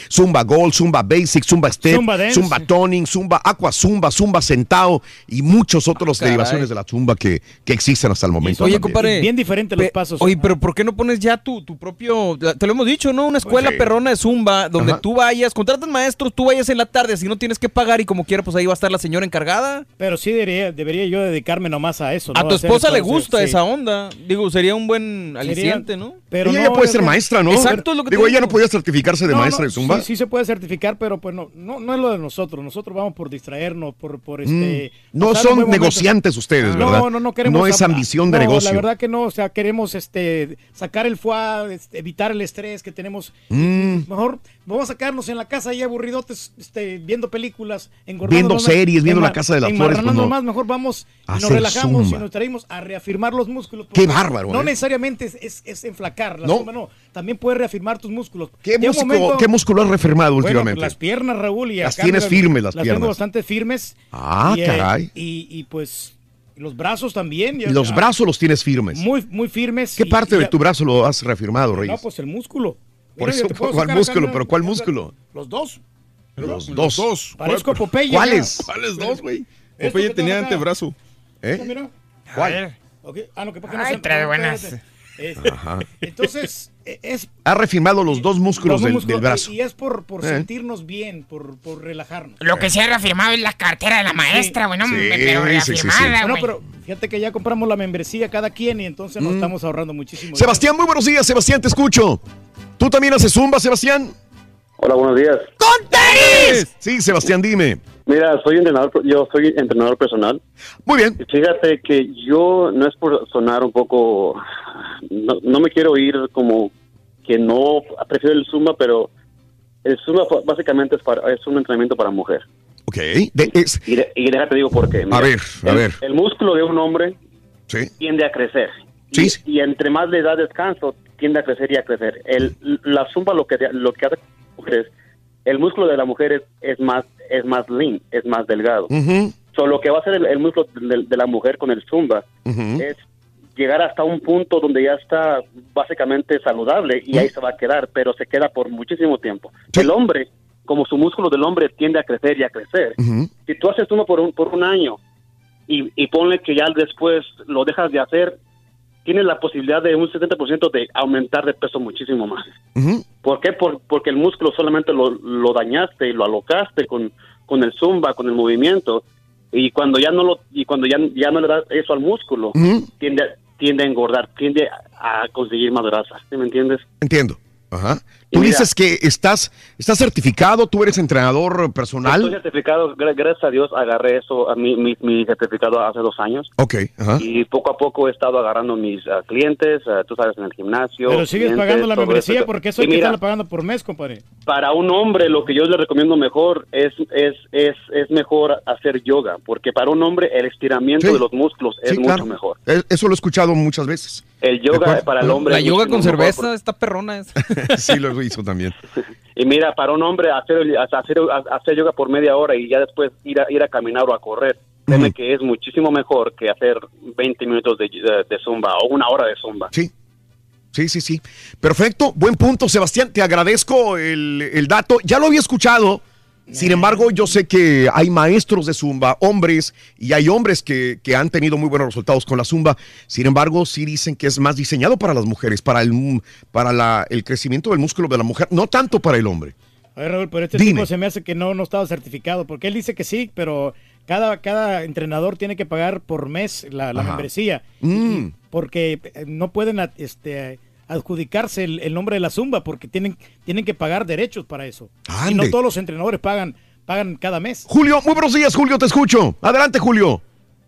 Zumba Gold, Zumba Basic, Zumba Step, Zumba Dance. Zumba Toning, Zumba Aqua Zumba, Zumba Sentado y muchos otros Caray. derivaciones de la Zumba que, que existen hasta el momento. Oye, también. compadre. Bien diferentes los Pe- pasos. Oye, pero ¿por qué no pones ya tu, tu propio, te lo hemos dicho, ¿no? Una escuela Sí. perrona de Zumba donde Ajá. tú vayas, contratas maestros, tú vayas en la tarde, así no tienes que pagar y como quiera, pues ahí va a estar la señora encargada. Pero sí debería, debería yo dedicarme nomás a eso. A ¿no? tu Hacer esposa le cosas, gusta sí. esa onda. Digo, sería un buen aliciente, ¿no? Pero ella no, ya puede yo ser creo- maestra, ¿no? Exacto, es lo que te Digo, ella digo. no podía certificarse de No, maestra no, de Zumba. Sí, sí se puede certificar, pero pues no, no, no es lo de nosotros. Nosotros vamos por distraernos, por, por este. Mm, no pasar un son buen momento. negociantes ustedes, No, ¿verdad? No, no queremos. No es a- ambición de no, negocio. La verdad que no, o sea, queremos este sacar el foie, este, evitar el estrés que tenemos. Mm. Mejor vamos a sacarnos en la casa ahí aburridotes, este, viendo películas, engordando. Viendo series, viendo La Casa de las Flores, pues no. más, mejor vamos y nos Hacer relajamos zumba. y nos traemos a reafirmar los músculos. Qué porque bárbaro, No ¿eh? necesariamente es, es, es enflacar, la No. zumba no. También puede reafirmar tus músculos. ¿Qué, Llega un músico- momento- ¿Qué músculo has reafirmado bueno, últimamente? las piernas, Raúl. Y Las acá, tienes mira, firmes, las Las piernas. tengo bastante firmes. Ah, y, eh, caray. y, y, pues los brazos también. ya- Y los ya, brazos los tienes firmes. Muy, muy firmes. ¿Qué y- parte y de ya- tu brazo lo has reafirmado, No, Reyes? pues el músculo. Por Mira, eso, yo te puedo ¿cuál sacar acá, músculo? mira, ¿Pero cuál mira, músculo? Los dos. Los dos. dos. Parezco ¿Cuál- Popeye. ¿Cuáles? mira. ¿Cuáles dos, güey? Esto Popeye que tenía tengo acá. antebrazo. ¿Eh? Mira, mira. ¿Cuál? Ok. Ah, no, que porque no Ay, se- trae no, buenas. espérate. Eh, Ajá. Entonces, eh, es Has reafirmado los dos músculos los del, músculos, del brazo. Y es por, por Eh. sentirnos bien, por, por relajarnos. Lo que se ha reafirmado es la cartera de la maestra, güey, no, Sí, pero sí, sí, sí. reafirmada, Bueno, güey. pero fíjate que ya compramos la membresía cada quien y entonces nos Mm. estamos ahorrando muchísimo. Sebastián, muy buenos días, Sebastián, te escucho. ¿Tú también haces Zumba, Sebastián? Hola, buenos días. ¡Con tenis! Sí, Sebastián, dime. Mira, soy entrenador, yo soy entrenador personal. Muy bien. Y fíjate que yo, no es por sonar un poco, no, no me quiero ir como que no prefiero el Zumba, pero el Zumba básicamente es, para, es un entrenamiento para mujer. Ok. De- es- Y, de- y déjate digo por qué. Mira, a ver, a el, ver. El músculo de un hombre Sí. tiende a crecer. Sí, Y, sí. y entre más le da descanso, tiende a crecer y a crecer. El, la Zumba lo que, lo que hace es, el músculo de la mujer es, es más es más lean, es más delgado. Ujú, So, lo que va a hacer el, el músculo de, de la mujer con el Zumba ujú. es llegar hasta un punto donde ya está básicamente saludable y ahí se va a quedar, pero se queda por muchísimo tiempo. Sí. El hombre, como su músculo del hombre tiende a crecer y a crecer, Ujú. si tú haces uno por un, por un año y, y ponle que ya después lo dejas de hacer, tienes la posibilidad de un setenta por ciento de aumentar de peso muchísimo más. Ujú. ¿Por qué? Por- porque el músculo solamente lo, lo dañaste y lo alocaste con, con el Zumba, con el movimiento, y cuando ya no lo y cuando ya, ya no le das eso al músculo, Ujú. tiende, a- tiende a engordar, tiende a, a conseguir más grasa. ¿Sí me entiendes? Entiendo. Ajá. Y Tú mira- dices que estás, estás certificado, tú eres entrenador Estoy personal. certificado, gra- gracias a Dios agarré eso, a mi, mi, mi certificado hace dos años. Ok, ajá. Y poco a poco he estado agarrando mis ah, clientes, ah, tú sabes, en el gimnasio. Pero sigues clientes, pagando la todo membresía eso. porque eso Y hay que mira, estarlo pagando por mes, compadre. para un hombre lo que yo le recomiendo mejor es es es es mejor hacer yoga, porque para un hombre el estiramiento Sí. de los músculos es Sí, mucho claro. mejor. Eh, Eso lo he escuchado muchas veces. El De yoga acuerdo. para el hombre La es yoga mucho con mejor cerveza, esta perrona es. Sí, lo hizo también. Y mira, para un hombre hacer hacer hacer yoga por media hora y ya después ir a ir a caminar o a correr, créeme Ujú. que es muchísimo mejor que hacer veinte minutos de, de, de zumba o una hora de zumba. Sí. Sí, sí, sí. Perfecto, buen punto, Sebastián. Te agradezco el, el dato. Ya lo había escuchado. Sin embargo, yo sé que hay maestros de Zumba, hombres, y hay hombres que, que han tenido muy buenos resultados con la Zumba. Sin embargo, sí dicen que es más diseñado para las mujeres, para el, para la, el crecimiento del músculo de la mujer, no tanto para el hombre. A ver, Raúl, pero este Dime. tipo se me hace que no, no estaba certificado, porque él dice que sí, pero cada, cada entrenador tiene que pagar por mes la, la Ajá. membresía, Mm. porque eh, no pueden a- este, adjudicarse el, el nombre de la Zumba, porque tienen, tienen que pagar derechos para eso. Y no Ande. todos los entrenadores pagan, pagan cada mes. Julio, muy buenos días, Julio, te escucho. Adelante, Julio.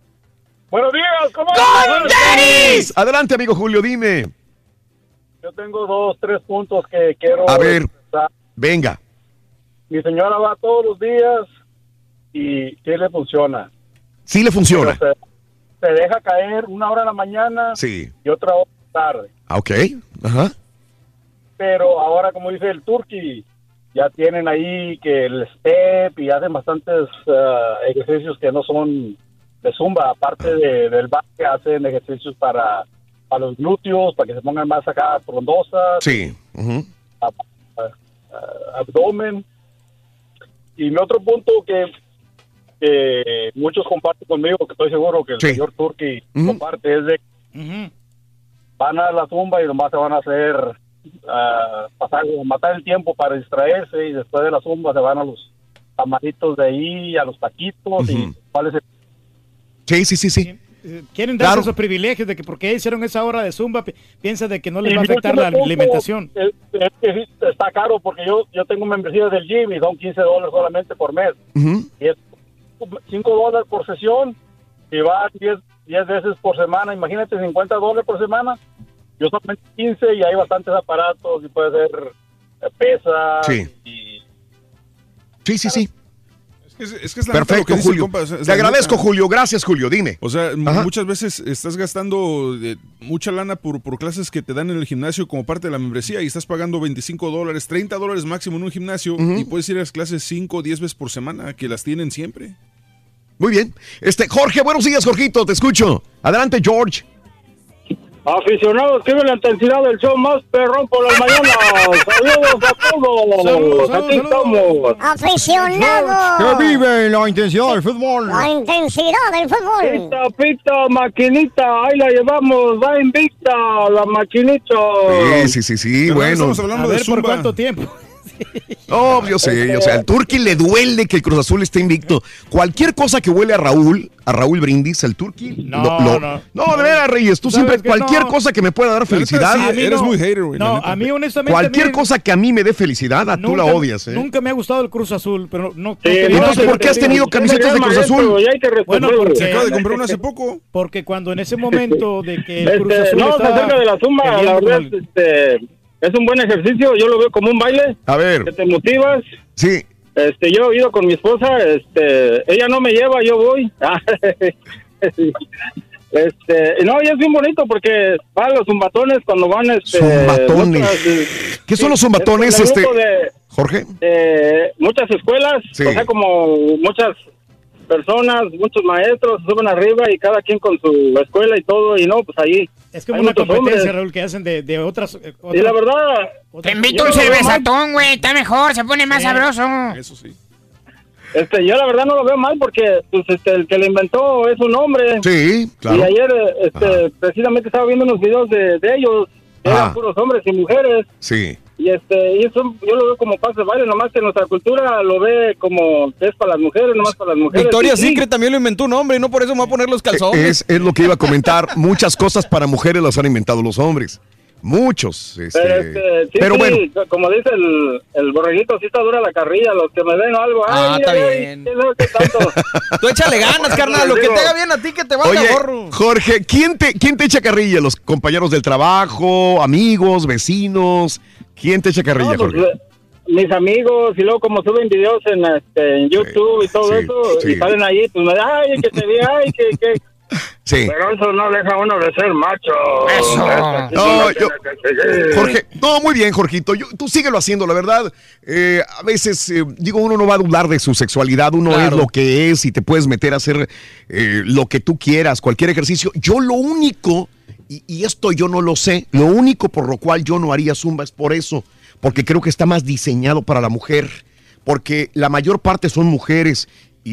Buenos días, ¿cómo ¡Con tenis! Adelante, amigo Julio, dime. Yo tengo dos, tres puntos que quiero... A ver, expresar. venga. Mi señora va todos los días y sí le funciona. Sí le funciona. Pero se, se deja caer una hora en la mañana Sí. y otra hora tarde. Ah, ok. Ajá. Pero ahora, como dice el Turkey, ya tienen ahí que el step y hacen bastantes ah, ejercicios que no son de zumba. Aparte de, del baile, hacen ejercicios para, para los glúteos, para que se pongan más acá frondosas. Sí. Ujú. Ah, abdomen. Y mi otro punto que, que muchos comparten conmigo, que estoy seguro que el Sí. señor Turki Ujú. comparte, es de Ujú. van a la zumba y nomás se van a hacer, ah, pasar, matar el tiempo para distraerse, y después de la zumba se van a los tamalitos de ahí, a los taquitos. Y cuál es el... Sí, sí, sí, sí. Eh, Quieren darse Claro. esos privilegios de que porque hicieron esa hora de zumba, pi- piensa de que no les Y va a mi afectar último la punto alimentación. Es, es que sí, está caro porque yo yo tengo membresía del gym y son quince dólares solamente por mes. Ujú. Y es cinco dólares por sesión y va diez, diez veces por semana. Imagínate, cincuenta dólares por semana. Yo solamente quince y hay bastantes aparatos y puede ser eh, pesas. Sí. Y... Sí, sí, sí. Es, es que es la neta lo que Perfecto, dice el Julio. compa, es- es Te la agradezco, neta. Julio. Gracias, Julio. Dime. O sea, m- Ajá. muchas veces estás gastando eh, mucha lana por, por clases que te dan en el gimnasio como parte de la membresía y estás pagando veinticinco dólares, treinta dólares máximo en un gimnasio Ujú. y puedes ir a las clases cinco o diez veces por semana, que las tienen siempre. Muy bien. Este, Jorge, buenos días, Jorgito. Te escucho. Adelante, George. Aficionados, que la intensidad del show más perrón por las mañanas. Saludos a todos. Saludos, Aquí saludos, estamos. Aficionados. vive la intensidad del fútbol. La intensidad del fútbol. Pita, pita, maquinita, ahí la llevamos, va invicta la maquinita. Sí, sí, sí, sí. Pero Bueno. estamos hablando A de ver por zumba. cuánto tiempo. No, yo sé, yo sé. Al Turqui le duele que el Cruz Azul esté invicto. Cualquier cosa que huele a Raúl, a Raúl Brindis, al Turqui. No, lo- lo- no. No, de veras, Reyes. Tú ¿Sabes siempre, qué? cualquier No. cosa que me pueda dar felicidad. sí, A mí eres no. muy hater, güey. la No, neta. a mí honestamente. Cualquier miren, cosa que a mí me dé felicidad, a tú la nunca- odias, ¿eh? Nunca me ha gustado el Cruz Azul, pero no. no Sí, quería- ¿Y entonces por qué has tenido camisetas de Cruz Azul? Y hay que Bueno, responderlo. porque- Se acaba de comprar una hace poco. Porque cuando en ese momento de que el Cruz Este, Azul no, estaba acerca de la zumba, la peleando verdad, con el- este, es un buen ejercicio, yo lo veo como un baile, A que ver, te motivas. sí. Este, yo he ido con mi esposa, este, ella no me lleva, yo voy. Este, no, y es bien bonito porque van los zumbatones cuando van, este, Zumbatones. muchas- ¿Qué son los es con zumbatones, el este? grupo de, Jorge. de muchas escuelas, Sí. o sea, como muchas personas, muchos maestros se suben arriba y cada quien con su escuela y todo, y no, pues ahí. Es como hay una muchos competencia, hombres. Raúl, que hacen de, de otras, eh, Y otras- la verdad, Te invito Yo un lo veo cervezatón, güey. Está mejor, se pone más Sí. sabroso. Eso sí. este, yo la verdad no lo veo mal porque, pues, este, el que lo inventó es un hombre. Sí, Y claro. ayer, este, precisamente estaba viendo unos videos de, de ellos, que Ajá. eran puros hombres y mujeres. Sí. Y este, y eso yo lo veo como paso de baile, nomás que nuestra cultura lo ve como que es para las mujeres, nomás para las mujeres. Victoria Sí, sí. Secret también lo inventó un hombre y no por eso me va a poner los calzones. Es, es lo que iba a comentar. Muchas cosas para mujeres las han inventado los hombres. Muchos. Este, Pero, este, sí, pero sí, bueno, como dice el, el borreguito, sí está dura la carrilla, los que me ven o algo. Ah, ay, está ay, ay, bien. ¿qué sabe qué tanto? Tú échale ganas, carnal. Lo que te haga bien a ti, que te valga oye, gorro. Jorge, ¿quién te, ¿quién te echa carrilla? ¿Los compañeros del trabajo, amigos, vecinos? ¿Quién te echa carrilla, No, pues, Jorge? eh, mis amigos, y luego como suben videos en, este, en YouTube y todo sí, eso, sí. y salen ahí, pues me da, ay, que te vi, ay, que, que... Sí. Pero eso no deja a uno de ser macho. Eso. No, yo- Jorge, no, muy bien, Jorgito. Yo, tú síguelo haciendo, la verdad. Eh, a veces, eh, digo, uno no va a dudar de su sexualidad, uno Claro. es lo que es y te puedes meter a hacer eh, lo que tú quieras, cualquier ejercicio. Yo lo único, y, y esto yo no lo sé, lo único por lo cual yo no haría zumba es por eso, porque creo que está más diseñado para la mujer, porque la mayor parte son mujeres.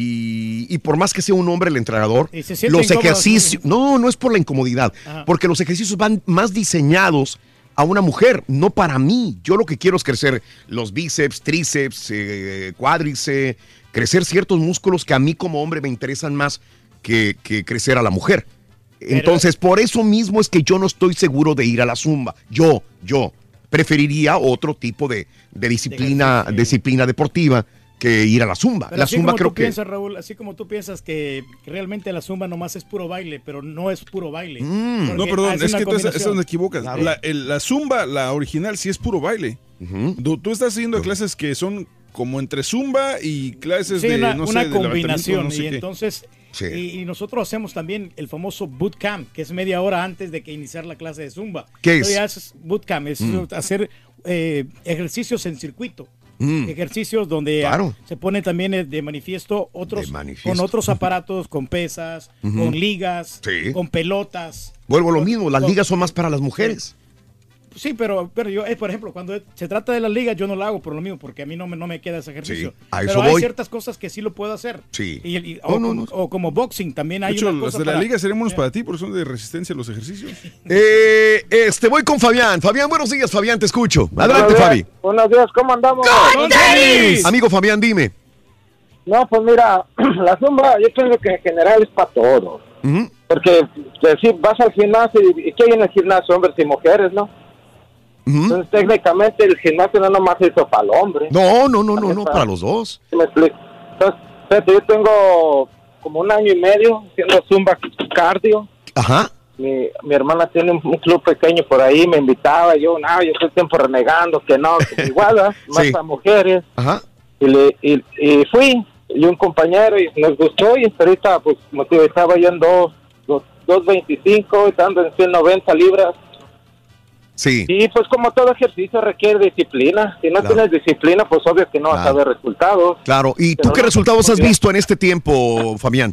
Y, y por más que sea un hombre el entrenador, Y se siente los incómodo, ejercicios, sí. no, no es por la incomodidad, Ajá. porque los ejercicios van más diseñados a una mujer, no para mí. Yo lo que quiero es crecer los bíceps, tríceps, eh, cuádriceps, crecer ciertos músculos que a mí como hombre me interesan más que, que crecer a la mujer. Entonces, por eso mismo es que yo no estoy seguro de ir a la zumba. Yo, yo preferiría otro tipo de, de disciplina, ejercicio. disciplina deportiva que ir a la zumba. Pero La así zumba como creo tú que... piensas, Raúl, así como tú piensas que realmente la zumba nomás es puro baile, pero no es puro baile. Mm. No, Porque perdón, hace es una que tú estás, combinación. estás donde equivocas. La, el- la zumba, la original, sí es puro baile. Ujú. Tú, tú estás haciendo clases que son como entre zumba y clases Sí, de, una, no una sé, de combinación. levantamiento, no sé y qué. entonces, Sí. y, y nosotros hacemos también el famoso bootcamp, que es media hora antes de que iniciar la clase de zumba. ¿Qué Entonces, es? ya haces bootcamp, es Mm. hacer eh, ejercicios en circuito. Mm. Ejercicios donde Claro. ah, se pone también eh, de manifiesto otros De manifiesto. con otros aparatos, con pesas, Ujú. con ligas, Sí. con pelotas. Vuelvo a lo mismo, las Con- ligas son más para las mujeres. Sí, pero, pero yo, eh, por ejemplo, cuando se trata de las ligas, yo no lo hago por lo mismo, porque a mí no me, no me queda ese ejercicio. Sí, a pero eso hay voy. ciertas cosas que sí lo puedo hacer. Sí. Y, y- No, o, no, como, no. o como boxing también hay De hecho, una los cosa de la para- liga serían buenos para ti porque son de resistencia los ejercicios. Eh, este, voy con Fabián. Fabián, buenos días, Fabián, te escucho. Adelante, Buenos Fabi. días. Buenos días, ¿cómo andamos? ¡Con tenis! Amigo Fabián, dime. No, pues mira, la zumba yo pienso que en general es para todos. Ujú. Porque si vas al gimnasio, ¿y qué hay en el gimnasio? Hombres y mujeres, ¿no? Entonces técnicamente el gimnasio no nomás se hizo para el hombre. No, no, no, no, También no, para los dos. ¿Sí me explico? Entonces, fíjate, yo tengo como un año y medio haciendo zumba cardio. Ajá. Mi, mi hermana tiene un, un club pequeño por ahí, me invitaba, yo, no, yo estoy tiempo renegando, que no, que igual, ¿verdad? Más Sí. a mujeres. Ajá. Y, le, y, y fui, y un compañero, y nos gustó, y ahorita, pues, como te digo, estaba yo en dos, dos, dos veinticinco, estando en ciento noventa libras. Sí. Y pues como todo ejercicio requiere disciplina. Si no Claro. tienes disciplina, pues obvio que no vas a Claro. ver resultados. Claro. ¿Y tú Pero qué no, resultados has bien. visto en este tiempo, Fabián?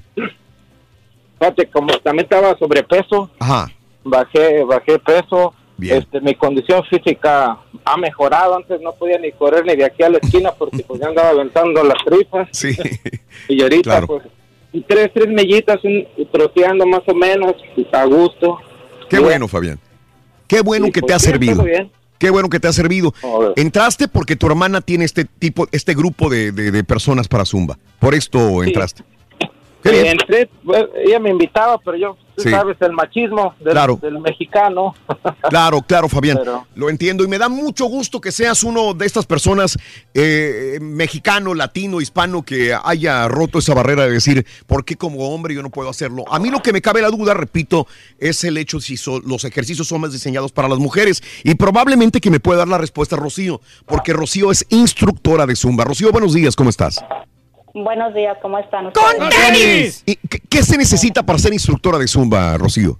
Fíjate, como también estaba sobrepeso, Ajá. bajé, bajé peso. Bien. Este, mi condición física ha mejorado. Antes no podía ni correr ni de aquí a la esquina porque pues ya andaba aventando las tripas. Sí. Y ahorita Claro. pues tres, tres millitas, un, troteando más o menos, a gusto. Qué Bien. bueno, Fabián. Qué bueno Sí, que te pues, ha bien, servido. todo bien. Qué bueno que te ha servido. Joder. Entraste porque tu hermana tiene este tipo, este grupo de, de- de personas para Zumba. Por esto entraste. Qué Sí, bien. entré, pues, ella me invitaba, pero yo, tú Sí. sabes, el machismo del, Claro. del mexicano. Claro, claro, Fabián. Pero- Lo entiendo y me da mucho gusto que seas uno de estas personas eh, mexicano, latino, hispano que haya roto esa barrera de decir, ¿por qué como hombre yo no puedo hacerlo? A mí lo que me cabe la duda, repito, es el hecho si so- los ejercicios son más diseñados para las mujeres y probablemente que me pueda dar la respuesta Rocío, porque Rocío es instructora de Zumba. Rocío, buenos días, ¿cómo estás? Buenos días, ¿cómo están ¡Con ustedes? tenis! ¿Y qué, qué se necesita para ser instructora de Zumba, Rocío?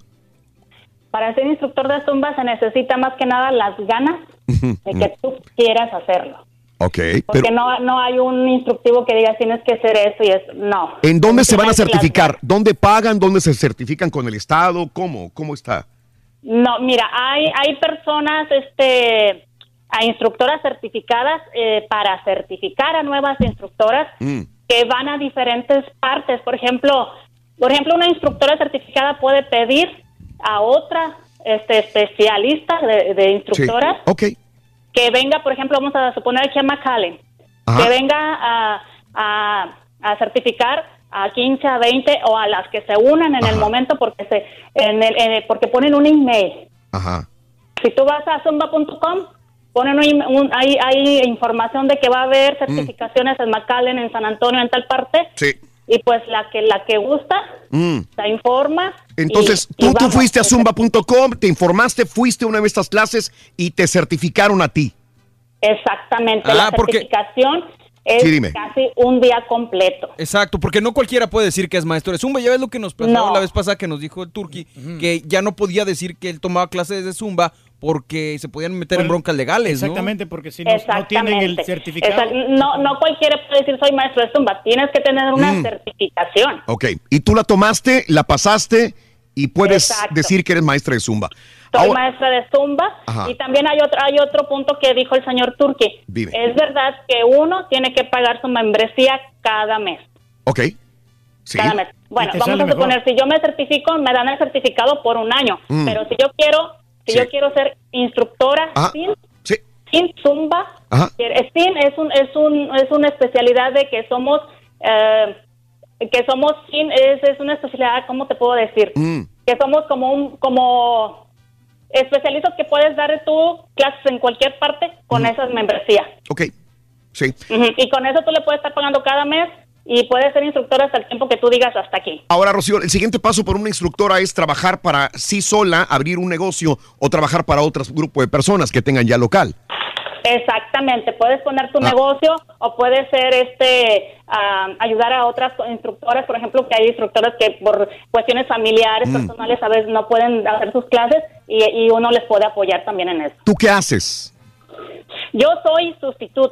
Para ser instructor de Zumba se necesita más que nada las ganas de que tú quieras hacerlo. Ok, Porque pero no, no hay un instructivo que diga tienes que hacer eso y eso. No. ¿en dónde se van a Tienes que las- certificar? ¿Dónde pagan? ¿Dónde se certifican con el Estado? ¿Cómo? ¿Cómo está? No, mira, hay, hay personas, este, a instructoras certificadas eh, para certificar a nuevas instructoras Mm. que van a diferentes partes. Por ejemplo, por ejemplo, una instructora certificada puede pedir a otra este, especialista de, de instructoras Sí. Ok. que venga, por ejemplo, vamos a suponer aquí a McAllen, Ajá. que venga a, a, a certificar a quince, a veinte o a las que se unan en el momento porque se en el, en el- porque ponen un email. Ajá. Si tú vas a zumba punto com, ponen un, un- hay, hay información de que va a haber certificaciones en McAllen, en San Antonio, en tal parte, Sí. y pues la que la que gusta Mm. se informa. Entonces, y- tú, y tú vamos. fuiste a zumba punto com, te informaste, fuiste a una de estas clases y te certificaron a ti. Exactamente, Ah, la porque- certificación es Sí, dime. casi un día completo. Exacto, porque no cualquiera puede decir que es maestro de Zumba. Ya ves lo que nos pasó No. la vez pasada que nos dijo el Turqui, que ya no podía decir que él tomaba clases de Zumba porque se podían meter en broncas legales, ¿no? Exactamente, porque si no, no tienen el Exactamente. certificado. Exact- No, no cualquiera puede decir soy maestro de Zumba, tienes que tener una Mm. certificación. Ok. Y tú la tomaste, la pasaste y puedes Exacto. decir que eres maestra de Zumba. Soy Ahora- maestra de Zumba. Ajá. Y también hay otro, hay otro punto que dijo el señor Turki. Dime. Es verdad que uno tiene que pagar su membresía cada mes. Ok. Sí. Cada mes. Bueno, te vamos sale a suponer, mejor. si yo me certifico, me dan el certificado por un año. Mm. Pero si yo quiero, si Sí. yo quiero ser instructora Ajá. sin, Sí. sin Zumba, Ajá. eh, sin es un, es un, es una especialidad de que somos, eh, que somos sin, es, es una especialidad, ¿cómo te puedo decir? Mm. Que somos como un, como especialistas que puedes dar tú clases en cualquier parte con esas membresías. Ok. Sí. Ujú. Y con eso tú le puedes estar pagando cada mes y puedes ser instructora hasta el tiempo que tú digas hasta aquí. Ahora, Rocío, el siguiente paso por una instructora es trabajar para sí sola, abrir un negocio o trabajar para otro grupo de personas que tengan ya local. Exactamente, puedes poner tu Ah. negocio o puedes ser este ah, ayudar a otras instructoras, por ejemplo, que hay instructoras que por cuestiones familiares, Mm. personales, a veces no pueden hacer sus clases y, y uno les puede apoyar también en eso. ¿Tú qué haces? Yo soy sustituta.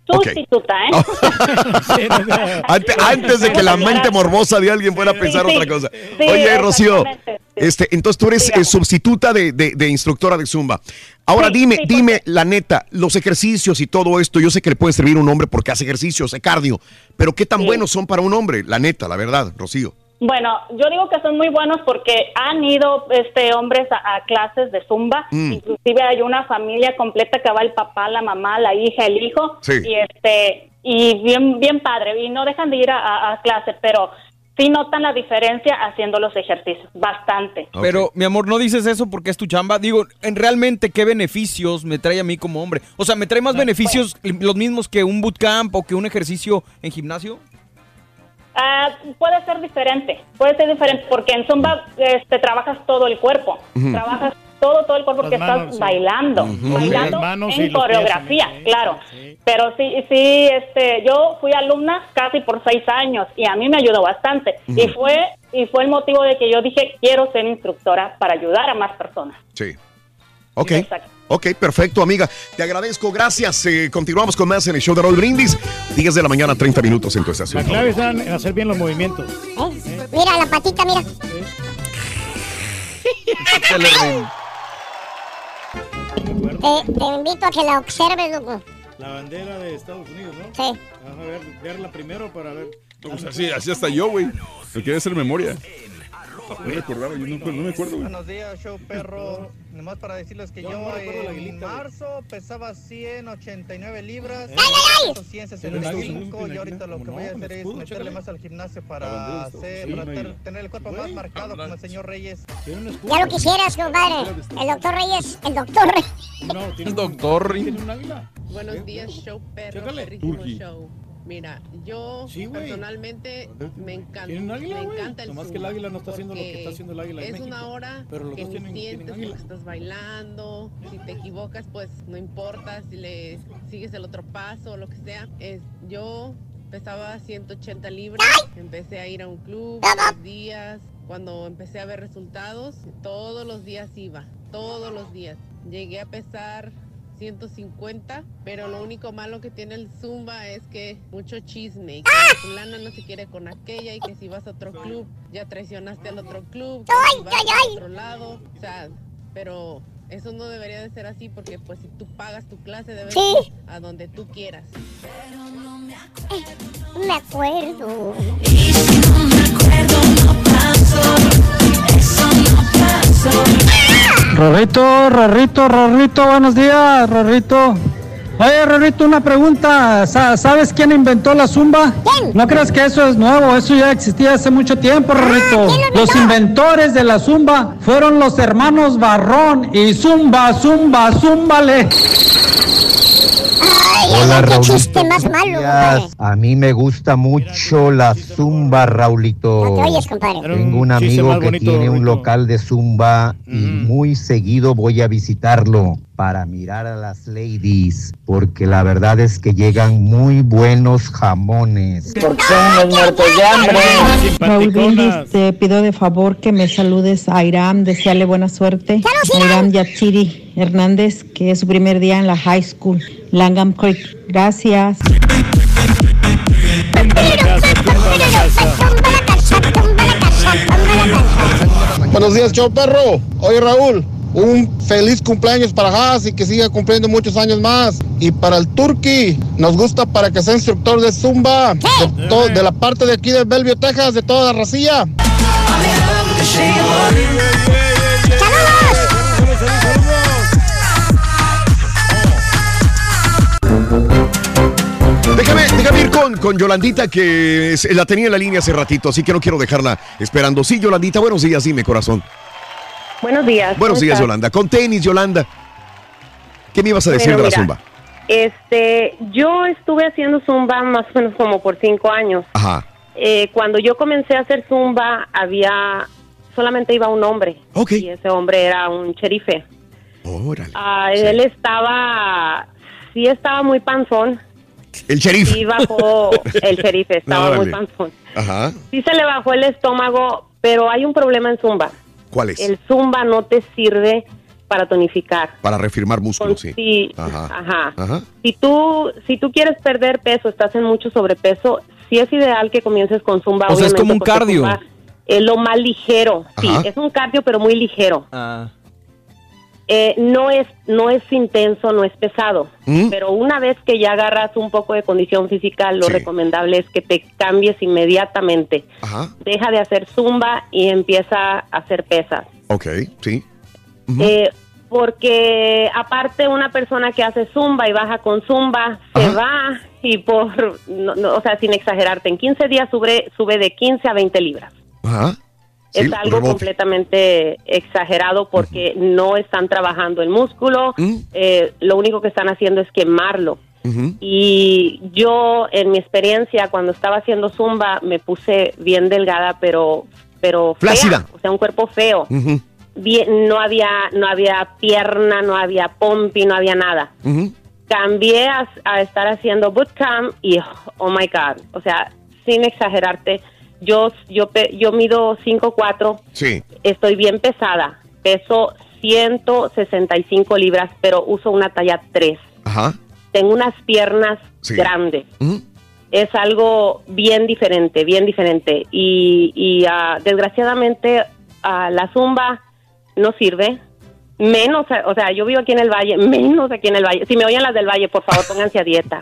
Sustituta, okay. ¿eh? antes, antes de que la mente morbosa de alguien fuera a pensar sí, sí. otra cosa. Sí, Oye, Rocío, sí. este, entonces tú eres eh, sustituta de, de, de instructora de Zumba. Ahora Sí, dime, sí, dime la neta, los ejercicios y todo esto, yo sé que le puede servir a un hombre porque hace ejercicios, hace cardio, pero ¿qué tan Sí. buenos son para un hombre? La neta, la verdad, Rocío. Bueno, yo digo que son muy buenos porque han ido este hombres a, a clases de Zumba. Mm. Inclusive hay una familia completa que va el papá, la mamá, la hija, el hijo. Sí. Y este y bien bien padre. Y no dejan de ir a, a, a clases, pero sí notan la diferencia haciendo los ejercicios. Bastante. Pero, mi amor, no dices eso porque es tu chamba. Digo, en realmente, ¿qué beneficios me trae a mí como hombre? O sea, ¿me trae más beneficios los mismos que un bootcamp o que un ejercicio en gimnasio? Ah, puede ser diferente, puede ser diferente porque en Zumba este, trabajas todo el cuerpo, Ujú. trabajas todo, todo el cuerpo porque Las manos, estás sí. bailando, Ujú. bailando Las manos y en los pies coreografía, también, claro. Pero sí, sí, este, yo fui alumna casi por seis años y a mí me ayudó bastante. Ujú. Y fue y fue el motivo de que yo dije, quiero ser instructora para ayudar a más personas. Sí. Ok. Ok, perfecto, amiga. Te agradezco, gracias. Eh, continuamos con más en el show de Raúl Brindis. diez de la mañana, treinta minutos en tu estación. La clave está en hacer bien los movimientos. ¿Eh? Mira la patita, mira. Te, te invito a que la observes, loco. La bandera de Estados Unidos, ¿no? Sí. Vamos a ver, verla primero para ver. No, pues así, así hasta yo, güey. Me quería hacer memoria. No recordaba, yo no, no me acuerdo, güey. Buenos días, show perro. Nomás para decirles que yo, Yo no recuerdo la en aguilita, marzo pesaba ciento ochenta y nueve libras. ¡Ay, ciento sesenta y cinco. Y ahorita lo que voy a hacer es meterle más al gimnasio para, hacer, para ter- tener el cuerpo más marcado como el señor Reyes. Ya lo quisieras, compadre. El doctor Reyes, el doctor Reyes. El doctor. Buenos días, show perro, Chécale. perrísimo Turqui. show. Mira, yo Sí, güey. personalmente me encanta, ¿Tienen águila, me güey? encanta el Nomás que el Zumba, águila no está haciendo lo que porque está haciendo el águila en es México. una hora Pero los que dos ni tienen- tienen sientes águila. porque estás bailando. Si te equivocas, pues no importa. Si le sigues el otro paso o lo que sea. Es, yo pesaba ciento ochenta libras. Empecé a ir a un club dos días. Cuando empecé a ver resultados, todos los días iba. Todos los días. Llegué a pesar ciento cincuenta, pero lo único malo que tiene el Zumba es que mucho chisme y que la fulana no se quiere con aquella y que si vas a otro club ya traicionaste al otro club, que si vas a otro lado, o sea, pero eso no debería de ser así porque pues si tú pagas tu clase debes Sí. ir a donde tú quieras. No me acuerdo. Rorrito, Rorrito, Rorrito, buenos días, Rorrito. Oye, Rorrito, una pregunta. Sa- ¿Sabes quién inventó la zumba? ¿Quién? No creas que eso es nuevo, eso ya existía hace mucho tiempo, Rorrito. Los inventores de la zumba fueron los hermanos Barrón y zumba, zumba, zúmbale. Hola, Raúlito. Chiste más malo, compadre. A mí me gusta mucho la zumba, Raulito. No te oyes, compadre. Tengo un chiste amigo más que bonito, tiene un Raulito. local de zumba y muy seguido voy a visitarlo para mirar a las ladies, porque la verdad es que llegan muy buenos jamones. Porque son unos muertos de hambre. Raúl Brindis, te pido de favor que me saludes a Iram, desearle buena suerte. A Iram Yatsiri Hernández, que es su primer día en la high school, Langham Creek. Gracias. Buenos días, show perro. Oye, Raúl, un feliz cumpleaños para Haas y que siga cumpliendo muchos años más. Y para el Turqui, nos gusta para que sea instructor de Zumba, de, to- de la parte de aquí de Bellevue, Texas, de toda la racilla. Déjame, déjame ir con, con Yolandita, que es- la tenía en la línea hace ratito, así que no quiero dejarla esperando. Sí, Yolandita, buenos días, dime, corazón. Buenos días. Buenos ¿cómo días, estás? Yolanda. Con tenis, Yolanda. ¿Qué me ibas a decir Bueno, de la mira, zumba? Este, yo estuve haciendo zumba más o menos como por cinco años. Ajá. Eh, cuando yo comencé a hacer zumba, había solamente iba un hombre. Y ese hombre era un sherife. Órale. Ah, él estaba, sí estaba muy panzón. El sheriff. Sí bajó, el sherife estaba Órale. muy panzón. Ajá. Sí se le bajó el estómago, pero hay un problema en zumba. ¿Cuál es? El zumba no te sirve para tonificar. Para reafirmar músculos, Con- sí. sí, Ajá. Ajá. Ajá. Si tú, si tú quieres perder peso, estás en mucho sobrepeso, sí es ideal que comiences con Zumba. O sea, es obviamente, como un porque cardio. Zumba es lo más ligero. Sí, Ajá. es un cardio, pero muy ligero. Ah. Eh, no es no es intenso, no es pesado, ¿Mm? pero una vez que ya agarras un poco de condición física, lo Sí. recomendable es que te cambies inmediatamente. Ajá. Deja de hacer Zumba y empieza a hacer pesas. Ok, sí. Eh, porque aparte una persona que hace Zumba y baja con Zumba se va y por, no, no, o sea, sin exagerarte, en quince días sube, sube de quince a veinte libras. Ajá. Sí, Es algo rebote. completamente exagerado porque no están trabajando el músculo, eh, lo único que están haciendo es quemarlo. Ujú. Y yo, en mi experiencia, cuando estaba haciendo Zumba, me puse bien delgada, pero, pero fea, Flácida. o sea, un cuerpo feo. Ujú. Bien, no había, no había pierna, no había pompi, no había nada. Ujú. Cambié a, a estar haciendo bootcamp y, oh my God, o sea, sin exagerarte, yo, yo, pe- yo mido cinco cuatro, Sí. estoy bien pesada, peso ciento sesenta y cinco libras, pero uso una talla tres. Ajá. Tengo unas piernas Sí. grandes. Ujú. Es algo bien diferente, bien diferente. Y, y ah, desgraciadamente ah, la Zumba no sirve. Menos, o sea, yo vivo aquí en el Valle, menos aquí en el Valle. Si me oyen las del Valle, por favor, pónganse a dieta.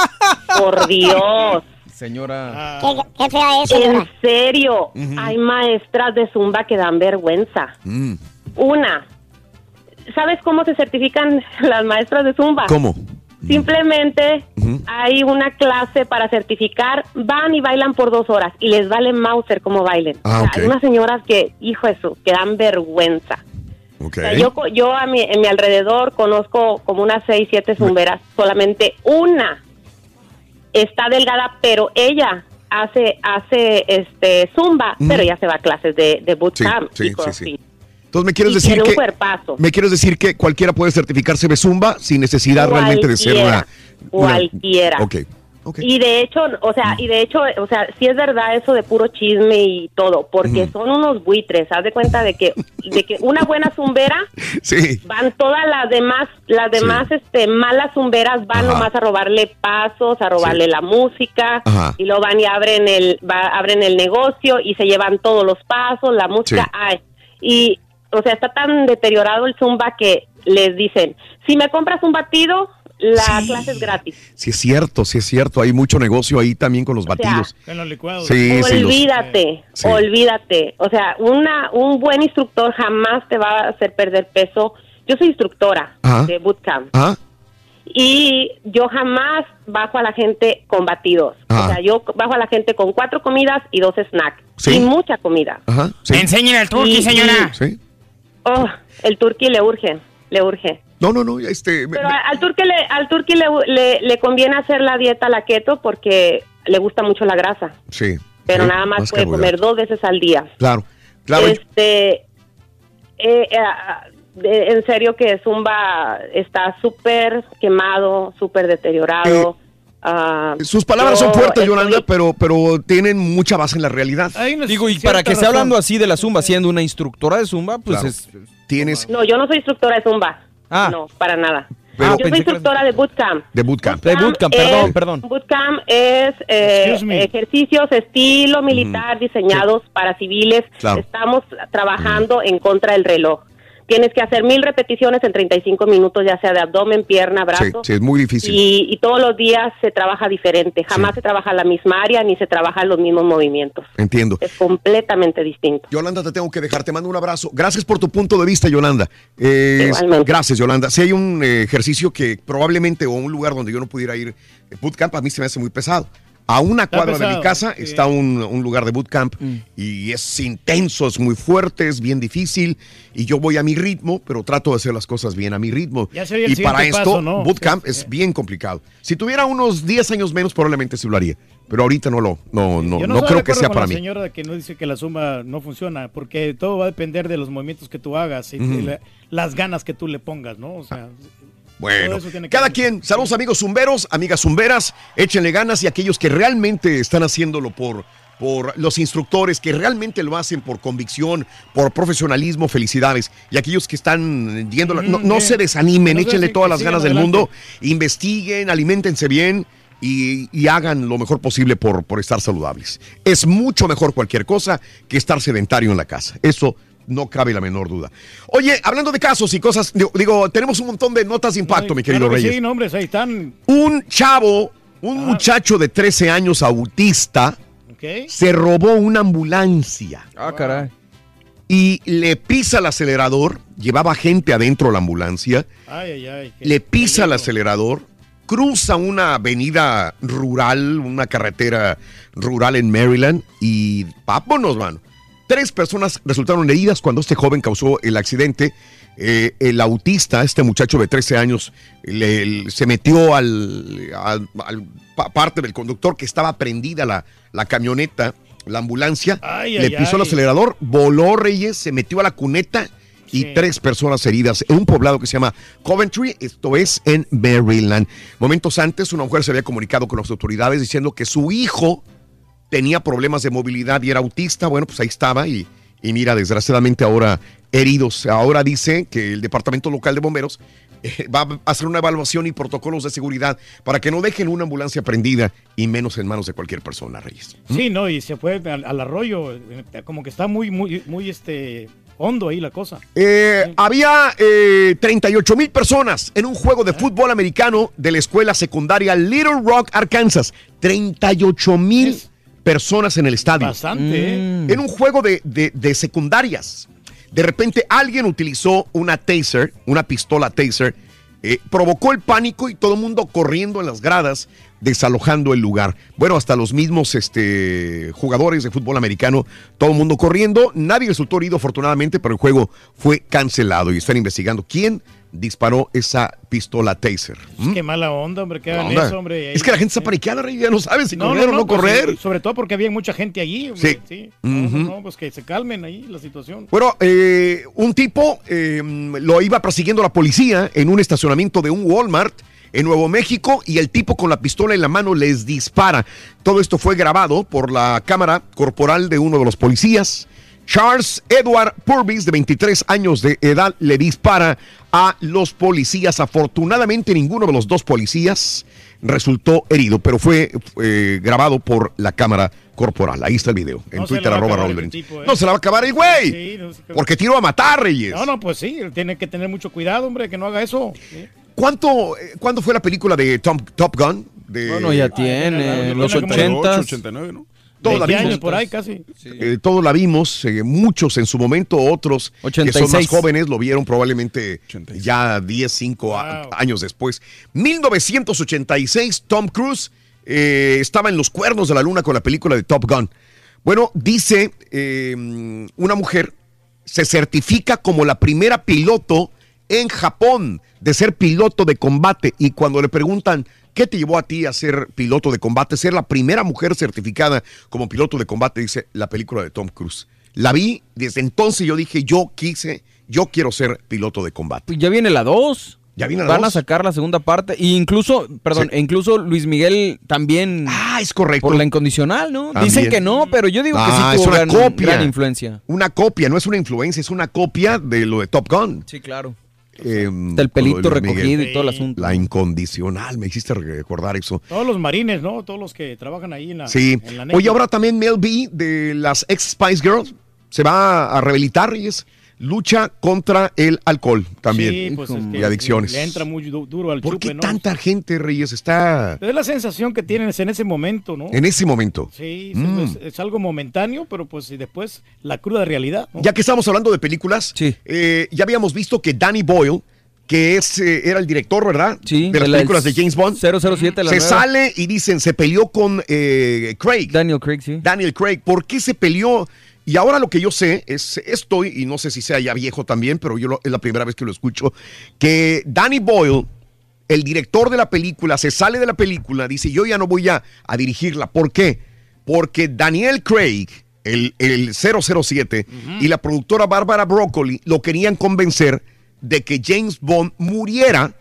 Por Dios. Señora. Qué, qué fea es, En señora. serio, hay maestras de Zumba que dan vergüenza. Mm. Una, ¿sabes cómo se certifican las maestras de Zumba? ¿Cómo? Simplemente hay una clase para certificar, van y bailan por dos horas y les vale Mauser cómo bailen. Ah, O sea, ok. hay unas señoras que, hijo de su, que dan vergüenza. Ok. O sea, yo co- yo a mi, en mi alrededor conozco como unas seis, siete zumberas, solamente una está delgada, pero ella hace hace este zumba, Mm. pero ella se va a clases de, de Sí, bootcamp sí, y sí, CrossFit. sí. Entonces, ¿me quieres Y decir tiene un que cuerpazo. me quieres decir que cualquiera puede certificarse de Zumba sin necesidad realmente de ser una, una- Cualquiera. Ok. Y de hecho, o sea, y de hecho, o sea, sí es verdad eso de puro chisme y todo, porque son unos buitres. Haz de cuenta de que, de que una buena zumbera Sí. van todas las demás, las demás, este, malas zumberas van Ajá. nomás a robarle pasos, a robarle la música, Ajá. y luego van y abren el, va- abren el negocio y se llevan todos los pasos, la música, Sí. ay, y, o sea, está tan deteriorado el zumba que les dicen, si me compras un batido, la clase es gratis. Sí es cierto, sí es cierto. Hay mucho negocio ahí también con los sea, batidos. En los licuados. Sí, sí, los- Olvídate, Sí. olvídate. O sea, una un buen instructor jamás te va a hacer perder peso. Yo soy instructora Ajá. de bootcamp Ajá. y yo jamás bajo a la gente con batidos. Ajá. O sea, yo bajo a la gente con cuatro comidas y dos snacks. Sí. Y mucha comida. Ajá. Sí. Enseñen el turqui, Y- señora. Sí. Oh, el turqui le urge, le urge. No, no, no, este... me- Pero me- al turqui le al turqui le, le, le conviene hacer la dieta la keto porque le gusta mucho la grasa. sí. Pero Sí, nada más puede carbohidratos. comer dos veces al día. Claro, claro. Este, eh, eh, de- en serio que Zumba está súper quemado, súper deteriorado. Ah, Sus palabras yo son fuertes, estoy- Yolanda, pero, pero tienen mucha base en la realidad. Digo, y para que esté hablando así de la Zumba, siendo una instructora de Zumba, pues Claro. es... Tienes No, yo no soy instructora de Zumba. Ah. No, para nada. Pero- yo soy pensé que eras- instructora de bootcamp. de bootcamp. De bootcamp, perdón, es- perdón. Bootcamp es eh, Excuse me. ejercicios estilo militar diseñados para civiles. Claro. Estamos trabajando en contra del reloj. Tienes que hacer mil repeticiones en treinta y cinco minutos, ya sea de abdomen, pierna, Sí, brazo. sí, es muy difícil. Y, y todos los días se trabaja diferente. Jamás Sí. se trabaja la misma área ni se trabajan los mismos movimientos. Entiendo. Es completamente distinto. Yolanda, te tengo que dejar, te mando un abrazo. Gracias por tu punto de vista, Yolanda. Eh, Igualmente. gracias, Yolanda. Si hay un eh, ejercicio que probablemente, o un lugar donde yo no pudiera ir, eh, bootcamp a mí se me hace muy pesado. A una Está cuadra de pesado, mi casa sí. está un, un lugar de bootcamp y es intenso, es muy fuerte, es bien difícil y yo voy a mi ritmo, pero trato de hacer las cosas bien a mi ritmo. Ya sería el Y para siguiente esto, paso, ¿no? bootcamp Sí, es sí. bien complicado. Si tuviera unos diez años menos, probablemente sí lo haría, pero ahorita no lo, no, no, Yo no, no, estoy creo de que acuerdo sea con para la mí. señora que no dice que la zumba no funciona, porque todo va a depender de los movimientos que tú hagas y Ujú. de la- las ganas que tú le pongas, ¿no? O sea, Bueno, todo eso tiene que cada ver. quien, saludos amigos zumberos, amigas zumberas, échenle ganas y aquellos que realmente están haciéndolo por, por los instructores que realmente lo hacen por convicción, por profesionalismo, felicidades. Y aquellos que están yendo, mm, no, no se desanimen, no échenle todas las ganas del adelante. mundo, investiguen, aliméntense bien y, y hagan lo mejor posible por, por estar saludables. Es mucho mejor cualquier cosa que estar sedentario en la casa. Eso no cabe la menor duda. Oye, hablando de casos y cosas, digo, digo tenemos un montón de notas de impacto, Ay, mi querido claro Reyes. Sí, nombres, ahí están. Un chavo, un ah. muchacho de trece años autista, okay. se robó una ambulancia. Ah, caray. Y le pisa el acelerador, llevaba gente adentro de la ambulancia, ay, ay, ay, le pisa el acelerador, cruza una avenida rural, una carretera rural en Maryland y vámonos, mano. Tres personas resultaron heridas cuando este joven causó el accidente. Eh, el autista, este muchacho de trece años, le, le, se metió al, al, al parte del conductor que estaba prendida la, la camioneta, la ambulancia, ay, le ay, pisó ay. el acelerador, voló, Reyes, se metió a la cuneta y sí. tres personas heridas en un poblado que se llama Coventry, esto es en Maryland. Momentos antes, una mujer se había comunicado con las autoridades diciendo que su hijo tenía problemas de movilidad y era autista. Bueno, pues ahí estaba y, y mira, desgraciadamente ahora heridos. Ahora dice que el departamento local de bomberos eh, va a hacer una evaluación y protocolos de seguridad para que no dejen una ambulancia prendida y menos en manos de cualquier persona, Reyes. ¿Mm? Sí, no, y se fue al, al arroyo, como que está muy, muy, muy este... hondo ahí la cosa. Eh, sí. Había eh, treinta y ocho mil personas en un juego de ¿Eh? fútbol americano de la escuela secundaria Little Rock, Arkansas. treinta y ocho mil personas en el estadio. Bastante. Mm. En un juego de, de, de secundarias. De repente alguien utilizó una taser, una pistola taser, eh, provocó el pánico y todo el mundo corriendo en las gradas, desalojando el lugar. Bueno, hasta los mismos este, jugadores de fútbol americano, todo el mundo corriendo. Nadie resultó herido, afortunadamente, pero el juego fue cancelado y están investigando quién disparó esa pistola taser. ¿Mm? Qué mala onda, hombre, que hagan onda. eso, hombre. Es que la gente está paniqueada, Rey, ya no sabe si no, correr no, no, o no pues, correr. Sí, sobre todo porque había mucha gente allí. Hombre, sí. sí. Uh-huh. No, no, pues que se calmen ahí la situación. Bueno, eh, un tipo eh, lo iba persiguiendo la policía en un estacionamiento de un Walmart en Nuevo México y el tipo con la pistola en la mano les dispara. Todo esto fue grabado por la cámara corporal de uno de los policías. Charles Edward Purvis, de veintitrés años de edad, le dispara a los policías. Afortunadamente, ninguno de los dos policías resultó herido, pero fue eh, grabado por la cámara corporal. Ahí está el video, en no Twitter, arroba Raúl Brindis. ¿eh? No se la va a acabar el güey, sí, no porque tiró a matar, Reyes. No, no, pues sí, tiene que tener mucho cuidado, hombre, que no haga eso. ¿Sí? ¿Cuánto, eh, ¿Cuándo fue la película de Tom, Top Gun? De, bueno, ya tiene, en los ochentas. ochenta y nueve, ¿no? Todos la vimos, años por ahí casi. Sí. Eh, todos la vimos, eh, muchos en su momento, otros ochenta y seis. Que son más jóvenes lo vieron probablemente ochenta y seis. Ya diez, cinco wow. a, años después. mil novecientos ochenta y seis, Tom Cruise eh, estaba en los cuernos de la luna con la película de Top Gun. Bueno, dice eh, una mujer, se certifica como la primera piloto en Japón de ser piloto de combate y cuando le preguntan ¿qué te llevó a ti a ser piloto de combate? Ser la primera mujer certificada como piloto de combate, dice la película de Tom Cruise. La vi, desde entonces yo dije, yo quise, yo quiero ser piloto de combate. Pues ya viene la dos. Ya viene la Van dos. a sacar la segunda parte. E incluso, perdón, sí. e incluso Luis Miguel también. Ah, es correcto. Por la incondicional, ¿no? También. Dicen que no, pero yo digo ah, que sí tuvo es una gran, copia. gran influencia. Una copia, no es una influencia, es una copia de lo de Top Gun. Sí, claro. Eh, el pelito recogido y todo el asunto. La incondicional, me hiciste recordar eso. Todos los marines, ¿no? Todos los que trabajan ahí en la Sí. En la Oye, ahora también Mel B de las ex Spice Girls se va a rehabilitar y es lucha contra el alcohol también. Sí, pues es que y adicciones. Le entra muy du- duro al ¿Por chupe, qué ¿no? tanta gente, Reyes, está...? Es la sensación que tienes en ese momento, ¿no? En ese momento. Sí, Mm. es, es algo momentáneo, pero pues y después la cruda realidad, ¿no? Ya que estamos hablando de películas, sí. eh, ya habíamos visto que Danny Boyle, que es, eh, era el director, ¿verdad? Sí. De las de películas de James Bond. cero cero siete, la se nueva. sale y dicen, se peleó con eh, Craig. Daniel Craig, sí. Daniel Craig. ¿Por qué se peleó? Y ahora lo que yo sé es esto, y no sé si sea ya viejo también, pero yo lo, es la primera vez que lo escucho, que Danny Boyle, el director de la película, se sale de la película, dice, yo ya no voy a, a dirigirla. ¿Por qué? Porque Daniel Craig, el, el cero cero siete, uh-huh. y la productora Barbara Broccoli lo querían convencer de que James Bond muriera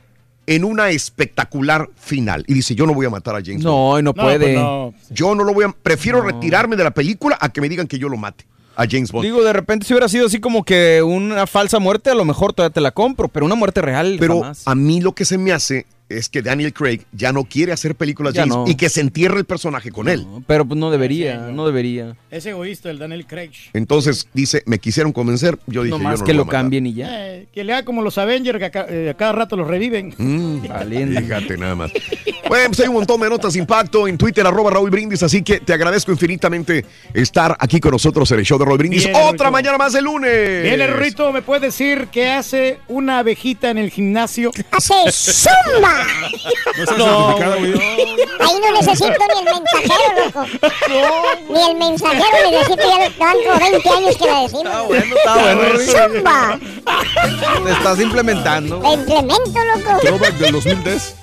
en una espectacular final. Y dice, yo no voy a matar a James Bond. No, no puede. pues no. Yo no lo voy a... Prefiero no. retirarme de la película a que me digan que yo lo mate a James Bond. Digo, de repente si hubiera sido así como que una falsa muerte, a lo mejor todavía te la compro, pero una muerte real Pero jamás. a mí lo que se me hace es que Daniel Craig ya no quiere hacer películas Ya James no. y que se entierre el personaje con él. No, pero pues no debería, no debería. Es egoísta el Daniel Craig. Entonces dice, me quisieron convencer, yo dije, No yo más no que lo lo voy a matar. cambien y ya. Eh, que le haga como los Avengers, que a, ca- eh, a cada rato los reviven. Mm, fíjate nada más. Bueno, pues hay un montón de notas de impacto en Twitter, arroba Raúl Brindis, así que te agradezco infinitamente estar aquí con nosotros en el show de Raúl Brindis. Bien, Otra Rorrito. mañana más de lunes. Bien, Rorrito, ¿me puedes decir qué hace una abejita en el gimnasio? ¡Hace zumba! No está certificada, güey. Ahí no necesito ni el mensajero, loco. Ni el mensajero necesito, ya lo dan como veinte años que la decimos. Está bueno, está bueno, Rorrito. ¡Zumba! Te estás implementando. La implemento, loco. Throwback del dos mil diez.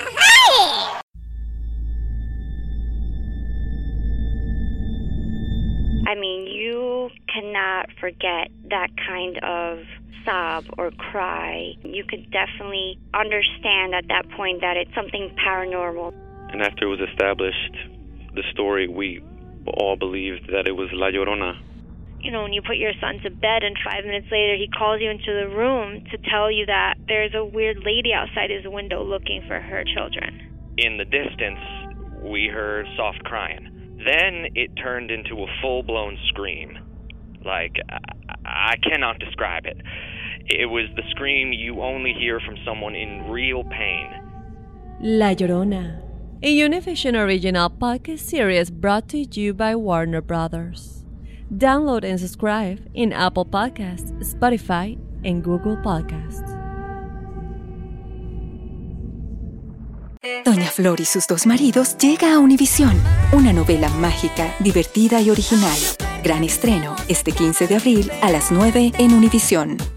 I mean, you cannot forget that kind of sob or cry. You could definitely understand at that point that it's something paranormal. And after it was established, the story, we all believed that it was La Llorona. You know, when you put your son to bed and five minutes later he calls you into the room to tell you that there's a weird lady outside his window looking for her children. In the distance, we heard soft crying. Then it turned into a full-blown scream. Like, I, I cannot describe it. It was the scream you only hear from someone in real pain. La Llorona, a Univision original podcast series brought to you by Warner Brothers. Download and subscribe in Apple Podcasts, Spotify, and Google Podcasts. Doña Flor y sus dos maridos llega a Univisión, una novela mágica, divertida y original. Gran estreno este quince de abril a las nueve en Univisión.